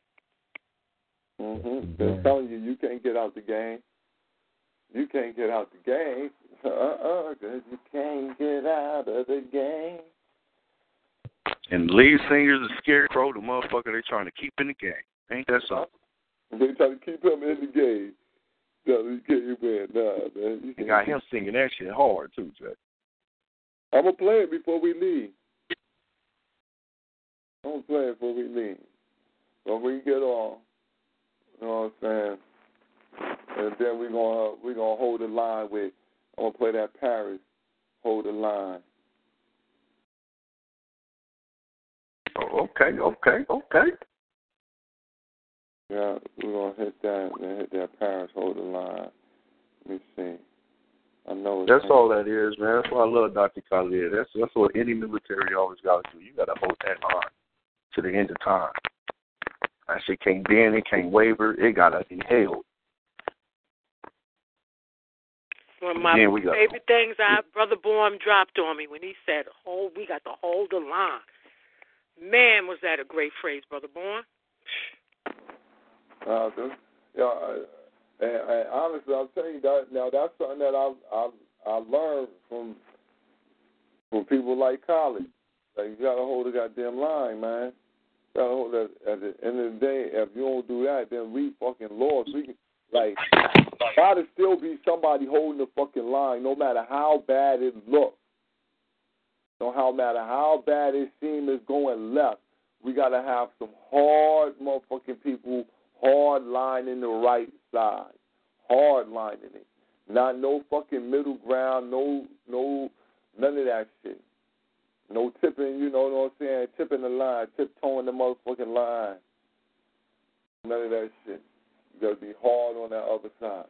They're telling you can't get out the game. You can't get out the game. Because you can't get out of the game. And the lead singer's a scarecrow, the motherfucker they trying to keep in the game. Ain't that something? They trying to keep him in the game. No, you can't win. Nah, man. You got him singing that shit hard, too, Jay. I'm going to play it before we leave. When we get on, you know what I'm saying? And then we're gonna hold the line with, I'm going to play that Paris, Hold the Line. Oh, okay. Yeah, we're going to hit that Paris, Hold the Line. Let me see. I know. That's all that is, man. That's why I love Dr. Khalid. That's what any military always got to do. You got to hold that line to the end of time. That shit can't bend, it can't waver, it got to be held. One of my favorite things Brother Bourne dropped on me when he said, we got to hold the line. Man, was that a great phrase, Brother Bourne. And honestly, I'll tell you that now that's something that I learned from people like Khalid. Like, you gotta hold the goddamn line, man. You gotta hold that. At the end of the day, if you don't do that, then we fucking lost. We can, like, gotta still be somebody holding the fucking line, no matter how bad it looks. No matter how bad it seems it's going left. We gotta have some hard motherfucking people hard lining the right side. Hard lining it. Not no fucking middle ground, no none of that shit. No tipping, you know what I'm saying? Tipping the line, tiptoeing the motherfucking line. None of that shit. You gotta be hard on that other side.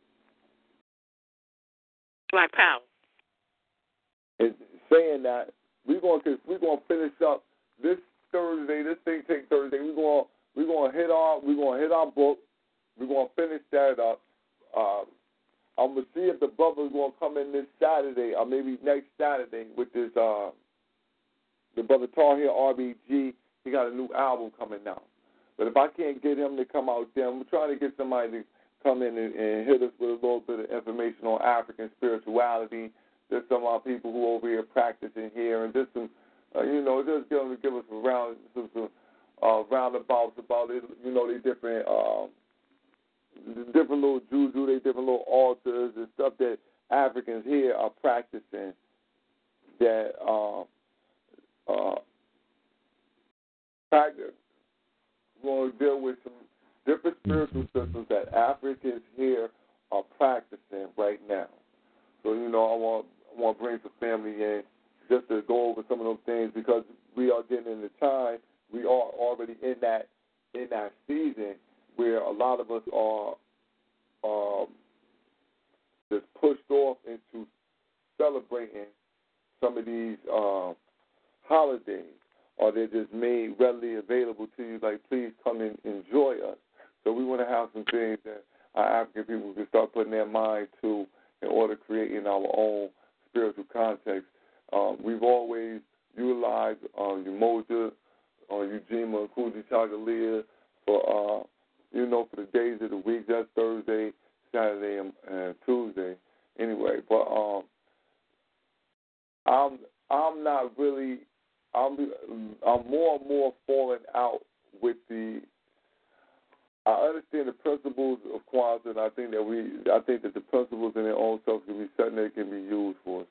Black Power. And saying that, we're gonna finish up this Thursday. This thing take Thursday. We're gonna hit our book. We're gonna finish that up. I'm gonna see if the brother's gonna come in this Saturday or maybe next Saturday, which is the brother Tahir RBG. He got a new album coming out. But if I can't get him to come out there, I'm trying to get somebody to come in and hit us with a little bit of information on African spirituality. There's some of our people who are over here practicing here, and just some, just give us some roundabouts about it. You know, they different little juju, they different little altars and stuff that Africans here are practicing. That practice. We're going to deal with some different spiritual systems that Africans here are practicing right now. So, I want to bring some family in just to go over some of those things because we are getting in the time. We are already in that season where a lot of us are just pushed off into celebrating some of these holidays, or they're just made readily available to you, like, please come and enjoy us. So we want to have some things that our African people can start putting their mind to in order to create in our own spiritual context. We've always utilized Umoja, Ujima, Kuji Chagalia for the days of the week. That's Thursday, Saturday, and Tuesday. Anyway, but I'm not really. I'm more and more falling out with the. I understand the principles of Kwanzaa, and I think that the principles in their own self can be something that can be used for us.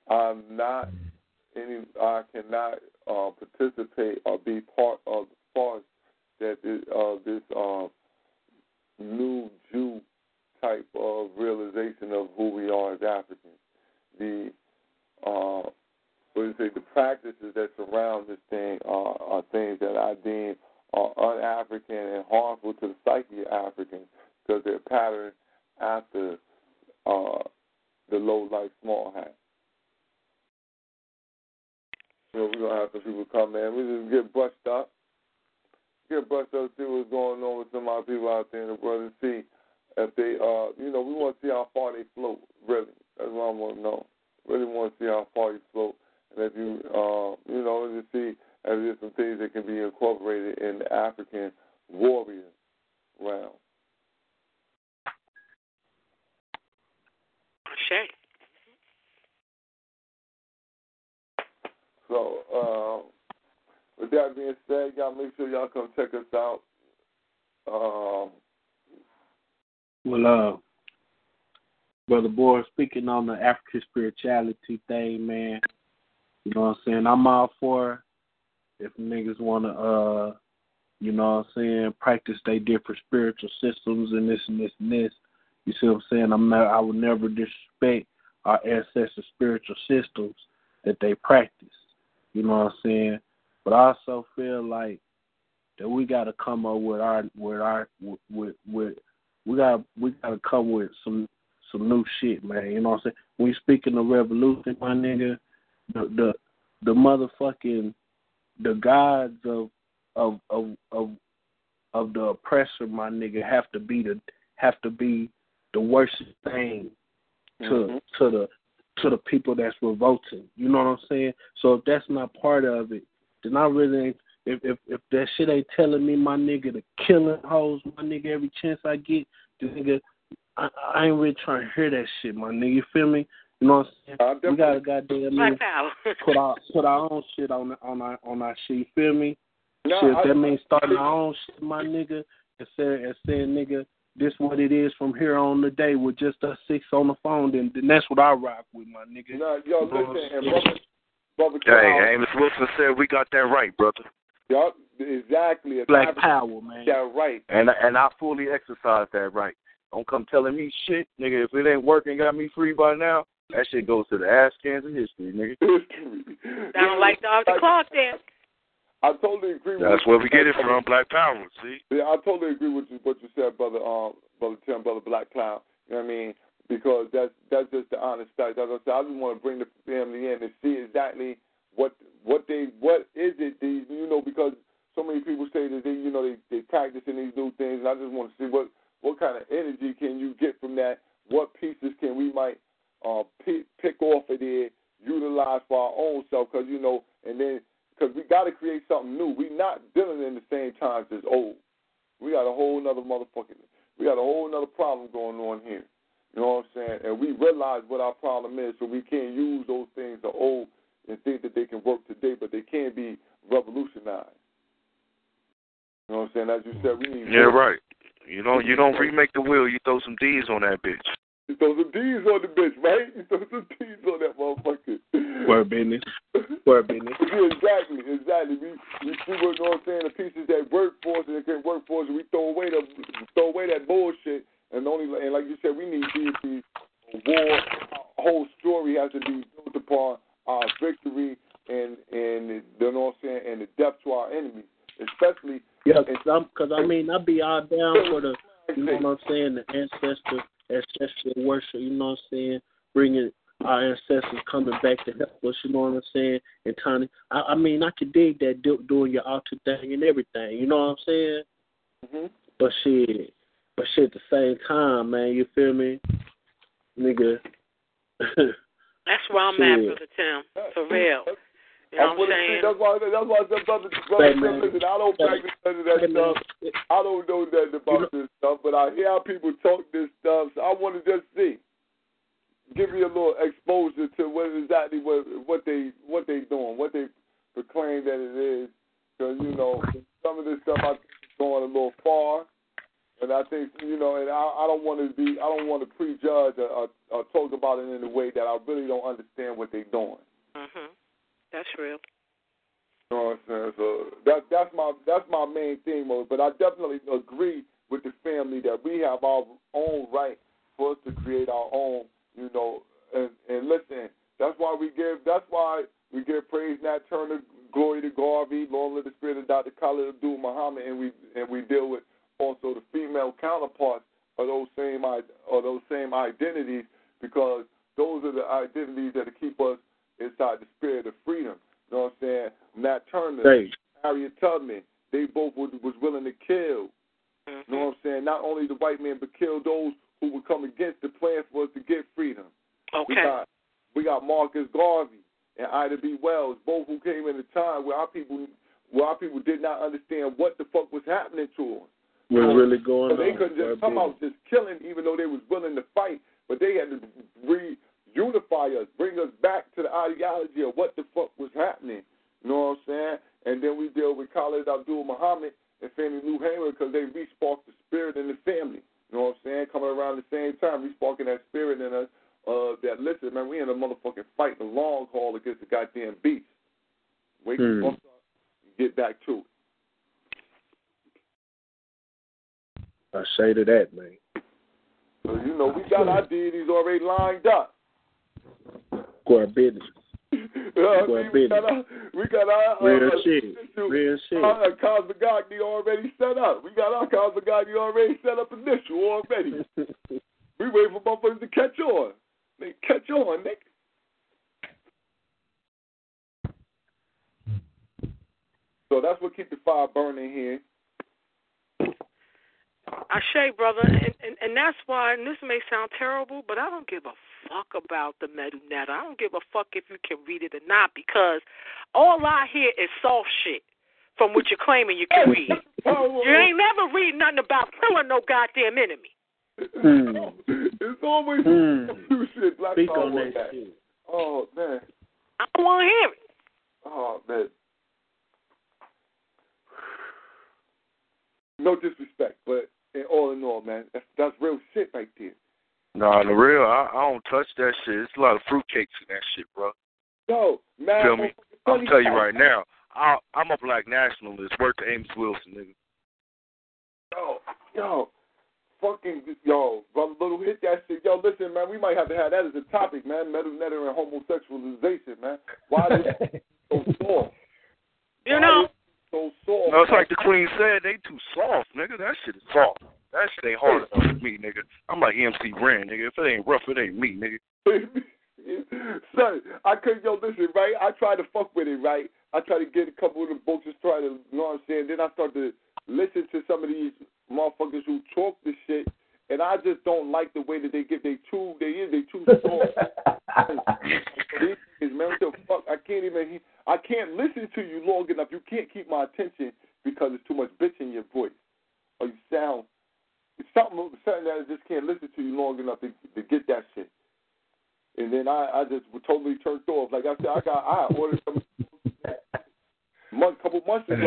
I cannot participate or be part of the farce that this new Jew type of realization of who we are as Africans. The practices that surround this thing are things that I deem are un-African and harmful to the psyche of Africans because they're patterned after the low-life small hat. We're going to have some people come in. We just get brushed up. See what's going on with some of our people out there in the world and see if they, we want to see how far they float, really. That's what I want to know. Really want to see how far you float. And if you, to see if there's some things that can be incorporated in the African warrior realm. Sure. So, with that being said, y'all make sure y'all come check us out. Brother Boy, speaking on the African spirituality thing, man, you know what I'm saying? I'm all for if niggas want to, practice their different spiritual systems and this and this and this. You see what I'm saying? I would never disrespect our ancestors' spiritual systems that they practice. You know what I'm saying? But I also feel like that we got to come up with we got to come with some new shit, man. You know what I'm saying? When you speaking of revolution, my nigga, the motherfucking the gods of the oppressor, my nigga, have to be the worst thing to the people that's revolting. You know what I'm saying? So if that's not part of it, then I really ain't. If that shit ain't telling me, my nigga, to killing hoes, my nigga, every chance I get, the nigga, I ain't really trying to hear that shit, my nigga. You feel me? You know what I'm saying? We gotta goddamn put our own shit on our shit. You feel me? No, shit, if that means starting our own shit, my nigga, and saying, nigga, this what it is from here on the day with just us six on the phone, then that's what I rock with, my nigga. No, yo, listen, brother hey, Amos Wilson said we got that right, brother. Yup, exactly. Black power, man. Yeah, right. And I fully exercise that right. Don't come telling me shit, nigga. If it ain't working, got me free by now, that shit goes to the ass cans of history, nigga. Sound like Dr. Clark then. I totally agree with you. That's where we get it from, Black Power, see? Yeah, I totally agree with what you said, brother Tim, brother Black Cloud. You know what I mean? Because that's just the honest fact. As I said, I just want to bring the family in and see exactly what is it, you know, because so many people say that they practicing these new things, and I just want to see what kind of energy can you get from that? What pieces can we might pick off of there, utilize for our own self? Because because we got to create something new. We're not dealing in the same times as old. We got a whole nother problem going on here. You know what I'm saying? And we realize what our problem is, so we can't use those things that are old and think that they can work today, but they can be revolutionized. You know what I'm saying? As you said, we need. Yeah, right. You don't remake the wheel. You throw some D's on that bitch. You throw some D's on the bitch, right? You throw some D's on that motherfucker. Word business. Yeah, exactly. We see what, you know what I'm saying, the pieces that work for us and that can work for us, and we throw away that bullshit. And like you said, we need deity. War, our whole story has to be built upon our victory and you know what I'm saying, and the death to our enemies, especially. Yeah, because I be all down for the, you know what I'm saying, the ancestral worship. You know what I'm saying, bringing our ancestors coming back to help us. You know what I'm saying, and Tony, I could dig that doing your altar thing and everything. You know what I'm saying? Mm-hmm. But shit, at the same time, man, you feel me, nigga? That's where I'm at, Brother Tim, for real. You know what I'm saying? That's why I said, brother Tim, listen, I don't practice none of that stuff. I don't know nothing about this stuff, but I hear how people talk this stuff, so I want to just see. Give me a little exposure to what they doing, what they proclaim that it is. Because, some of this stuff I think is going a little far. And I think, and I don't want to prejudge or talk about it in a way that I really don't understand what they're doing. Mhm. That's real. You know what I'm saying? So that's my main thing, but I definitely agree with the family that we have our own right for us to create our own, and listen, that's why we give praise, Nat Turner, glory to Garvey, long live the spirit of Dr. Khalid Abdul Muhammad, and we deal with also the female counterparts of those same identities, because those are the identities that keep us inside the spirit of freedom. You know what I'm saying? Nat Turner, Harriet Tubman, they both was willing to kill. You know what I'm saying? Not only the white man, but kill those who would come against the plan for us to get freedom. Okay. We got Marcus Garvey and Ida B. Wells, both who came in a time where our people did not understand what the fuck was happening to them. What's really going on? They couldn't just come out just killing, even though they was willing to fight, but they had to reunify us, bring us back to the ideology of what the fuck was happening. You know what I'm saying? And then we deal with Khalid Abdul Muhammad and Fannie Lou Hamer, because they re-sparked the spirit in the family. You know what I'm saying? Coming around the same time, re-sparking that spirit in us. That listen, man, we in a motherfucking fight, the long haul against the goddamn beast. Wake up and get back to it. I say to that, man. So, we got our deities already lined up. Go our business. We got our real shit. Our Cosmogony already set up. We got our Cosmogony already set up initial already. We wait for motherfuckers to catch And that's why, and this may sound terrible, but I don't give a fuck about the metal net. I don't give a fuck if you can read it or not, because all I hear is soft shit from what you're claiming you can read. You ain't never read nothing about killing no goddamn enemy. It's always shit. Black Speak Power on that that. shit. Oh, man. I don't want to hear it. Oh, man. No disrespect, but all in all, man, that's real shit right there. Nah, the real, I don't touch that shit. It's a lot of fruitcakes in that shit, bro. Yo, man. Feel me? I'm telling you right now, I'm a black nationalist. Work to Amos Wilson, nigga. Yo, fucking, Brother Little, hit that shit. Yo, listen, man, we might have to have that as a topic, man. Metal netter and homosexualization, man. Why is it so soft? You know? So soft. No, it's like the Queen said, they too soft, nigga. That shit is soft. That shit ain't hard enough for me, nigga. I'm like MC Ren, nigga. If it ain't rough, it ain't me, nigga. Son, listen, right? I try to fuck with it, right? I try to get a couple of the books, just try to, you know what I'm saying? Then I start to listen to some of these motherfuckers who talk this shit, and I just don't like the way that they get they too soft. Man, what the fuck? I can't listen to you long enough. You can't keep my attention because there's too much bitch in your voice. Or you sound something that I just can't listen to you long enough to get that shit. And then I just totally turned off. Like I said, I ordered some couple months ago.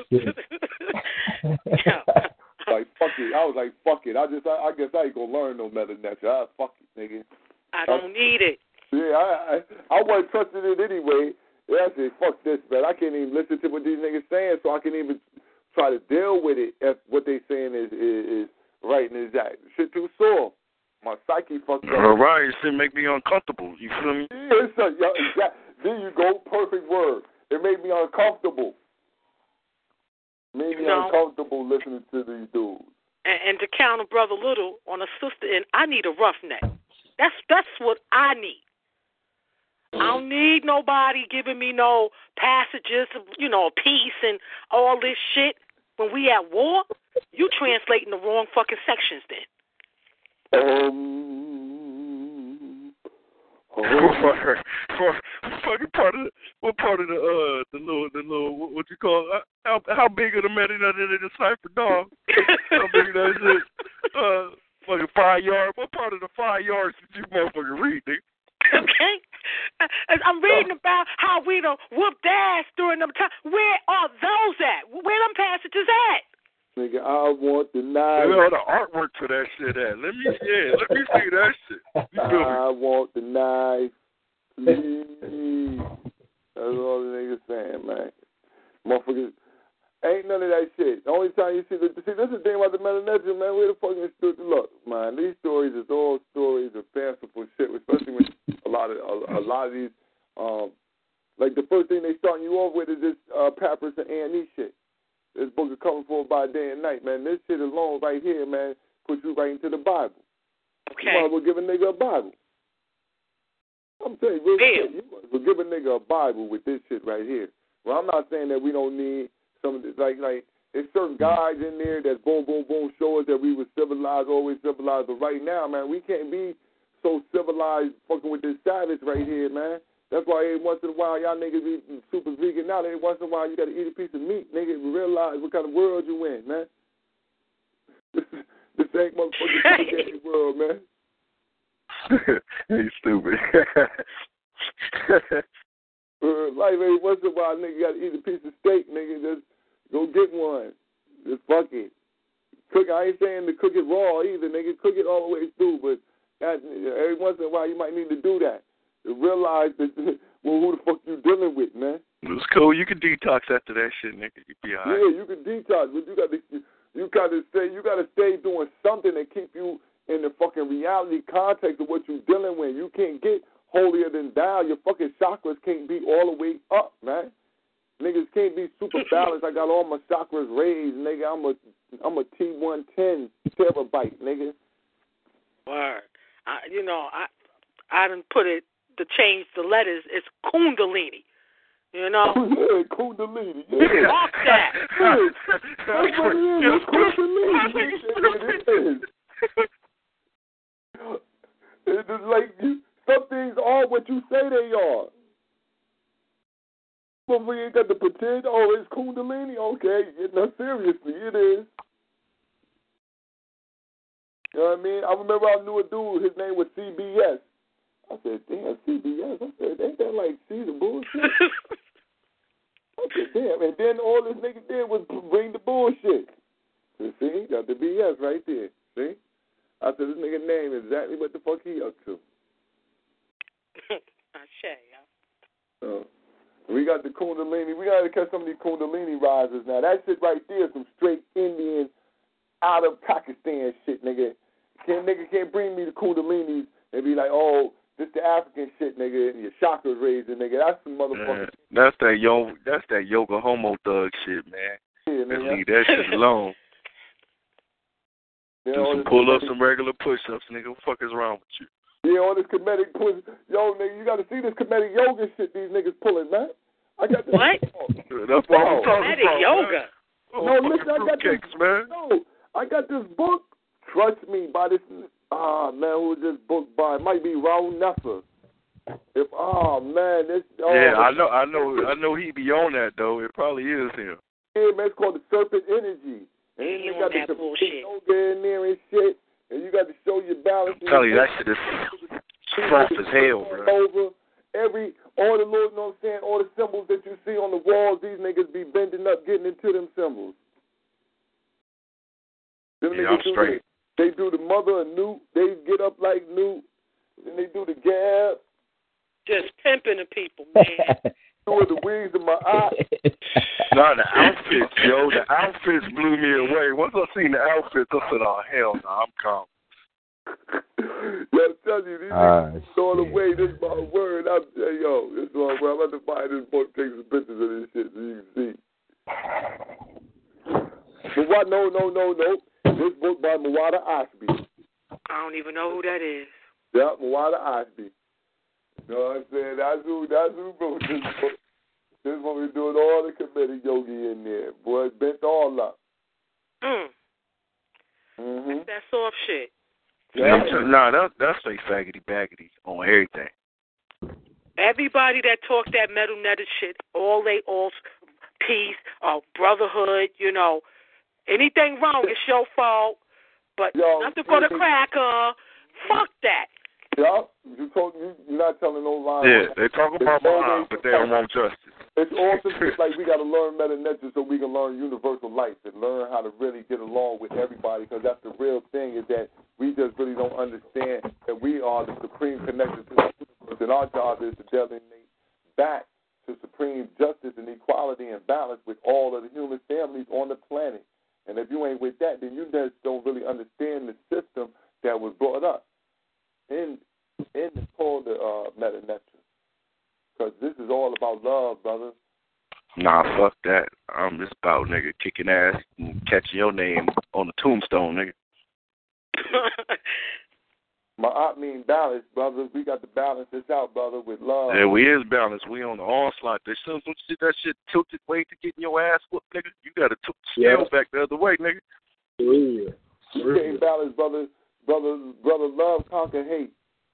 Like fuck it. I was like fuck it. I guess I ain't gonna learn no better than that. Fuck it, nigga. I don't need it. Yeah, I wasn't trusting it anyway. Yeah, I said, fuck this, man. I can't even listen to what these niggas saying, so I can even try to deal with it if what they saying is right and exact. Shit too sore. My psyche fucked up. All right, it make me uncomfortable. You feel me? Yeah, there you go. Perfect word. It made me uncomfortable. Made me uncomfortable listening to these dudes. And to counter Brother Little on a sister, and I need a roughneck. That's what I need. I don't need nobody giving me no passages, peace and all this shit. When we at war, you translating the wrong fucking sections then. Fucking what part of the little what you call how big of the meta that in the cipher, dog? How big that is? Fucking 5 yards. What part of the 5 yards did you motherfucking read, nigga? Okay. I'm reading about how we done whooped ass during them times. Where are those at? Where them passages at? Nigga, I want the knife. Where all the artwork for that shit at? Let me see that shit. I want the knife. Please. That's all the niggas saying, man. Motherfuckers. Ain't none of that shit. The only time you see this is the thing about the Melanesia, man. Where the fuck is look, man? These stories is all stories of fanciful shit, especially when a lot of these, like the first thing they starting you off with is this Papyrus and A&E shit. This book is coming for by day and night, man. This shit alone right here, man, puts you right into the Bible. Okay. You might as well give a nigga a Bible. I'm telling you, real shit. You might as well give a nigga a Bible with this shit right here. Well, I'm not saying that we don't need some of this, like there's certain guys in there that boom, show us that we were civilized, always civilized. But right now, man, we can't be so civilized fucking with this savage right here, man. That's why every once in a while y'all niggas be super vegan now. Every once in a while you got to eat a piece of meat, nigga, and realize what kind of world you in, man. This ain't motherfucking world, man. He's stupid. Like every once in a while, nigga, got to eat a piece of steak, nigga. Just go get one. Just fuck it. Cook. I ain't saying to cook it raw either, nigga. Cook it all the way through, but every once in a while you might need to do that. To realize that, well, who the fuck you dealing with, man? It's cool. You can detox after that shit, nigga. You be all right. Yeah, you can detox, but you gotta stay doing something that keep you in the fucking reality context of what you're dealing with. You can't get holier than thou. Your fucking chakras can't be all the way up, man. Niggas can't be super balanced. I got all my chakras raised, nigga. I'm a T110 terabyte, nigga. Word. I done put it to change the letters. It's Kundalini. You know? Yeah, Kundalini. Yeah. Fuck that. That's what it is. It's Kundalini. It is. It's just like some things are what you say they are. But you got to pretend, oh, it's Kundalini. Okay, no, seriously, it is. You know what I mean? I remember I knew a dude, his name was CBS. I said, damn, CBS. I said, ain't that like see the bullshit? I said, damn. And then all this nigga did was bring the bullshit. So, see, got the BS right there. See? I said, this nigga name is exactly what the fuck he up to. So, we got the Kundalini. We got to catch some of these Kundalini risers now. That shit right there is some straight Indian, out of Pakistan shit, nigga. Nigga can't bring me the Kundalinis and be like, oh, this the African shit, nigga, and your chakras raising, nigga. That's some motherfucker. That's that yoga homo thug shit, man. Yeah, Let's leave that shit alone. Do some pull-ups, some regular push-ups, nigga. What the fuck is wrong with you? Yeah, all this comedic push. Yo, nigga, you got to see this comedic yoga shit these niggas pulling, man. I got this. What? That's what I'm talking comedic about, yoga. Man. No, listen, I got this. Man. No, I got this book. Trust me, by this. Man, who is this book by? It might be Raul Nessa. Man, this. Yeah, I know he be on that though. It probably is him. Yeah, man, it's called the Serpent Energy. And you got that the bullshit. yoga in there and shit. And you got to show your balance. I'm telling you, that shit is soft as hell, bro. All the Lord, you know what I'm saying, all the symbols that you see on the walls, these niggas be bending up, getting into them symbols. Yeah, I'm straight. They do the mother of Newt. They get up like Newt. Then they do the gab. Just pimping the people, man. Doing the wings of my eye. Nah, the outfits, yo. The outfits blew me away. Once I seen the outfits, I said, oh, hell no, I'm calm. Yo, I'm telling you, these niggas throwing away. This is my word. This is my word. I'm about to buy this book, take some pictures of this shit so you can see. But what? No. This book by Muwada Ashby. I don't even know who that is. Yeah, Muwada Ashby. You know what I'm saying? That's who wrote this book. This is what we're doing all the comedic yogi in there. Boy, it bent all up. That's that soft shit. Yeah. Nah, that's straight faggoty baggity on everything. Everybody that talk that metal netted shit, all peace, brotherhood, you know, anything wrong, it's your fault. But nothing for the cracker. Fuck that. Yeah, you're not telling no lies. Yeah, they talk about Muhammad, but they don't want justice. It's awesome. It's like we got to learn meta nature so we can learn universal life and learn how to really get along with everybody, because that's the real thing, is that we just really don't understand that we are the supreme connection to the universe, and our job is to designate back to supreme justice and equality and balance with all of the human families on the planet. And if you ain't with that, then you just don't really understand the system that was brought up in the called the meta nature. Because this is all about love, brother. Nah, fuck that. It's about, nigga, kicking ass and catching your name on the tombstone, nigga. I mean balance, brother. We got to balance this out, brother, with love. Yeah, we is balanced. We on the onslaught. There's some shit, that shit tilted way to getting your ass whooped, nigga. You got to tilt the scale back the other way, nigga. You can't balance, brother. Brother, love conquer hate.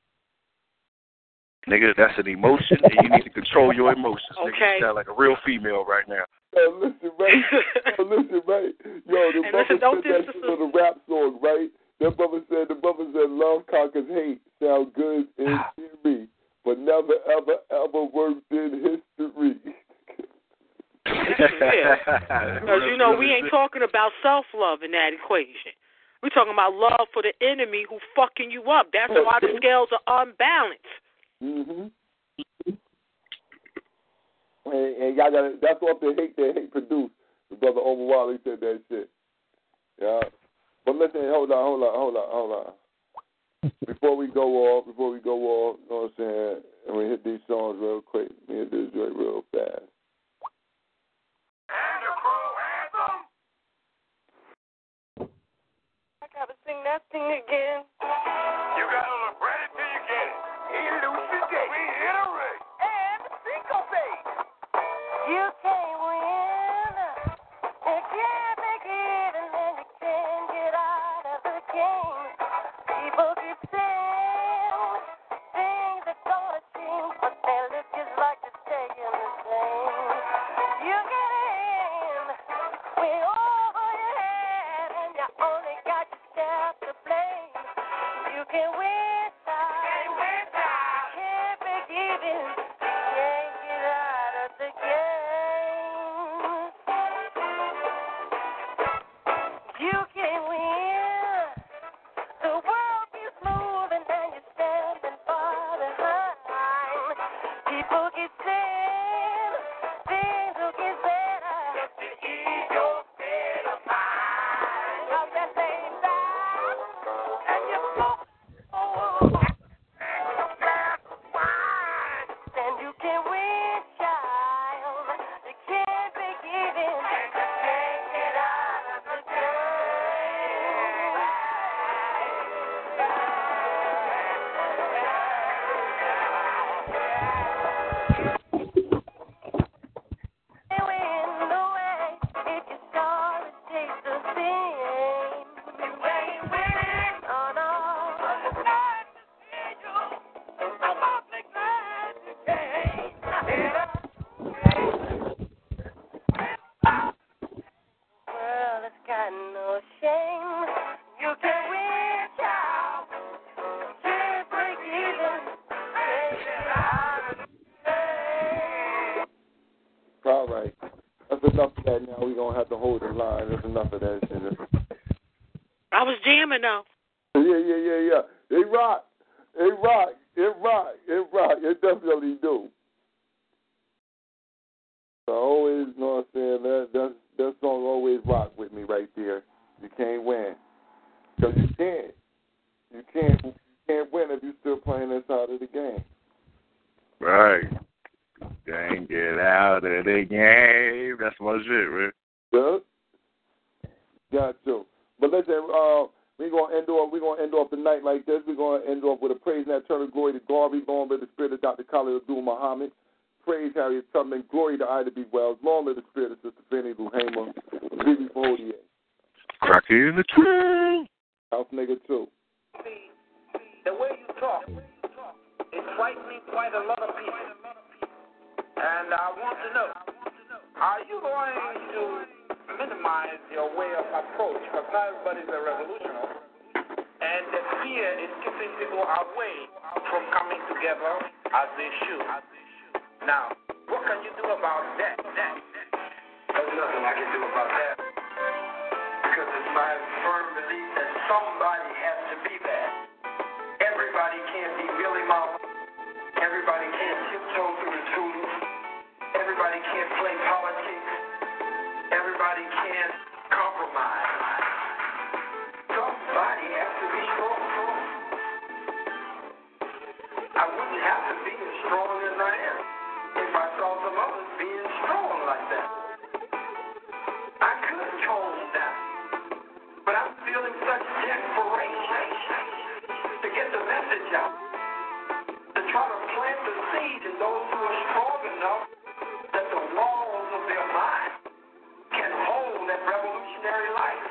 Nigga, that's an emotion, and you need to control your emotions. Okay. Nigga, you sound like a real female right now. Yo, listen, right? Yo, the brother said that shit on the rap song, right? The brother said, love conquers hate. Sound good in theory, but never, ever, ever worked in history. Because, you know, we ain't talking about self-love in that equation. We're talking about love for the enemy who fucking you up. That's why the scales are unbalanced. And y'all got that's what the hate produced. The brother Omar Wally said that shit. Yeah. But listen, hold on. Before we go off, you know what I'm saying? And we hit these songs real quick. We hit this joint real fast. And the crew anthem. I gotta sing that thing again. You gotta look ready till you get it. Elucidate. Reiterate. And syncopate. You can't win. You can't make it, and then you can't get out of the game. All right. That's enough of that now. We're going to have to hold the line. That's enough of that shit. I was jamming, though. Yeah. It rock. It definitely do. So I always, you know what I'm saying, that song always rock with me right there. You can't win. Because you can't. You can't win if you're still playing this side of the game. Right. Can't get out of the game. That's my shit, man. Good. Got you. But listen, we're gonna end off the night like this. We're gonna end off with a praise and eternal glory to God. We're going with the spirit of Dr. Khalid Abdul Muhammad. Praise Harriet Tubman. Glory to Ida B. Wells. Long live the spirit of Sister Fannie Lou Hamer. Vivi Faudier. Cracky in the tree. House nigga too. The way you talk is frightening quite a lot of people. And I want to know, are you going to minimize your way of approach? Because not everybody's a revolutionary. And the fear is keeping people away from coming together as they should. Now, what can you do about that? There's nothing I can do about that. Because it's my firm belief that somebody has to be there. Everybody can't be Billy Mama. Everybody can't tiptoe through the tulips. Everybody can't play politics. Everybody can't compromise. Somebody has to be strong. I wouldn't have to be as strong as I am if I saw some others being strong like that. I could tone down, but I'm feeling such desperation to get the message out, to try to plant the seed in those who are strong enough that the walls of their mind can hold that revolutionary life.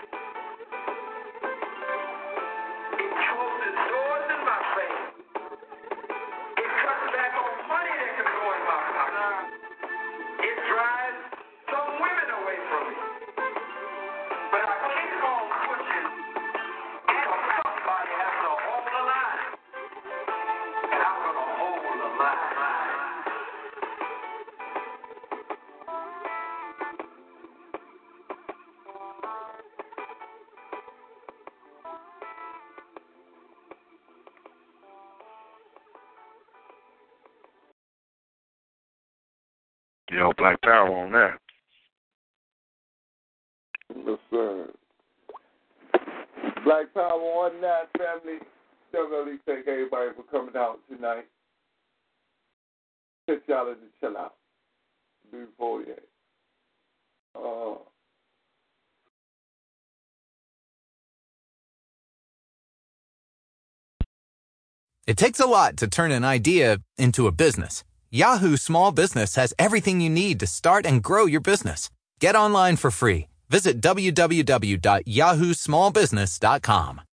It closes doors in my face. It cuts back on money that can go in my pocket. It drives some women away from me. But I keep on pushing because somebody has to hold the line. And I'm going to hold the line. Yo, Black Power on that. Listen. Black Power on that, family. Definitely thank everybody for coming out tonight. Pitch y'all to chill out. Before you. It takes a lot to turn an idea into a business. Yahoo Small Business has everything you need to start and grow your business. Get online for free. Visit www.yahoosmallbusiness.com.